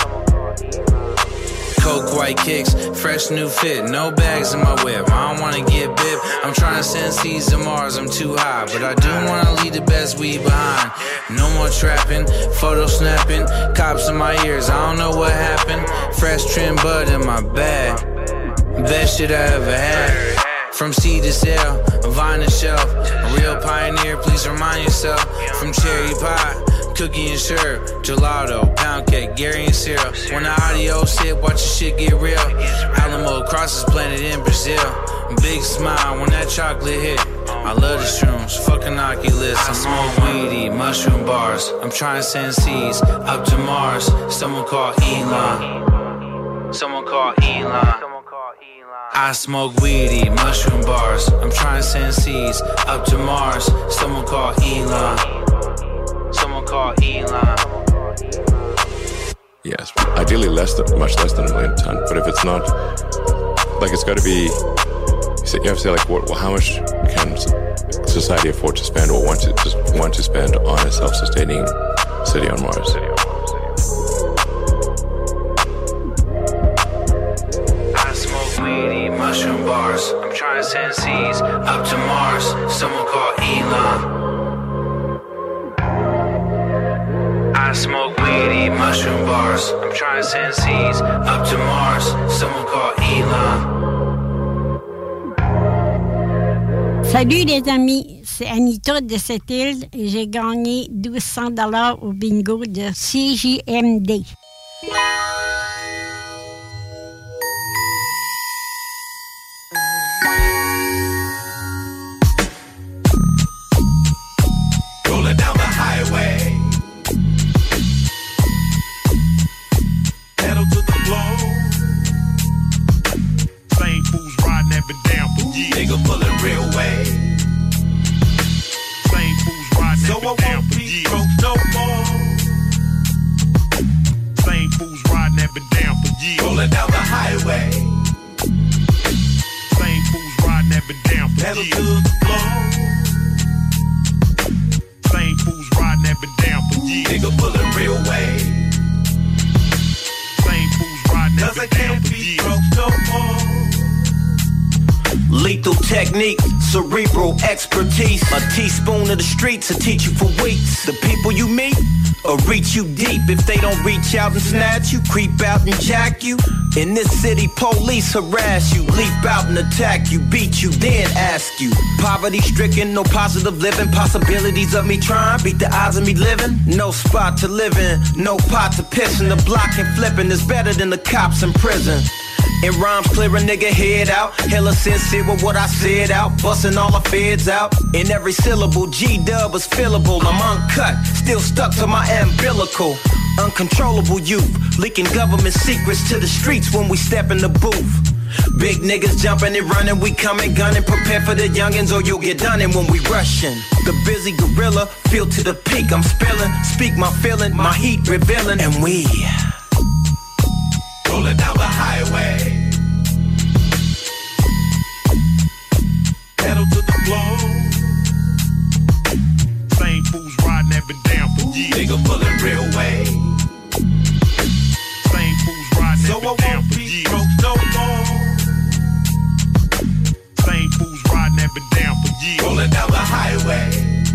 Coke white kicks, fresh new fit, no bags in my whip. I don't wanna get bit. I'm trying to send seeds to Mars, I'm too high. But I do wanna leave the best weed behind. No more trapping, photo snapping, cops in my ears, I don't know what happened. Fresh trim bud in my bag, best shit I ever had. From seed to sale, vine to shelf, a real pioneer, please remind yourself. From cherry pie, cookie and syrup, gelato, pound cake, Gary and syrup. When the audio hit, watch your shit get real. Alamo crosses planted in Brazil. Big smile when that chocolate hit. I love the shrooms, fucking Oculus. I smoke weedy, mushroom bars. I'm trying to send seeds up to Mars. Someone call Elon. Someone call Elon. I smoke weedy, mushroom bars. I'm trying to send seeds up to Mars. Someone call Elon. Someone call Elon. Yes, ideally much less than 1 million ton. But if it's not, like, it's got to be. You have to say, like, how much can society afford to spend or want to spend on a self-sustaining city on Mars? I smoke weedy, mushroom bars. I'm trying to send seeds up to Mars. Someone call Elon. I smoke weedy, mushroom mushroom bars. I'm trying to send seeds up to Mars. Someone call Elon. Salut les amis, c'est Anita de cette île et j'ai gagné 1200 $ au bingo de CJMD. Rolling down the highway, pedal to the floor. Same fools riding that been down for years. Nigga pulling real way. Same fools riding that been down for years. No more. Same fools riding that been down for years. Rolling down the highway. Same fools riding that been down for years. Pedal to the floor. Same fools riding that been down for years. Nigga pulling real way. Same fools riding that been down for years. No more. Lethal technique, cerebral expertise. A teaspoon of the streets will teach you for weeks. The people you meet or reach you deep. If they don't reach out and snatch you, creep out and jack you. In this city, police harass you, leap out and attack you, beat you, then ask you. Poverty stricken, no positive living, possibilities of me trying, beat the odds of me living. No spot to live in, no pot to piss in. The block and flipping is better than the cops in prison. In rhymes, clear a nigga head out. Hella sincere with what I said out. Busting all the feds out. In every syllable, G-dub is fillable. I'm uncut, still stuck to my umbilical. Uncontrollable youth, leaking government secrets to the streets when we step in the booth. Big niggas jumping and running, we coming gunning. Prepare for the youngins or you'll get done in when we rushing. The busy gorilla, feel to the peak, I'm spilling. Speak my feeling, my heat revealing. And we rolling down the highway, pedal to the floor. Same fools riding that been down for years. Nigga pulling real way. Same fools riding that been down for years. No more. Same fools riding that been down for years. Rolling down the highway.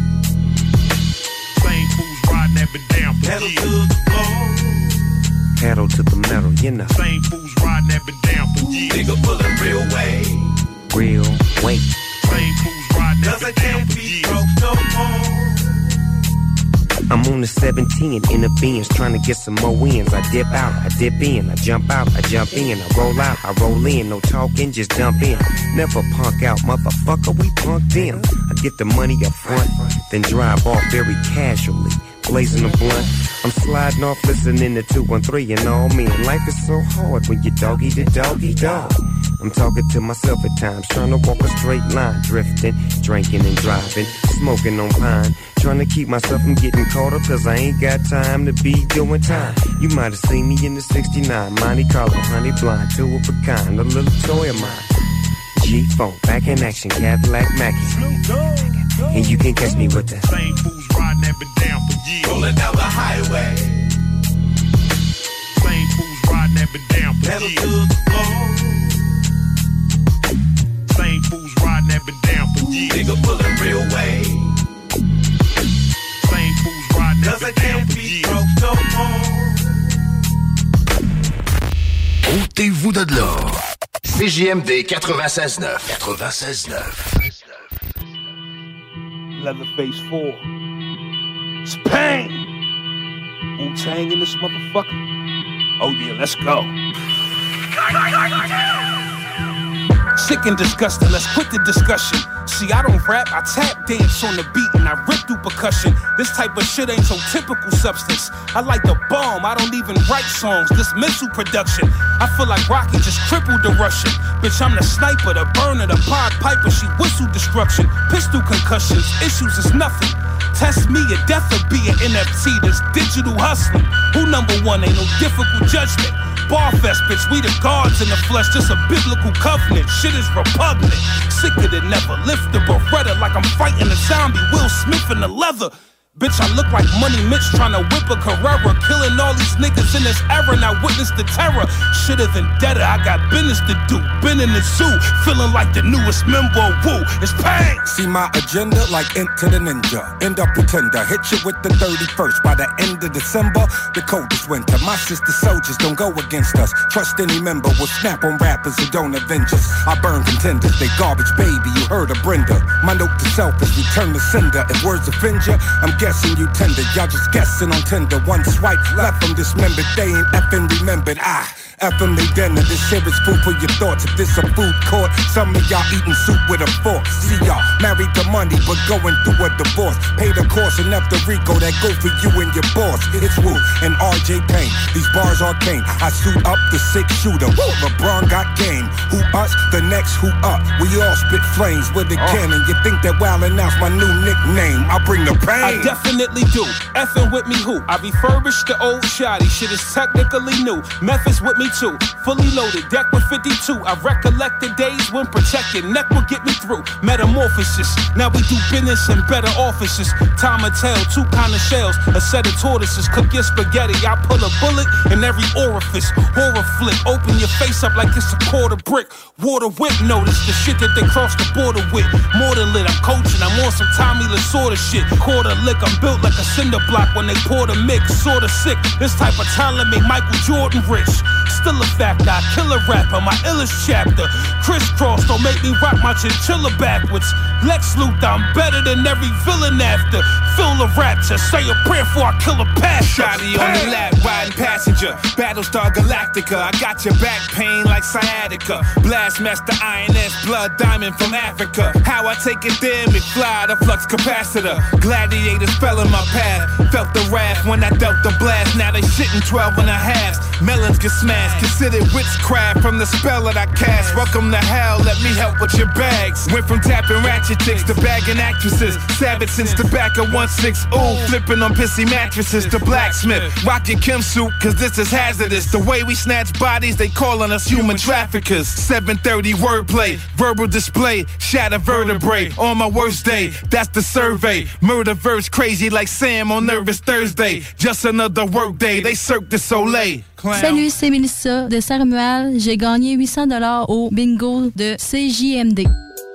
Same fools riding that been down for years. Pedal to the floor. Pedal to the metal, you know. Same fools riding that been down for years. Nigga pulling real way. Real weight. Same fools riding that been down for years. No more. I'm on the 17 in the Benz, trying to get some more wins. I dip out, I dip in, I jump out, I jump in, I roll out, I roll in. No talking, just dump in. Never punk out, motherfucker, we punked in. I get the money up front, then drive off very casually. Blazing a blunt, I'm sliding off listening to 213 and all me. And life is so hard when you doggy the doggy dog. I'm talking to myself at times, trying to walk a straight line, drifting, drinking and driving, smoking on pine, trying to keep myself from getting caught up, cause I ain't got time to be doing time. You might have seen me in the 69, Monte Carlo, honey blonde, two of a kind, a little toy of mine. G-Funk, back in action, Cadillac Mackie. And you can catch me with the same fools riding that been down for years. Rolling down the highway. Same fools riding that been down for years. Pedal to the floor. Same fools riding that been down for years. Nigga pulling real way. Same fools riding that been down for years. No more. Ôtez-vous de là. CJMD 96.9. 96.9. Leatherface 4. It's pain. Wu-Tang in this motherfucker. Oh yeah, let's go. Sick and disgusting, let's quit the discussion. See, I don't rap, I tap dance on the beat and I rip through percussion. This type of shit ain't so typical substance. I like the bomb, I don't even write songs. This missile production, I feel like Rocky just crippled the Russian. Bitch, I'm the sniper, the burner, the Pied Piper. She whistle destruction, pistol concussions, issues is nothing. Test me, a death will be an NFT, this digital hustling. Who number one, ain't no difficult judgment. Barfest, bitch, we the gods in the flesh, just a biblical covenant. Shit is repugnant, sicker than ever. Lift the Beretta like I'm fighting a zombie. Will Smith in the leather. Bitch, I look like Money Mitch trying to whip a Carrera. Killing all these niggas in this era, and I witnessed the terror. Shitter than deader, I got business to do. Been in the zoo, feeling like the newest member of Woo. It's pain. See my agenda like Enter the Ninja. End up pretender, hit you with the 31st. By the end of December, the coldest winter. My sister soldiers don't go against us. Trust any member will snap on rappers who don't avenge us. I burn contenders, they garbage baby, you heard of Brenda. My note to self is return to sender. If words offend ya, I'm guessing you tender. Y'all just guessing on Tinder. One swipe left from dismembered. They ain't effing remembered. Effing they dinner. This here is food for your thoughts. If this a food court, some of y'all eating soup with a fork. See y'all married to money, but going through a divorce. Pay the course enough to Rico that go for you and your boss. It's Woo and RJ Payne. These bars arcane. I suit up the 6-shooter. LeBron got game. Who us? The next who up. We all spit flames with a cannon. You think that Wildin' Out's my new nickname? I bring the pain. I definitely do. Effing with me who? I refurbished the old shoddy. Shit is technically new. Memphis with me too. Fully loaded, deck with 52. I recollect the days when protected neck would get me through. Metamorphosis. Now we do business in better offices. Time will tell, 2 kind of shells, a set of tortoises. Cook your spaghetti. I put a bullet in every orifice. Horror flick. Open your face up like it's a quarter brick. Water whip notice the shit that they cross the border with. More than lit, I'm coaching. I'm on some Tommy Lasorda shit. Quarter lick, I'm built like a cinder block when they pour the mix. Sorta sick. This type of talent made Michael Jordan rich. Still a factor, I kill a rapper, my illest chapter. Crisscross don't make me rock my chinchilla backwards. Lex Luthor, I'm better than every villain after. Fill the rapture, say a prayer before I kill a pastor. Shotty on the lap, riding passenger. Battlestar Galactica, I got your back pain like sciatica. Blastmaster INS, blood diamond from Africa. How I take it there, McFly, the flux capacitor. Gladiators fell in my path, felt the wrath when I dealt the blast. Now they shitting 12 and a halves. Melons get smashed, considered witchcraft from the spell that I cast. Welcome to hell, let me help with your bags. Went from tapping ratchet chicks to bagging actresses. Savage since tobacco 1-6, ooh, flipping on pissy mattresses to blacksmith. Rock your Kim suit, cause this is hazardous. The way we snatch bodies, they calling us human traffickers. 7:30 wordplay, verbal display, shatter vertebrae. On my worst day, that's the survey. Murder verse crazy like Sam on Nervous Thursday. Just another work day, they Cirque du Soleil. Salut, c'est Mélissa de Saint-Romuald. J'ai gagné 800$ au bingo de CJMD.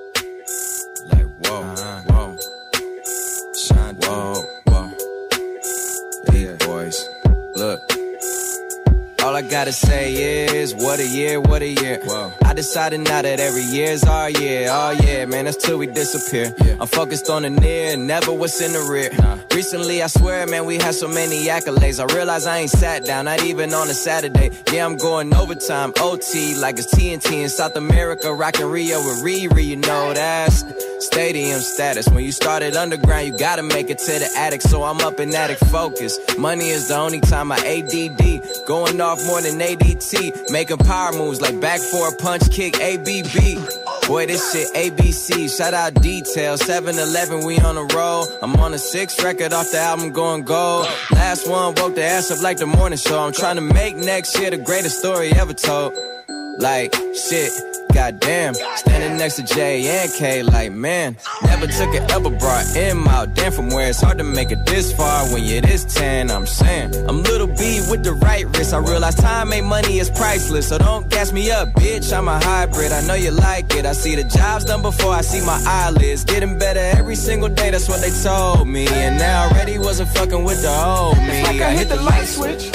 Look, all I gotta say is, what a year, what a year. Whoa. I decided now that every year's our year. Oh yeah, man, that's till we disappear. Yeah. I'm focused on the near, never what's in the rear. Recently, I swear, man, we had so many accolades. I realize I ain't sat down, not even on a Saturday. Yeah, I'm going overtime, OT, like it's TNT in South America, rockin' Rio with Riri, you know that's stadium status. When you started underground, you gotta make it to the attic, so I'm up in attic focus. Money is the only time I ADD, going off more than ADT, making power moves like back for a punch kick, ABB. Boy, this shit ABC, shout out Detail, 7-Eleven, we on the roll. I'm on the 6th record off the album going gold. Last one woke the ass up like the morning show. I'm trying to make next year the greatest story ever told. Like, shit, goddamn, standing next to J and K, like, man, never took an elbow, brought M out. Damn, from where it's hard to make it this far when you're this 10, I'm saying. I'm little B with the right wrist. I realize time ain't money, is priceless. So don't gas me up, bitch, I'm a hybrid. I know you like it. I see the jobs done before I see my eyelids. Getting better every single day, that's what they told me. And now I already wasn't fucking with the old me. It's like I hit the light switch.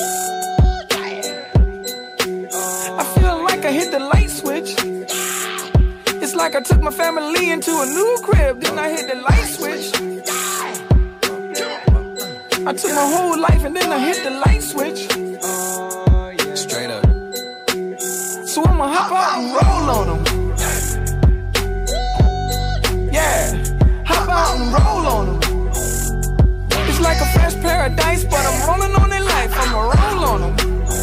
I hit the light switch. It's like I took my family into a new crib, then I hit the light switch. I took my whole life and then I hit the light switch. Straight up. So I'ma hop out and roll on them. Yeah, hop out and roll on them. It's like a fresh paradise, but I'm rolling on their life. I'ma roll on them.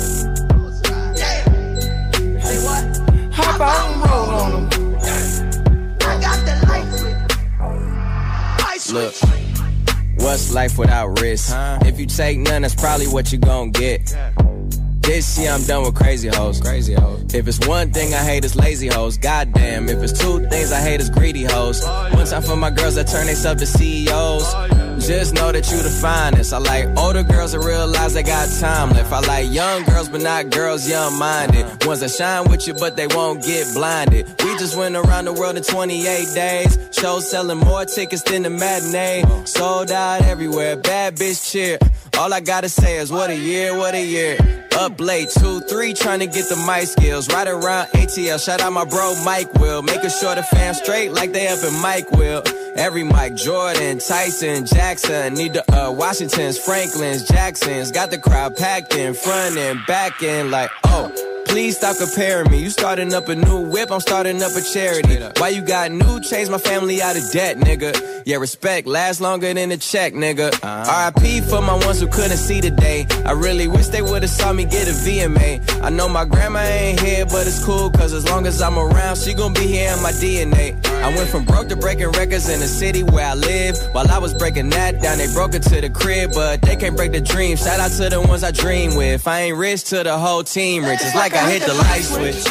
Hop out and roll on them. I got the light switch. Look, what's life without risk? If you take none, that's probably what you gon' get. This year I'm done with crazy hoes. Crazy hoes. If it's one thing I hate, it's lazy hoes. Goddamn. If it's two things I hate, it's greedy hoes. One time for my girls that turn themselves to CEOs. Just know that you the finest. I like older girls that realize they got time left. I like young girls, but not girls young-minded. Ones that shine with you, but they won't get blinded. We just went around the world in 28 days. Shows selling more tickets than the matinee. Sold out everywhere. Bad bitch cheer. All I gotta say is what a year, what a year. Up late, 2, 3, trying to get the mic skills. Right around ATL, shout out my bro Mike Will. Making sure the fam straight like they up in Mike Will. Every Mike, Jordan, Tyson, Jackson. Need the Washingtons, Franklins, Jacksons. Got the crowd packed in front and back in like, oh. Please stop comparing me. You starting up a new whip, I'm starting up a charity. Why you got new chains, my family out of debt, nigga. Yeah, respect lasts longer than a check, nigga. R.I.P. for my ones who couldn't see today. I really wish they would've saw me get a VMA. I know my grandma ain't here, but it's cool, cause as long as I'm around, she gon' be here in my DNA. I went from broke to breaking records in the city where I live. While I was breaking that down, they broke it to the crib, but they can't break the dream. Shout out to the ones I dream with. I ain't rich to the whole team rich. It's like I hit the light switch.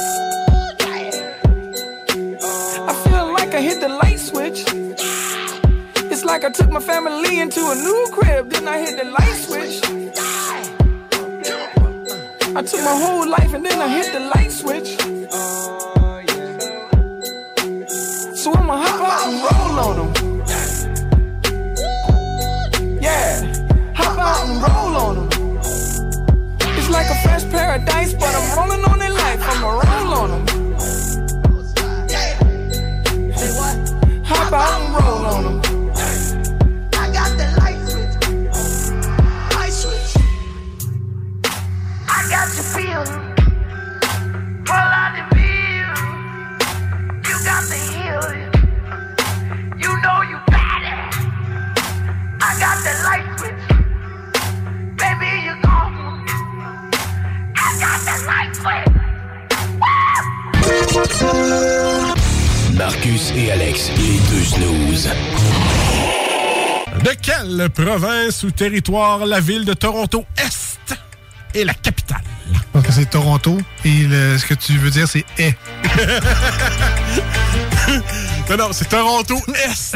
I feel like I hit the light switch. It's like I took my family into a new crib, then I hit the light switch. I took my whole life and then I hit the light switch. So I'ma hop out and roll on them. Yeah, hop out and roll on them. It's like a fresh paradise, but I'm rolling on their life. I'ma roll on them. Hop out and roll on them. I got the light switch. Light switch. I got you feeling. Pull out the feel. You got the healing. You know you got it. I got the light switch. Baby, you gone. I got the light switch. Marcus et Alex, les deux snooze. De quelle province ou territoire la ville de Toronto-Est est la capitale? Donc c'est Toronto et ce que tu veux dire c'est « est ». Non, c'est Toronto-Est.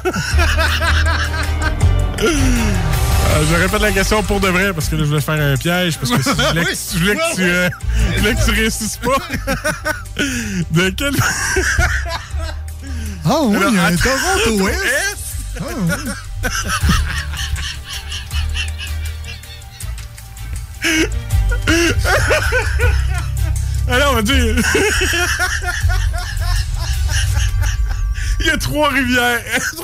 Je répète la question pour de vrai parce que là, je voulais faire un piège parce que je voulais que tu réussisses pas. De quel... Ah oui, il y a un Toronto-Est. Ah oui. Alors, on va dire... Il y a Trois-Rivières.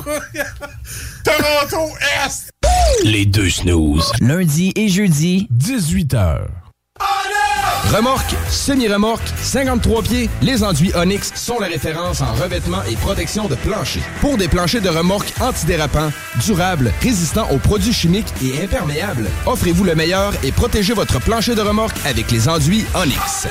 Toronto-Est. Les deux snooze. Lundi et jeudi, 18h. Remorque, semi-remorque, 53 pieds, les enduits Onyx sont la référence en revêtement et protection de plancher. Pour des planchers de remorque antidérapants, durables, résistants aux produits chimiques et imperméables, offrez-vous le meilleur et protégez votre plancher de remorque avec les enduits Onyx.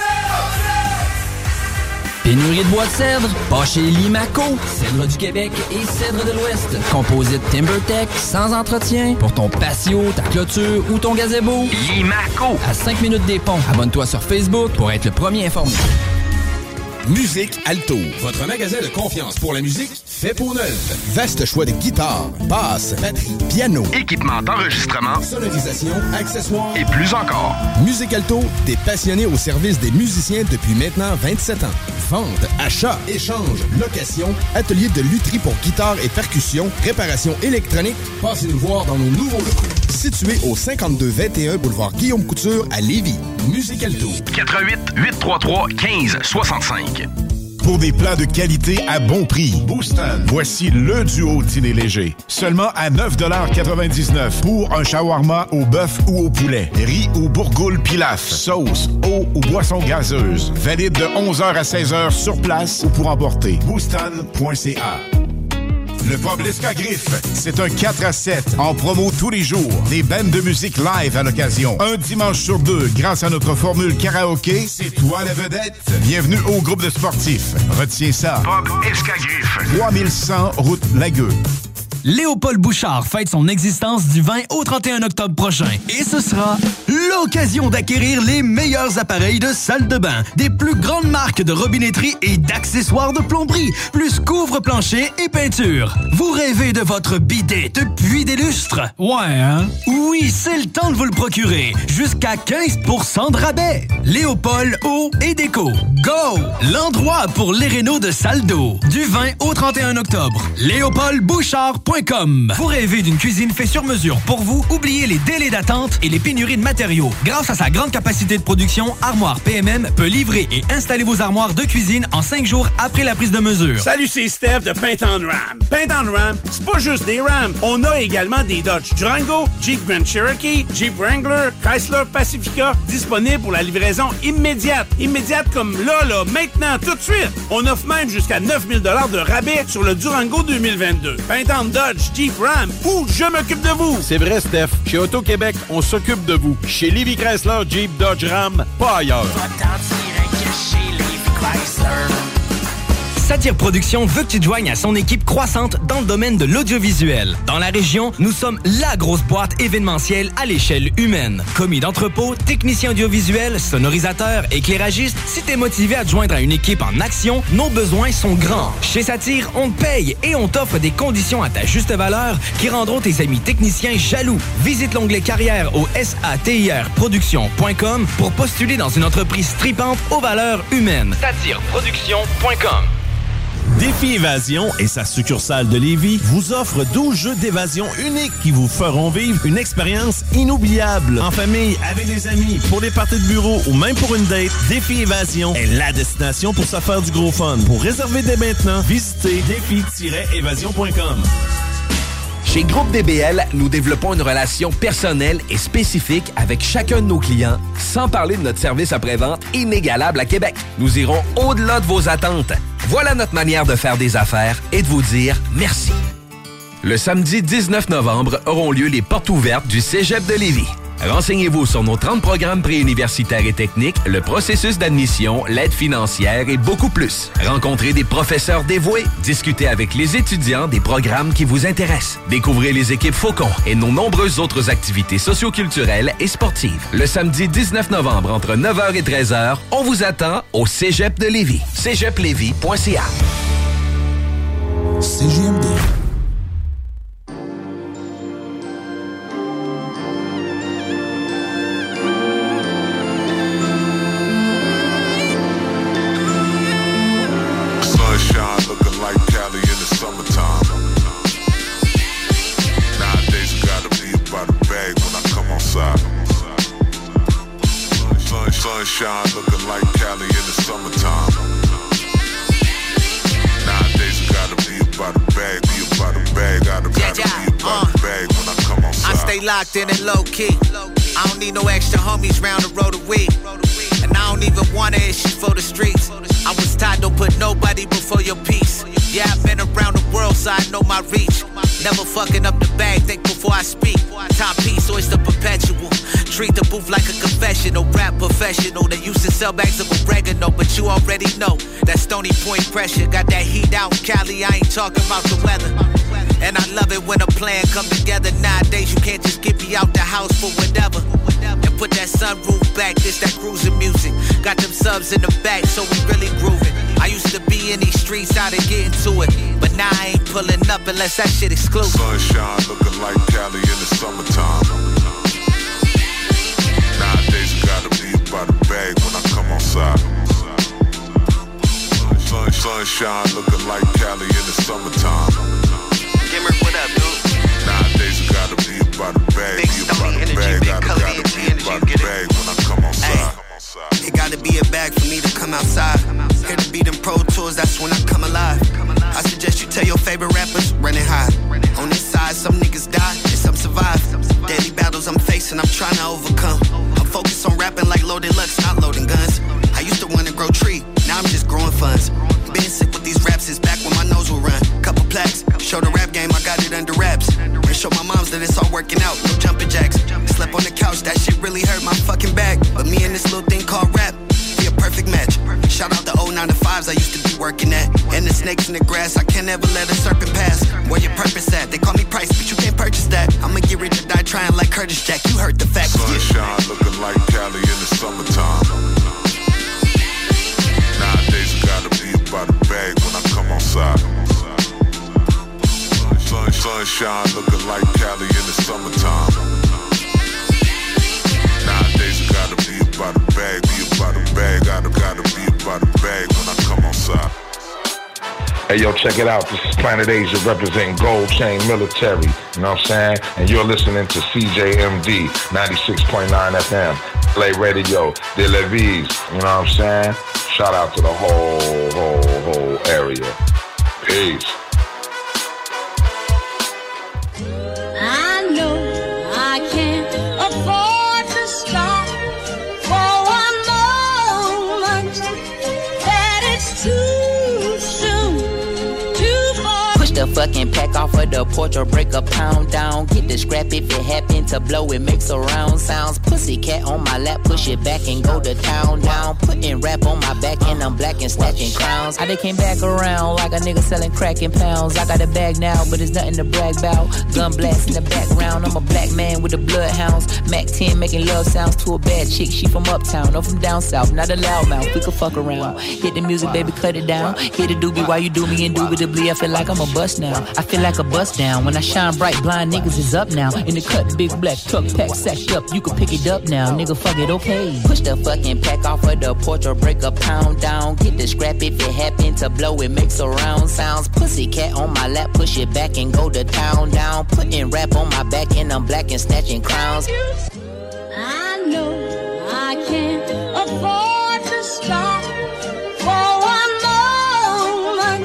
Pénurie de bois de cèdre, pas chez Limaco. Cèdre du Québec et cèdre de l'Ouest. Composite TimberTech, sans entretien. Pour ton patio, ta clôture ou ton gazebo. Limaco. À 5 minutes des ponts. Abonne-toi sur Facebook pour être le premier informé. Musique Alto, votre magasin de confiance pour la musique fait peau neuve. Vaste choix de guitares, basses, batteries, piano, équipement d'enregistrement, sonorisation, accessoires et plus encore. Musique Alto, des passionnés au service des musiciens depuis maintenant 27 ans. Vente, achat, échange, location, atelier de lutherie pour guitare et percussion, réparation électronique. Passez nous voir dans nos nouveaux locaux. Situé au 5221 boulevard Guillaume Couture à Lévis. Musique Alto. 88 833 15 65. Pour des plats de qualité à bon prix, Boostan. Voici le duo dîner léger. Seulement à 9,99$ pour un shawarma au bœuf ou au poulet. Riz ou bourgoule pilaf. Sauce, eau ou boisson gazeuse. Valide de 11h à 16h sur place ou pour emporter. Boostan.ca. Le pub L'Escagriffe, c'est un 4 à 7 en promo tous les jours. Des bandes de musique live à l'occasion. Un dimanche sur deux, grâce à notre formule karaoké, c'est toi la vedette. Bienvenue au groupe de sportifs. Retiens ça. Pub Escagriffe. 3100 route Lagueux. Léopold Bouchard fête son existence du 20 au 31 octobre prochain. Et ce sera l'occasion d'acquérir les meilleurs appareils de salle de bain, des plus grandes marques de robinetterie et d'accessoires de plomberie, plus couvre-plancher et peinture. Vous rêvez de votre bidet depuis des lustres? Ouais, hein? Oui, c'est le temps de vous le procurer. Jusqu'à 15% de rabais. Léopold Eau et Déco. Go! L'endroit pour les rénaux de salle d'eau. Du 20 au 31 octobre. LéopoldBouchard.com. Vous rêvez d'une cuisine faite sur mesure pour vous? Oubliez les délais d'attente et les pénuries de matériaux. Grâce à sa grande capacité de production, Armoire PMM peut livrer et installer vos armoires de cuisine en 5 jours après la prise de mesure. Salut, c'est Steph de Paint on Ram. Paint on Ram, c'est pas juste des Rams. On a également des Dodge Durango, Jeep Grand Cherokee, Jeep Wrangler, Chrysler Pacifica, disponibles pour la livraison immédiate. Immédiate comme là, maintenant, tout de suite. On offre même jusqu'à 9 000 $ de rabais sur le Durango 2022. Paint on Dodge, Jeep Ram, ou je m'occupe de vous. C'est vrai, Steph. Chez Auto-Québec, on s'occupe de vous. Chez Lévis Chrysler, Jeep, Dodge, Ram, pas ailleurs. Satire Productions veut que tu te joignes à son équipe croissante dans le domaine de l'audiovisuel. Dans la région, nous sommes la grosse boîte événementielle à l'échelle humaine. Commis d'entrepôt, technicien audiovisuel, sonorisateur, éclairagiste, si t'es motivé à te joindre à une équipe en action, nos besoins sont grands. Chez Satire, on te paye et on t'offre des conditions à ta juste valeur qui rendront tes amis techniciens jaloux. Visite l'onglet carrière au satirproduction.com pour postuler dans une entreprise tripante aux valeurs humaines. Satireproduction.com. Défi Évasion et sa succursale de Lévis vous offre 12 jeux d'évasion uniques qui vous feront vivre une expérience inoubliable. En famille, avec des amis, pour des parties de bureau ou même pour une date, Défi Évasion est la destination pour se faire du gros fun. Pour réserver dès maintenant, visitez défi-évasion.com. Chez Groupe DBL, nous développons une relation personnelle et spécifique avec chacun de nos clients, sans parler de notre service après-vente inégalable à Québec. Nous irons au-delà de vos attentes. Voilà notre manière de faire des affaires et de vous dire merci. Le samedi 19 novembre auront lieu les portes ouvertes du Cégep de Lévis. Renseignez-vous sur nos 30 programmes préuniversitaires et techniques, le processus d'admission, l'aide financière et beaucoup plus. Rencontrez des professeurs dévoués, discutez avec les étudiants des programmes qui vous intéressent. Découvrez les équipes Faucon et nos nombreuses autres activités socioculturelles et sportives. Le samedi 19 novembre, entre 9h et 13h, on vous attend au Cégep de Lévis. cégeplévis.ca. CJMD. Sunshine looking like Cali in the summertime. Nowadays I gotta be about a bag when I come outside. Sunshine looking like Cali in the summertime. Nowadays I gotta be about a bag, gotta be about a bag when I come outside. I stay locked in and low key. I don't need no extra homies round the road of weed. And I don't even want to issue for the streets. I was taught don't put nobody before your peace. Yeah, I've been around the world, so I know my reach. Never fucking up the bag, think before I speak. Timepiece, always the perpetual. Treat the booth like a confessional. Rap professional, they used to sell bags of oregano, but you already know that Stony Point pressure. Got that heat out in Cali, I ain't talking about the weather. And I love it when a plan come together. Nowadays, you can't just get me out the house for whatever. And put that sunroof back, this that cruising music. Got them subs in the back, so we really grooving. I used to be in these streets, how to get into it. But now I ain't pulling up unless that shit exclusive. Sunshine looking like Cali in the summertime. Nowadays I gotta be about a bag when I come outside. Sunshine looking like Cali in the summertime. Gimmer, what up, dude? Nowadays I gotta be about a bag, gotta be about a bag when I come outside. It gotta be a bag for me to come outside. Here to be them pro tours, that's when I come alive. I suggest you tell your favorite rappers, running high. On this side, some niggas die and some survive. Daily battles I'm facing, I'm trying to overcome. I'm focused on rapping like loaded Lux, not loading guns. I used to want to grow tree, now I'm just growing funds. Been sick with these raps since back when my nose will run. Couple plaques, show the rap game, I got it under wraps. And show my moms that it's all working out, no jumping jacks. Slept on the couch, that shit really hurt my fucking back. But me and this little thing called rap, be a perfect match. Shout out the old 9 to 5s I used to be working at. And the snakes in the grass, I can't ever let a serpent pass. Where your purpose at? They call me Price, but you can't purchase that. I'ma get rich or die trying like Curtis Jack. You heard the facts. Sunshine looking like Cali in the summertime. Nowadays I gotta be about a bag when I come outside. Sunshine looking like Cali in the summertime. Nowadays I gotta be about a bag, gotta be about a bag when I come outside. Hey, yo, check it out. This is Planet Asia representing Gold Chain Military. You know what I'm saying? And you're listening to CJMD 96.9 FM. Play Radio, De La Vise. You know what I'm saying? Shout out to the whole area. Peace. I know I can't afford to stop for one moment. That it's too soon, too far. Push the fucking pack off of the porch or break a pound down. Get the scrap if it happen to blow, it makes a round sounds. Pussy cat on my lap, push it back and go to town down. Putting rap on my back and I'm black and snatching crowns. I done came back around like a nigga selling crack in pounds. I got a bag now, but it's nothing to brag about. Gun blast in the background, I'm a black man with the bloodhounds. Mac 10 making love sounds to a bad chick. She from uptown, or from down south, not a loudmouth. We could fuck around. Hit the music, baby, cut it down. Hit the doobie while you do me indubitably. I feel like I'm a bust now. I feel like a bust down. When I shine bright, blind niggas is up now. In the cut, big black truck pack sacked up. You can pick it up now, nigga, fuck it, okay. Push the fucking pack off of the porch or break a pound down. Get the scrap if it happen to blow, it makes a round sounds. Pussy cat on my lap, push it back and go to town down. Putting rap on my back and I'm black and snatching crowns. I know I can't afford to stop for one moment.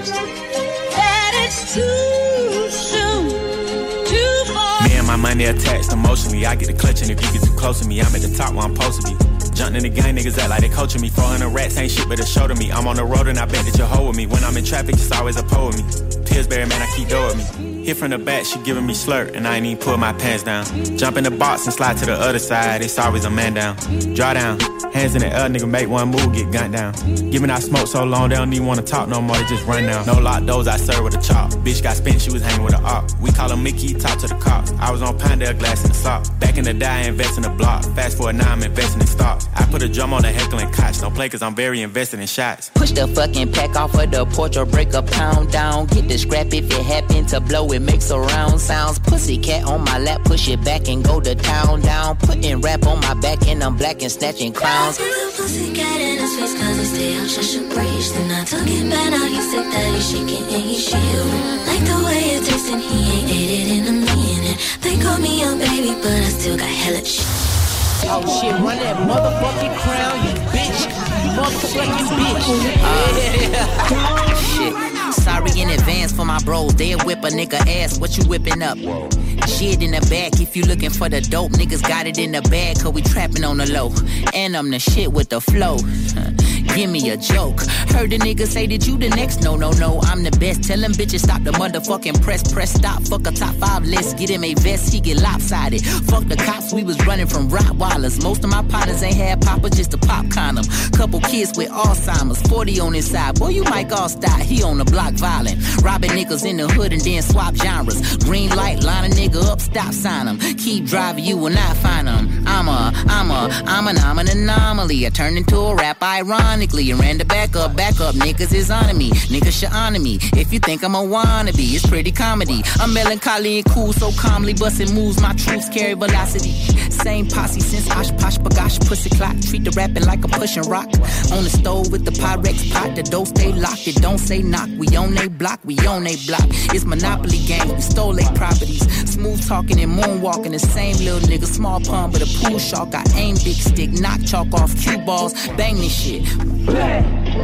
That it's too soon, too far. Me and my money attached emotionally. I get the clutch, and if you get too close to me, I'm at the top where I'm supposed to be. Jumping in the gang, niggas act like they coaching me. 400 rats ain't shit but a show to me. I'm on the road and I bet that you'll hold with me. When I'm in traffic, it's always a pole with me. Pillsbury, man, I keep doing me. Hit from the back, she giving me slurp, and I ain't even pull my pants down. Jump in the box and slide to the other side, it's always a man down. Draw down, hands in the air, nigga, make one move, get gunned down. Giving out smoke so long, they don't even wanna talk no more, they just run down. No lock doors, I serve with a chop. Bitch got spent, she was hanging with a op. We call her Mickey, talk to the cops. I was on Pinedale, glass in the sock. Back in the day, I invest in the block. Fast forward now, I'm investing in stocks. I put a drum on the heckling couch, don't play cause I'm very invested in shots. Push the fucking pack off of the porch or break a pound down. Get the scrap if it happen to blow, it makes a round sounds. Pussy cat on my lap, push it back and go to town down. Putting rap on my back and I'm black and snatching crowns. Pussy cat in his face cause he stay out, shush and preach. Then I took it back, now he's sick that he's shaking and he's shivering. Like the way it tastes and he ain't ate it in a minute. They call me a baby but I still got hella shit. Oh shit, run that motherfucking crown, you bitch. You motherfucking bitch. Shit. Sorry in advance for my bros. They'll whip a nigga ass. What you whipping up? Shit in the back. If you looking for the dope, niggas got it in the bag. Cause we trapping on the low. And I'm the shit with the flow. Give me a joke. Heard the nigga say that you the next. No, I'm the best. Tell them bitches stop the motherfucking press. Press stop. Fuck a top 5 list. Get him a vest. He get lopsided. Fuck the cops. We was running from Rottweilers. Most of my partners ain't had papa, just a pop condom. Couple kids with Alzheimer's. 40 on his side. Boy, you might all stop. He on the block violent. Robbing niggas in the hood and then swap genres. Green light. Line a nigga up. Stop sign him. Keep driving. You will not find him. I'm an anomaly. I turned into a rap ironically and ran the back up, niggas is on me, niggas should honor me, if you think I'm a wannabe, it's pretty comedy, I'm melancholy and cool, so calmly busting moves, my troops carry velocity, same posse since Osh Posh Bagosh, pussy clock, treat the rapping like I'm pushing rock, on the stove with the Pyrex pot, the dough stay locked, it don't say knock, we on they block, it's Monopoly games, we stole they properties, smooth talking and moonwalking, the same little nigga, small pun but a pool shark, I aim big stick, knock chalk off cue balls, bang this shit. Black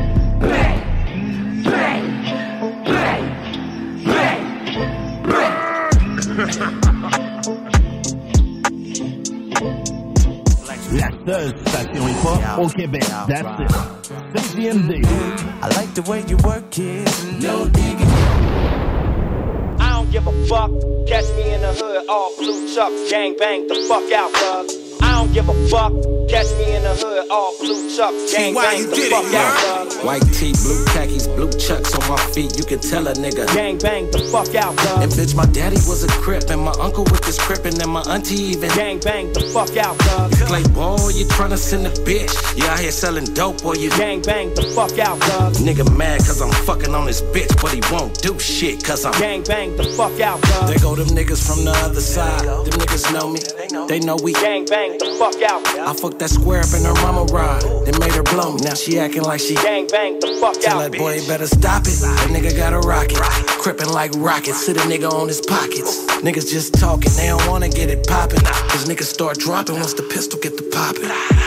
La seule station hip-hop au Québec. That's it. CJMD. I like the way you work it. No digging. I don't give a fuck. Catch me in the hood, all blue chucks, gang bang the fuck out, cuz. I don't give a fuck. Catch me in the hood, all blue chucks. Gang bang the fuck out, dog. White tee, blue khakis, blue chucks on my feet. You can tell a nigga. Gang bang the fuck out, dog. And bitch, my daddy was a crip, and my uncle with this crippin', and my auntie even. Gang bang the fuck out, dog. Play ball, you tryna send a bitch. You out here selling dope, or you. Gang bang the fuck out, dog. Nigga mad cause I'm fucking on this bitch, but he won't do shit cause I'm. Gang bang the fuck out, dog. There go them niggas from the other side. Them niggas know me. They know we. Gang bang the fuck out. I fucked that square up in her mama ride. They made her blow me. Now she acting like she. Gang bang the fuck Tell out. that boy he better stop it. That nigga got a rocket. Crippin' like rockets. Hit a nigga on his pockets. Niggas just talking. They don't wanna get it poppin'. Cause niggas start dropping once the pistol get the poppin'.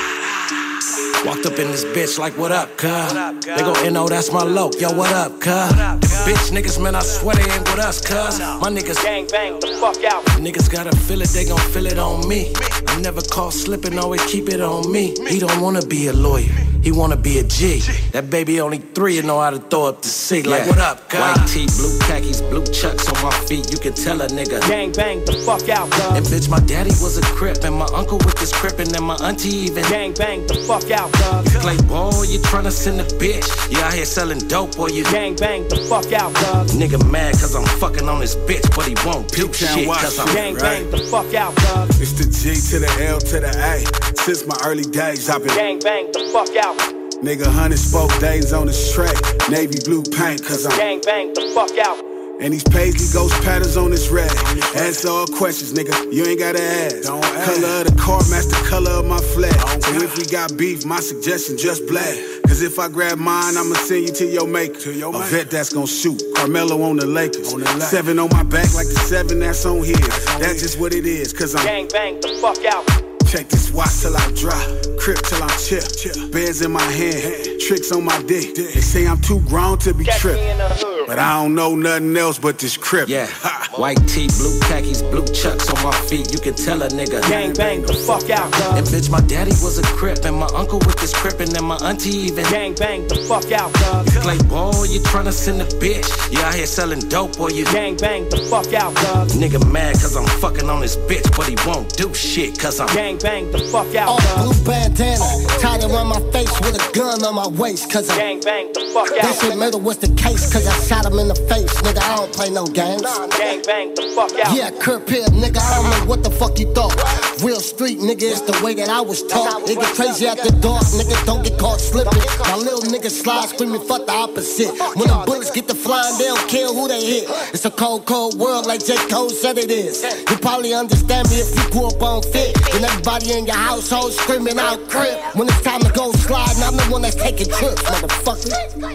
Walked up in this bitch like, what up, cuz? They gon' know that's my low. Yo, what up, cuz? Bitch niggas, man, I swear they ain't with us, cuz. My niggas gang bang the fuck out. Niggas gotta feel it, they gon' feel it on me. I never call slippin', always keep it on me. He don't wanna be a lawyer, he wanna be a G. That baby only 3 and know how to throw up the C. Like, what up, cuz? White tee, blue khakis, blue chucks on my feet. You can tell a nigga. Gang bang the fuck out, dog. And bitch, my daddy was a crip, and my uncle with this crippin', and my auntie even. Gang bang the fuck out, dog. You play ball, you tryna send a bitch. You out here selling dope, or you. Gang bang the fuck out, dog. Nigga mad cause I'm fucking on this bitch, but he won't do shit cause I'm. Gang bang the fuck out, dog. It's the G to the L to the A. Since my early days, I've been. Gang bang the fuck out. Nigga, 100 spoke days on this track. Navy blue paint cause I'm. Gang bang the fuck out. And these Paisley ghost patterns on this rag. Answer all questions, nigga, you ain't gotta ask. Don't ask. Color of the car match the color of my flag. So if we got beef, my suggestion just black. Cause if I grab mine, I'ma send you to your maker. A vet that's gon' shoot. Carmelo on the Lakers. 7 on my back like the 7 that's on his. That's just what it is, cause I'm. Gang bang the fuck out. Check this watch till I drop, crip till I'm chill. Bands in my hand, tricks on my dick. They say I'm too grown to be tripped, but I don't know nothing else but this crip. Yeah, white tee, blue khakis, blue chucks on my feet. You can tell a nigga. Gang bang the fuck out, dog. And bitch, my daddy was a crip, and my uncle with this crippin', and my auntie even. Gang bang the fuck out, dog. You play ball, you tryna send a bitch. You out here selling dope, or you. Gang bang the fuck out, dog. Nigga mad cause I'm fucking on this bitch, but he won't do shit cause I'm. Gang bang the fuck out, dog. Blue bandana, tied around my face with a gun on my waist, cause I'm. Gang bang the fuck out. This shit murder was the case, cause I shot him in the face, nigga. I don't play no games. Gang bang the fuck out. Yeah, Kurt Pibb, nigga. I don't know what the fuck you thought. Real street, nigga, it's the way that I was taught. Nigga crazy at the dark, nigga. Don't get caught slipping. My little nigga slide screaming, fuck the opposite. When the bullets get to flying, they'll kill who they hit. It's a cold, cold world, like J. Cole said it is. You probably understand me if you grew up on fit. And everybody in your household screaming out crib. When it's time to go slide, I'm the one that's taking trips, motherfucker.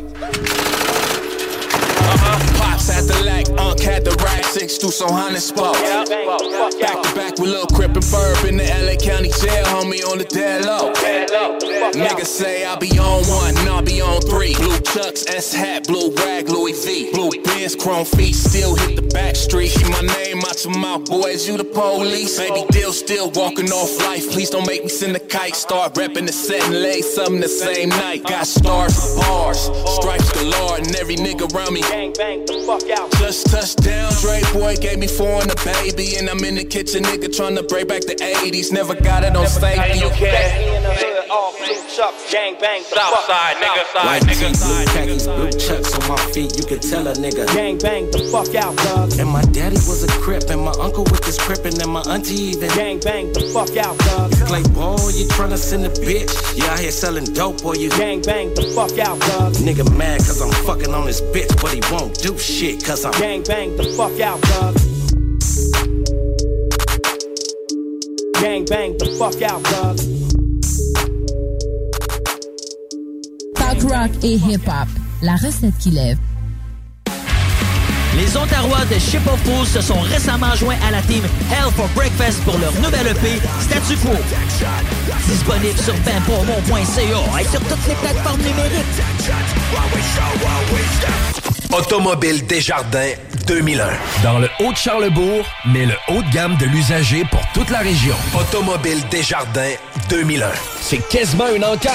Pops at the lack, had the rack, 6 through some honey spot. Back to back with Lil Crip and Burb in the LA County jail, homie on the dead low. Niggas say I be on 1, and I'll be on 3. Blue chucks, S hat, blue rag, Louis V. Blue Benz, chrome feet, still hit the back street. Keep my name out your mouth, boys, you the police. Baby deal still walking off life. Please don't make me send a kite. Start repping the set and lay something the same night. Got stars for bars, stripes galore, and every nigga around me. Gang bang the fuck out. Just touched down, Dre boy gave me 4 and a baby, and I'm in the kitchen, nigga, tryna break back the 80s. Never got it on safety. You can. All blue chucks, gang bang the fuck out. White tee, blue khakis, blue chucks on my feet. You can tell a nigga. Gang bang the fuck out, dog. And my daddy was a crip, and my uncle with this crippin', and my auntie even. Gang bang the fuck out, dog. You play ball, you tryna send a bitch. You out here selling dope, or you. Gang bang the fuck out, dog. Nigga mad cause I'm fucking on this bitch, but he won't do shit cause I'm. Gang bang the fuck out, dog. Gang bang the fuck out, dog. Talk rock et hip-hop, la recette qui lève. Les Ontarois de Ship of Fools se sont récemment joints à la team Hell for Breakfast pour leur nouvelle EP Statu Quo. Disponible sur benpromo.ca et sur toutes les plateformes numériques. Automobile Desjardins 2001. Dans le Haut-de-Charlebourg, mais le haut de gamme de l'usager pour toute la région. Automobile Desjardins 2001. C'est quasiment une encarte.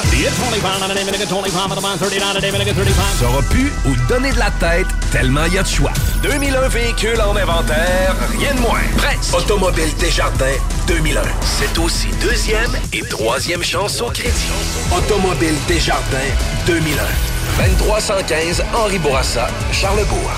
Ça aura pu ou donner de la tête tellement il y a de choix. 2001 véhicules en inventaire, rien de moins. Presque. Automobile Desjardins 2001. C'est aussi deuxième et troisième chance au crédit. Automobile Desjardins 2001. 2315 Henri Bourassa, Charlebourg.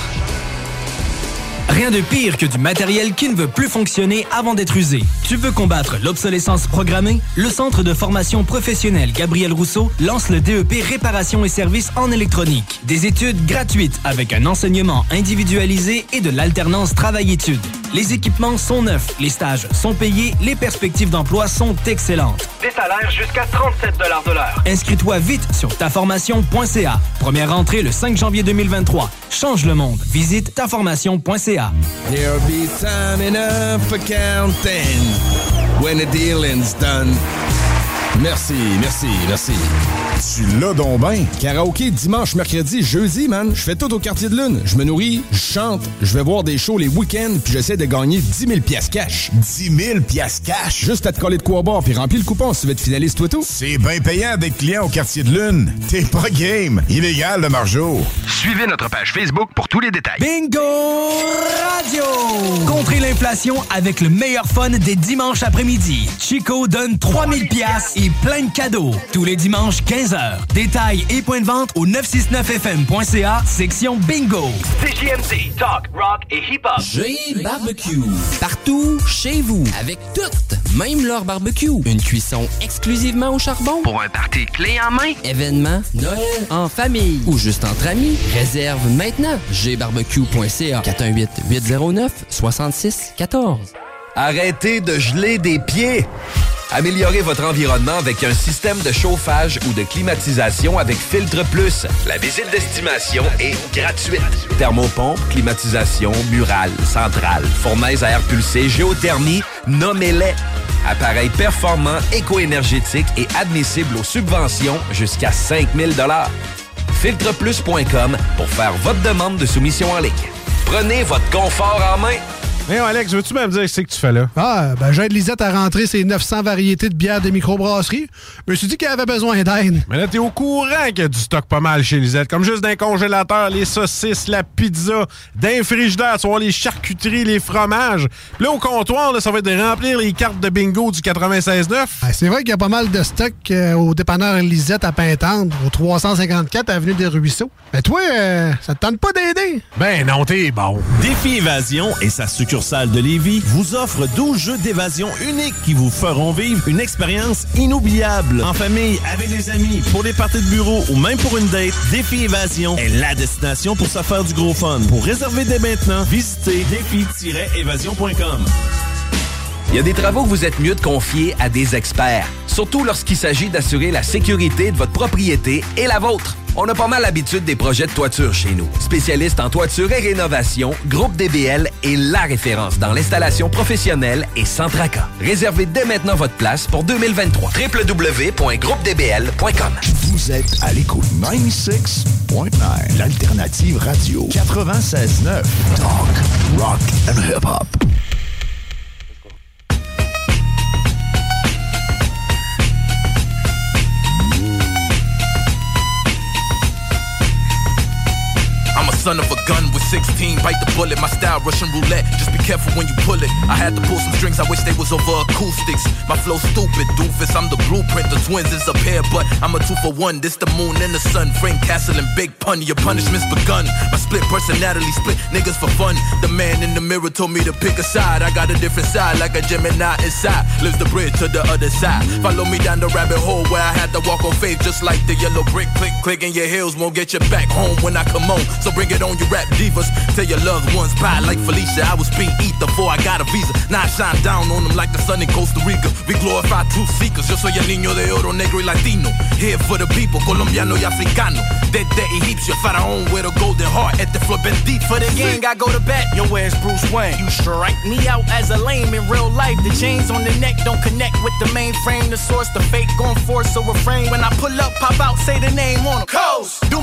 Rien de pire que du matériel qui ne veut plus fonctionner avant d'être usé. Tu veux combattre l'obsolescence programmée? Le Centre de formation professionnelle Gabriel Rousseau lance le DEP Réparation et services en électronique. Des études gratuites avec un enseignement individualisé et de l'alternance travail-études. Les équipements sont neufs, les stages sont payés, les perspectives d'emploi sont excellentes. Des salaires jusqu'à 37 $ de l'heure. Inscris-toi vite sur taformation.ca. Première rentrée le 5 janvier 2023. Change le monde. Visite taformation.ca. There'll be time enough for counting when the dealing's done. Merci. Tu l'as donc ben. Karaoké dimanche, mercredi, jeudi, man. Je fais tout au Quartier de Lune. Je me nourris, je chante, je vais voir des shows les week-ends, puis j'essaie de gagner 10 000 piastres cash. 10 000 piastres cash? Juste à te coller de quoi boire, puis remplis le coupon si tu veux être finaliste, toi tout. C'est bien payant d'être client au Quartier de Lune. T'es pas game. Illégal, le margeau. Suivez notre page Facebook pour tous les détails. Bingo Radio! Contrez l'inflation avec le meilleur fun des dimanches après-midi. Chico donne 3000 piastres et plein de cadeaux. Tous les dimanches, 15h. Détails et points de vente au 969fm.ca, section Bingo. CJMD, talk, rock et hip-hop. J-Barbecue. Partout, chez vous, avec toutes, même leur barbecue. Une cuisson exclusivement au charbon. Pour un party clé en main. Événements, Noël, en famille ou juste entre amis. Réserve maintenant. jbarbecue.ca 418-809-6614. Arrêtez de geler des pieds. Améliorez votre environnement avec un système de chauffage ou de climatisation avec Filtre Plus. La visite d'estimation est gratuite. Thermopompe, climatisation, murale, centrale, fournaise à air pulsé, géothermie, nommez-les. Appareil performant, éco-énergétique et admissible aux subventions jusqu'à 5 000 $. Filtreplus.com pour faire votre demande de soumission en ligne. Prenez votre confort en main. Hey, Alex, veux-tu même dire ce que tu fais là? J'aide Lisette à rentrer ses 900 variétés de bières de microbrasserie. Je me suis dit qu'elle avait besoin d'aide. Mais là, t'es au courant qu'il y a du stock pas mal chez Lisette. Comme juste d'un congélateur, les saucisses, la pizza, d'un frigidaire, tu vois, les charcuteries, les fromages. Puis là, au comptoir, là, ça va être de remplir les cartes de bingo du 96.9. C'est vrai qu'il y a pas mal de stock au dépanneur Lisette à Pintendre, au 354 Avenue des Ruisseaux. Mais toi, ça te tente pas d'aider? Ben non, t'es bon. Défi Évasion et sa succursale de Lévis vous offre 12 jeux d'évasion uniques qui vous feront vivre une expérience inoubliable. En famille, avec des amis, pour les parties de bureau ou même pour une date, Défi Évasion est la destination pour se faire du gros fun. Pour réserver dès maintenant, visitez défi-évasion.com. Il y a des travaux que vous êtes mieux de confier à des experts, surtout lorsqu'il s'agit d'assurer la sécurité de votre propriété et la vôtre. On a pas mal l'habitude des projets de toiture chez nous. Spécialiste en toiture et rénovation, Groupe DBL est la référence dans l'installation professionnelle et sans tracas. Réservez dès maintenant votre place pour 2023. www.groupedbl.com. Vous êtes à l'écoute 96.9, l'alternative radio 96.9. Talk, rock and hip-hop. Son of a gun with 16, bite the bullet, my style Russian roulette, just be careful when you pull it. I had to pull some strings, I wish they was over acoustics. My flow stupid, doofus, I'm the blueprint, the twins is a pair, but I'm a 2-for-1, this the moon and the sun, Frank Castle and Big Pun, your punishment's begun. My split personality, split niggas for fun. The man in the mirror told me to pick a side, I got a different side, like a Gemini inside, lives the bridge to the other side. Follow me down the rabbit hole where I had to walk on faith, just like the yellow brick, click, click, and your heels won't get you back home when I come on, so bring it on you rap divas. Tell your loved ones bye like Felicia. I was being eat before I got a visa. Now I shine down on them like the sun in Costa Rica. We glorify truth seekers. Yo soy el niño de oro, negro y latino. Here for the people, colombiano y africano. Dead Egipcio, faraón with a golden heart. At the floor bendito for the gang, I go to bat. Yo, where's Bruce Wayne? You strike me out as a lame in real life. The chains on the neck don't connect with the mainframe. The source, the fake gon' force a refrain. When I pull up, pop out, say the name on them. Coast. Do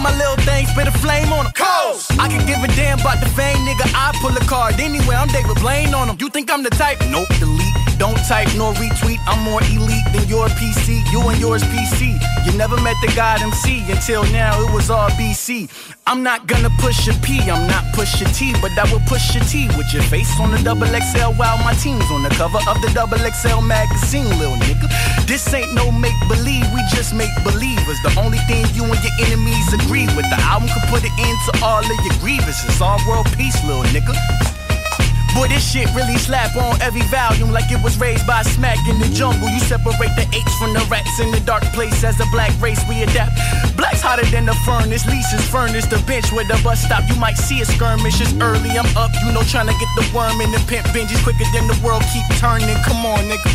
my little thing, spit a flame on them. Coast. I can give a damn about the fame, nigga. I pull a card anyway. I'm David Blaine on them. You think I'm the type? Nope, delete. Don't type nor retweet. I'm more elite than your PC. You and yours PC. You never met the God MC. Until now, it was all BC. I'm not gonna push a P. I'm not push a T, but I will push a T with your face on the XXL while my team's on the cover of the XXL magazine, little nigga. This ain't no make believe. We just make believers. The only thing you and your enemies agree with. The album could put an end to all of your grievances. All world peace, little nigga. Boy, this shit really slap on every volume like it was raised by smack in the jungle. You separate the apes from the rats in the dark place. As a black race, we adapt. Black's hotter than the furnace. Lisa's furnace, the bench where the bus stop. You might see a skirmish. It's early, I'm up. You know, trying to get the worm in the pimp binges quicker than the world keep turning. Come on, nigga.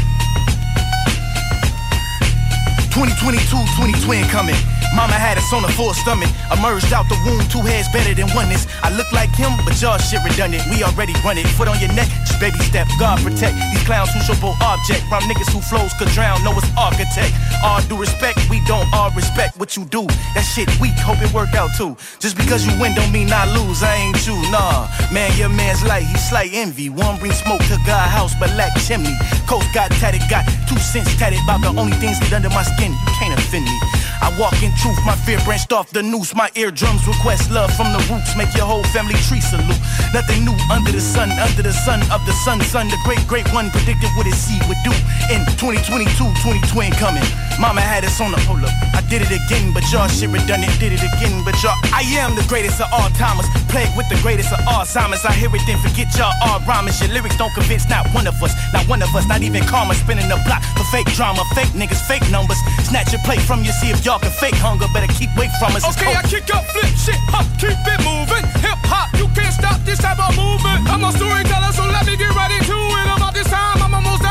2022, 2020 coming. Mama had us on a full stomach. Emerged out the womb, two heads better than oneness. I look like him, but y'all shit redundant. We already run it. Foot on your neck, just baby step. God protect these clowns who show both object. Round niggas who flows could drown. Know it's architect. All due respect, we don't all respect what you do. That shit weak, hope it work out too. Just because you win don't mean I lose. I ain't you, nah. Man, your man's light, he slight envy. One bring smoke to God house, but lack chimney. Coast got tatted, got 2 cents tatted. About the only things get under my skin. You can't offend me. I walk in truth, my fear branched off the noose. My eardrums request love from the roots. Make your whole family tree salute. Nothing new under the sun of the sun. The great one predicted what his seed would do. In 2022, 2020 coming. Mama had us on the hold up. I did it again, but y'all shit redundant. Did it again, but y'all. I am the greatest of all timers. Plagued with the greatest of Alzheimer's. I hear it, then forget y'all all rhymers. Your lyrics don't convince not one of us. Not one of us, not even karma. Spinning the block for fake drama. Fake niggas, fake numbers. Snatch your plate from you, see if y'all can fake hunger. Better keep away from us. Okay, I kick up, flip shit up, keep it moving. Hip hop, you can't stop this type of movement. I'm a storyteller, so let me get right into it. About this time, I'm almost